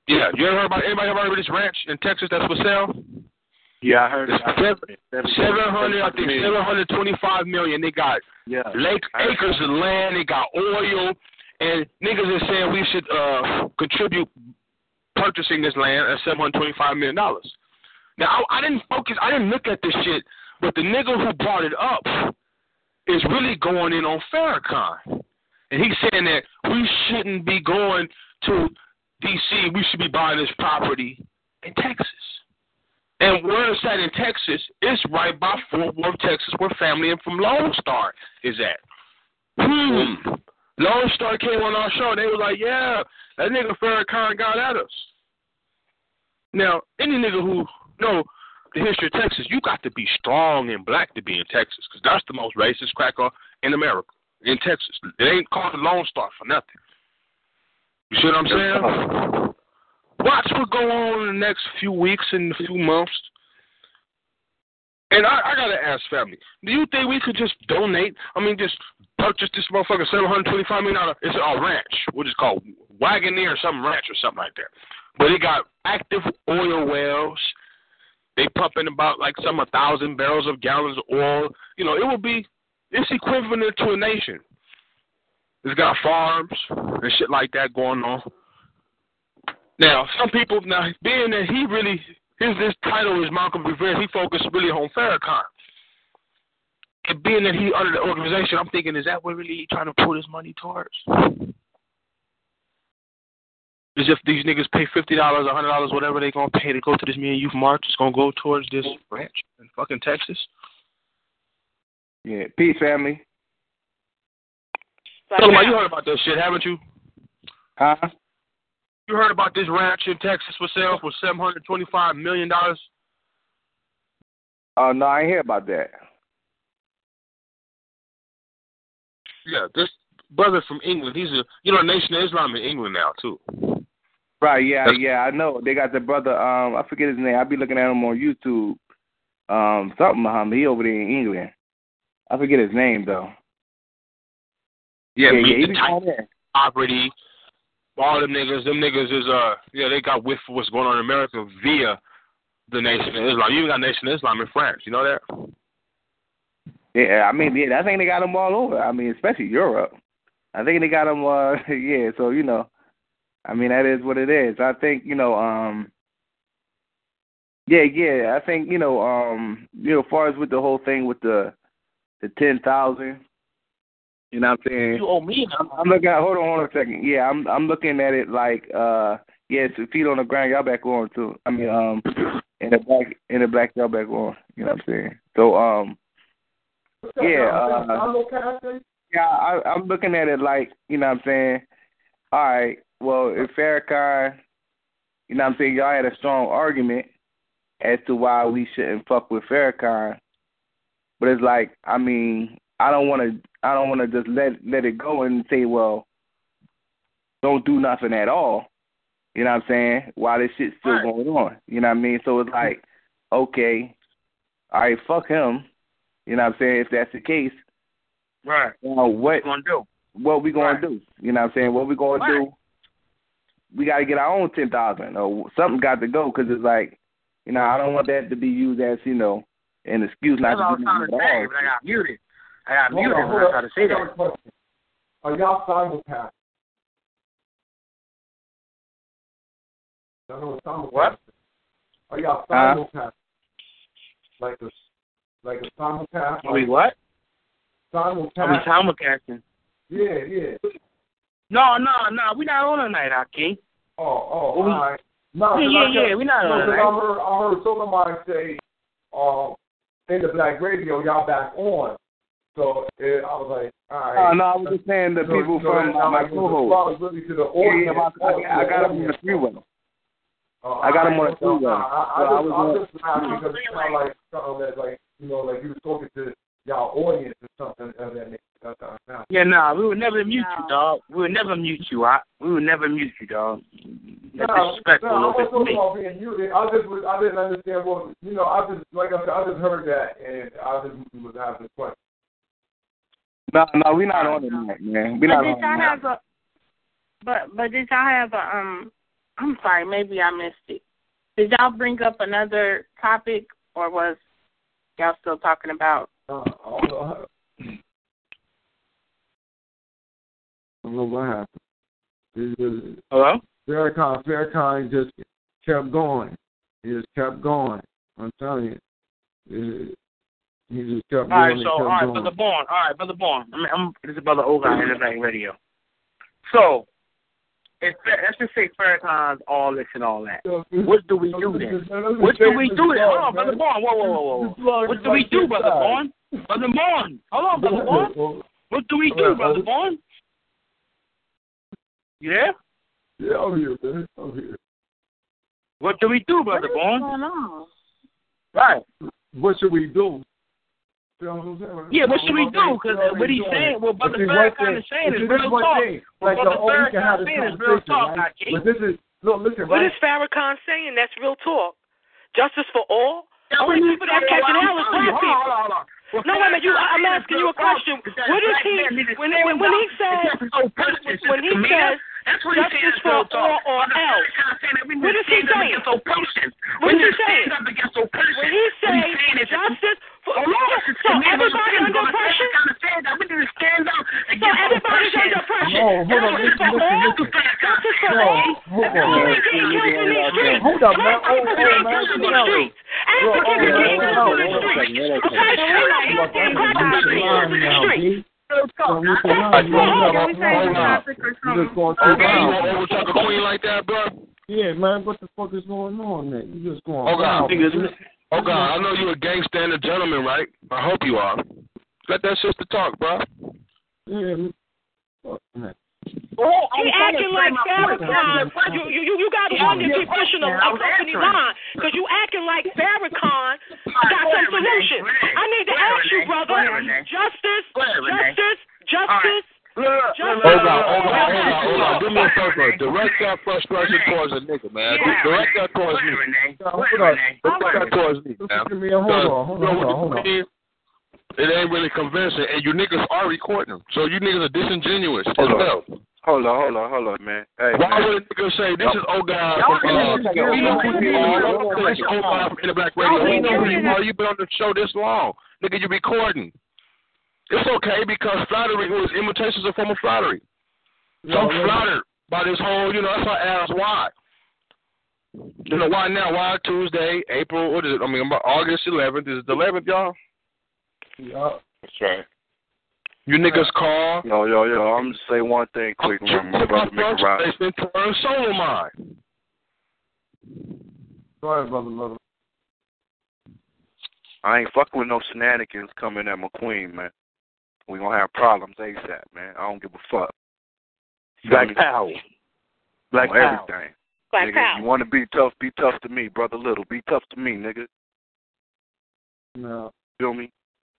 Yeah, you ever heard about anybody ever heard of this ranch in Texas that's for sale? Yeah, I heard it's it. Seven hundred, I think seven hundred twenty-five million. They got yeah. lake acres of land. They got oil, and niggas are saying we should uh, contribute purchasing this land at seven hundred twenty-five million dollars. Now I, I didn't focus. I didn't look at this shit, but the nigga who brought it up is really going in on Farrakhan, and he's saying that we shouldn't be going to D C. We should be buying this property in Texas. And where it's at in Texas, it's right by Fort Worth, Texas, where family from Lone Star is at. Hmm. Lone Star came on our show, and they was like, yeah, that nigga Farrakhan got at us. Now, any nigga who know the history of Texas, you got to be strong and black to be in Texas, because that's the most racist cracker in America, in Texas. It ain't called the Lone Star for nothing. You see what I'm saying? Watch what go on in the next few weeks and a few months. And I, I got to ask family, do you think we could just donate, I mean, just purchase this motherfucker seven hundred twenty-five million dollars? It's a ranch, what is it called? Wagoneer or some ranch or something like that. But it got active oil wells. They pumping about like some a thousand barrels of gallons of oil. You know, it would be, it's equivalent to a nation. It's got farms and shit like that going on. Now, some people, now, being that he really, his this title is Malcolm Rivera, he focused really on Farrakhan. And being that he under the organization, I'm thinking, is that what really he trying to put his money towards? As if these niggas pay fifty dollars, one hundred dollars, whatever they going to pay to go to this Me and Youth March, it's going to go towards this ranch in fucking Texas? Yeah, peace, family. Tell them, you heard about that shit, haven't you? Huh? You heard about this ranch in Texas for sale for seven hundred twenty-five million dollars? Oh, no, I ain't hear about that. Yeah, this brother from England, he's a, you know, Nation of Islam in England now, too. Right, yeah, That's, yeah, I know. They got the brother, um, I forget his name. I be looking at him on YouTube. Um, something, um, he over there in England. I forget his name, though. Yeah, yeah, meet yeah, he the be type down there. property. All them niggas, them niggas is, uh, yeah, they got whiff for what's going on in America via the Nation of Islam. You even got Nation of Islam in France. You know that? Yeah, I mean, yeah, I think they got them all over. I mean, especially Europe. I think they got them, uh, yeah, so, you know, I mean, that is what it is. I think, you know, um, yeah, yeah, I think, you know, um, you know, as far as with the whole thing with the, the ten thousand, you know what I'm saying? You owe me. I'm, I'm looking at, hold on, hold on a second. Yeah, I'm I'm looking at it like, uh, yeah, it's feet on the ground, y'all back on too. I mean, um, in the black, in the black, y'all back on. You know what I'm saying? So, um, yeah, uh, yeah, I, I'm looking at it like, you know what I'm saying? All right, well, if Farrakhan, you know what I'm saying, y'all had a strong argument as to why we shouldn't fuck with Farrakhan, but it's like, I mean, I don't want to. I don't want to just let let it go and say, well, don't do nothing at all. You know what I'm saying? While this shit's still right. going on. You know what I mean? So it's like, okay, all right, fuck him. You know what I'm saying? If that's the case, right? Now what gonna do? What we gonna right. do? You know what I'm saying? What we gonna right. do? We got to get our own ten thousand, or something got to go, because it's like, you know, I don't want that to be used as, you know, an excuse not That's to do nothing at all. I got muted. I got muted when I tried to say that. Are y'all simulcast? Y'all know what simulcast What? Are y'all simulcast? Uh, like a, like a simulcast? Are we what? Simulcast. Are we simulcasting? Yeah, yeah. No, no, no. We're not on tonight, Akeem. Oh, oh, well, we, all right. No, yeah, yeah, yeah. We're not no, on tonight. I heard, I heard somebody say, uh, in the Black Radio, y'all back on. So it, I was like, all right. Oh, no, I was just saying the so, people so from my co-host. Really to the audience. Yeah, I, I, I got them on the freeway. Uh, I got them on the freeway. I, I, so I, I was I was just laughing because it sounded like something that, like, you know, like you were talking to y'all audience or something of that nature. Yeah, no, nah, we would never mute no. you, dog. We would never mute you. I, we would never mute you, dog. That's no, disrespectful. No, I wasn't talking about being muted. I just was, I didn't understand what, you know, I just, like I said, I just heard that, and I just was asking a question. No, no, we're not on it tonight, man. We're not did on y'all it. have a, but, but did y'all have a, um, I'm sorry, maybe I missed it. Did y'all bring up another topic, or was y'all still talking about? Uh, I don't know what happened. Just, Hello? Farrakhan, Farrakhan just kept going. He just kept going. I'm telling you. It, he just kept going. All right, so, kept all right, going. Brother Bourne. All right, Brother Bourne. I'm, I'm, this is Brother O Guy in the Black Radio. So, if, let's just say Farrakhan's all this and all that. What do we do then? What do we do then? Hold on, Brother Bourne. Whoa, whoa, whoa, whoa. What do we do, Brother Bourne? Brother Bourne. Hold on, Brother Bourne. What do we do, Brother Bourne? You there? Yeah, I'm here, man. I'm here. What do we do, Brother Bourne? What's going on? Right. What should we do? Yeah, what should we do? Because what he's saying, what Brother Farrakhan is saying is real talk. What Brother Farrakhan is saying is real talk, but this is, no, listen, What right? is Farrakhan saying? That's real talk. Justice for all? Only people that catching hell is black people. Hold on, hold on. Well, no, wait a minute. You, I'm asking you a question. What is he, when, when, when he says, when he says, justice for all or else, what is he saying? What is he saying? When he says justice for all, so everybody under pressure? So everybody's under pressure. No, hold on, Justice listen, for listen, all? listen. Justice for No, all? hold People on. ain't getting killed in these streets. Hold up, man. Oh, oh, man. Africans in the streets. Africans are getting killed in the streets. Okay, so we're not asking questions to be killed in the streets. You just talk a queen like that, bro? Yeah, man, what the fuck is going on, man? You just going Oh, God. on. Oh, God, I know you're a gangster and a gentleman, right? I hope you are. Let that sister talk, bro. Yeah, fuck, man. Oh, he acting like Farrakhan. You, you, you got to wonder if you're pushing a, a company line because you acting like Farrakhan got some solution. I need to ask you, brother. Justice, justice, justice. Hold on, hold on, hold on, hold on. Do me a favor. Direct that frustration towards a nigga, man. Direct that towards me. Direct that towards me, man. Hold on, hold on, hold on. It ain't really convincing, and you niggas are recording them. So you niggas are disingenuous as well. Hold on, hold on, hold on, man. Hey, Why man. would a nigga say, this is old guy from, uh, we know who you are. This is old guy from In the Black Radio. We know who you are. You've been on the show this long. Nigga, you recording. It's okay because flattery was imitations of form of flattery. So I'm flattered by this whole, you know, that's why I asked why. You know, why now? Why Tuesday, April, what is it? I mean, August eleventh. Is it the eleventh, y'all? Yeah. That's right. You niggas call. Yo, yo, yo, I'm just say one thing quick. I'm My brother make it right. It's been soul of mine. Go ahead, brother, brother. I ain't fucking with no shenanigans coming at my queen, man. We gonna have problems ASAP, man. I don't give a fuck. Black Power. Black on Power. everything. Black nigga, Power. You want to be tough, be tough to me, brother Little. Be tough to me, nigga. No. Feel me?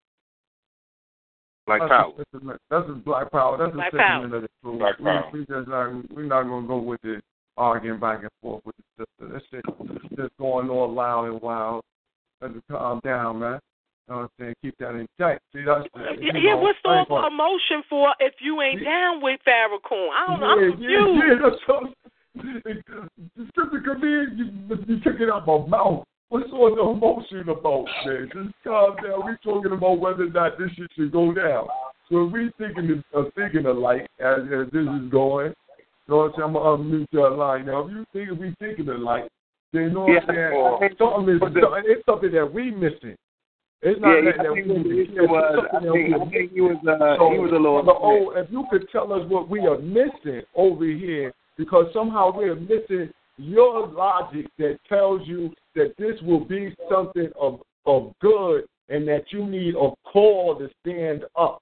Black that's Power. A, that's, a, that's a Black Power. That's Black a Power. sentiment of the truth. Black we, Power. We just not, we're not going to go with the arguing back and forth with the sister. That shit just going all loud and wild. Let's calm down, man. You know what I'm saying? Keep that in check. See, that's, Yeah, you yeah, know, what's all gonna, the emotion for if you ain't down with Farrakhan? I don't know. yeah, I'm confused. Yeah, yeah, that's so, the sister come in, you, you took it out my mouth. What's all the emotion about, man? Just calm down. We're talking about whether or not this shit should go down. So if we thinking of uh, thinking alike as, as this is going, you know what I'm saying? I'm going to unmute your line now. If you think we thinking alike, then you know what I'm saying? It's something, it's something that we missing. It's not yeah, that, I that think we the missing. issue was, I think, I think he was, uh, so, he was a little. the old, if you could tell us what we are missing over here, because somehow we are missing your logic that tells you that this will be something of of good and that you need a call to stand up.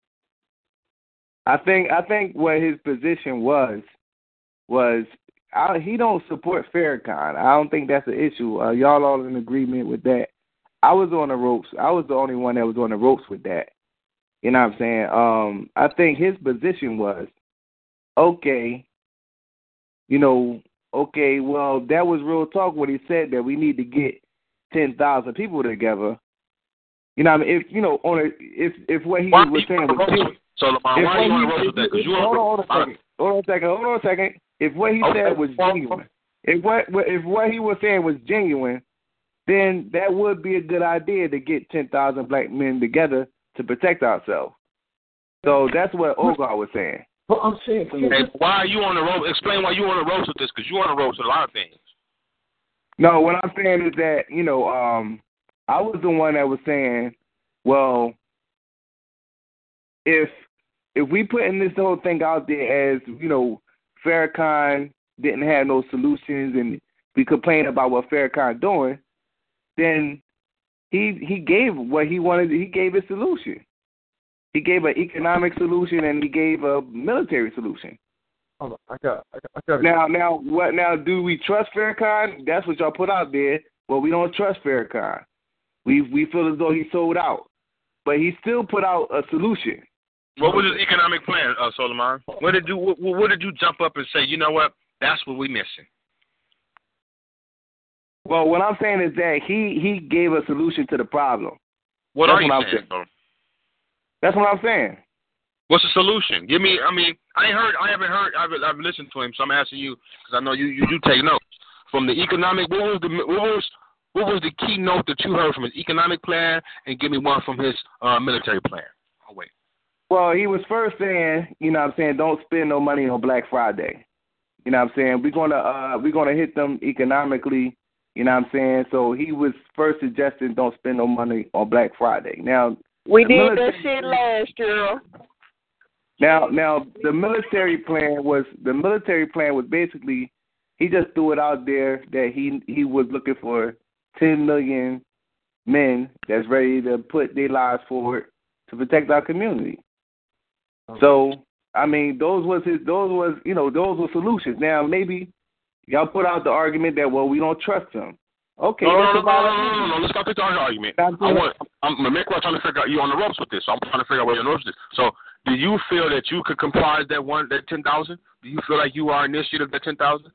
I think I think what his position was was I, he don't support Farrakhan. I don't think that's an issue. Uh, y'all all in agreement with that. I was on the ropes. I was the only one that was on the ropes with that. You know what I'm saying? Um, I think his position was, okay, you know, okay, well, that was real talk when he said that we need to get ten thousand people together. You know what I mean? If, you know, on a, if if what he why was saying was genuine. So, Lamar, why are you on the road with that? Because you hold on a second. Hold on a second. Hold on a second. If what he okay. said was genuine. if what if what he was saying was genuine, then that would be a good idea to get ten thousand black men together to protect ourselves. So that's what Ogar was saying. Well, I'm saying, hey, why are you on the road? Explain why you on the road with this, because you're on the road with a lot of things. No, what I'm saying is that, you know, um, I was the one that was saying, well, if if we putting this whole thing out there as, you know, Farrakhan didn't have no solutions and we complain about what Farrakhan doing, then he he gave what he wanted. He gave a solution. He gave an economic solution and he gave a military solution. Hold on, I got, I got, I got Now, now, what? Now, do we trust Farrakhan? That's what y'all put out there. Well, we don't trust Farrakhan. We we feel as though he sold out, but he still put out a solution. What was his economic plan, uh, Solomon? What did you what, what did you jump up and say? You know what? That's what we missing. Well, what I'm saying is that he he gave a solution to the problem. What That's are you what saying? saying. That's what I'm saying. What's the solution? Give me. I mean, I ain't heard. I haven't heard. I've, I've listened to him, so I'm asking you because I know you, you. You take notes from the economic. What was the what was what was the key note that you heard from his economic plan, and give me one from his uh, military plan. I'll wait. Well, he was first saying, you know what I'm saying, don't spend no money on Black Friday. You know what I'm saying? We're gonna uh we're gonna hit them economically, you know what I'm saying? So he was first suggesting don't spend no money on Black Friday. Now we did military, that shit last year. Now now the military plan was the military plan was basically he just threw it out there that he he was looking for ten million men that's ready to put their lives forward to protect our community. So, I mean, those was his, those was, you know, those were solutions. Now, maybe y'all put out the argument that, well, we don't trust him. Okay. No, no, that's no, about no, no, no, no, no. Let's not take the argument. I want, I'm, I'm trying to figure out, you on the ropes with this, so I'm trying to figure out where you're on the ropes with this. So, do you feel that you could comprise that one, that ten thousand? Do you feel like you are initiative of that ten thousand?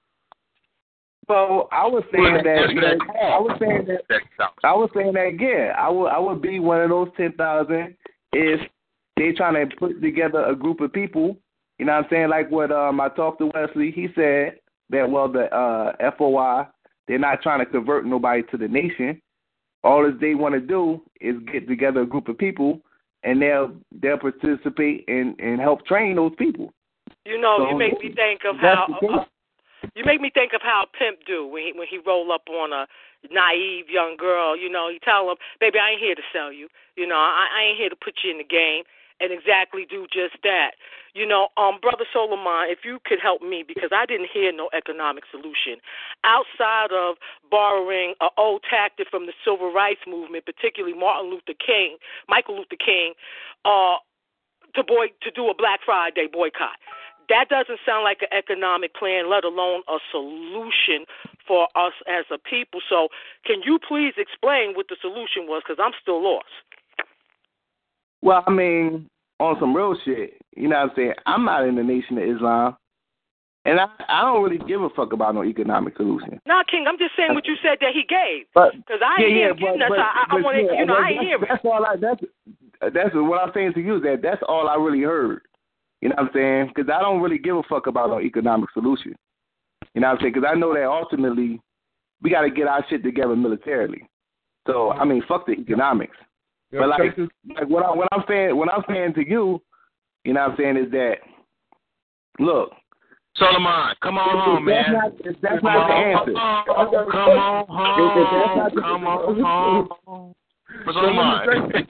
So, I was saying that, that I was saying that, I was saying that again. I would, I would be one of those ten thousand if they trying to put together a group of people, you know what I'm saying? Like what um, I talked to Wesley, he said that, well, the uh, F O I, they're not trying to convert nobody to the nation. All that they want to do is get together a group of people, and they'll they'll participate and, and help train those people. You know, so, you make me think of how uh, you make me think of how Pimp do when he when he roll up on a naive young girl. You know, he tell him, "Baby, I ain't here to sell you. You know, I, I ain't here to put you in the game." And exactly do just that. You know, um, Brother Solomon, if you could help me, because I didn't hear no economic solution. Outside of borrowing an old tactic from the Civil Rights Movement, particularly Martin Luther King, Michael Luther King, uh, to boy to do a Black Friday boycott. That doesn't sound like an economic plan, let alone a solution for us as a people. So can you please explain what the solution was, because I'm still lost. Well, I mean, on some real shit, you know what I'm saying? I'm not in the Nation of Islam, and I, I don't really give a fuck about no economic solution. Nah, King, I'm just saying what you said that he gave. Because I ain't yeah, hear yeah, him getting us. but, I, I want to, yeah, you know, I ain't that's, hear it. That's all I, that's, that's what I'm saying to you, that that's all I really heard. You know what I'm saying? Because I don't really give a fuck about no economic solution. You know what I'm saying? Because I know that ultimately we got to get our shit together militarily. So, I mean, fuck the economics. But like, like what, I, what I'm saying, what I'm saying to you, you know what I'm saying, is that, look, Solomon, come on if, home, if man. Not, if that's not the answer. Come on home. Come on home. Solomon.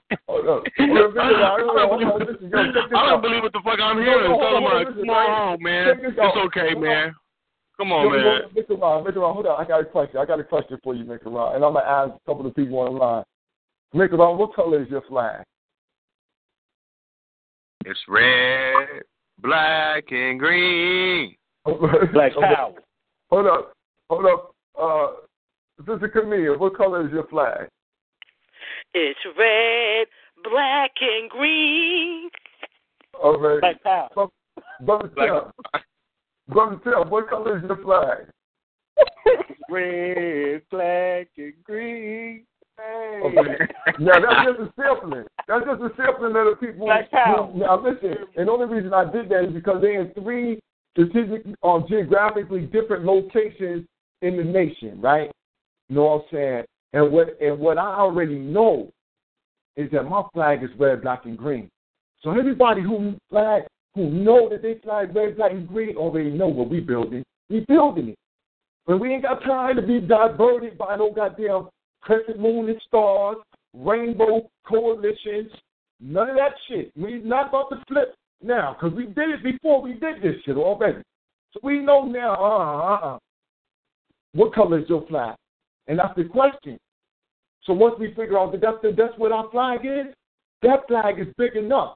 I don't believe what the fuck I'm hearing. Solomon, come on home, man. It's okay, man. Come on, man. Mister Ron, Mister Ron, hold on. I got a question. I got a question for you, Mister Ron, and I'm gonna ask a couple of people on the line. Mister Ron, what color is your flag? It's red, black, and green. Black power. Hold up, hold up. Uh, Sister Camille, what color is your flag? It's red, black, and green. Okay. Black power. Brother Tim, Brother Tim, what color is your flag? Red, black, and green. Hey. Okay. Now that's just a sampling. That's just a sampling of the people. Black power. Now listen, and the only reason I did that is because they're in three strategic, um, geographically different locations in the nation, right? You know what I'm saying? And what and what I already know is that my flag is red, black, and green. So everybody who flag, who know that they flag red, black, and green already know what we building. We building it. But we ain't got time to be diverted by no goddamn crescent moon and stars, rainbow coalitions, none of that shit. We not about to flip now, because we did it before. We did this shit already. So we know now, uh-uh, uh-uh. What color is your flag? And that's the question. So once we figure out that that's, the, that's what our flag is, that flag is big enough.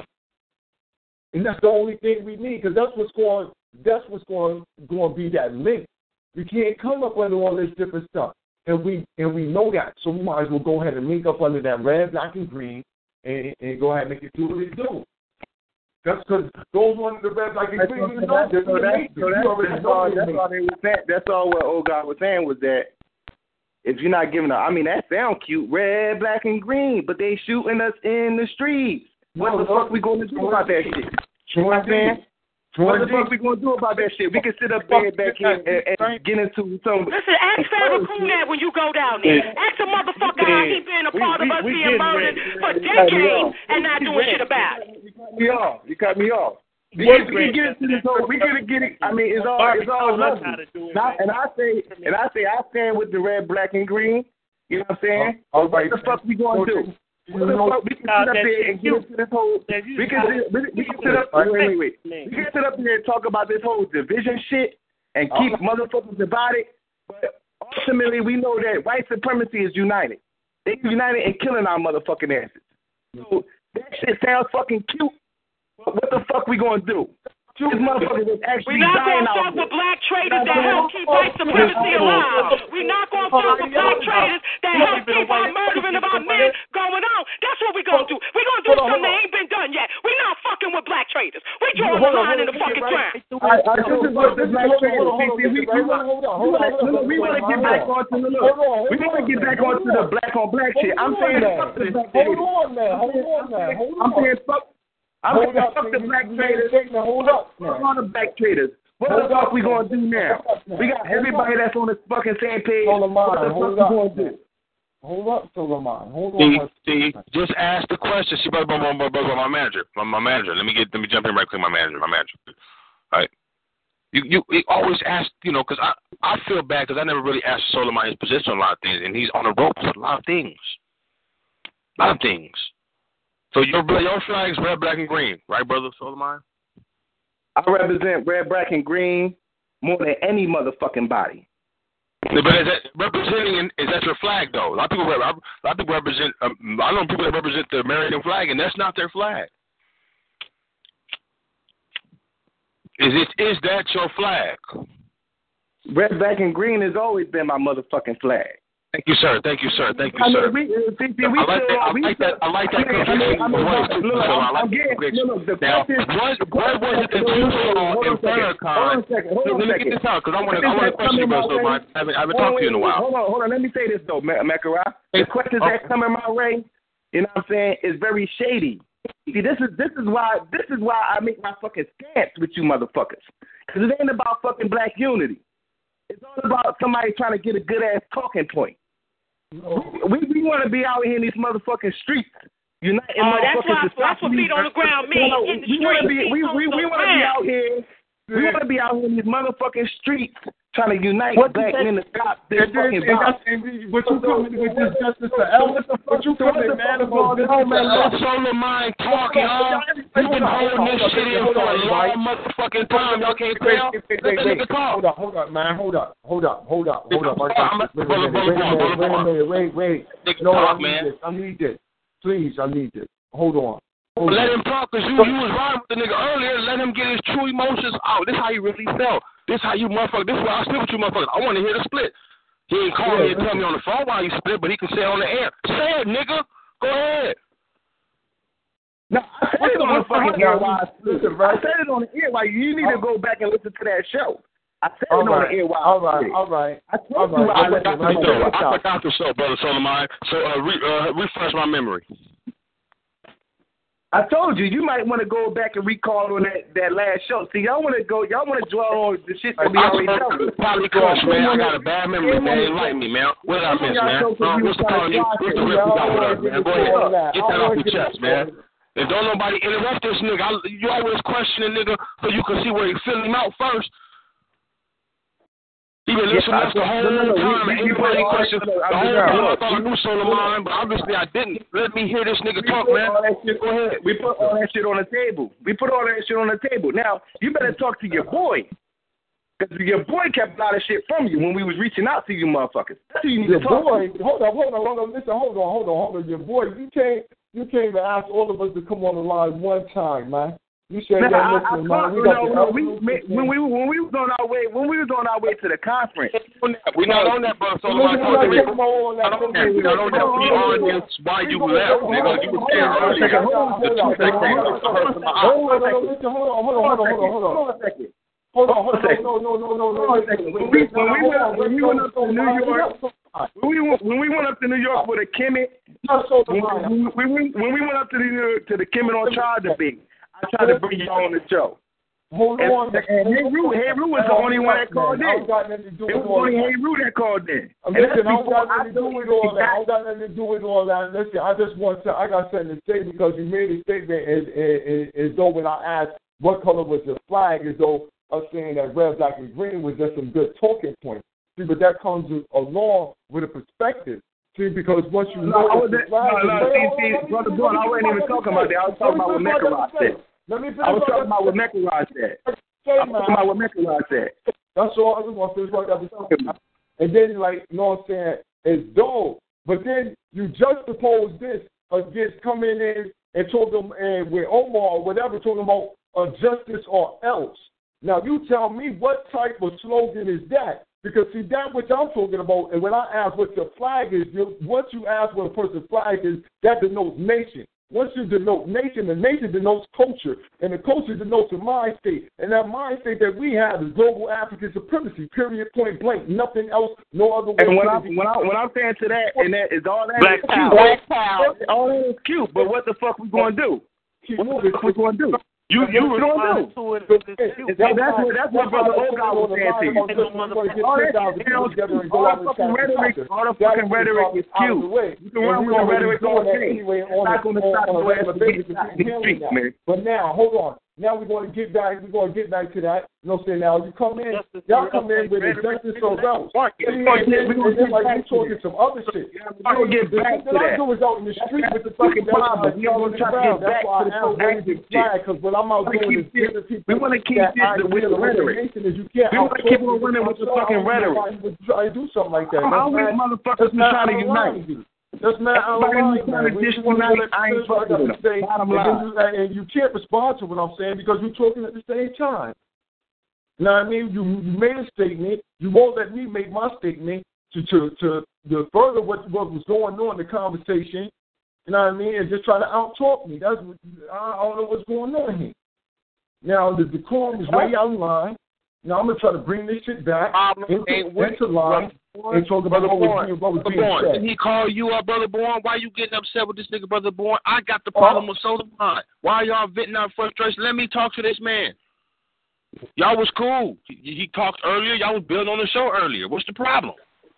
And that's the only thing we need, because that's what's going that's what's going, going to be that link. We can't come up under all this different stuff. And we and we know that. So we might as well go ahead and link up under that red, black, and green and, and go ahead and make it do what it do. That's because those ones, the red, black, and green, you know, so that's, so that's, that's, all, that's all they were saying. That's all what old God was saying was that if you're not giving up, I mean, that sound cute, red, black, and green, but they shooting us in the streets. What no, the fuck we going to do about that shit? You know what I'm saying? What the fuck we going to do about that shit? We can sit up there back here and, and get into some... Listen, ask Farrakhan that when you go down there. Ask a motherfucker how he been a part we, we, of us being murdered for decades and not doing shit about it. You cut me off. You cut me off. We can, we can get into this whole... We can get it... I mean, it's all... It's all lovely. And I say... And I say I stand with the red, black, and green. You know what I'm saying? Uh, what the fuck we going to do? What the fuck? We can sit up there and get into this whole... We can sit, we, we can sit up... Wait, wait, wait. We can sit up here and talk about this whole division shit and keep uh-huh. motherfuckers divided. But ultimately, we know that white supremacy is united. They united in killing our motherfucking asses. So that shit sounds fucking cute. But what the fuck we gonna do? This motherfucker was actually We're not dying going to out fuck with black traders that help keep white supremacy alive. We're not going to fuck with black traders that help keep our murdering of our men going on. That's what we're going to do. We're going to do something that ain't been done yet. We're not fucking with black traders. We're drawing the line in the fucking ground. We want to get back onto the look. We want to get back onto the black on black shit. I'm saying fuck this. Hold on, man. Hold on, man. Hold on. I'm saying fuck. I'm going to fuck the black traders. Hold up. Fuck on the black traders. What the fuck we going to do now? We got everybody that's on the fucking same page. What the fuck we going to do? Hold up, Solomon. Hold on. See, just ask the question. See, brother, brother, brother, brother, my manager, my, my manager. Let me get, let me jump in right quick. My manager, my manager. All right. You, you, you always ask, you know, because I, I feel bad because I never really asked Solomon his position on a lot of things, and he's on the ropes with a lot of things. A lot of things. So your your flag's red, black, and green, right, brother Solomon? I represent red, black, and green more than any motherfucking body. Yeah, but is that representing? Is that your flag though? A lot of people, a lot of people represent. Um, I know people that represent the American flag, and that's not their flag. Is it? Is that your flag? Red, black, and green has always been my motherfucking flag. Thank you, sir. Thank you, sir. Thank you, I mean, sir. We, we, we, I like that. I like that. I like that. I mean, I mean, look, I'm getting. Look, the now, question. What was it that you saw in Farrakhan? Hold on a second. Hold on a second. Let me get this out because I want to. I want to question you, brother. I haven't. I haven't talked to you in a while. Hold on. Hold on. Let me say this though, Mekara. The questions that come in my way, you know what I'm saying, is very shady. See, this is this is why this is why I make my fucking stance with you motherfuckers. Because it ain't about fucking black unity. It's all about somebody trying to get a good ass talking point. We we want to be out here in these motherfucking streets. Uniting oh, that's motherfuckers. What, that's what feet on the ground mean. You know, in the we want to be we we, we, we want to be out here. We want to be out here in these motherfucking streets trying to unite what black men to stop their fucking violence. What you coming with this justice for Elvis? What you coming, man? About this Let Solomon talk, y'all. You've been holding this shit in for a long motherfucking time. Y'all can't tell. Let the talk. Hold up, hold up, man. Hold up, hold up, hold up, hold up. Wait a minute, wait, wait. No, I need this. I need this. Please, I need this. Hold on. Hold let on. him talk, because you, you was riding with the nigga earlier. Let him get his true emotions out. This is how he really felt. This is how you motherfuckers. This is why I split with you motherfuckers. I want to hear the split. He ain't call yeah, me and tell me on the phone why you split, but he can say it on the air. Say it, nigga. Go ahead. No, I said it on the fucking air while I split. I said it on the air while you need to go back and listen to that show. I said it on the air while all right, all right, I told you I forgot I forgot the show, brother Solomon. So uh, re, uh, refresh my memory. I told you, you might want to go back and recall on that, that last show. See, y'all want to go, y'all want to dwell on the shit that we already done. Probably crush, man. I got a bad memory, man. They like me, man. What I miss, man? Uh, Mister Carney, Mister Rip, you got with us, man. Go ahead. Get that off your chest, man. And don't nobody interrupt this nigga. I, you always question a nigga so you can see where you fill him out first. He been listening to us the whole no, no, no, time, and anybody questions the whole time. I thought I knew Solomon, but obviously I didn't. Let me hear this nigga talk, man. Shit, go ahead. We put all that shit on the table. We put all that shit on the table. Now, you better talk to your boy. Because your boy kept a lot of shit from you when we was reaching out to you motherfuckers. That's who you need your to talk boy, to. Hold on, hold on, hold on. Listen, hold on, hold on, hold on. Your boy, you came, you came to ask all of us to come on the line one time, man. You said, nah, yeah, listen, I, I man. We got no, the no, we, when we when we was on our way when we was on our way to the conference. We're not on that, bro. So I'm not on that. We're not on that. We're not on that. We on this why you left, nigga. You were there earlier. The two that came up to hurt my eye. Hold on, hold on, hold on, hold on, hold on, hold on. Hold on a second. Hold on, hold on, no, no, no, no, no. Hold on a second. When we when we went when we went up to New York, when we when we went up to New York with a Kemet, when we when we went up to the to the Kemet on trial debate. I tried to bring you on the show. Hold and, on. And Heru, Heru was the only one that called in. It was only Heru that called in. Listen, I don't got nothing to do with all that. I don't got nothing to do with all that. Listen, I just want to, I got something to say because you made a statement as, as, as though when I asked what color was your flag, as though us saying that red, black, and green was just some good talking points. See, but that comes along with a perspective. See, because once you know no, the flag, no, no, see, see, Brother Blunt, I wasn't even talking about that. I was talking about what Mekarod said. I was talking about what Mekarod said. I was talking about what Mekarod said. That's all I just want to finish what I was talking about. And then, like, you know what I'm saying, it's dull. But then you juxtapose this against coming in and talking and with Omar or whatever, talking about uh, justice or else. Now, you tell me what type of slogan is that? Because, see, that which I'm talking about, and when I ask what your flag is, you, once you ask what a person's flag is, that denotes nation. Once you denote nation, the nation denotes culture, and the culture denotes a mind state. And that mind state that we have is global African supremacy, period, point blank, nothing else, no other way. And when, I, when, I, when I'm saying to that, and that is all that Black is cute. Black power. All that is cute, but what the fuck we going to do? What the fuck we going to do? You you what gonna do? That's what that's what Brother Oga was saying to you. All that all the fucking rhetoric, all the fucking rhetoric is cute. You can run with the rhetoric all day. It's not gonna stop your ass from getting shot in the streets, man. But now, hold on. Now we're going to get back. We're going to get back to that. You know what I'm saying? Now you come in, y'all come in with a justice or else. And then like you talking some other shit. I'm gonna get back to that. I do is out in the street with the fucking problem. We all try to get back to the active flag because what I'm out doing is giving people. We want to keep this with the rhetoric. You can't. We want to keep on running with the fucking rhetoric. Try to do something like that. How many motherfuckers we trying to unite? That's not Everybody trying to disunite. I ain't fucking with them. Bottom line. And you can't respond to what I'm saying because you're talking at the same time. You know what I mean? You, you made a statement. You won't let me make my statement to to to, to further what what was going on in the conversation. You know what I mean? And just try to out-talk me. That's what, I don't know what's going on here. Now, the decorum is way out of line. Now, I'm going to try to bring this shit back into, into line and talk about what was being, what was being said. Didn't he call you up, Brother Bourne? Why you getting upset with this nigga, Brother Bourne? I got the problem uh, with Solomon. Why y'all venting out frustration? Let me talk to this man. Y'all was cool. He, he talked earlier. Y'all was building on the show earlier. What's the problem?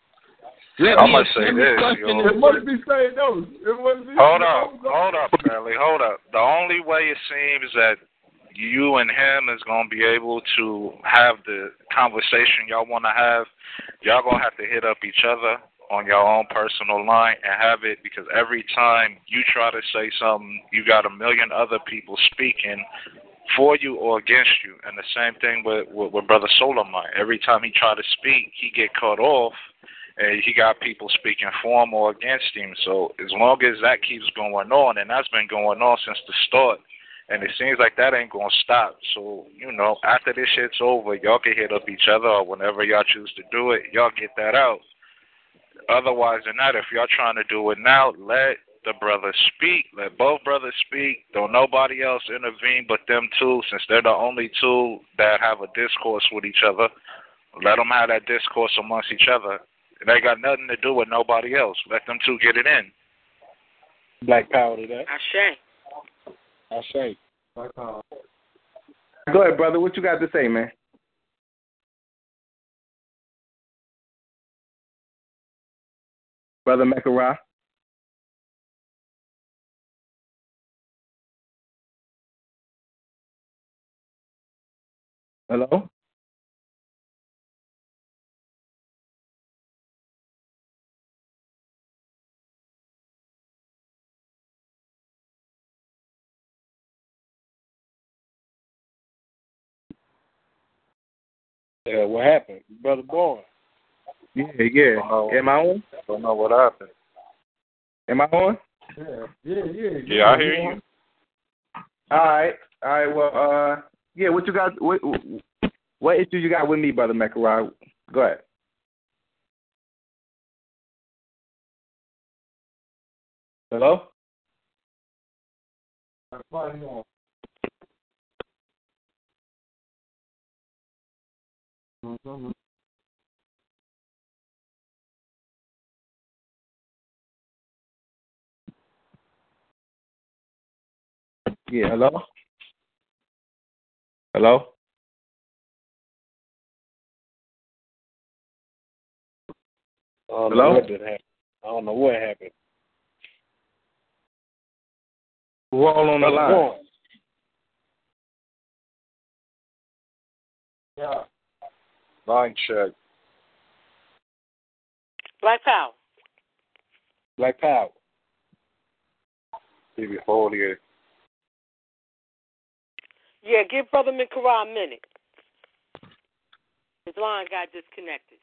Let I must say this, yo. It must be saying those. It must be hold up, hold up, Charlie, hold up. The only way it seems that you and him is going to be able to have the conversation y'all want to have, y'all going to have to hit up each other on your own personal line and have it, because every time you try to say something, you got a million other people speaking for you or against you. And the same thing with, with, with Brother Solomon. Every time he try to speak, he get cut off, and he got people speaking for him or against him. So as long as that keeps going on, and that's been going on since the start, and it seems like that ain't going to stop. So, you know, after this shit's over, y'all can hit up each other, or whenever y'all choose to do it, y'all get that out. Otherwise than that, if y'all trying to do it now, let the brothers speak. Let both brothers speak. Don't nobody else intervene but them two, since they're the only two that have a discourse with each other. Let them have that discourse amongst each other. It ain't got nothing to do with nobody else. Let them two get it in. Black power to that. Ashe. I say. Go ahead, brother. What you got to say, man? Brother Mekara. Hello? Yeah, what happened? Brother Boy. Yeah, yeah. Am I on? Don't know what happened. Am I on? Yeah, yeah, yeah. Yeah, I hear you. All right. All right, well, uh, yeah, what you got, what, what issue you got with me, Brother Mekara? Go ahead. Hello? Mm-hmm. Yeah, hello? Hello? I don't Hello? know what did happen. I don't know what happened. We're all on the line. Boy. Yeah. Line check. Black Power. Black Power. T V forty-eight. Yeah, give Brother Mekara a minute. His line got disconnected.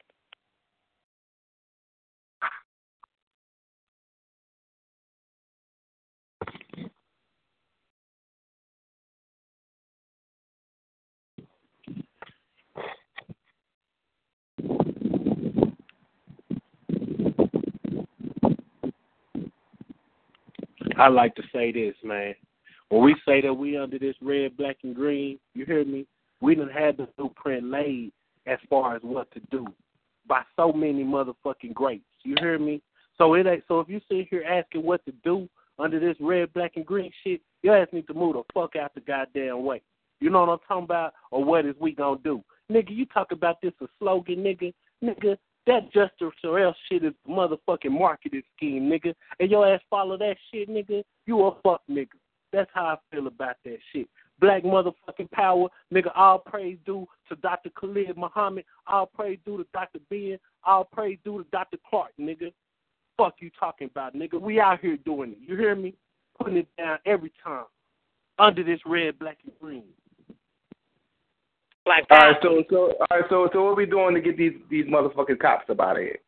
I like to say this, man. When we say that we under this red, black, and green, you hear me? We done had the blueprint laid as far as what to do by so many motherfucking greats. You hear me? So it ain't. So if you sit here asking what to do under this red, black, and green shit, your ass need to move the fuck out the goddamn way. You know what I'm talking about? Or what is we gonna do? Nigga, you talk about this a slogan, nigga. Nigga, that Justice or else shit is a motherfucking marketing scheme, nigga. And your ass follow that shit, nigga, you a fuck nigga. That's how I feel about that shit. Black motherfucking power, nigga, all praise due to Doctor Khalid Muhammad, all praise due to Doctor Ben, all praise due to Doctor Clark, nigga. Fuck you talking about, nigga. We out here doing it. You hear me? Putting it down every time. Under this red, black, and green. Black All Power. right, so so all right, so so what we doing to get these these motherfucking cops up out of here?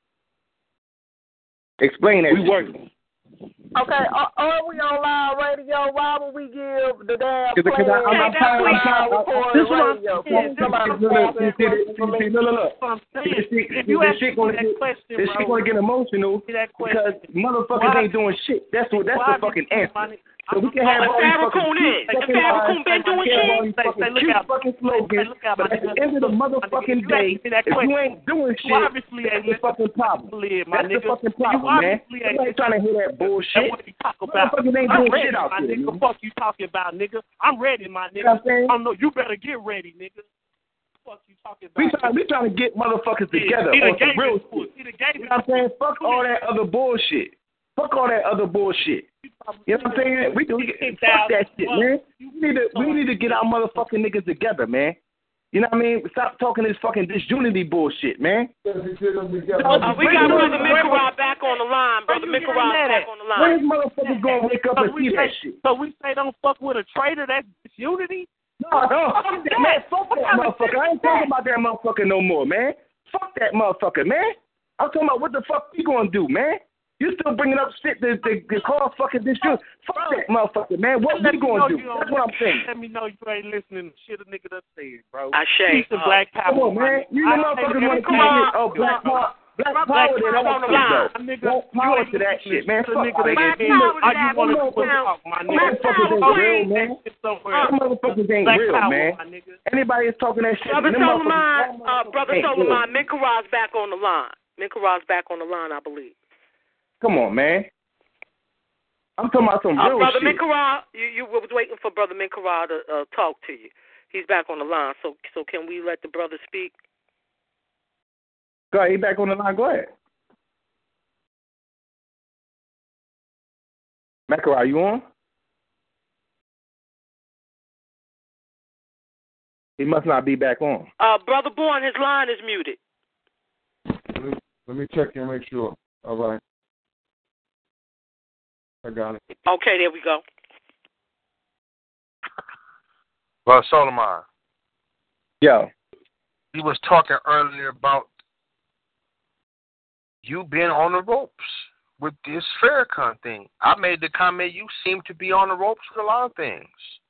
Explain that. We working. Okay, are, are we on live radio? Why would we give the damn Because plan I'm, I'm, I'm, I'm, I'm, recorded this one, radio? this Somebody look, look, see, see, see, look, look, look. I'm saying, This shit, if you this ask shit me gonna that get, question, this bro, shit gonna get emotional that because question. motherfuckers Why? ain't doing shit. That's what. That's Why the fucking did- answer. So we can Oh, have if all these Farrakhan fucking is. cute If fucking Farrakhan lines, been doing we can have all shit. these Say- fucking say, look cute out. fucking Say, slogans, look out, but my at the nigga. end of the Look, my nigga, motherfucking you day, asked me that if you question. ain't doing You shit, obviously that's ain't the listening fucking problem. to Khalid, my That's the nigga. fucking You problem, man. obviously ain't You ain't trying to hear that That's bullshit. what you talk about. Motherfuckers ain't I'm doing ready, shit out my there, nigga. man. Fuck you talking about, nigga. I'm ready, my You know what I'm nigga. saying? I know you better get ready, nigga. Fuck you talking about. We trying, we trying to get motherfuckers together He done on some gave real it to us. shit. He done gave You it know what I'm to us. saying? Fuck all that other bullshit. Fuck all that other bullshit. You know what I'm saying? We can we can- fuck that shit, man. We need to we need to get our motherfucking niggas together, man. You know what I mean? Stop talking this fucking disunity bullshit, man. Uh, we got Brother Mekara back on the line. Brother Mekara back on the line. When motherfuckers gonna wake up So and we see say, that shit? so we say don't fuck with a traitor. That's disunity. No, no, fuck that, man. Fuck that motherfucker. I ain't talking about that motherfucker no more, man. Fuck that motherfucker, man. I'm talking about what the fuck we gonna do, man. You still bringing up shit that that, that cause fucking disunity. Fuck that motherfucker, man. What we gonna do? That's what I'm saying. Let me know you ain't listening to shit a nigga done said, bro. I say, Peace and black power. Come on, man. You know motherfuckers want to keep it. Oh, black power. Black power, they don't want to go. Black power to that shit, man. Fuck nigga that Black shit. power to All that you want to motherfucker. talk, my Black nigga. Motherfuckers ain't power, real, queen. man. Somewhere. Them motherfuckers ain't Black real, power, man. my nigga. Anybody is talking that shit. Brother them Solomon, motherfuckers- uh, Brother ain't real. Solomon, Mekara's back on the line. Mekara's back on the line, I believe. Come on, man. I'm talking about some uh, real Brother shit. Minkara, you, you was waiting for Brother Minkara to uh, talk to you. He's back on the line, so so can we let the brother speak? Go ahead, he back on the line. Go ahead. Minkara, are you on? He must not be back on. Uh, Brother Bourne, his line is muted. Let me, let me check and make sure. All right. I got it. Okay, there we go. Well, Solomon. Yo. He was talking earlier about you being on the ropes with this Farrakhan thing. I made the comment you seem to be on the ropes with a lot of things.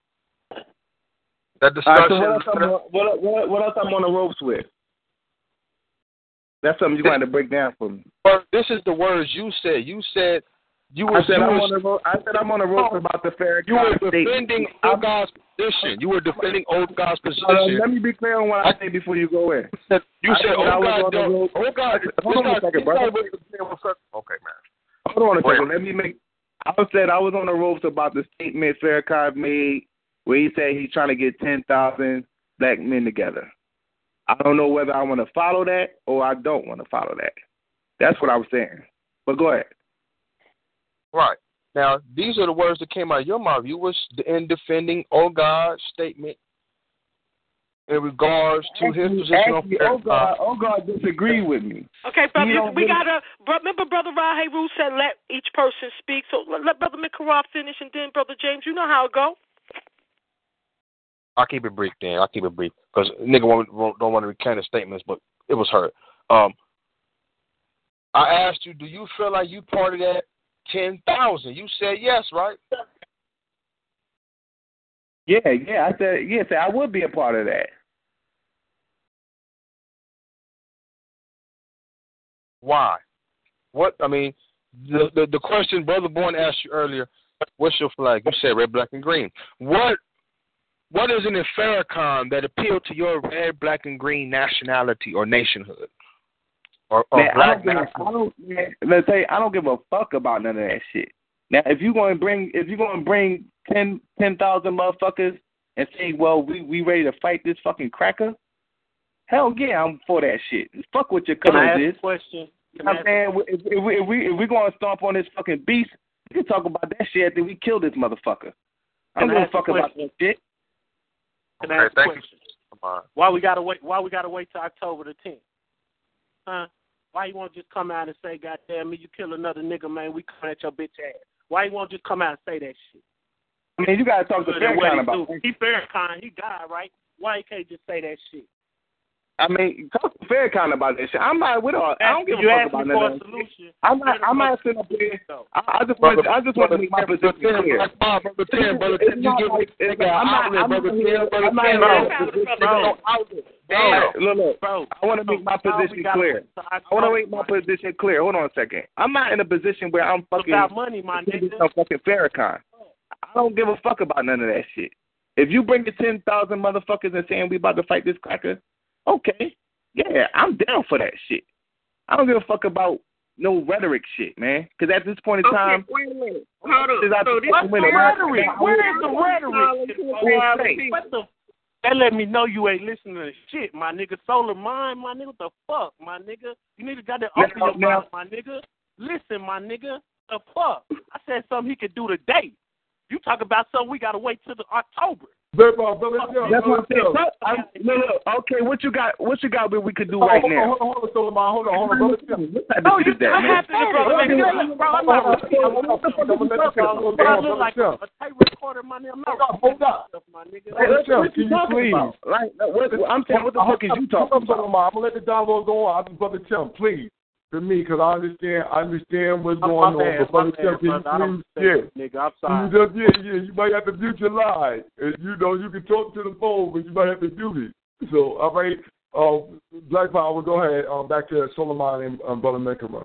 That discussion. Right, so what, else I'm on, what, what, what else I'm on the ropes with? That's something you're going to break down for me. Well, this is the words you said. You said you were. I said, you I'm, were, on the ro- I said I'm on the ropes about the Farrakhan. You were defending old God's position. You were defending old God's position. Uh, let me be clear on what I say before you go in. You said, "Oh God, oh God." Hold on a second, brother. Okay, man. Hold on a second. Let me make. I said I was on the ropes about the statement Farrakhan made, where he said he's trying to get ten thousand black men together. I don't know whether I want to follow that or I don't want to follow that. That's what I was saying. But go ahead. Right. Now, these are the words that came out of your mouth. You was in defending Oh God's statement in regards to actually, his position actually, on Oh God, Oh God disagreed with me. Okay, brother, you, we really... got to, remember Brother Rahe Rule said let each person speak, so let, let Brother Minkara finish, and then Brother James, you know how it go. I'll keep it brief, then. I'll keep it brief, because nigga won't, won't, don't want to recant his statements, but it was heard. Um, I asked you, do you feel like you part of that ten thousand? You said yes, right? Yeah, yeah, I said yes. I would be a part of that. Why? What? I mean, the the, the question Brother Bourne asked you earlier, what's your flag? You said red, black, and green. What What is it in Farrakhan that appealed to your red, black, and green nationality or nationhood? Or, or man, black I don't, give, I don't man, let's say I don't give a fuck about none of that shit. Now, if you going to bring, if you going to bring ten ten thousand motherfuckers and say, well, we we ready to fight this fucking cracker, hell yeah, I'm for that shit. Fuck what your colors is. Question. You know what I'm saying? If, if, we, if we if we going to stomp on this fucking beast, we can talk about that shit after we kill this motherfucker. I don't give a fuck about that shit. Can I ask a question? Why we gotta wait? Why we gotta wait till October the tenth? Huh? Why you won't just come out and say, "Goddamn me, you kill another nigga, man? We coming at your bitch ass." Why you won't just come out and say that shit? I mean, you gotta talk to Farrakhan about it. He Farrakhan, he died, right? Why he can't just say that shit? I mean, talk to Farrakhan about that shit. I'm not with all. I don't give a you fuck about me for that. a solution. I'm not. I'm not sitting up here. I, I just want. I just want to make my position clear. Brother Tim, brother Tim, you give me. I'm not. I'm not here. I'm not here. Look, look, bro. I want to make my position clear. I want to make my position clear. Hold on a second. I'm not in a position where I'm fucking. Without money, my nigga. I'm fucking Farrakhan. I don't give a fuck about none of that shit. If you bring the ten thousand motherfuckers and saying we about to fight this cracker, okay, yeah, I'm down for that shit. I don't give a fuck about no rhetoric shit, man. Because at this point in time, okay, wait a minute. Hold on. So what's the rhetoric? Where is the rhetoric? What the? That let me know you ain't listening to shit, my nigga. Solar Mind, my nigga. What the fuck, my nigga? You need to got to open your mouth, my nigga. Listen, my nigga. The fuck? I said something he could do today. You talk about something we got to wait till the October. That's what I'm saying. No, no. Okay, what you got? What you got? That we could do oh, right hold now. On, hold on, hold on, hold on, hold on, hold on. No, you I have to, brother. I'm not. I look like a tape recorder, my nigga. Hold up, my nigga. Can you please? Like, I'm saying, what the fuck is you talking about? I'm gonna let the dialogue go on. I'm Brother Tim, please. To me, because I understand, I understand what's going on. But Brother Tim, can you please, nigga, I'm sorry. You just, yeah, yeah, you might have to mute your line. And you know, you can talk to the phone, but you might have to mute it. So, all right, uh, Black Power, go ahead. Um, back to Solomon and um, Brother Minkara.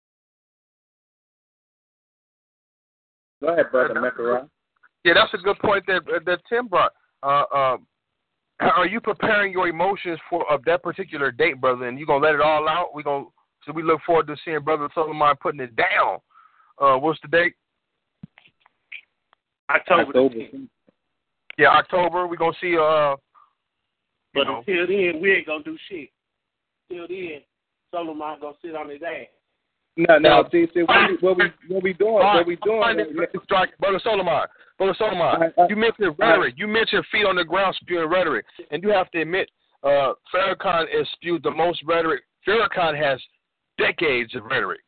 Go ahead, Brother Minkara. Yeah, that's a good point that that Tim brought. Uh, um, are you preparing your emotions for of that particular date, brother? And you gonna let it all out? We gonna So we look forward to seeing Brother Solomon putting it down. Uh, what's the date? October. October. Yeah, October. We're gonna see. Uh, but know. until then, we ain't gonna do shit. Until then, Solomon gonna sit on his ass. No, no. See, see, what we, what we, what we doing? Right. What we doing? Strike, Brother Solomon. Brother Solomon. I, I, you mentioned rhetoric. I, you mentioned feet on the ground spewing rhetoric, and you have to admit, uh, Farrakhan has spewed the most rhetoric. Farrakhan has decades of rhetoric.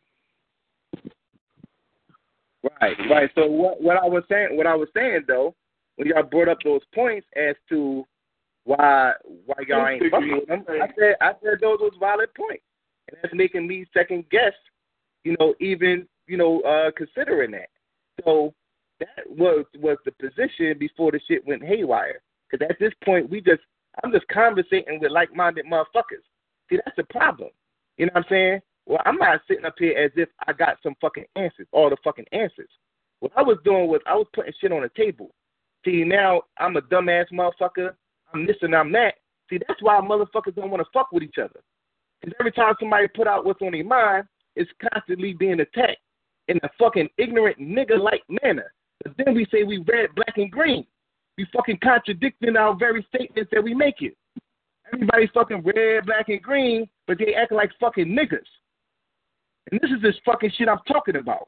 Right, right. So what, what I was saying, what I was saying though, when y'all brought up those points as to why why y'all ain't fucking with them, I said I said those was valid points, and that's making me second guess, you know, even you know, uh, considering that. So that was was the position before the shit went haywire. Because at this point, we just I'm just conversating with like-minded motherfuckers. See, that's the problem. You know what I'm saying? Well, I'm not sitting up here as if I got some fucking answers, all the fucking answers. What I was doing was I was putting shit on the table. See, now I'm a dumbass motherfucker. I'm this and I'm that. See, that's why motherfuckers don't want to fuck with each other. Because every time somebody put out what's on their mind, it's constantly being attacked in a fucking ignorant nigga-like manner. But then we say we red, black, and green. We fucking contradicting our very statements that we make it. Everybody's fucking red, black, and green, but they act like fucking niggas. And this is this fucking shit I'm talking about.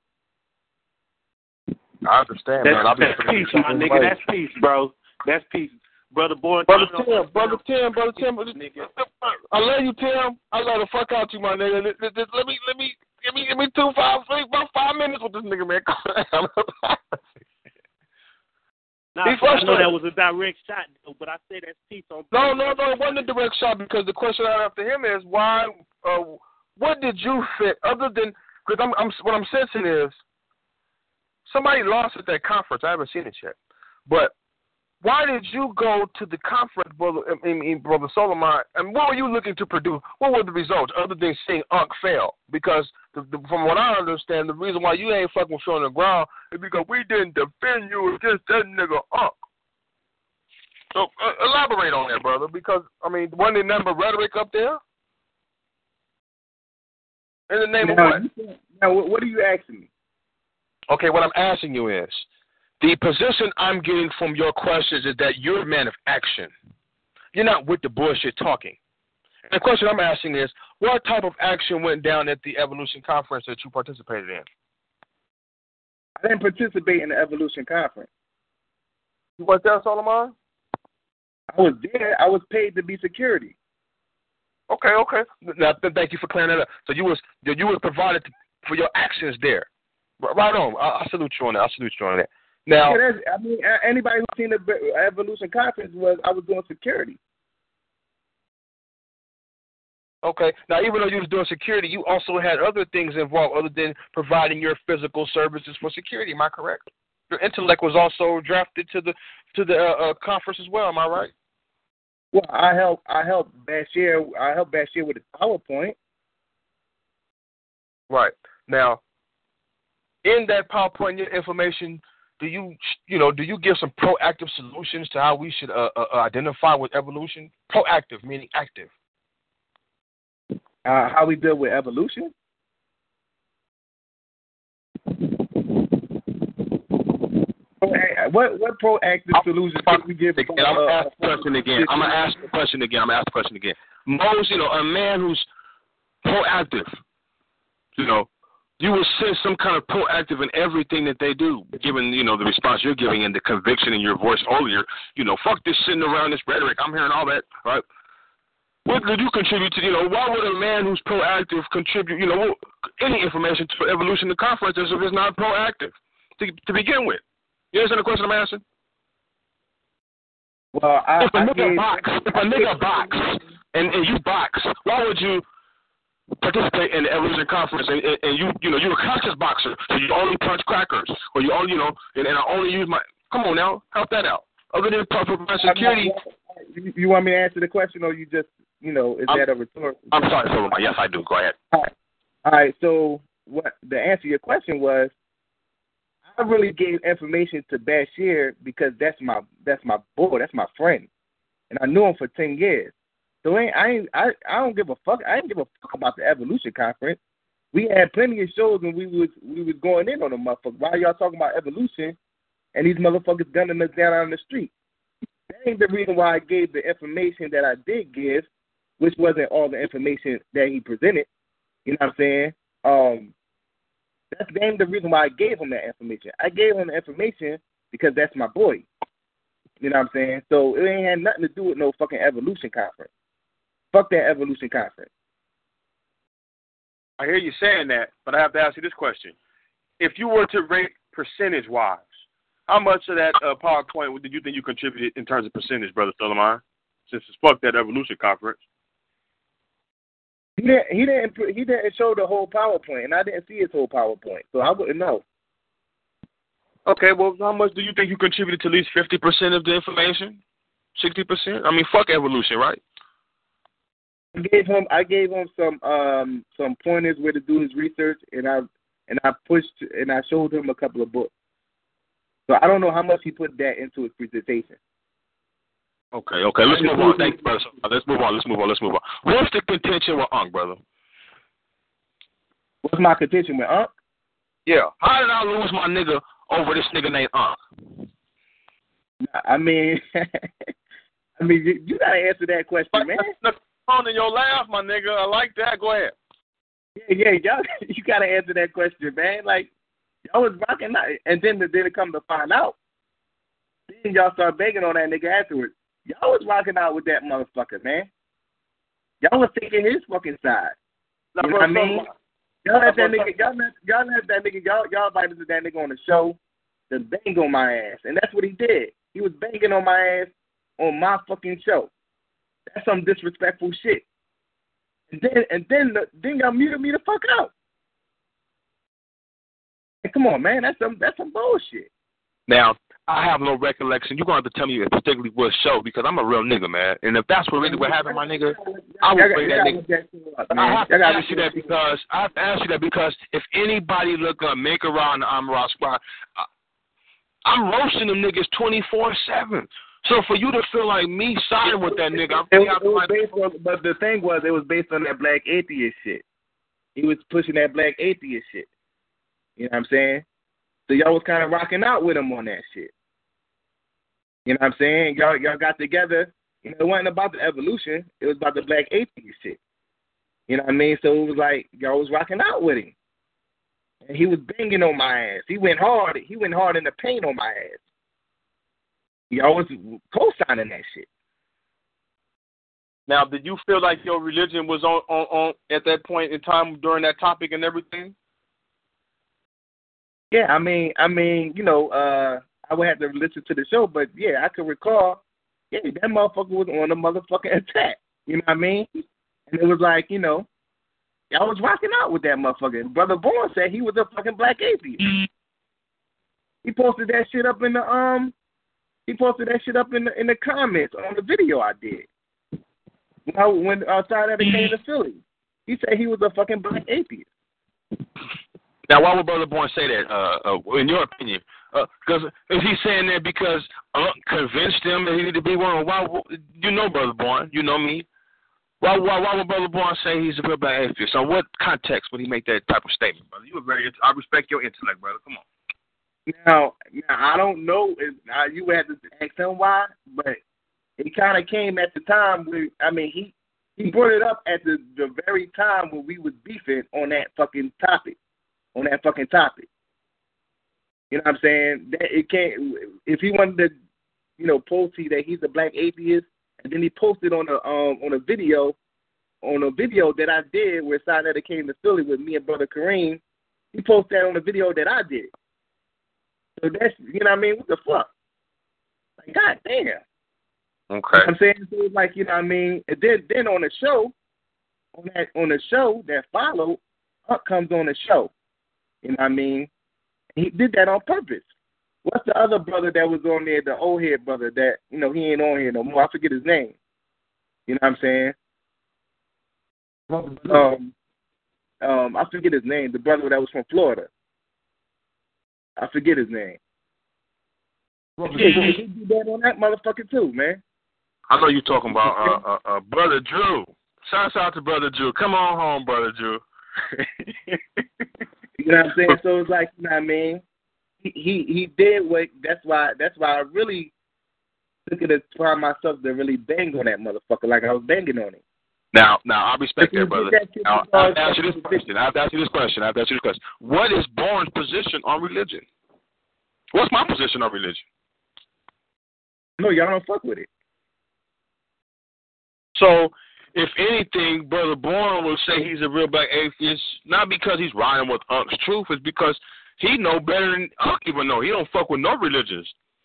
I understand, that's, man. I'll be that's peace, my nigga. That's peace, bro. That's peace. Brother Boy. Brother Tim, Brother Tim, Brother Tim. I love you, Tim. I love the fuck out you, my nigga. Let, let, let me, let me, give me, give me two, five, three, about five minutes with this nigga, man. Nah, I know that was a direct shot, though, but I say that's peace on. No, no, no, it wasn't a direct shot because the question I have to him is why. Uh, what did you fit other than because I'm, I'm what I'm sensing is somebody lost at that conference. I haven't seen it yet, but why did you go to the conference, brother? I mean, brother Solomon, and what were you looking to produce? What were the results other than seeing Unc fail? Because the, the, from what I understand, the reason why you ain't fucking feet on the ground is because we didn't defend you against that nigga Unc. So uh, elaborate on that, brother, because I mean, wasn't there number rhetoric up there? In the name now, of what? Now, what are you asking me? Okay, what I'm asking you is, the position I'm getting from your questions is that you're a man of action. You're not with the bullshit talking. And the question I'm asking is, what type of action went down at the Evolution Conference that you participated in? I didn't participate in the Evolution Conference. You was there, Solomon? I was there. I was paid to be security. Okay, okay. Now, thank you for clearing that up. So you was you was provided for your actions there. Right on. I, I salute you on that. I salute you on that. Now, yeah, I mean, anybody who's seen the Evolution Conference was I was doing security. Okay. Now, even though you was doing security, you also had other things involved other than providing your physical services for security. Am I correct? Your intellect was also drafted to the to the uh, uh, conference as well. Am I right? Well, I helped. I helped Bashir. I helped Bashir with the PowerPoint. Right. Now, in that PowerPoint, your information. Do you, you know, do you give some proactive solutions to how we should uh, uh, identify with evolution? Proactive, meaning active. Uh, how we deal with evolution? What what proactive solutions can we give? Again, I'm gonna ask the question again. I'm gonna ask the question again. I'm gonna ask the question again. Most, you know, a man who's proactive, you know. You will sense some kind of proactive in everything that they do, given, you know, the response you're giving and the conviction in your voice earlier. You know, fuck this sitting around this rhetoric. I'm hearing all that, right? What could you contribute to, you know, why would a man who's proactive contribute, you know, any information to evolution to conference if it's not proactive to, to begin with? You understand the question I'm asking? Well, I, if a I nigga gave, box, if a nigga box, and, and you box, why would you participate in the Evolution Conference, and, and, and you, you know, you're a conscious boxer, so you only punch crackers, or you only, you know, and, and I only use my. Come on now, help that out. Other than proper security. You, you want me to answer the question, or you just, you know, is I'm, that a rhetorical? I'm sorry, Solomon. Yes, I do. Go ahead. All right. All right. So, what the answer to your question was, I really gave information to Bashir because that's my that's my boy, that's my friend, and I knew him for ten years. So I ain't, I I don't give a fuck. I didn't give a fuck about the Evolution Conference. We had plenty of shows when we was we was going in on the motherfucker. Why y'all talking about evolution and these motherfuckers gunning us down on the street. That ain't the reason why I gave the information that I did give, which wasn't all the information that he presented. You know what I'm saying? Um, that's that ain't the reason why I gave him that information. I gave him the information because that's my boy. You know what I'm saying? So it ain't had nothing to do with no fucking evolution conference. Fuck that evolution conference. I hear you saying that, but I have to ask you this question. If you were to rate percentage-wise, how much of that uh, PowerPoint did you think you contributed in terms of percentage, Brother Suleiman, since it's fuck that evolution conference? He didn't, he didn't, he didn't show the whole PowerPoint, and I didn't see his whole PowerPoint, so I wouldn't know. Okay, well, how much do you think you contributed to at least fifty percent of the information? sixty percent? I mean, fuck evolution, right? I gave him, I gave him some, um, some pointers where to do his research, and I, and I pushed, and I showed him a couple of books. So I don't know how much he put that into his presentation. Okay, okay, let's move on. Thank you, brother. Let's move on. Let's move on. Let's move on. What's the contention with Unc, brother? What's my contention with Unc? Yeah. How did I lose my nigga over this nigga named Unc? I mean, I mean, you, you gotta answer that question, man. On in your laugh, my nigga. I like that. Go ahead. Yeah, yeah, y'all, you gotta answer that question, man. Like, y'all was rocking out, and then then it come to find out, then y'all start begging on that nigga afterwards. Y'all was rocking out with that motherfucker, man. Y'all was taking his fucking side. You know what I mean? Y'all let that nigga, y'all let, y'all let that nigga, y'all, y'all invited that nigga on the show to bang on my ass, and that's what he did. He was banging on my ass on my fucking show. That's some disrespectful shit. And then, and then, then y'all muted me the fuck out. Hey, come on, man, that's some, that's some bullshit. Now, I have no recollection. You're going to have to tell me particularly what show, because I'm a real nigga, man. And if that's what really what happened, my nigga, I will bring that nigga. I have to ask you that because I have to ask you that because if anybody look up Make Around the Amara Squad, I'm roasting them niggas twenty-four seven. So for you to feel like me siding with that nigga, I'm it, it was based on, but the thing was, it was based on that black atheist shit. He was pushing that black atheist shit. You know what I'm saying? So y'all was kind of rocking out with him on that shit. You know what I'm saying? Y'all y'all got together. You know, it wasn't about the evolution. It was about the black atheist shit. You know what I mean? So it was like y'all was rocking out with him. And he was banging on my ass. He went hard. He went hard in the paint on my ass. Y'all was co-signing that shit. Now, did you feel like your religion was on, on, on at that point in time during that topic and everything? Yeah, I mean, I mean, you know, uh, I would have to listen to the show, but yeah, I could recall, yeah, that motherfucker was on a motherfucking attack. You know what I mean? And it was like, you know, y'all was rocking out with that motherfucker. Brother Bourne said he was a fucking black atheist. He posted that shit up in the um, he posted that shit up in the in the comments on the video I did. You know, when outside of the came to Philly, he said he was a fucking black atheist. Now, why would Brother Bourne say that, uh, uh, in your opinion? Because uh, is he saying that because Unc convinced him that he needed to be one? Why? You know Brother Bourne. You know me. Why, why, why would Brother Bourne say he's a real black atheist? On what context would he make that type of statement, brother? You are very. I respect your intellect, brother. Come on. Now, now I don't know if uh, you had to ask him why, but it kind of came at the time where, I mean, he, he brought it up at the, the very time when we was beefing on that fucking topic. On that fucking topic. You know what I'm saying? That it can't, if he wanted to, you know, post that he's a black atheist, and then he posted on a um on a video, on a video that I did where Sinetta came to Philly with me and Brother Kareem, he posted that on a video that I did. So that's, you know what I mean? What the fuck? Like, God damn. Okay. You know what I'm saying? So it's like, you know what I mean? And then then on the show, on that on the show that followed, Huck comes on the show. You know what I mean? He did that on purpose. What's the other brother that was on there, the old head brother that, you know, he ain't on here no more? I forget his name. You know what I'm saying? Um, um, I forget his name. The brother that was from Florida. I forget his name. Yeah, he, he did that on that motherfucker too, man. I know you're talking about uh, uh, uh, Brother Drew. Shouts out to Brother Drew. Come on home, Brother Drew. You know what I'm saying? So it's like, you know what I mean? he, he he did what. That's why. That's why I really took it upon myself to really bang on that motherfucker like I was banging on him. Now, now I respect that, brother. Now, I have to ask you this question. I have to ask you this question. I have to ask you this question. What is Bourne's position on religion? What's my position on religion? No, y'all don't fuck with it. So, if anything, Brother Bourne will say he's a real black atheist, not because he's riding with Unc's truth, it's because he know better than Unc even know. He don't fuck with no religions.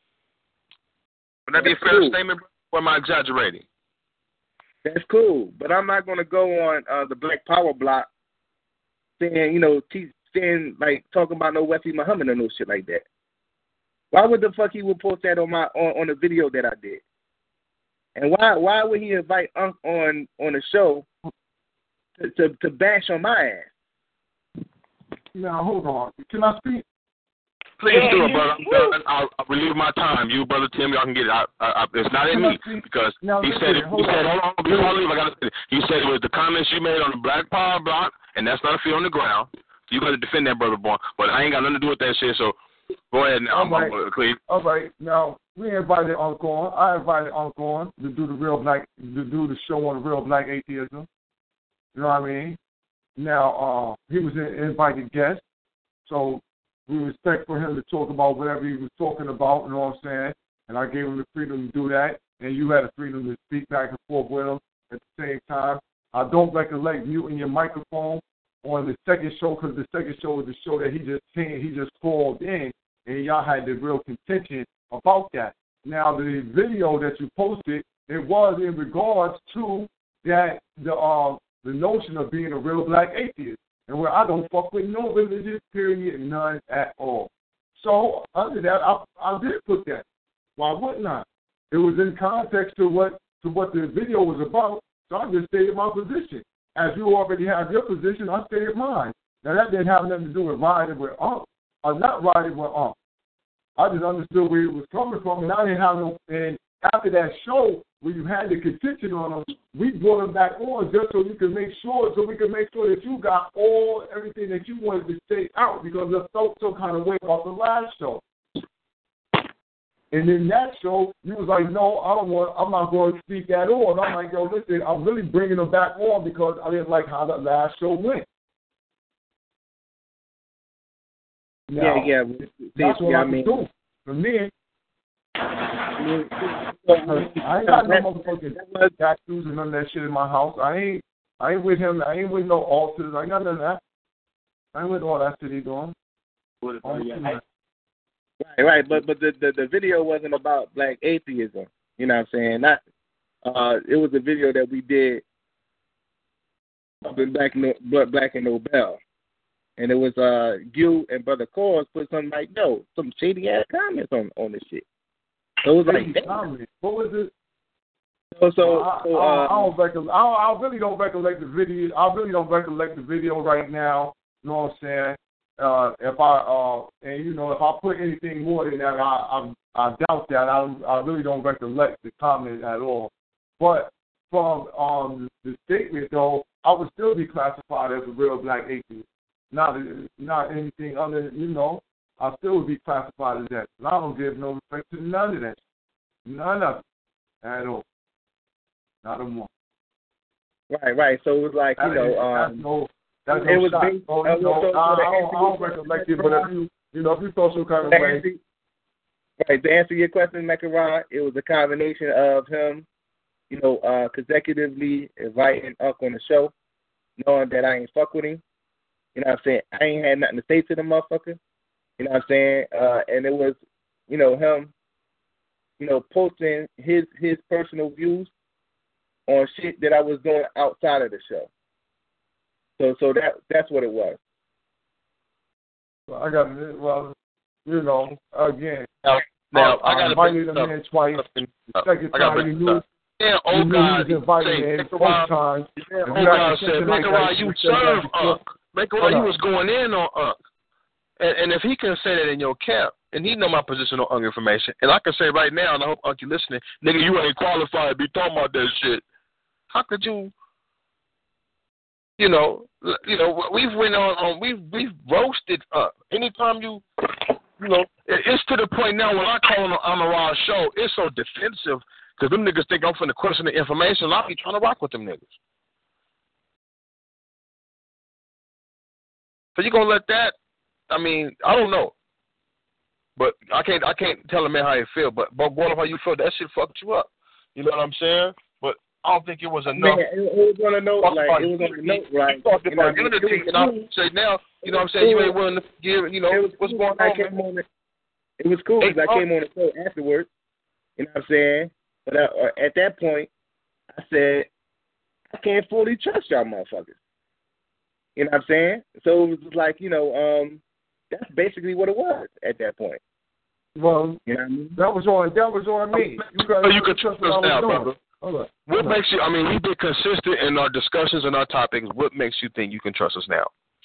Would that be a fair cool. statement, or am I exaggerating? That's cool, but I'm not going to go on uh, the Black Power block saying, you know, te- saying, like, talking about no Wesley Muhammad or no shit like that. Why would the fuck he would post that on my on, on the video that I did? And why why would he invite Unc on on the show to, to, to bash on my ass? Now, hold on. Can I speak? Please do it, brother. I'm, I'll, I'll relieve my time. You, Brother Tim, y'all can get it. I, I, I, it's not in me because now, he said it. He said, hold on, before I leave, I got to say it. He said it was the comments you made on the Black Power block, and that's not a feet on the ground. You got to defend that, Brother Bourne. But I ain't got nothing to do with that shit, so go ahead now. All right. I'm, I'm, Cleve. All right. Now, we invited Unc on. I invited Unc on to do the real black, to do the show on the real black atheism. You know what I mean? Now, uh, he was an invited guest, so we respect for him to talk about whatever he was talking about, you know what I'm saying? And I gave him the freedom to do that, and you had the freedom to speak back and forth with him at the same time. I don't recollect muting your microphone on the second show because the second show was the show that he just came, he just called in, and y'all had the real contention about that. Now, the video that you posted, it was in regards to that the uh, the notion of being a real black atheist. And where I don't fuck with no religious, period, none at all. So, under that, I, I did put that. Why wouldn't I? It was in context to what to what the video was about, so I just stated my position. As you already have your position, I stated mine. Now, that didn't have nothing to do with riding with Unc, or not riding with Unc. I just understood where it was coming from, and I didn't have no, and after that show, where you had the contention on them, we brought them back on just so you could make sure, so we could make sure that you got all everything that you wanted to say out because I felt some kind of way about the last show. And in that show, you was like, no, I don't want, I'm not going to speak at all. And I'm like, yo, listen, I'm really bringing them back on because I didn't like how that last show went. Now, yeah, yeah. That's what yeah, I, I mean, do. For me, I ain't got no motherfucking tattoos and none of that shit in my house. I ain't I ain't with him. I ain't with no altars. I ain't got none of that. I ain't with all that shit he doing. Right, right. But but the, the, the video wasn't about black atheism. You know what I'm saying? Not uh it was a video that we did up in Black Black and Nobel. And it was uh you and Brother Cause put something like, no, some shady ass comments on, on this shit. So it was like, what was it? So, so, I, so I, uh, I don't recollect. I, I really don't recollect the video. I really don't recollect the video right now. You know what I'm saying? Uh, if I uh, and you know, if I put anything more than that, I I, I doubt that. I I really don't recollect the comment at all. But from um the statement though, I would still be classified as a real black atheist. Not not anything other, you know. I still would be classified as that. And I don't give no respect to none of that. None of it at all. Not a one. Right, right. So it was like, you that know, is, um, that's no, that's it no was shot. based, oh, uh, you know, so, so I, I, to don't, I don't recollect it, but if you, you know, if you feel some kind of way. Answer, right, to answer your question, Mekaran, it was a combination of him, you know, uh, consecutively inviting Unc on the show, knowing that I ain't fuck with him. You know what I'm saying? I ain't had nothing to say to the motherfucker. You know what I'm saying? Uh, and it was, you know, him, you know, posting his his personal views on shit that I was doing outside of the show. So so that that's what it was. Well, I got well, you know, again. Now, now I, I, I invited him in twice. The second time you knew. Yeah, oh God, you invited in both times. Yeah, oh God said, Mekaran, you serve Unc. Mekaran, you was going in on Unc. And, and if he can say that in your camp, and he know my position on Unc information, and I can say right now, and I hope Unc you listening, nigga, you ain't qualified to be talking about that shit. How could you, you know, you know, we've went on, on we've we've roasted Unc. Anytime you you know, it, it's to the point now when I call on the Amaral show, it's so defensive because them niggas think I'm finna question the information. I'll be trying to rock with them niggas. So you gonna let that? I mean, I don't know, but I can't. I can't tell a man how he feel. But but what how you feel? That shit fucked you up. You know what I'm saying? But I don't think it was enough. Man, it, it was on a note, like it was on a note, right? You talked about unity, and I say now, you know what I'm saying? You ain't willing to give. You know what's cool going on? Man? on the, it was cool because I came on the show afterwards. You know what I'm saying? But I, uh, at that point, I said I can't fully trust y'all motherfuckers. You know what I'm saying? So it was just like, you know, um, that's basically what it was at that point. Well, you know what I mean? that was on that was on me. You so you can trust us now, brother. Hold on. What Hold makes you? I mean, we've been consistent in our discussions and our topics. What makes you think you can trust us now?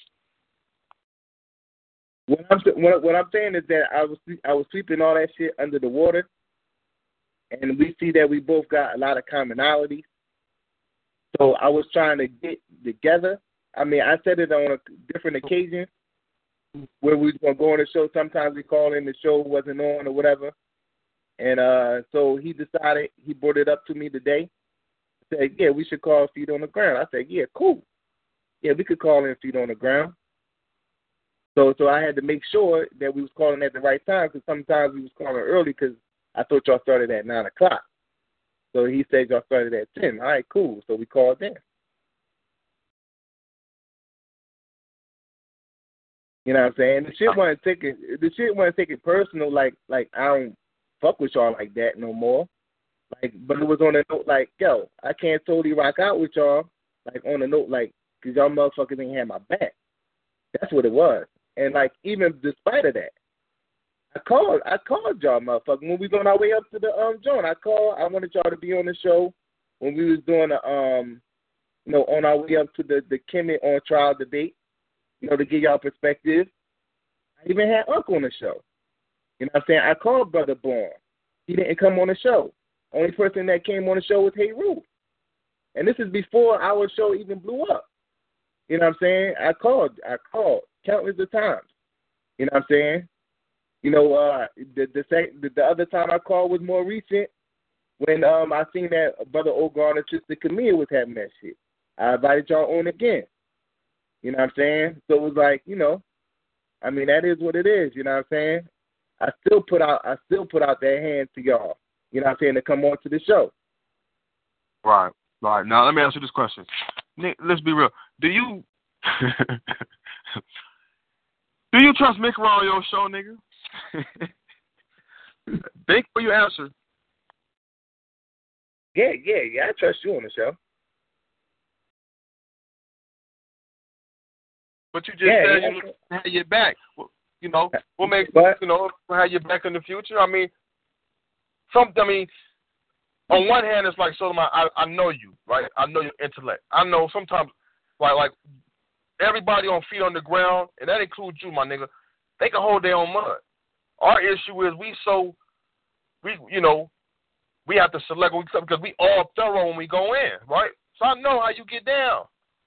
What I'm what, what I'm saying is that I was I was sweeping all that shit under the water, and we see that we both got a lot of commonalities. So I was trying to get together. I mean, I said it on a different occasion where we was going to go on the show. Sometimes we call in, the show wasn't on or whatever. And uh, so he decided, he brought it up to me today. Said, yeah, we should call Feet on the Ground. I said, yeah, cool. Yeah, we could call in Feet on the Ground. So so I had to make sure that we was calling at the right time because sometimes we was calling early because I thought y'all started at nine o'clock. So he said y'all started at ten. All right, cool. So we called in. You know what I'm saying? The shit wasn't taking the shit wasn't taking personal. Like like I don't fuck with y'all like that no more. Like, but it was on a note like, yo, I can't totally rock out with y'all. Like on a note like, cause y'all motherfuckers ain't had my back. That's what it was. And like even despite of that, I called I called y'all motherfuckers when we was on our way up to the um joint. I called. I wanted y'all to be on the show when we was doing the um you know on our way up to the the Kemet on trial debate. You know, to give y'all perspective. I even had Uncle on the show. You know what I'm saying? I called Brother Bourne. He didn't come on the show. Only person that came on the show was Hey Roof. And this is before our show even blew up. You know what I'm saying? I called. I called countless of times. You know what I'm saying? You know, uh, the, the the the other time I called was more recent when um I seen that Brother Ogar and Sister Camille was having that shit. I invited y'all on again. You know what I'm saying? So it was like, you know, I mean, that is what it is. You know what I'm saying? I still put out, I still put out that hand to y'all. You know what I'm saying? To come on to the show. Right, right. Now let me ask you this question. Nick, let's be real. Do you do you trust Mick on your show, nigga? Think for your answer. Yeah, yeah, yeah. I trust you on the show. But you just yeah, said yeah. you had your back. You know, what makes but, you know have your back in the future? I mean, some. I mean, on one hand, it's like Solomon. I I know you, right? I know your intellect. I know sometimes, like like everybody on Feet on the Ground, and that includes you, my nigga. They can hold their own mud. Our issue is we so we you know we have to select because we all thorough when we go in, right? So I know how you get down.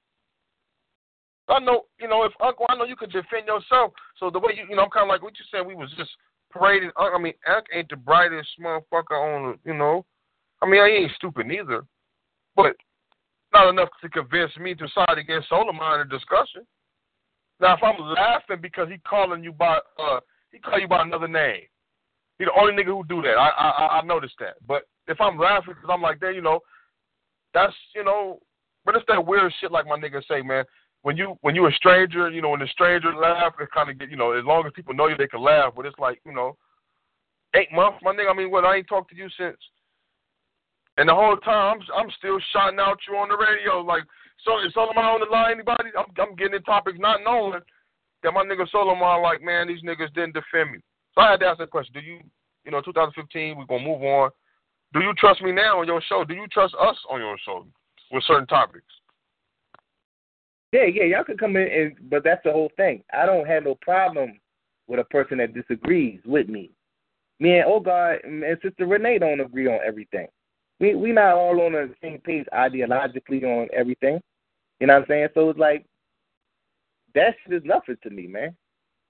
I know, you know, if Uncle, I know you could defend yourself. So the way you, you know, I'm kind of like what you said. We was just parading. I mean, Uncle ain't the brightest motherfucker on, the, you know. I mean, I ain't stupid neither, but not enough to convince me to side against Solomon in a discussion. Now, if I'm laughing because he calling you by, uh, he call you by another name. He the only nigga who do that. I I I noticed that. But if I'm laughing because I'm like that, you know, that's you know, but it's that weird shit like my nigga say, man. When you when you a stranger, you know, when the stranger laugh, it kind of get, you know, as long as people know you, they can laugh. But it's like, you know, eight months, my nigga. I mean, what? I ain't talked to you since, and the whole time I'm I'm still shouting out you on the radio. Like, so is Solomon on the line? Anybody? I'm I'm getting in topics not knowing that my nigga Solomon like, man, these niggas didn't defend me. So I had to ask that question. Do you, you know, twenty fifteen, we're gonna move on. Do you trust me now on your show? Do you trust us on your show with certain topics? Yeah, yeah, y'all can come in, and, but that's the whole thing. I don't have no problem with a person that disagrees with me. Me and Ogar and Sister Renee don't agree on everything. We we not all on the same page ideologically on everything. You know what I'm saying? So it's like, that shit is nothing to me, man.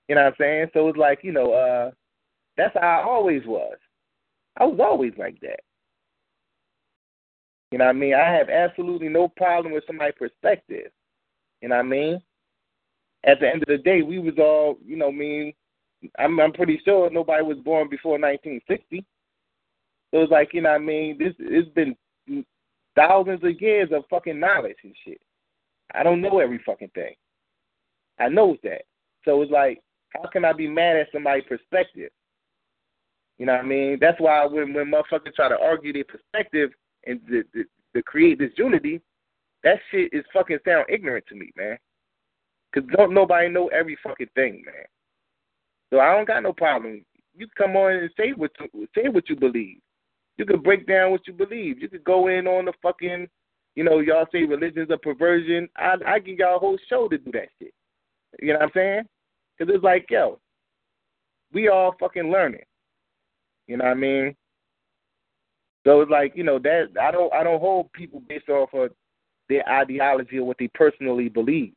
You know what I'm saying? So it's like, you know, uh, that's how I always was. I was always like that. You know what I mean? I have absolutely no problem with somebody's perspective. You know what I mean? At the end of the day, we was all, you know, I mean, I'm, I'm pretty sure nobody was born before nineteen sixty. So it's like, you know what I mean? This it's been thousands of years of fucking knowledge and shit. I don't know every fucking thing. I know that. So it's like, how can I be mad at somebody's perspective? You know what I mean? That's why when, when motherfuckers try to argue their perspective and to, to, to create this unity, that shit is fucking sound ignorant to me, man. Because don't nobody know every fucking thing, man. So I don't got no problem. You come on and say what you, say what you believe. You could break down what you believe. You could go in on the fucking, you know, y'all say religion's a perversion. I I give y'all a whole show to do that shit. You know what I'm saying? Because it's like, yo, we all fucking learning. You know what I mean? So it's like, you know, that I don't I don't hold people based off of their ideology or what they personally believe.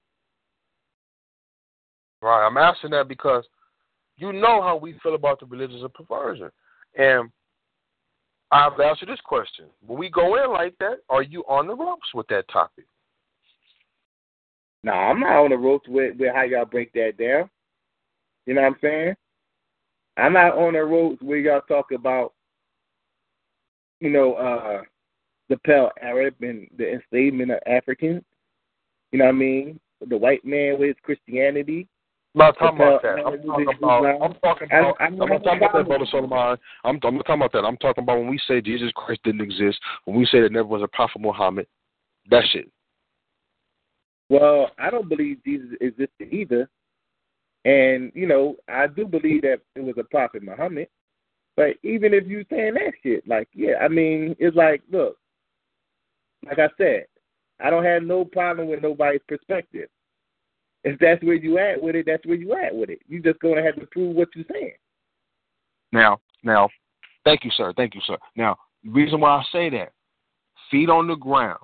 Right. I'm asking that because you know how we feel about the religion of perversion. And I have to ask you this question. When we go in like that, are you on the ropes with that topic? No, nah, I'm not on the ropes with, with how y'all break that down. You know what I'm saying? I'm not on the ropes where y'all talk about, you know, uh, the pale Arab and the enslavement of Africans. You know what I mean? The white man with his Christianity. I'm not talking about that. I'm talking about, I'm talking about, I'm not talking about that, Brother Solomon. I'm, I'm not talking about that. I'm talking about when we say Jesus Christ didn't exist, when we say there never was a Prophet Muhammad, that shit. Well, I don't believe Jesus existed either. And, you know, I do believe that it was a Prophet Muhammad. But even if you saying that shit, like, yeah, I mean, it's like, look, like I said, I don't have no problem with nobody's perspective. If that's where you at with it, that's where you at with it. You just gonna have to prove what you're saying. Now, now, thank you, sir. Thank you, sir. Now, the reason why I say that, feet on the ground.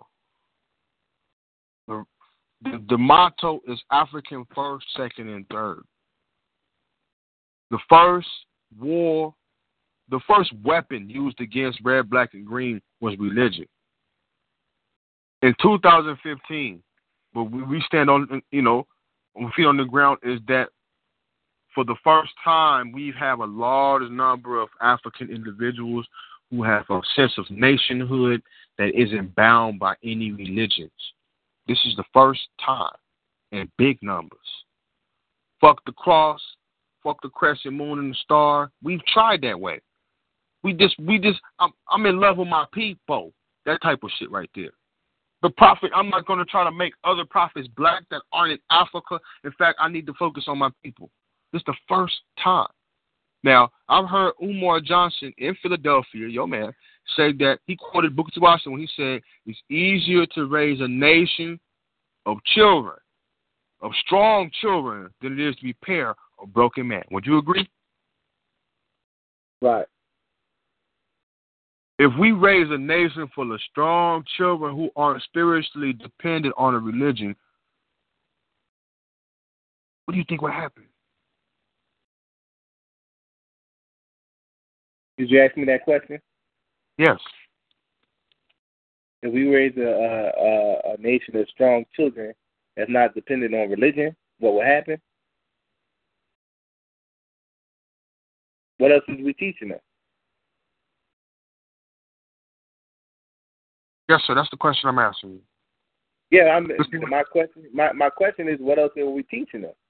The, the, the motto is African first, second, and third. The first war, the first weapon used against red, black, and green was religion. In two thousand fifteen, but we, we stand on, you know, feet on the ground is that for the first time we have a large number of African individuals who have a sense of nationhood that isn't bound by any religions. This is the first time in big numbers. Fuck the cross, fuck the crescent moon and the star. We've tried that way. We just, we just, I'm, I'm in love with my people. That type of shit right there. The prophet, I'm not going to try to make other prophets black that aren't in Africa. In fact, I need to focus on my people. This is the first time. Now, I've heard Umar Johnson in Philadelphia, your man, say that he quoted Booker T. Washington when he said, it's easier to raise a nation of children, of strong children, than it is to be pair of broken men. Would you agree? Right. If we raise a nation full of strong children who aren't spiritually dependent on a religion, what do you think would happen? Did you ask me that question? Yes. If we raise a, a, a nation of strong children that's not dependent on religion, what will happen? What else is we teaching them? Yes, sir. That's the question I'm asking you. Yeah, I'm, my question. My, my question is, what else are we teaching them?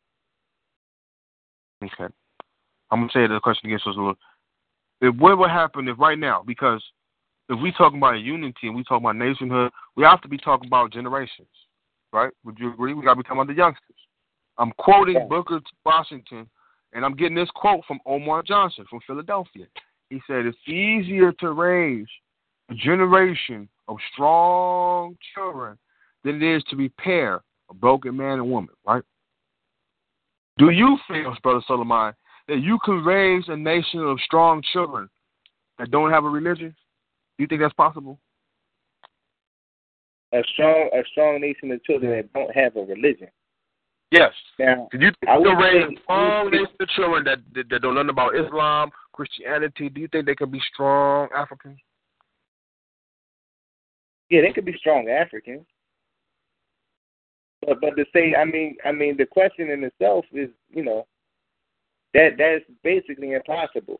Okay, I'm gonna say the question again. So it's a little. If what would happen if right now, because if we talking about unity and we talking about nationhood, we have to be talking about generations, right? Would you agree? We got to be talking about the youngsters. I'm quoting yeah. Booker T. Washington, and I'm getting this quote from Omar Johnson from Philadelphia. He said, "It's easier to raise a generation of strong children than it is to repair a broken man and woman, right?" Do you feel, Brother Solomon, that you can raise a nation of strong children that don't have a religion? Do you think that's possible? A strong, a strong nation of children that don't have a religion. Yes. Now, do you think I would they'll raise say, strong nation children that, that that don't learn about Islam, Christianity? Do you think they can be strong Africans? yeah, they could be strong Africans. But but to say, I mean, I mean, the question in itself is, you know, that that's basically impossible.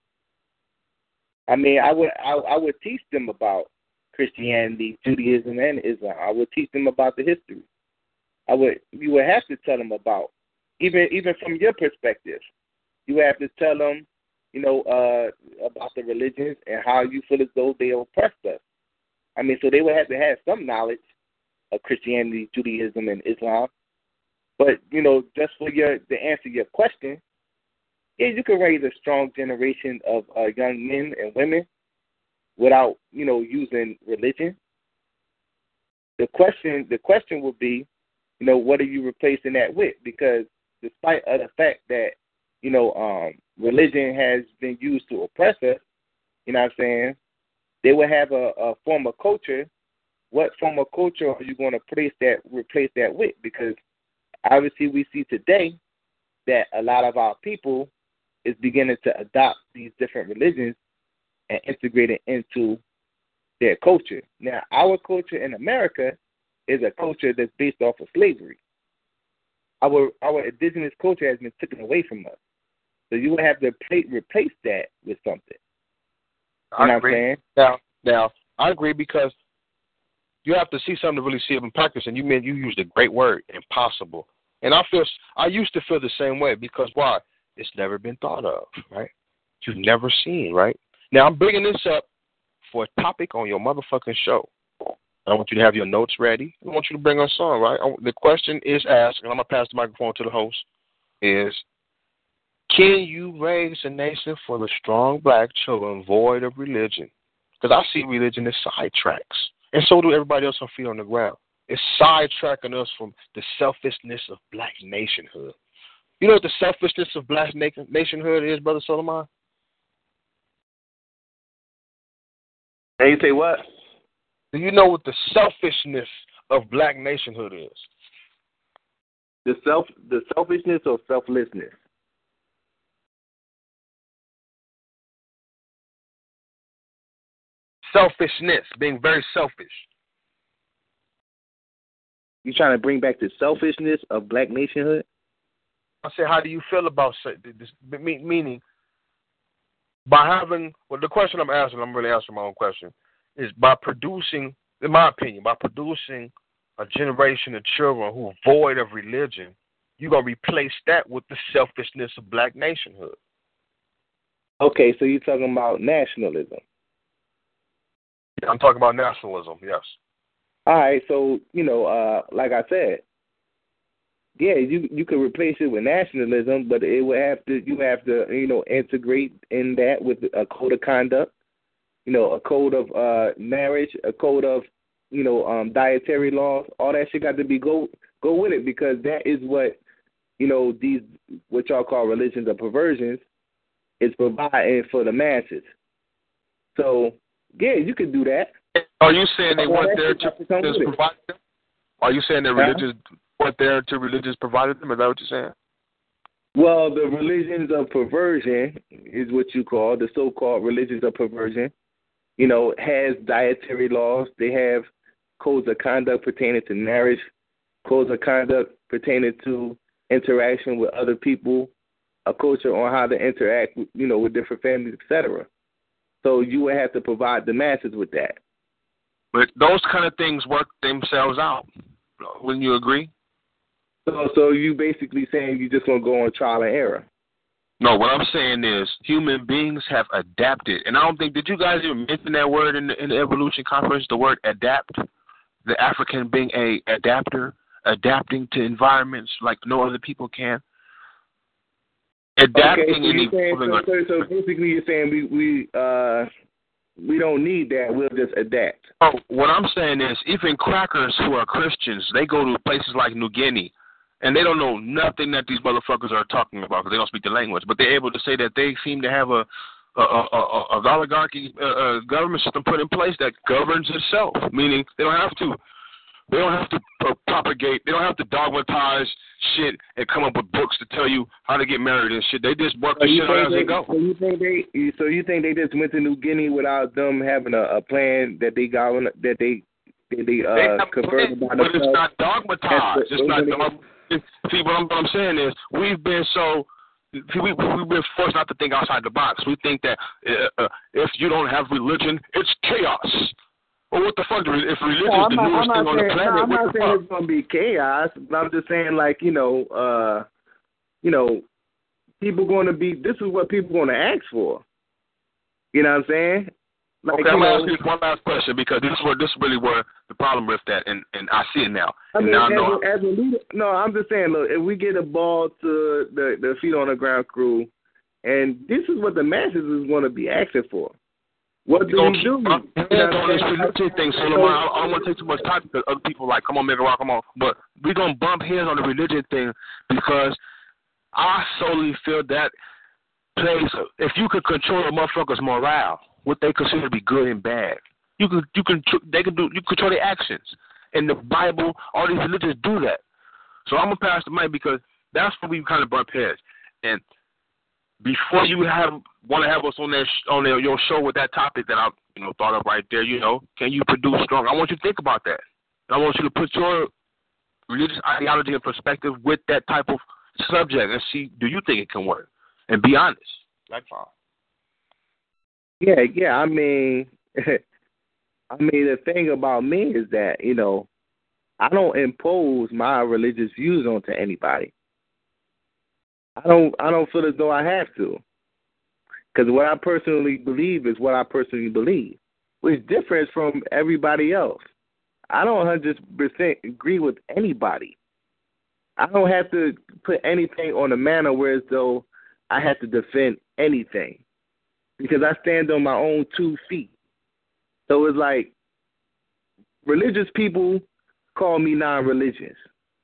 I mean, I would I, I would teach them about Christianity, Judaism, and Islam. I would teach them about the history. I would you would have to tell them about even even from your perspective. You have to tell them, you know, uh, about the religions and how you feel as though they oppressed us. I mean, so they would have to have some knowledge of Christianity, Judaism, and Islam. But, you know, just for your to answer your question, yeah, you can raise a strong generation of uh, young men and women without, you know, using religion. The question, the question would be, you know, what are you replacing that with? Because despite of the fact that, you know, um, religion has been used to oppress us, you know what I'm saying, they would have a, a form of culture. What form of culture are you going to place that, replace that with? Because obviously we see today that a lot of our people is beginning to adopt these different religions and integrate it into their culture. Now, our culture in America is a culture that's based off of slavery. Our our indigenous culture has been taken away from us. So you would have to play, replace that with something. You know I what agree. I'm saying? Now, now, I agree because you have to see something to really see it in practice, and you mean you used a great word, impossible. And I feel I used to feel the same way because why? It's never been thought of, right? You've never seen, right? Now I'm bringing this up for a topic on your motherfucking show. I want you to have your notes ready. I want you to bring us on, right? The question is asked, and I'm gonna pass the microphone to the host. Is can you raise a nation full of strong black children void of religion? Because I see religion as sidetracks, and so do everybody else on feet on the ground. It's sidetracking us from the selfishness of black nationhood. You know what the selfishness of black nationhood is, Brother Solomon? And you say what? Do you know what the selfishness of black nationhood is? The self, the selfishness or selflessness? Selfishness, being very selfish. You trying to bring back the selfishness of black nationhood? I said, how do you feel about this? Meaning, by having, well, the question I'm asking, I'm really answering my own question, is by producing, in my opinion, by producing a generation of children who are void of religion, you're going to replace that with the selfishness of black nationhood. Okay, so you're talking about nationalism. I'm talking about nationalism, yes. All right, so, you know, uh, like I said, yeah, you you could replace it with nationalism, but it would have to you have to you know integrate in that with a code of conduct, you know, a code of uh, marriage, a code of you know um, dietary laws. All that shit got to be go go with it because that is what you know these what y'all call religions or perversions is providing for the masses. So yeah, you could do that. Are you saying they weren't there to, to provide them? Are you saying that religious weren't there to religious provided them? Is that what you're saying? Well, the religions of perversion is what you call the so-called religions of perversion. You know, has dietary laws. They have codes of conduct pertaining to marriage, codes of conduct pertaining to interaction with other people, a culture on how to interact, you know, with different families, et cetera. So you would have to provide the masses with that. But those kind of things work themselves out. Wouldn't you agree? So, so you basically saying you're just gonna go on trial and error? No, what I'm saying is human beings have adapted, and I don't think did you guys even mention that word in the, in the evolution conference? The word adapt, the African being a adapter, adapting to environments like no other people can. Adapting okay, so, and saying, so, so, so basically you're saying we we uh we don't need that. We'll just adapt. Oh, what I'm saying is even crackers who are Christians, they go to places like New Guinea. And they don't know nothing that these motherfuckers are talking about because they don't speak the language. But they're able to say that they seem to have a a, a, a, a oligarchy uh, uh, government system put in place that governs itself. Meaning they don't have to they don't have to uh, propagate. They don't have to dogmatize shit and come up with books to tell you how to get married and shit. They just work so the shit out as they go. So you think they? So you think they just went to New Guinea without them having a, a plan that they got on, that they that they uh they converted by but it's not That's dogmatized. It's not. the, Dog- see, what I'm, what I'm saying is we've been so. See, we, we've been forced not to think outside the box. We think that uh, uh, if you don't have religion, it's chaos. Well, what the fuck? If religion no, is the not, newest thing saying, on the planet, no, I'm what not the saying fuck? it's gonna be chaos. But I'm just saying, like, you know, uh, you know, people going to be. This is what people going to ask for. You know what I'm saying? Like, okay, I'm you gonna know, ask you one last question because this is where this is really where the problem with that, and, and I see it now. I And mean, now I as, know. a, as a leader, no, I'm just saying, look, if we get a ball to the the feet on the ground crew, and this is what the masses is going to be asking for. What do we do? I'm on this religion thing, Solomon. I, I don't want to take too much time because other people like, come on, make a rock, come on. But we're gonna bump heads on the religion thing because I solely feel that plays. If you could control a motherfucker's morale, what they consider to be good and bad, you could, you can, they can do, you control their actions. And the Bible, all these religions do that. So I'm gonna pass the mic because that's where we kind of bump heads. And before you have want to have us on that sh- on their, your show with that topic that I you know thought of right there, you know, can you produce strong? I want you to think about that. I want you to put your religious ideology in perspective with that type of subject and see, do you think it can work? And be honest. That's all. Yeah, yeah. I mean, I mean, the thing about me is that, you know, I don't impose my religious views onto anybody. I don't. I don't feel as though I have to, because what I personally believe is what I personally believe, which differs from everybody else. I don't one hundred percent agree with anybody. I don't have to put anything on a manner where as though I have to defend anything, because I stand on my own two feet. So it's like religious people call me non-religious.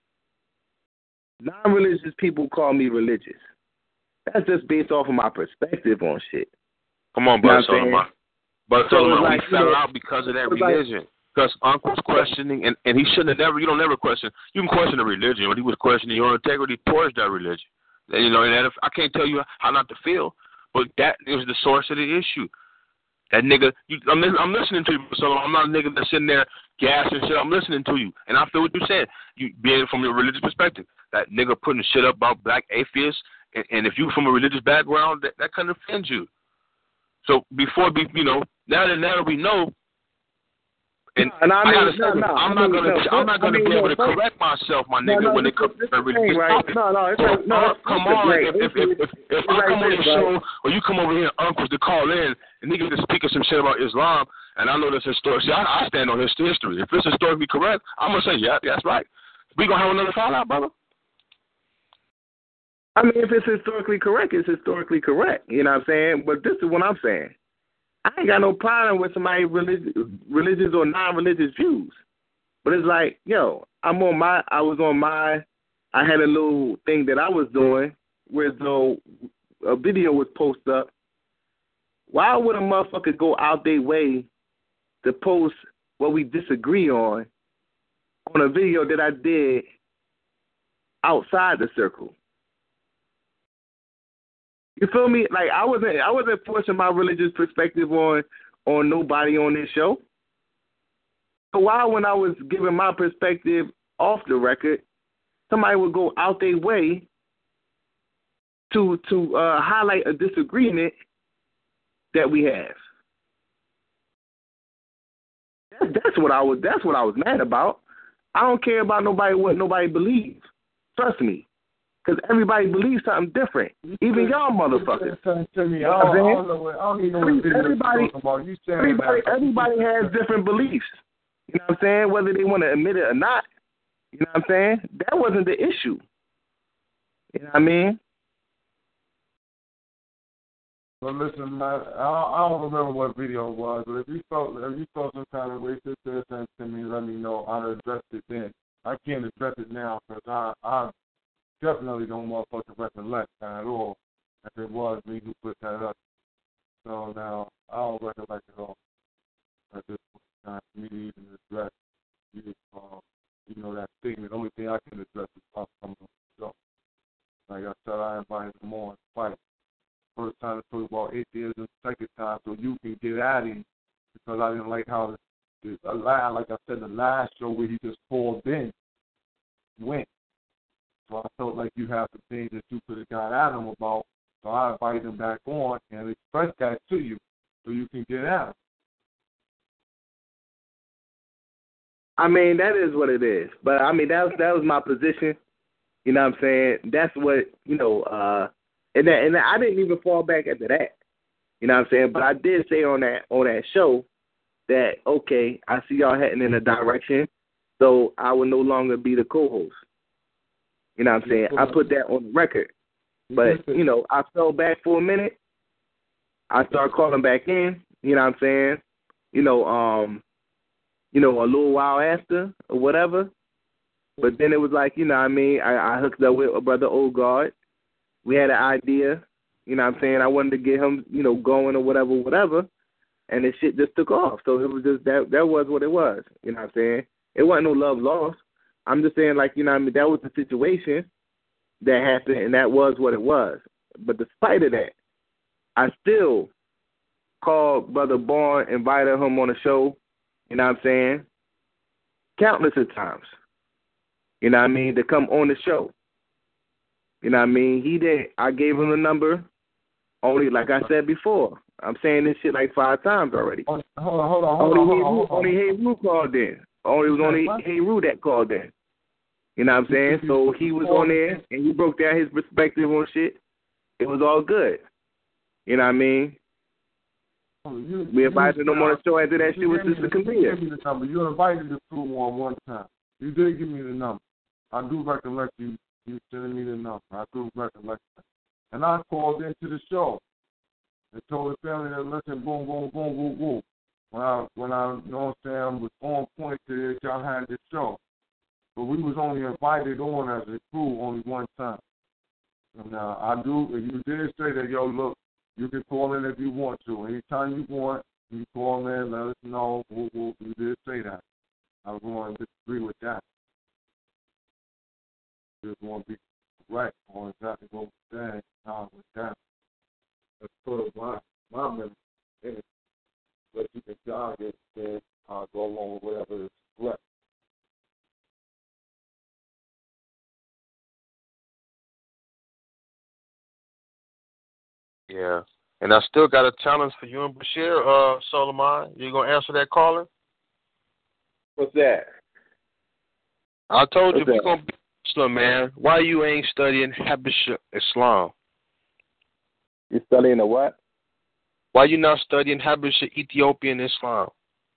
Non-religious people call me religious. That's just based off of my perspective on shit. Come on, Brother Solomon. Brother So Solomon, like, we fell you know, out because of that like, religion. Because Uncle's questioning, and, and he shouldn't have never, you don't never question, you can question a religion, but he was questioning your integrity towards that religion. And, you know, and that if, I can't tell you how not to feel, but that is the source of the issue. That nigga, you, I'm, I'm listening to you, so I'm not a nigga that's sitting there gassing shit. I'm listening to you, and I feel what you're saying. You being from your religious perspective, that nigga putting shit up about black atheists, and, and if you from a religious background, that, that kind of offends you. So before we, you know, now that now that we know, and, and I, mean, I gotta no, say, no, I'm I not mean, gonna, no, I'm not gonna I mean, be able no, to correct myself, my nigga, no, no, when this, it comes this to religious right? topics. No, no, it's so, like, no, uh, it's, come it's on, right. if if if, if, if I right come on this, your show, right? or you come over here, uncles to call in, and niggas to speak of some shit about Islam, and I know this historic. See, I, I stand on his history. If it's historically correct, I'm gonna say, yeah, that's right. We gonna have another fallout, brother. I mean, if it's historically correct, it's historically correct. You know what I'm saying? But this is what I'm saying. I ain't got no problem with somebody religious, religious or non-religious views. But it's like, yo, I'm on my, I was on my, I had a little thing that I was doing where though a video was posted up. Why would a motherfucker go out their way to post what we disagree on on a video that I did outside the circle? You feel me? Like I wasn't, I wasn't forcing my religious perspective on on nobody on this show. So why, when I was giving my perspective off the record, somebody would go out their way to to uh, highlight a disagreement that we have? That's, that's what I was. That's what I was mad about. I don't care about nobody what nobody believes. Trust me. Because everybody believes something different. Even y'all motherfuckers. To me, I don't, I don't know what, I don't even know what video everybody, you're talking about. You saying everybody, that. everybody has different beliefs. You know what I'm saying? Whether they want to admit it or not. You know what I'm saying? That wasn't the issue. You know what I mean? Well, listen, man, I, I don't remember what video it was, but if you felt if you felt some kind of way, just say something to me, let me know. I'll address it then. I can't address it now because I, I definitely don't motherfucking recollect at all if it was me who put that up. So now I don't recollect at all at this point in time for me to even address you, uh, you know, that statement. The only thing I can address is off from the show. in the morning fight. First time I told you about atheism, second time so you can get at him because I didn't like how the, the line, like I said, the last show where he just called in went. So I felt like you have some things that you could have got at him about. So I invited him back on and expressed that to you so you can get at him. I mean, that is what it is. But, I mean, that was, that was my position. You know what I'm saying? That's what, you know, uh, and, that, and I didn't even fall back after that. You know what I'm saying? But I did say on that on that show that, okay, I see y'all heading in a direction, so I will no longer be the co-host. You know what I'm saying? I put that on the record. But, you know, I fell back for a minute. I started calling back in, you know what I'm saying? You know, um, you know, a little while after or whatever. But then it was like, you know what I mean, I, I hooked up with a brother Ogard. We had an idea, you know what I'm saying? I wanted to get him, you know, going or whatever, whatever. And this shit just took off. So it was just, that that was what it was, you know what I'm saying? It wasn't no love lost. I'm just saying, like, you know what I mean, that was the situation that happened, and that was what it was. But despite of that, I still called Brother Bourne, invited him on the show, you know what I'm saying, countless of times, you know what I mean, to come on the show. You know what I mean? He did. I gave him the number only, like I said before. I'm saying this shit like five times already. Hold on, hold on, hold on. Hold only on, hold on. Only Hey-Roo called in. Only, it was only Hey-Roo that called in. You know what I'm saying? So he was on there, and he broke down his perspective on shit. It was all good. You know what I mean? You, we invited him on the show after that shit was just a comedian. You gave me the number. You invited the crew on one time. You did give me the number. I do recollect you, you sending me the number. I do recollect that. And I called into the show and told the family that, listen, boom, boom, boom, boom, boom. When I, when I, you know what I'm saying, was on point to it, y'all had this show. But we was only invited on as a crew only one time. And uh, I do, you did say that, yo, look, you can call in if you want to. Anytime you want, you call in, let us know. We'll, we'll, you did say that. I was going to disagree with that. Just want to be correct on exactly what we're saying, how it was down. That's sort of my, my memory in it. But you can jog it and uh, go along with whatever is correct. Yeah. And I still got a challenge for you and Bashir, uh, Solomon. You going to answer that caller? What's that? I told What's you, if you're going to be Muslim, man, why you ain't studying Habesha Islam? You studying the what? Why you not studying Habesha Ethiopian Islam?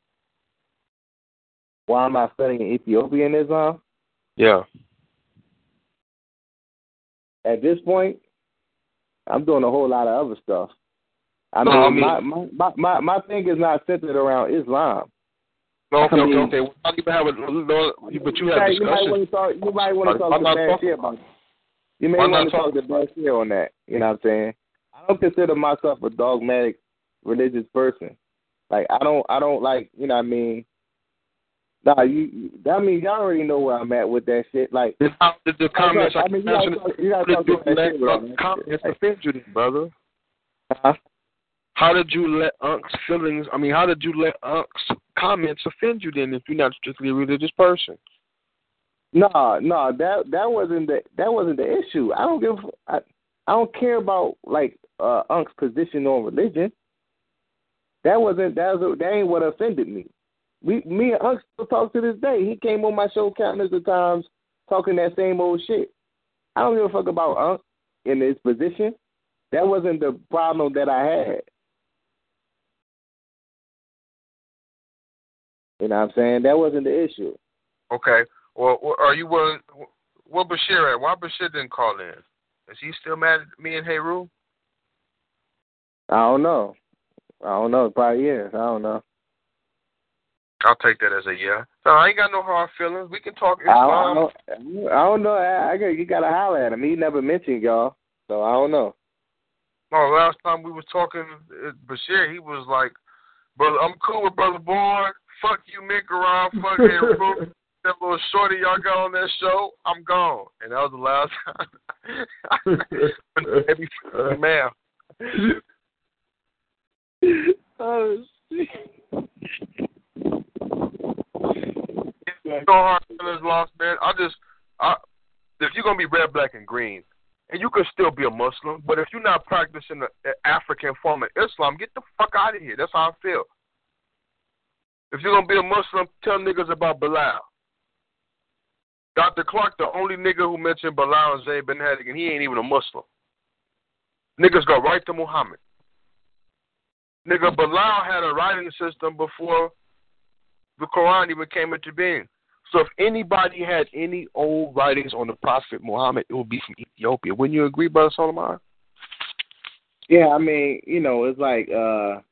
Why am I studying Ethiopian Islam? Yeah. At this point, I'm doing a whole lot of other stuff. I mean, no, I mean my, my, my, my, my thing is not centered around Islam. No, okay, I mean, okay, okay. We're not even having, no, but you have you discussion. Might talk, you might want to talk to Bashir about it. You may want to talk to Bashir on that. You know what I'm saying? I don't consider myself a dogmatic religious person. Like, I don't, I don't like, you know what I mean? Nah, you, that means y'all already know where I'm at with that shit. Like, the, the, the comments, I mean, you gotta talk, you gotta talk to Bashir about that. Comments offend you, brother. Huh? How did you let Unc's feelings, I mean, how did you let Unc's comments offend you then if you're not strictly a religious person? No, no, that that wasn't the that wasn't the issue. I don't give I, I don't care about like uh, Unc's position on religion. That wasn't that was that ain't what offended me. We me and Unc still talk to this day. He came on my show countless of times talking that same old shit. I don't give a fuck about Unc in his position. That wasn't the problem that I had. You know what I'm saying? That wasn't the issue. Okay. Well, are you willing? Where Bashir at? Why Bashir didn't call in? Is he still mad at me and Hey-Roo? I don't know. I don't know. Probably is. I don't know. I'll take that as a yeah. No, I ain't got no hard feelings. We can talk Islam. I don't, I don't know. I, I got, you got to holler at him. He never mentioned y'all, so I don't know. No, last time we was talking, Bashir, he was like, brother, I'm cool with Brother Bourne. Fuck you, Mick around. Fuck Hey-Roo. That little shorty y'all got on that show, I'm gone. And that was the last time Every man. Oh shit. So hard feelings lost, man. I just, I, if you're gonna be red, black, and green, and you can still be a Muslim, but if you're not practicing the, the African form of Islam, get the fuck out of here. That's how I feel. If you're gonna be a Muslim, tell niggas about Bilal. Doctor Clark, the only nigga who mentioned Bilal and Zayd bin Hadik, and he ain't even a Muslim. Niggas go right to Muhammad. Nigga, Bilal had a writing system before the Quran even came into being. So if anybody had any old writings on the Prophet Muhammad, it would be from Ethiopia. Wouldn't you agree, Brother Solomon? Yeah, I mean, you know, it's like, uh,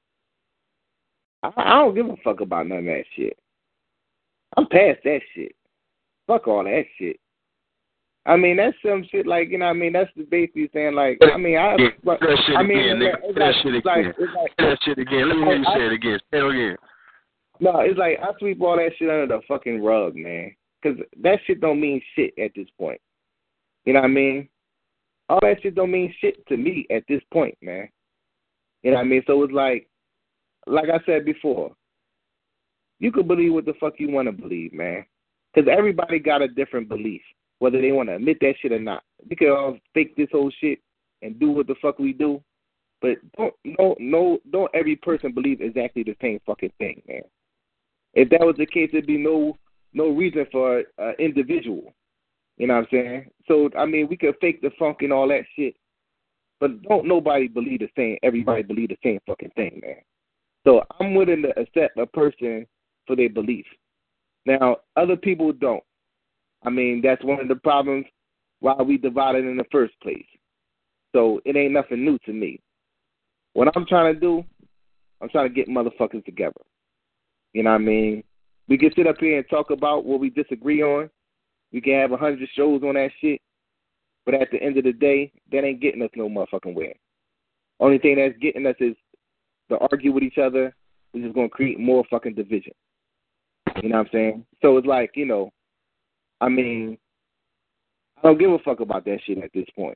I, I don't give a fuck about none of that shit. I'm past that shit. Fuck all that shit. I mean, that's some shit like, you know what I mean? That's basically saying, like, I mean, I... Yeah, but, that shit I mean, again, nigga. It's that like, shit it's again. like, it's like, that shit again. Let me hear you I, say it again. Say it again. No, it's like, I sweep all that shit under the fucking rug, man. Because that shit don't mean shit at this point. You know what I mean? All that shit don't mean shit to me at this point, man. You know what I mean? So it's like, like I said before, you can believe what the fuck you want to believe, man. Because everybody got a different belief, whether they want to admit that shit or not. We can all fake this whole shit and do what the fuck we do, but don't no no don't every person believe exactly the same fucking thing, man. If that was the case, there'd be no no reason for an individual. You know what I'm saying? So I mean, we could fake the funk and all that shit, but don't nobody believe the same. Everybody believe the same fucking thing, man. So I'm willing to accept a person for their belief. Now, other people don't. I mean, that's one of the problems why we divided in the first place. So it ain't nothing new to me. What I'm trying to do, I'm trying to get motherfuckers together. You know what I mean? We can sit up here and talk about what we disagree on. We can have a hundred shows on that shit. But at the end of the day, that ain't getting us no motherfucking way. Only thing that's getting us is to argue with each other, which is going to create more fucking division. You know what I'm saying? So it's like, you know, I mean, I don't give a fuck about that shit at this point.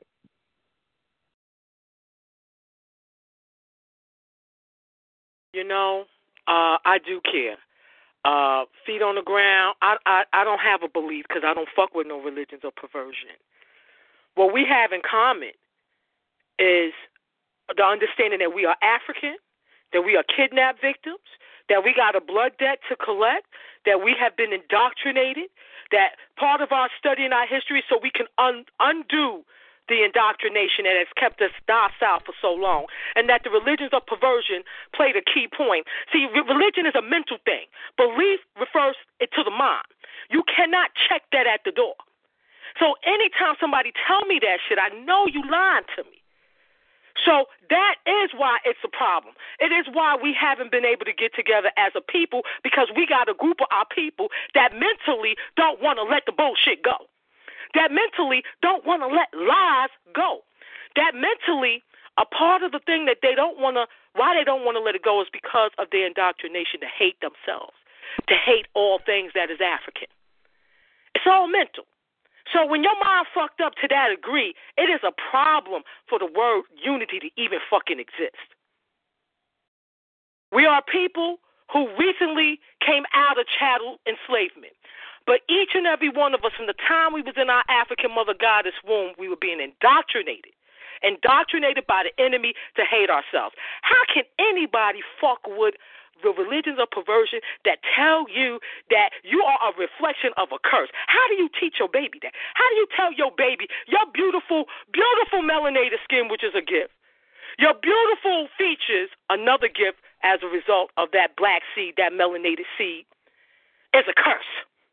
You know, uh, I do care. Uh, feet on the ground, I, I, I don't have a belief because I don't fuck with no religions or perversion. What we have in common is the understanding that we are African, that we are kidnapped victims, that we got a blood debt to collect, that we have been indoctrinated, that part of our study in our history is so we can un- undo the indoctrination that has kept us docile for so long, and that the religions of perversion played a key point. See, religion is a mental thing. Belief refers it to the mind. You cannot check that at the door. So anytime somebody tell me that shit, I know you lying to me. So that is why it's a problem. It is why we haven't been able to get together as a people, because we got a group of our people that mentally don't want to let the bullshit go, that mentally don't want to let lies go, that mentally a part of the thing that they don't want to, why they don't want to let it go is because of their indoctrination to hate themselves, to hate all things that is African. It's all mental. So when your mind fucked up to that degree, it is a problem for the word unity to even fucking exist. We are people who recently came out of chattel enslavement. But each and every one of us, from the time we was in our African mother goddess womb, we were being indoctrinated. Indoctrinated by the enemy to hate ourselves. How can anybody fuck with the religions of perversion that tell you that you are a reflection of a curse? How do you teach your baby that? How do you tell your baby your beautiful, beautiful melanated skin, which is a gift, your beautiful features, another gift as a result of that black seed, that melanated seed, is a curse?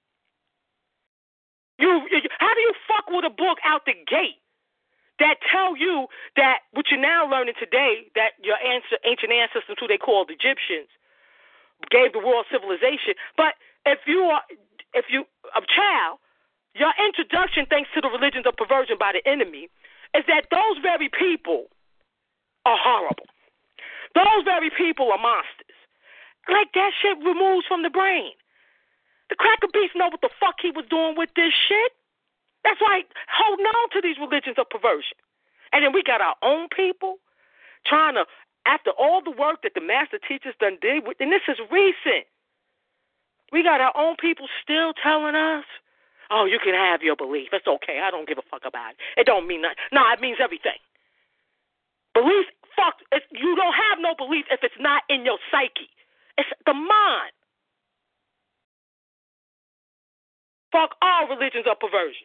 You, you how do you fuck with a book out the gate that tell you that what you're now learning today, that your ancient ancestors, who they called Egyptians, gave the world civilization? But if you are, if you a child, your introduction, thanks to the religions of perversion by the enemy, is that those very people are horrible. Those very people are monsters. Like, that shit removes from the brain. The cracker beast know what the fuck he was doing with this shit. That's why holding on to these religions of perversion. And then we got our own people trying to, after all the work that the master teachers done did, and this is recent, we got our own people still telling us, oh, you can have your belief. It's okay. I don't give a fuck about it. It don't mean nothing. No, it means everything. Belief, fuck, if you don't have no belief if it's not in your psyche. It's the mind. Fuck all religions of perversion.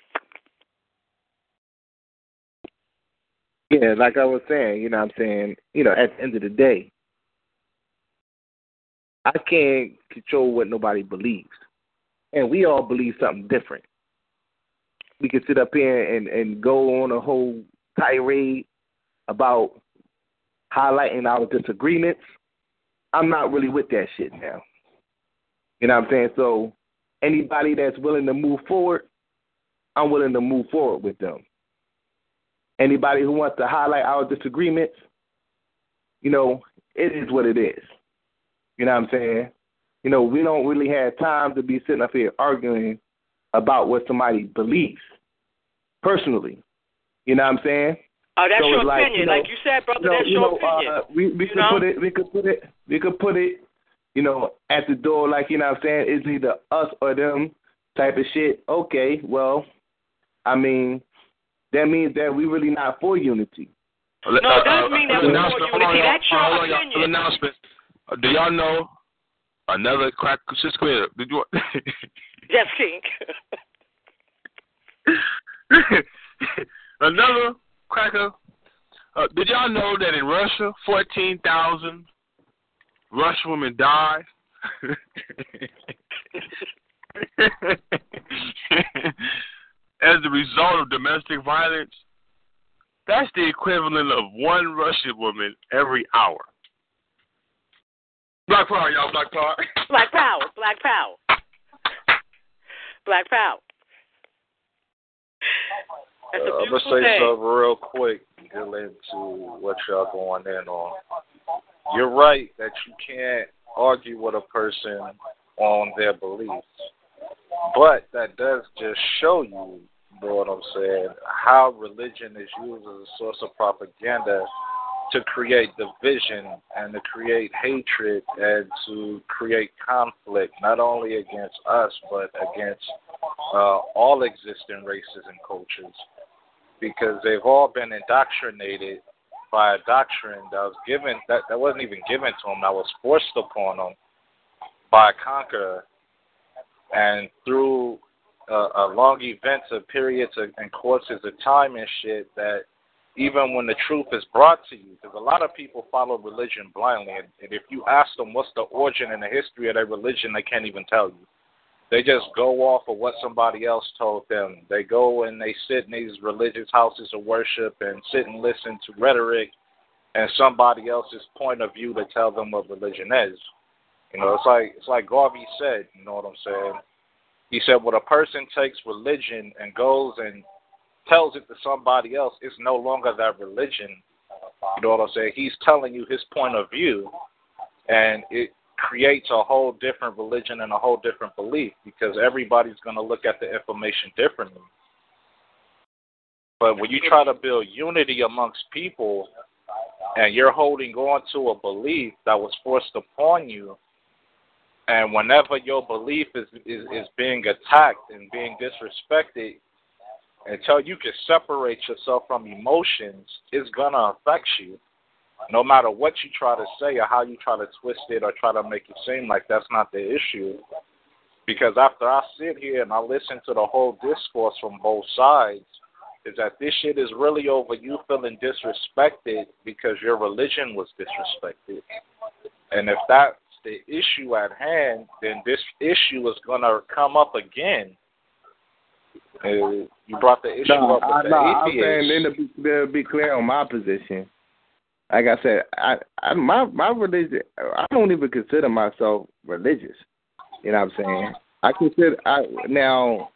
Yeah, like I was saying, you know what I'm saying, you know, at the end of the day, I can't control what nobody believes. And we all believe something different. We can sit up here and, and go on a whole tirade about highlighting our disagreements. I'm not really with that shit now. You know what I'm saying? So anybody that's willing to move forward, I'm willing to move forward with them. Anybody who wants to highlight our disagreements, you know, it is what it is. You know what I'm saying? You know, we don't really have time to be sitting up here arguing about what somebody believes personally. You know what I'm saying? Oh, that's so your like, opinion. You know, like you said, brother, you know, that's you your know, opinion. Uh, we we you could know? put it we could put it we could put it, you know, at the door, like, you know what I'm saying, it's either us or them type of shit. Okay, well, I mean, that means that we really not for unity. No, it doesn't mean that we're for unity. That's your hold on, opinion. Announcement. Uh, do y'all know another crack? Just clear. Did you? Yes, King. Another cracker. Uh, did y'all know that in Russia, fourteen thousand Russian women died? As a result of domestic violence? That's the equivalent of one Russian woman every hour. Black power, y'all. Black power. Black power. Black power. Black power. That's a uh, I'm beautiful going to say thing. something real quick, get into what y'all going in on. You're right that you can't argue with a person on their beliefs. But that does just show you, you know what I'm saying, how religion is used as a source of propaganda to create division and to create hatred and to create conflict, not only against us, but against uh, all existing races and cultures. Because they've all been indoctrinated by a doctrine that was given, that, that wasn't even given to them, that was forced upon them by a conqueror. And through uh, uh, long events of periods of, and courses of time and shit, that even when the truth is brought to you, because a lot of people follow religion blindly, and, and if you ask them what's the origin and the history of their religion, they can't even tell you. They just go off of what somebody else told them. They go and they sit in these religious houses of worship and sit and listen to rhetoric and somebody else's point of view to tell them what religion is. You know, it's like it's like Garvey said, you know what I'm saying? He said, when a person takes religion and goes and tells it to somebody else, it's no longer that religion. You know what I'm saying? He's telling you his point of view, and it creates a whole different religion and a whole different belief because everybody's going to look at the information differently. But when you try to build unity amongst people and you're holding on to a belief that was forced upon you, and whenever your belief is, is, is being attacked and being disrespected, until you can separate yourself from emotions, it's going to affect you. No matter what you try to say or how you try to twist it or try to make it seem like that's not the issue. Because after I sit here and I listen to the whole discourse from both sides, is that this shit is really over you feeling disrespected because your religion was disrespected. And if that's the issue at hand, then this issue is going to come up again. Uh, you brought the issue no, up with I, the no, atheists. I'm saying, then to be, to be clear on my position, like I said, I, I my my religion, I don't even consider myself religious. You know what I'm saying? I consider I now.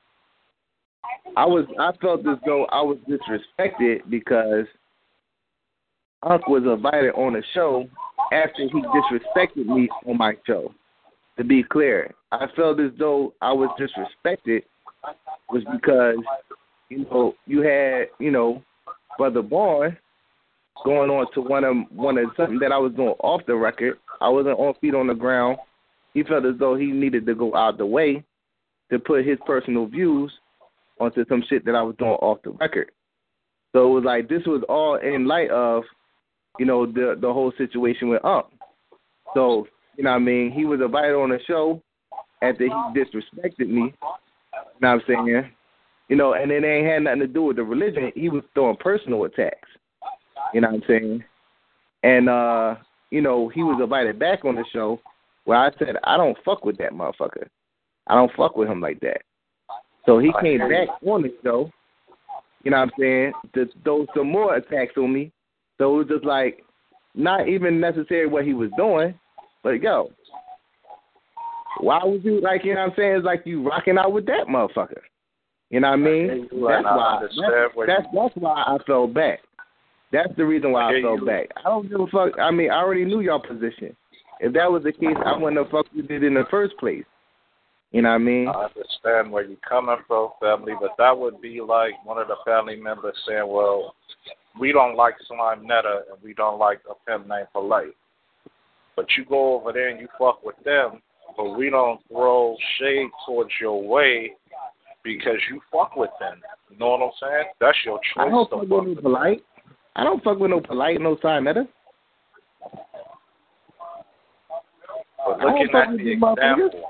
I was I felt as though I was disrespected because Unc was invited on a show after he disrespected me on my show. To be clear, I felt as though I was disrespected was because you know, you had, you know, Brother Bourne going on to one of one of something that I was doing off the record. I wasn't on feet on the ground. He felt as though he needed to go out the way to put his personal views onto some shit that I was doing off the record. So it was like this was all in light of, you know, the the whole situation with Ump. So, you know what I mean, he was invited on the show after he disrespected me. You know what I'm saying? You know, and it ain't had nothing to do with the religion. He was throwing personal attacks. You know what I'm saying? And, uh, you know, he was invited back on the show where I said, I don't fuck with that motherfucker. I don't fuck with him like that. So he came back on the show, you know what I'm saying, to throw some more attacks on me. So it was just like, not even necessarily what he was doing, but yo, why would you, like, you know what I'm saying, it's like you rocking out with that motherfucker. You know what I mean? That's why, that's, that's, that's why I fell back. That's the reason why I, I fell you. back. I don't give a fuck. I mean, I already knew your position. If that was the case, I wouldn't have fucked with it in the first place. You know what I mean? I understand where you're coming from, family, but that would be like one of the family members saying, well, we don't like Slime Netta and we don't like a pimp named Polite. But you go over there and you fuck with them, but we don't throw shade towards your way because you fuck with them. You know what I'm saying? That's your choice. I don't fuck with no Polite. I don't fuck with no Polite, no Slime Netta. But looking at the example,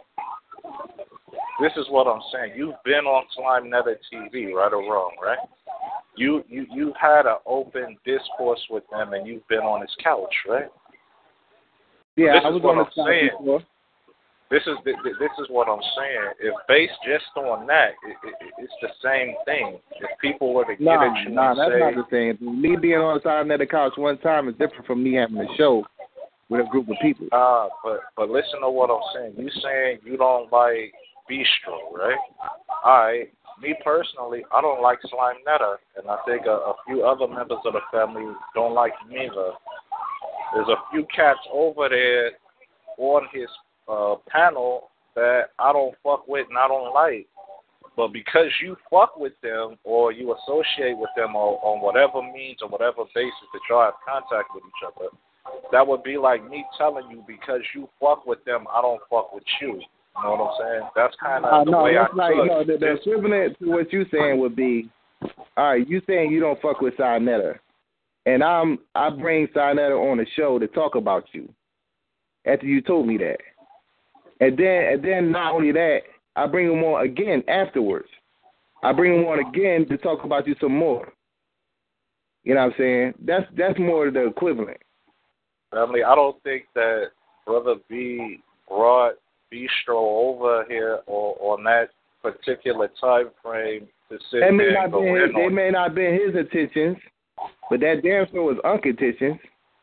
this is what I'm saying. You've been on Slime Netta T V, right or wrong, right? You you you had an open discourse with them, and you've been on his couch, right? Yeah, this I is was what on I'm the saying. Before. This is the, this is what I'm saying. If based just on that, it, it, it's the same thing. If people were to get nah, at you nah, and that's say, not the same. Me being on the side of the couch one time is different from me having a show with a group of people. Ah, uh, but but listen to what I'm saying. You saying you don't like Bistro, right? All right. Me personally, I don't like Slime Netta, and I think a, a few other members of the family don't like him either. There's a few cats over there on his uh, panel that I don't fuck with and I don't like. But because you fuck with them or you associate with them on, on whatever means or whatever basis that y'all have contact with each other, that would be like me telling you because you fuck with them, I don't fuck with you. You know what I'm saying? That's kind of uh, the no, way that's I like, took no, the, the equivalent to what you saying would be, all right, you saying you don't fuck with Sinetta, and I'm I bring Sinetta on the show to talk about you after you told me that. And then and then not only that, I bring him on again afterwards. I bring him on again to talk about you some more. You know what I'm saying? That's that's more the equivalent. Family, I don't think that Brother B brought Bistro over here or on that particular time frame to sit that may there not and go been in his, on. They may not been his intentions, but that damn sure was Unc's intentions.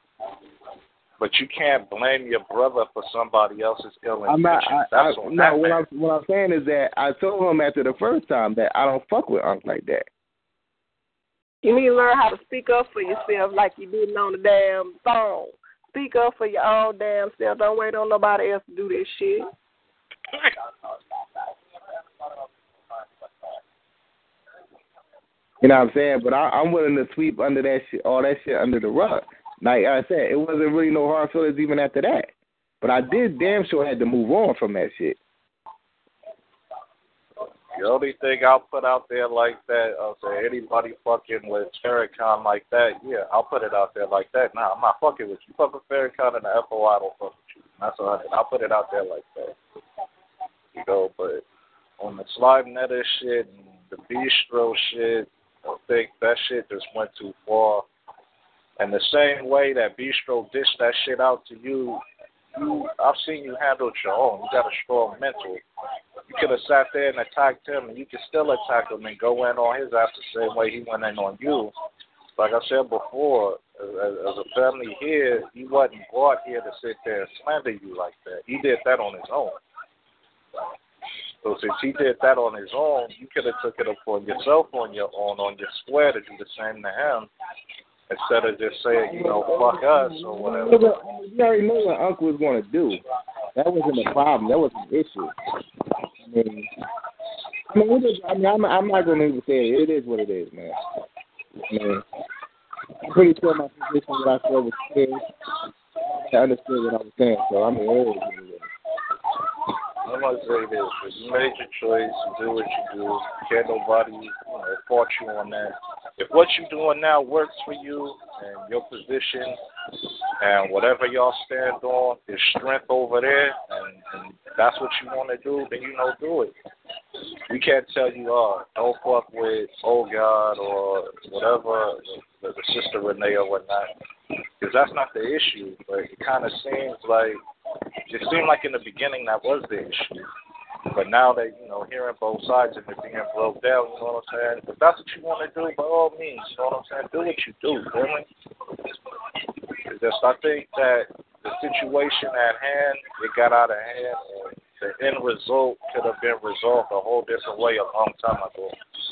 But you can't blame your brother for somebody else's ill I'm intentions. not, I, That's I, on no, that what man. I'm, what I'm saying is that I told him after the first time that I don't fuck with Unc like that. You need to learn how to speak up for yourself like you didn't on the damn phone. Speak up for your own damn self. Don't wait on nobody else to do this shit. You know what I'm saying? But I, I'm willing to sweep under that shit, all that shit under the rug. Like I said, it wasn't really no hard feelings even after that. But I did damn sure had to move on from that shit. The only thing I'll put out there like that, I'll say anybody fucking with Farrakhan like that, yeah, I'll put it out there like that. Nah, I'm not fucking with you. Fuck with Farrakhan and the F O I, don't fuck with you. That's all I did. I'll put it out there like that. You know, but on the Slime Netta shit and the Bistro shit, I think that shit just went too far. And the same way that Bistro dished that shit out to you, you I've seen you handle it your own. You got a strong mental. You could have sat there and attacked him, and you could still attack him and go in on his ass the same way he went in on you. Like I said before, as, as a family here, he wasn't brought here to sit there and slander you like that. He did that on his own. So since he did that on his own, you could have took it upon yourself on your own, on your square, to do the same to him, instead of just saying, you know, fuck us or whatever. You already know what Uncle was going to do. That wasn't a problem. That was an issue. I mean, I mean, it is, I mean, I'm, I'm not gonna even say it. It is what it is, man. Man, I'm pretty sure my position what I said was clear. I understood what I was saying, so I mean, it is what it is. I'm gonna say this: if you made your choice, you do what you do. Can't nobody, you know, fault you on that. If what you're doing now works for you and your position and whatever y'all stand on is strength over there, and, and that's what you want to do, then you know, do it. We can't tell you, oh, don't fuck with old God or whatever, the, the sister Renee or whatnot, because that's not the issue. But it kind of seems like, it seemed like in the beginning that was the issue. But now that, you know, hearing both sides and it being broke down, you know what I'm saying? If that's what you want to do, by all means, you know what I'm saying? Do what you do, really. Because I think that the situation at hand, it got out of hand, and the end result could have been resolved a whole different way a long time ago.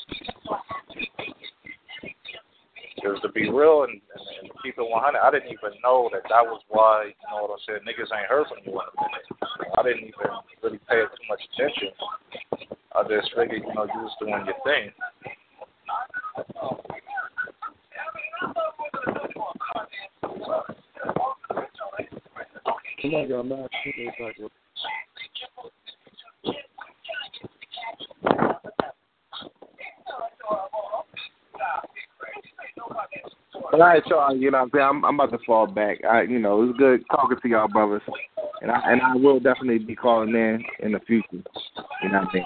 Because to be real and, and, and keep it one hundred, I didn't even know that that was why, you know what I'm saying, niggas ain't heard from you in a minute. I didn't even really pay it too much attention. I just figured, you know, you was doing your thing. Oh my God, man. But all right, y'all, you know what I'm saying? I'm, I'm about to fall back. I, you know, it was good talking to y'all brothers. And I, and I will definitely be calling in in the future. You know what I mean?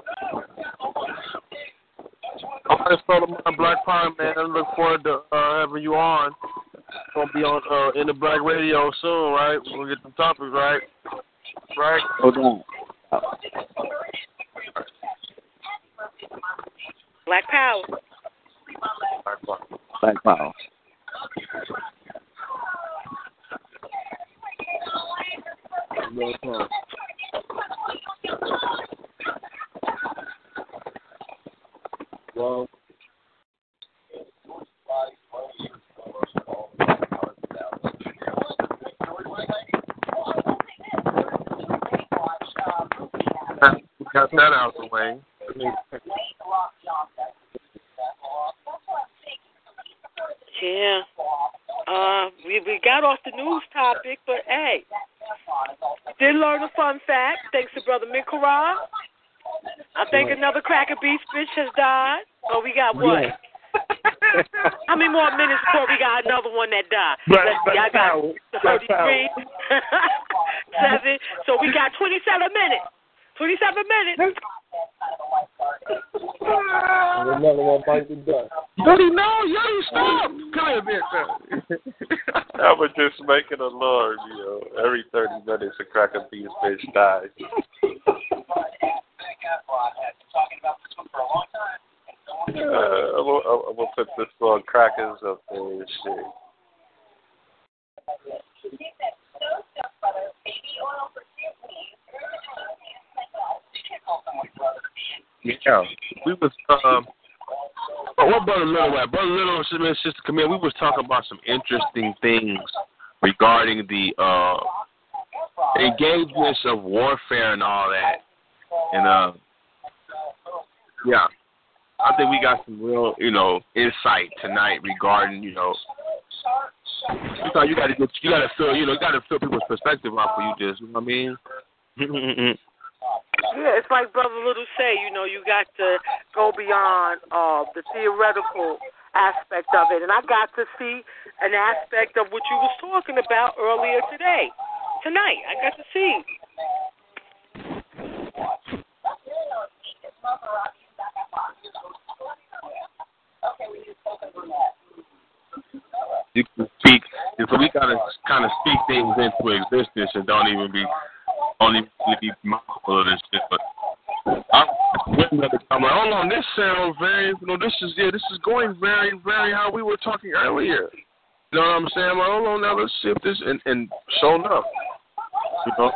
All right, fellow man, Black Pine, man. I look forward to uh, having you on. Gonna be on uh, in the Black Radio soon, right? We're gonna get some topics, right? Right? Hold on. Black Power. Black Pine. Black Power. Black Pine. Well. We got that out the way. Yeah. Uh, we we got off the news topic, but hey, did learn a fun fact thanks to Brother Mikara. I think another Cracker Beast bitch has died. Oh, we got what? Yeah. How many more minutes before we got another one that died? Black, Let's see, I got Black thirty-three, seven. So we got twenty-seven minutes. twenty-seven minutes. Another one bites the dust. Yodi, no, Yodi, stop. Come here, bitch. I was just making a alarm, you know. Every thirty minutes, a Cracker Beast bitch dies. Uh, I'm going to put this on Crackers up there and shit. Yeah, we was um. Oh, what Brother Little at? Brother Little and Sister Camille, we was talking about some interesting things regarding the uh engagements of warfare and all that, and uh, yeah, I think we got some real, you know, insight tonight regarding, you know, you know, you got to get, you got to feel, you know, you got to feel people's perspective off of you, just, you know what I mean? Yeah, it's like Brother Little say, you know, you got to go beyond uh, the theoretical aspect of it. And I got to see an aspect of what you was talking about earlier today, tonight. I got to see. You can speak, so we gotta kind of speak things into existence and don't even be, don't even be mindful of this shit. But I'm another comment. Hold on, this sounds very, you know, this is yeah, this is going very, very how we were talking earlier. You know what I'm saying? Like, hold on, now let's see if this and and show enough. You know.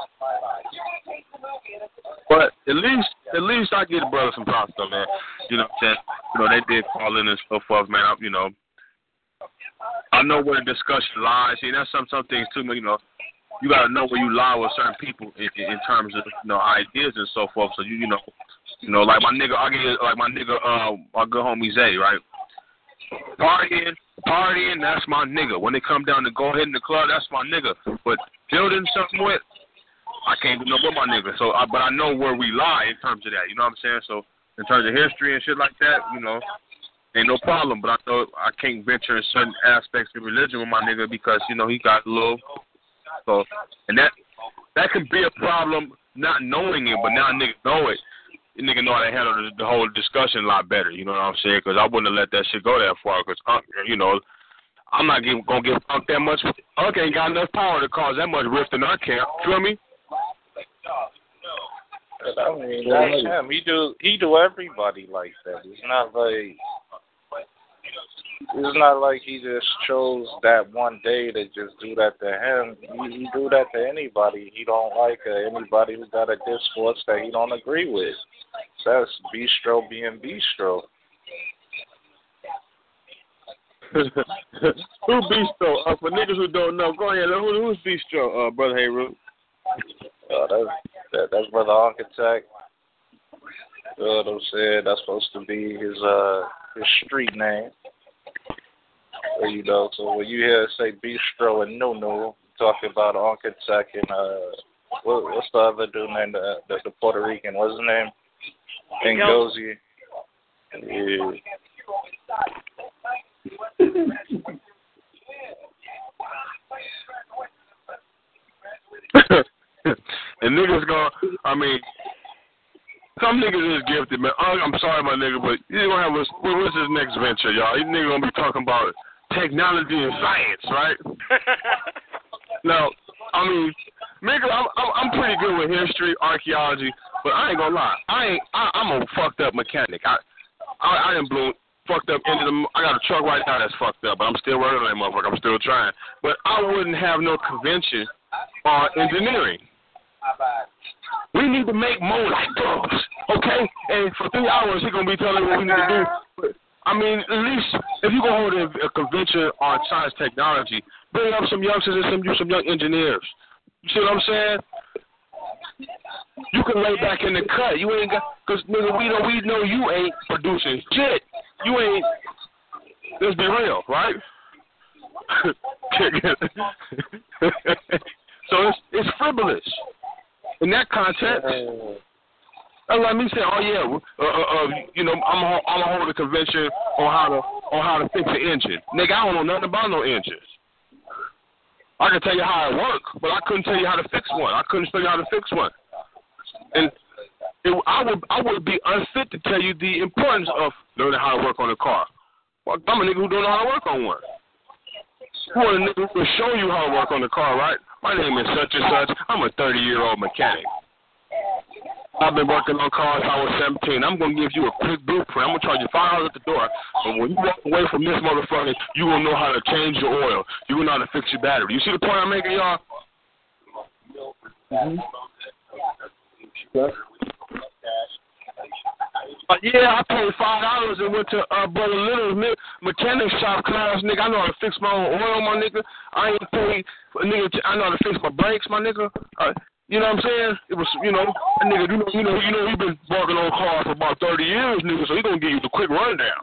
But at least, at least I give the brother some props, though, man. You know, that, you know, they did call in and so forth, man. I, you know, I know where the discussion lies. See, that's some some things too, man. You know, you got to know where you lie with certain people in, in terms of, you know, ideas and so forth. So you, you know, You know, like my nigga, I get like my nigga, uh, my good homie Zay, right? Partying, partying, that's my nigga. When they come down to go ahead in the club, that's my nigga. But building something with, I can't do no with my nigga. So, I, but I know where we lie in terms of that. You know what I'm saying? So, in terms of history and shit like that, you know, ain't no problem. But I know I can't venture in certain aspects of religion with my nigga because you know he got a little. So, and that that can be a problem not knowing it, but now niggas know it. The nigga know how to handle the, the whole discussion a lot better. You know what I'm saying? Because I wouldn't have let that shit go that far. Because uh, you know, I'm not give, gonna give Unc that much. Unc ain't got enough power to cause that much rift in our camp. You feel me? I mean, that's him. He do he do everybody like that. It's not like it's not like he just chose that one day to just do that to him. He, he do that to anybody he don't like or anybody who got a discourse that he don't agree with. So that's bistro being bistro. Who bistro? Uh, for niggas who don't know, go ahead. Who, who's bistro, uh, brother Hayroot? Uh, that's that, that's brother Architect. You know what I'm saying? That's supposed to be his uh his street name. Or, you know, so when you hear say bistro and Nunu, talking about Architect and uh what, what's the other dude named the, the, the Puerto Rican? What's his name? Ngozi. Yeah. And niggas gonna, I mean, some niggas is gifted, man. I'm sorry, my nigga, but you gonna have a, what's his next venture, y'all? These niggas gonna be talking about technology and science, right? Now, I mean, nigga, I'm, I'm I'm pretty good with history, archaeology, but I ain't gonna lie, I ain't, I, I'm a fucked up mechanic. I, I, I done blew fucked up into the. I got a truck right now that's fucked up, but I'm still working on that motherfucker. I'm still trying, but I wouldn't have no convention on engineering. We need to make more light bulbs, okay? And for three hours, he's going to be telling me what we need to do. But, I mean, at least if you're going to hold a, a convention on science technology, bring up some youngsters and some, some young engineers. You see what I'm saying? You can lay back in the cut. You ain't got, because, nigga, we know, we know you ain't producing shit. You ain't, let's be real, right? So it's, it's frivolous. In that context, and let me say, oh yeah, uh, uh, uh, you know, I'm a, I'm gonna hold a convention on how to on how to fix an engine. Nigga, I don't know nothing about no engines. I can tell you how it works, but I couldn't tell you how to fix one. I couldn't tell you how to fix one. And it, I would I would be unfit to tell you the importance of learning how to work on a car. Well, I'm a nigga who don't know how to work on one. Who a nigga who will show you how to work on the car, right? My name is such and such. I'm a thirty-year-old mechanic. I've been working on cars since I was seventeen. I'm going to give you a quick blueprint. I'm going to charge you five dollars at the door. But when you walk away from this motherfucker, you will know how to change your oil. You will know how to fix your battery. You see the point I'm making, y'all? Mm-hmm. Yeah. Uh, yeah, I paid five dollars and went to uh, Brother Little's me- mechanic shop class, nigga. I know how to fix my own oil, my nigga. I ain't paid, nigga. T- I know how to fix my brakes, my nigga. Uh, you know what I'm saying? It was, you know, a nigga. You know, you know, you know. He been working on cars for about thirty years, nigga. So he gonna give you the quick rundown.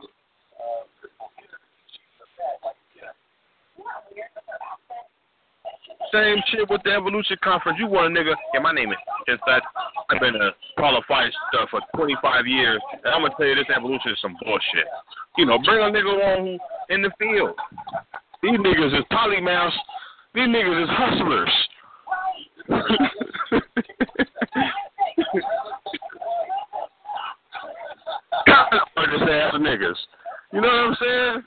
Same shit with the Evolution Conference. You want a nigga? Yeah, my name is Inside. I've been a qualified stuff for twenty-five years, and I'm gonna tell you this Evolution is some bullshit. You know, bring a nigga on who in the field. These niggas is polymaths. These niggas is hustlers. Just ass niggas. You know what I'm saying?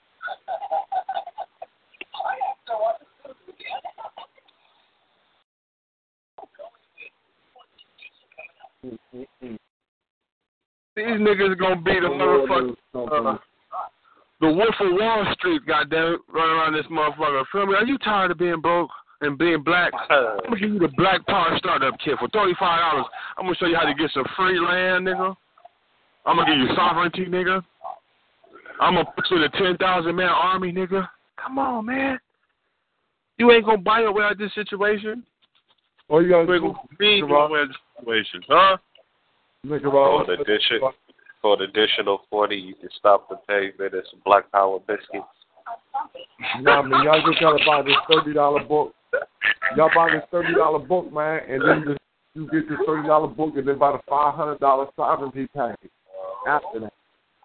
These niggas gonna be the motherfucker. Uh, the Wolf of Wall Street, goddamn, running around this motherfucker. Feel me? Are you tired of being broke and being black? I'm gonna give you the Black Power Startup Kit for thirty-five dollars. I'm gonna show you how to get some free land, nigga. I'm gonna give you sovereignty, nigga. I'm gonna put you in a ten thousand man army, nigga. Come on, man. You ain't gonna buy your way out of this situation. Or you gotta you ain't gonna be your way out of this situation, huh? Nigga, For well, an addition, for an additional forty, you can stop the payment and some Black Power biscuits. nah, man, y'all just gotta buy this thirty dollar book. Y'all buy this thirty dollar book, man, and then this, you get this thirty dollar book, and then buy the five hundred dollar sovereignty package after that.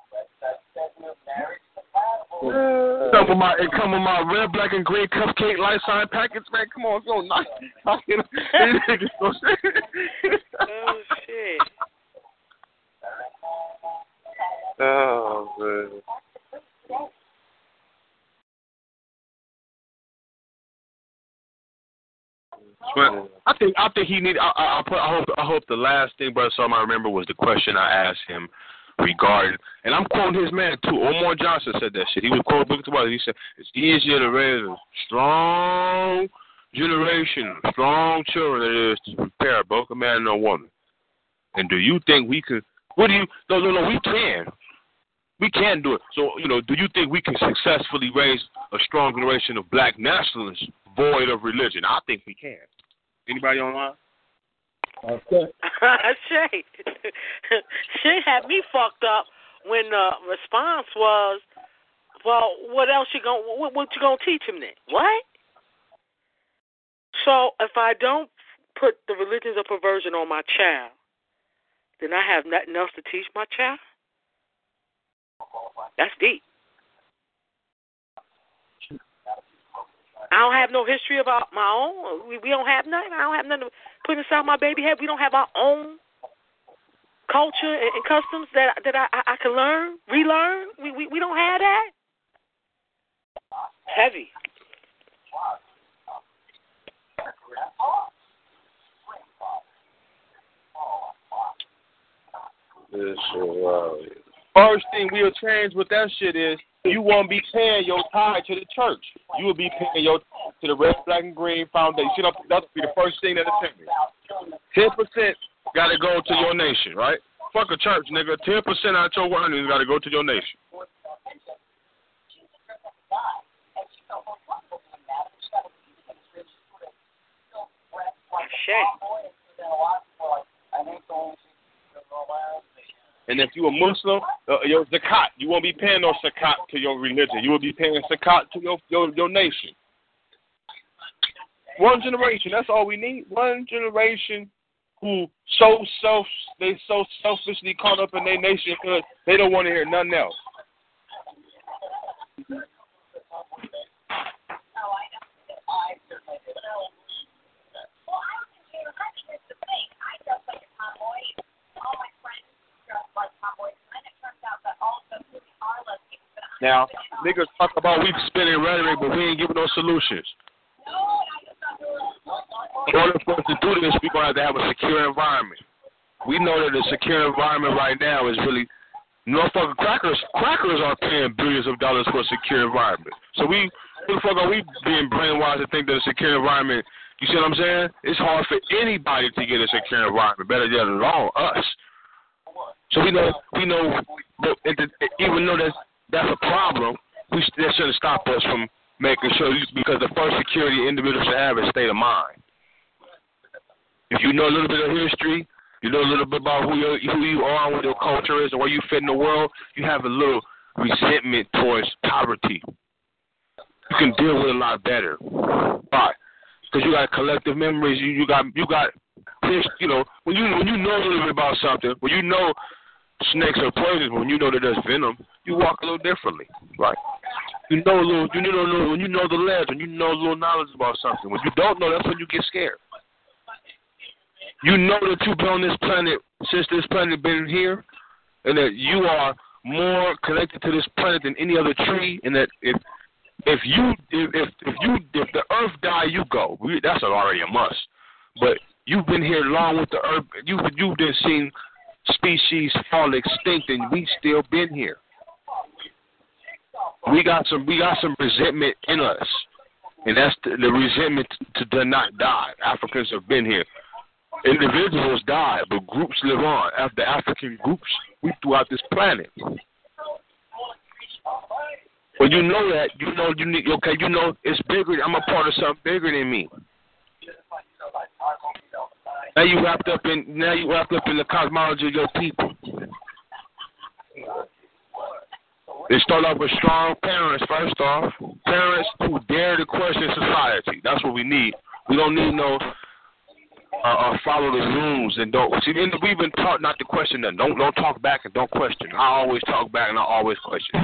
Come with my, it come with my red, black, and green cupcake life sign packets, man. Come on, go nice. Oh shit. Oh man. But I think I think he need. I, I, I, put, I hope I hope the last thing Brother Solomon I remember was the question I asked him regarding, and I'm quoting his man too. Omar Johnson said that shit. He was quoting Book of He said it's easier to raise a strong generation, strong children than it is to prepare both a man and a woman. And do you think we could? What do you? No, no, no. We can. We can do it. So you know, do you think we can successfully raise a strong generation of black nationalists void of religion? I think we can. Anybody online? Okay. Shay. Shay had me fucked up when the response was, well, what else you going what, what you gonna teach him then? What? So if I don't put the religions of perversion on my child, then I have nothing else to teach my child? That's deep. I don't have no history about my own. We, we don't have nothing. I don't have nothing to put inside my baby head. We don't have our own culture and, and customs that that I, I, I can learn, relearn. We, we we don't have that. Heavy. This shit wild. First thing we'll change with that shit is you won't be paying your tithe to the church. You will be paying your to the Red, Black, and Green Foundation. You know, that'll be the first thing that'll change. Ten percent got to go to your nation, right? Fuck a church, nigga. Ten percent out your earnings got to go to your nation. And if you a Muslim, uh, your zakat, you won't be paying no zakat to your religion. You will be paying zakat to your, your your nation. One generation, that's all we need. One generation who so self they so selfishly caught up in their nationhood, they don't want to hear nothing else. Now, niggas talk about we spinning rhetoric, but we ain't giving no solutions. In order for us to do this, we're going to have to have a secure environment. We know that a secure environment right now is really, motherfucking crackers, crackers are paying billions of dollars for a secure environment. So we, motherfucker, we being brainwashed to think that a secure environment, you see what I'm saying? It's hard for anybody to get a secure environment, better yet alone, us. So we know, we know, that even though that's, that's a problem, we, that shouldn't stop us from making sure, because the first security an individual should have is state of mind. If you know a little bit of history, you know a little bit about who you who you are, what your culture is, and where you fit in the world, you have a little resentment towards poverty. You can deal with it a lot better. Why? Because you got collective memories. You, you got you got you know when you when you know a little bit about something, when you know snakes are poisonous, when you know that there's venom, you walk a little differently, right? You know a little, you know a little, when you know the ledge, when you know a little knowledge about something. When you don't know, that's when you get scared. You know that you've been on this planet since this planet been here, and that you are more connected to this planet than any other tree, and that if if you if if, if you if the Earth die, you go. We, that's already a must. But you've been here long with the Earth. You you've been seeing species fall extinct, and we still been here. We got some we got some resentment in us, and that's the, the resentment to, to not die. Africans have been here. Individuals die, but groups live on. After African groups, we throughout this planet. When you know that, you know you need. Okay, you know it's bigger. I'm a part of something bigger than me. Now you wrapped up in now you wrapped up in the cosmology of your people. They start off with strong parents, first off. Parents who dare to question society. That's what we need. We don't need no uh, uh, follow the rules and don't. See, we've been taught not to question them. Don't don't talk back and don't question. I always talk back and I always question.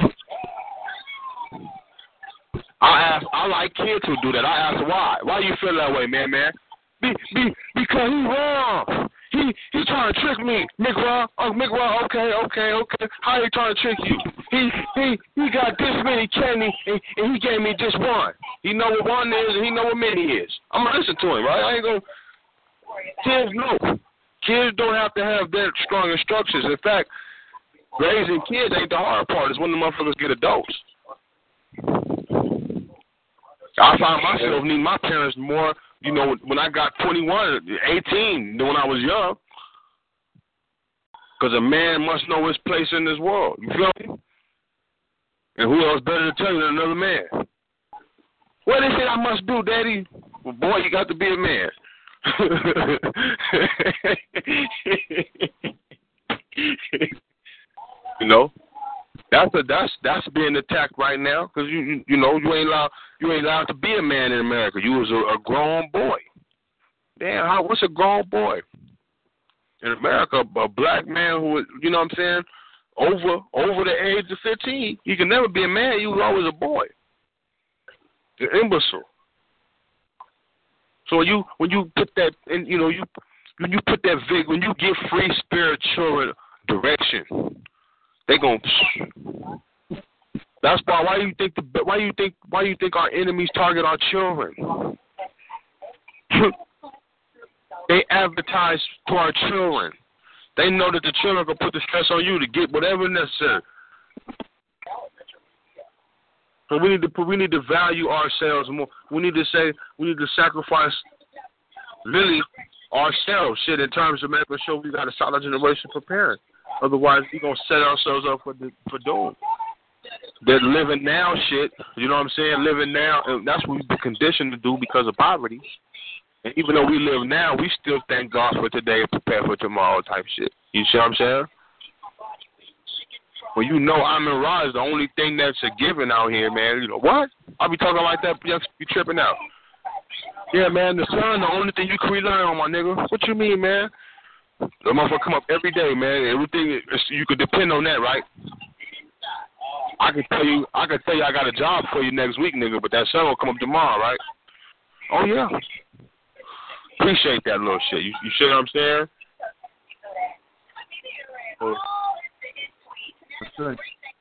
I ask. I like kids who do that. I ask why. Why you feel that way, man, man? Be, be, because he wrong. He he trying to trick me, McRaw. Oh, McRaw. Okay, okay, okay. How he trying to trick you? He he he got this many candy and, and he gave me just one. He know what one is and he know what many is. I'm gonna listen to him, right? I ain't gonna. Kids know. Kids don't have to have that strong instructions. In fact, raising kids ain't the hard part. It's when the motherfuckers get adults. I find myself needing my parents more. You know, when I got twenty-one, eighteen, than when I was young. Because a man must know his place in this world. You feel me? And who else better to tell you than another man? What they say I must do, Daddy? Well, boy, you got to be a man. You know? That's a, that's that's being attacked right now because you, you you know you ain't allowed you ain't allowed to be a man in America. You was a, a grown boy. Damn, how, what's a grown boy in America? A black man who, you know what I'm saying, over over the age of fifteen, he can never be a man. You was always a boy. An imbecile. So when you when you put that in, you know you when you put that vig when you give free spirit children direction. They gon' That's why. Why do you think the? Why do you think? Why do you think our enemies target our children? They advertise to our children. They know that the children can put the stress on you to get whatever necessary. So we need to. We need to value ourselves more. We need to say. We need to sacrifice. Really, ourselves. Shit, in terms of making sure we got a solid generation preparing. Otherwise, we're going to set ourselves up for the, for doom. That living now shit, you know what I'm saying? Living now, and that's what we've been conditioned to do because of poverty. And even though we live now, we still thank God for today and prepare for tomorrow type shit. You see what I'm saying? Well, you know Amin Ra is the only thing that's a given out here, man. You know, what? I'll be talking like that, you be tripping out. Yeah, man, the sun, the only thing you can rely on, my nigga. What you mean, man? The motherfucker come up every day, man. Everything you could depend on that, right? I can tell you, I can tell you, I got a job for you next week, nigga. But that sun will come up tomorrow, right? Oh yeah. Appreciate that little shit. You, you see what I'm saying? Well,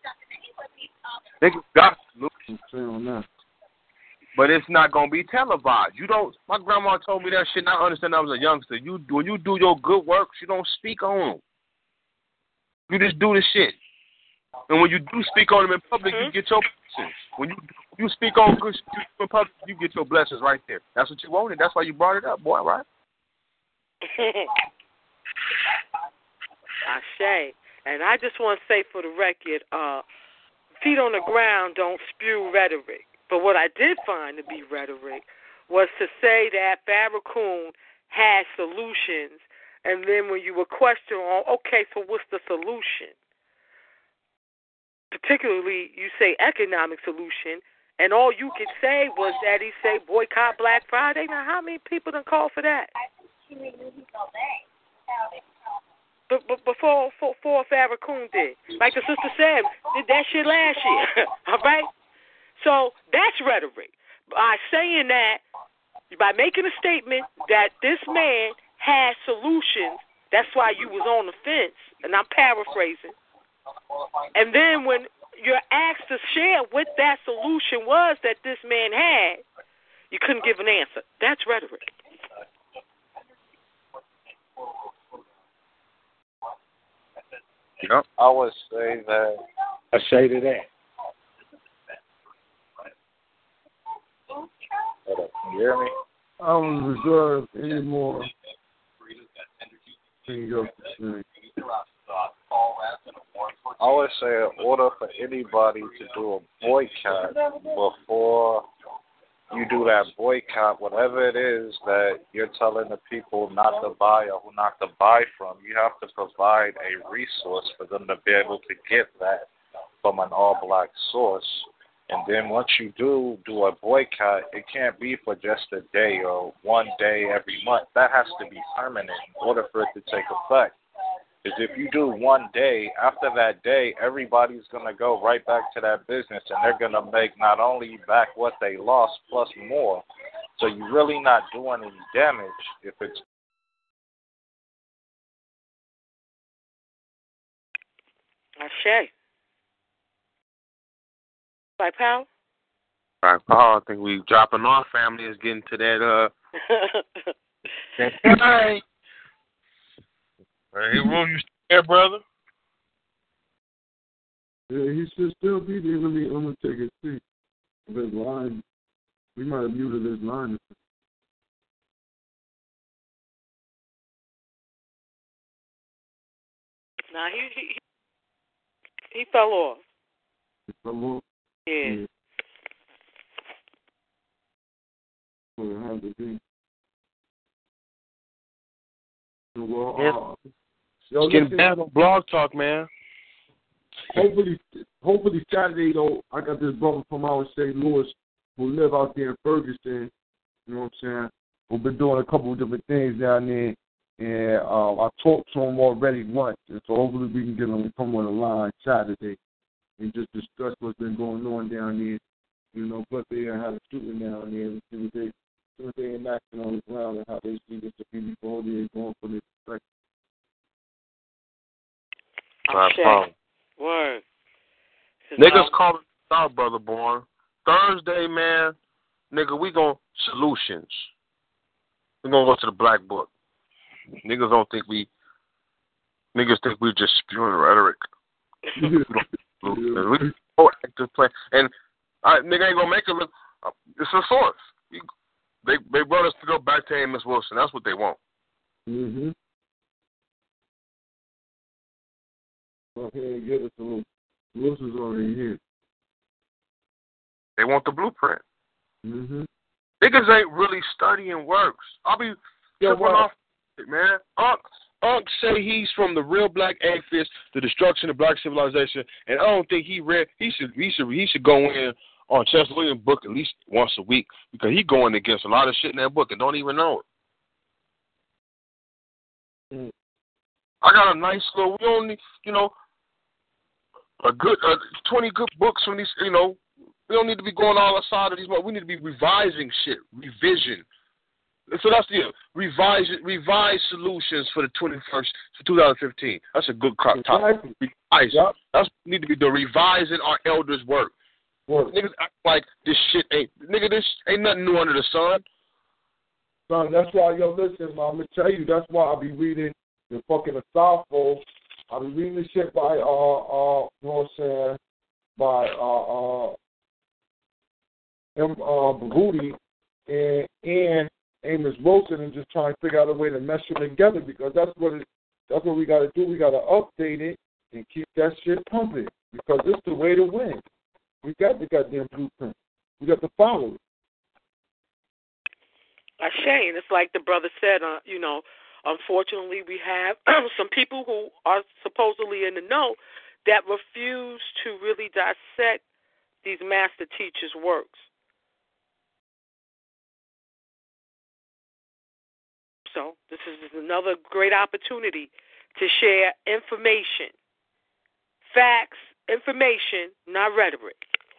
nigga got on that. But it's not gonna be televised. You don't. My grandma told me that shit. And I understand. I was a youngster. You when you do your good works, you don't speak on them. You just do the shit. And when you do speak on them in public, mm-hmm. you get your blessings. When you you speak on good shit in public, you get your blessings right there. That's what you wanted. That's why you brought it up, boy. Right? Ashe. And I just want to say for the record, uh, feet on the ground don't spew rhetoric. But what I did find to be rhetoric was to say that Farrakhan had solutions, and then when you were questioning, okay, so what's the solution? Particularly, you say economic solution, and all you could say was that he said boycott Black Friday. Now, how many people done call for that? But, but before, before, before Farrakhan did, like the sister said, did that shit last year, all right? So that's rhetoric. By saying that, by making a statement that this man has solutions, that's why you was on the fence, and I'm paraphrasing. And then when you're asked to share what that solution was that this man had, you couldn't give an answer. That's rhetoric. Yep. I would say that. I say to that. Hold up, can you hear me? I don't reserve any more. I would say in order for anybody to do a boycott before you do that boycott, whatever it is that you're telling the people not to buy or who not to buy from, you have to provide a resource for them to be able to get that from an all-black source. And then once you do do a boycott, it can't be for just a day or one day every month. That has to be permanent in order for it to take effect. Because if you do one day, after that day, everybody's going to go right back to that business, and they're going to make not only back what they lost plus more. So you're really not doing any damage if it's. Ashe. Black Power? Black Power, I think we dropping off. Family is getting to that, uh. that time. Hey, Room, you still there, brother? Yeah, he should still be there. Let me, I'm going to take his seat. His line, we might have muted his line. Nah, he, he, he fell off. He fell off? Yeah. yeah. Well, it had to be. Well, yeah. uh, yo, it's getting bad on Blog Talk, man. Hopefully, hopefully Saturday, though, I got this brother from out of Saint Louis who live out there in Ferguson, you know what I'm saying, who've been doing a couple of different things down there, and uh, I talked to him already once, and so hopefully we can get him to come on the line Saturday and just discuss what's been going on down there, you know, but they had a shooting down there, and see what they, see what they enacting on the ground and how they see this community going for this perspective. Okay. Word. Niggas calling out, brother born. Thursday, man, nigga, we gon' solutions. We gonna go to the black book. Niggas don't think we. Niggas think we just spewing rhetoric. we don't, we proactive plan, and I nigga ain't gonna make it look. Uh, it's a source. We, they they brought us to go back to Amos Wilson. That's what they want. Mhm. Go ahead and get us a little. Wilson's already here. They want the blueprint. Mm-hmm. Niggas ain't really studying works. I'll be yeah, tripping off it, man. Unc, Unc say he's from the real black atheist, the destruction of black civilization, and I don't think he read. He should. He should. He should go in on Chester Williams' book at least once a week because he going against a lot of shit in that book and don't even know it. Mm. I got a nice little. We only, you know. A good uh, twenty good books from these, you know. We don't need to be going all outside of these. We need to be revising shit, revision. So that's the revise, revise solutions for the twenty-first, for two thousand fifteen. That's a good topic. Exactly. Revise. Yep. That's what we need to be doing. Revising our elders' work. Work. Niggas act like this shit ain't, nigga. This ain't nothing new under the sun. Son, that's why, yo, listen, man, I'm gonna tell you. That's why I'll be reading the fucking Asafo. I'll be reading the shit by, uh, uh, you know what I'm saying, by, uh, uh, M. Uh, Bahuti and, and Amos Wilson and just trying to figure out a way to mesh them together because that's what it, that's what we got to do. We got to update it and keep that shit pumping because it's the way to win. We got the goddamn blueprint. We got to follow it. A shame. It's like the brother said, uh, you know, unfortunately, we have some people who are supposedly in the know that refuse to really dissect these master teachers' works. So this is another great opportunity to share information, facts, information, not rhetoric.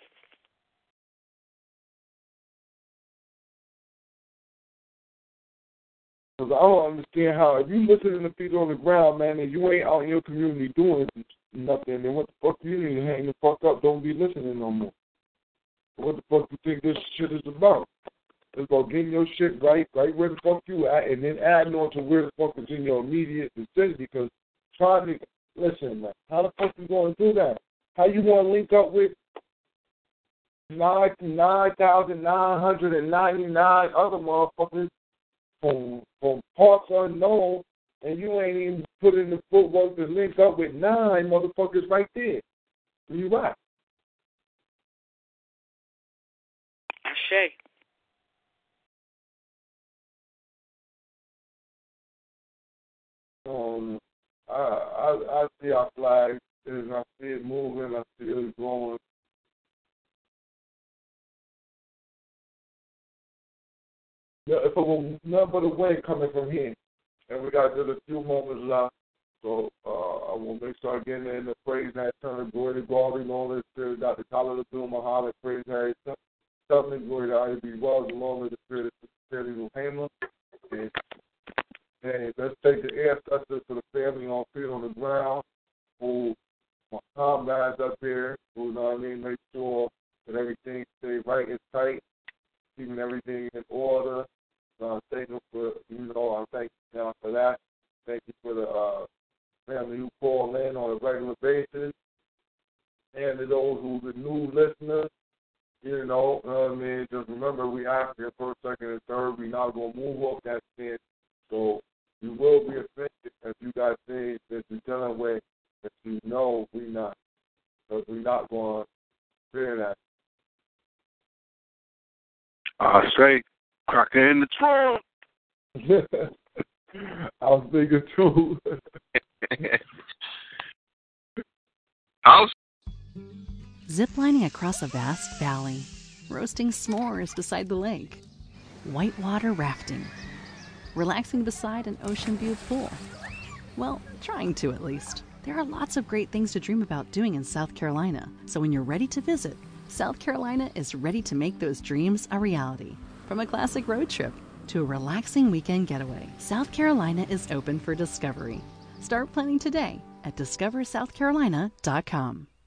Because I don't understand how, if you listening to people on the ground, man, and you ain't out in your community doing nothing, then what the fuck you need to hang the fuck up, don't be listening no more. What the fuck you think this shit is about? It's about getting your shit right, right where the fuck you at, and then adding on to where the fuck is in your immediate vicinity, because trying to, listen, man, how the fuck you going to do that? How you going to link up with nine thousand nine hundred ninety-nine other motherfuckers From, from parts unknown, and you ain't even put in the footwork to link up with nine motherfuckers right there. You right. Ashe. Um, I, I, I see our flag, and I see it moving, I see it growing. Yeah, if it was nothing but a wind coming from here, and we got just a few moments left, so uh, I will make sure I get in the praise and turn the glory to glory, Lord, the Spirit, Doctor Tyler, the Doom, Muhammad, praise Harry, something glory to I be well, the Lord, the Spirit of the Spirit of Hamer. And, and let's take the ancestors to the family on feet on the ground, who my comrades up here, who, you know what I mean, make sure that everything stay right and tight, keeping everything in order. Uh, thank you for, you know, I thank you now for that. Thank you for the uh, family who call in on a regular basis. And to those who are the new listeners, you know, uh, I mean, just remember we asked you first, second, and third. We're not going to move off that stand. So you will be offended if you got things that you're dealing with that you know we not. Because we're not going to fear that. I say, cracker in the trunk. I was thinking too. I was Ziplining across a vast valley, roasting s'mores beside the lake, whitewater rafting, relaxing beside an ocean view pool. Well, trying to at least. There are lots of great things to dream about doing in South Carolina, so when you're ready to visit, South Carolina is ready to make those dreams a reality. From a classic road trip to a relaxing weekend getaway, South Carolina is open for discovery. Start planning today at discover south carolina dot com.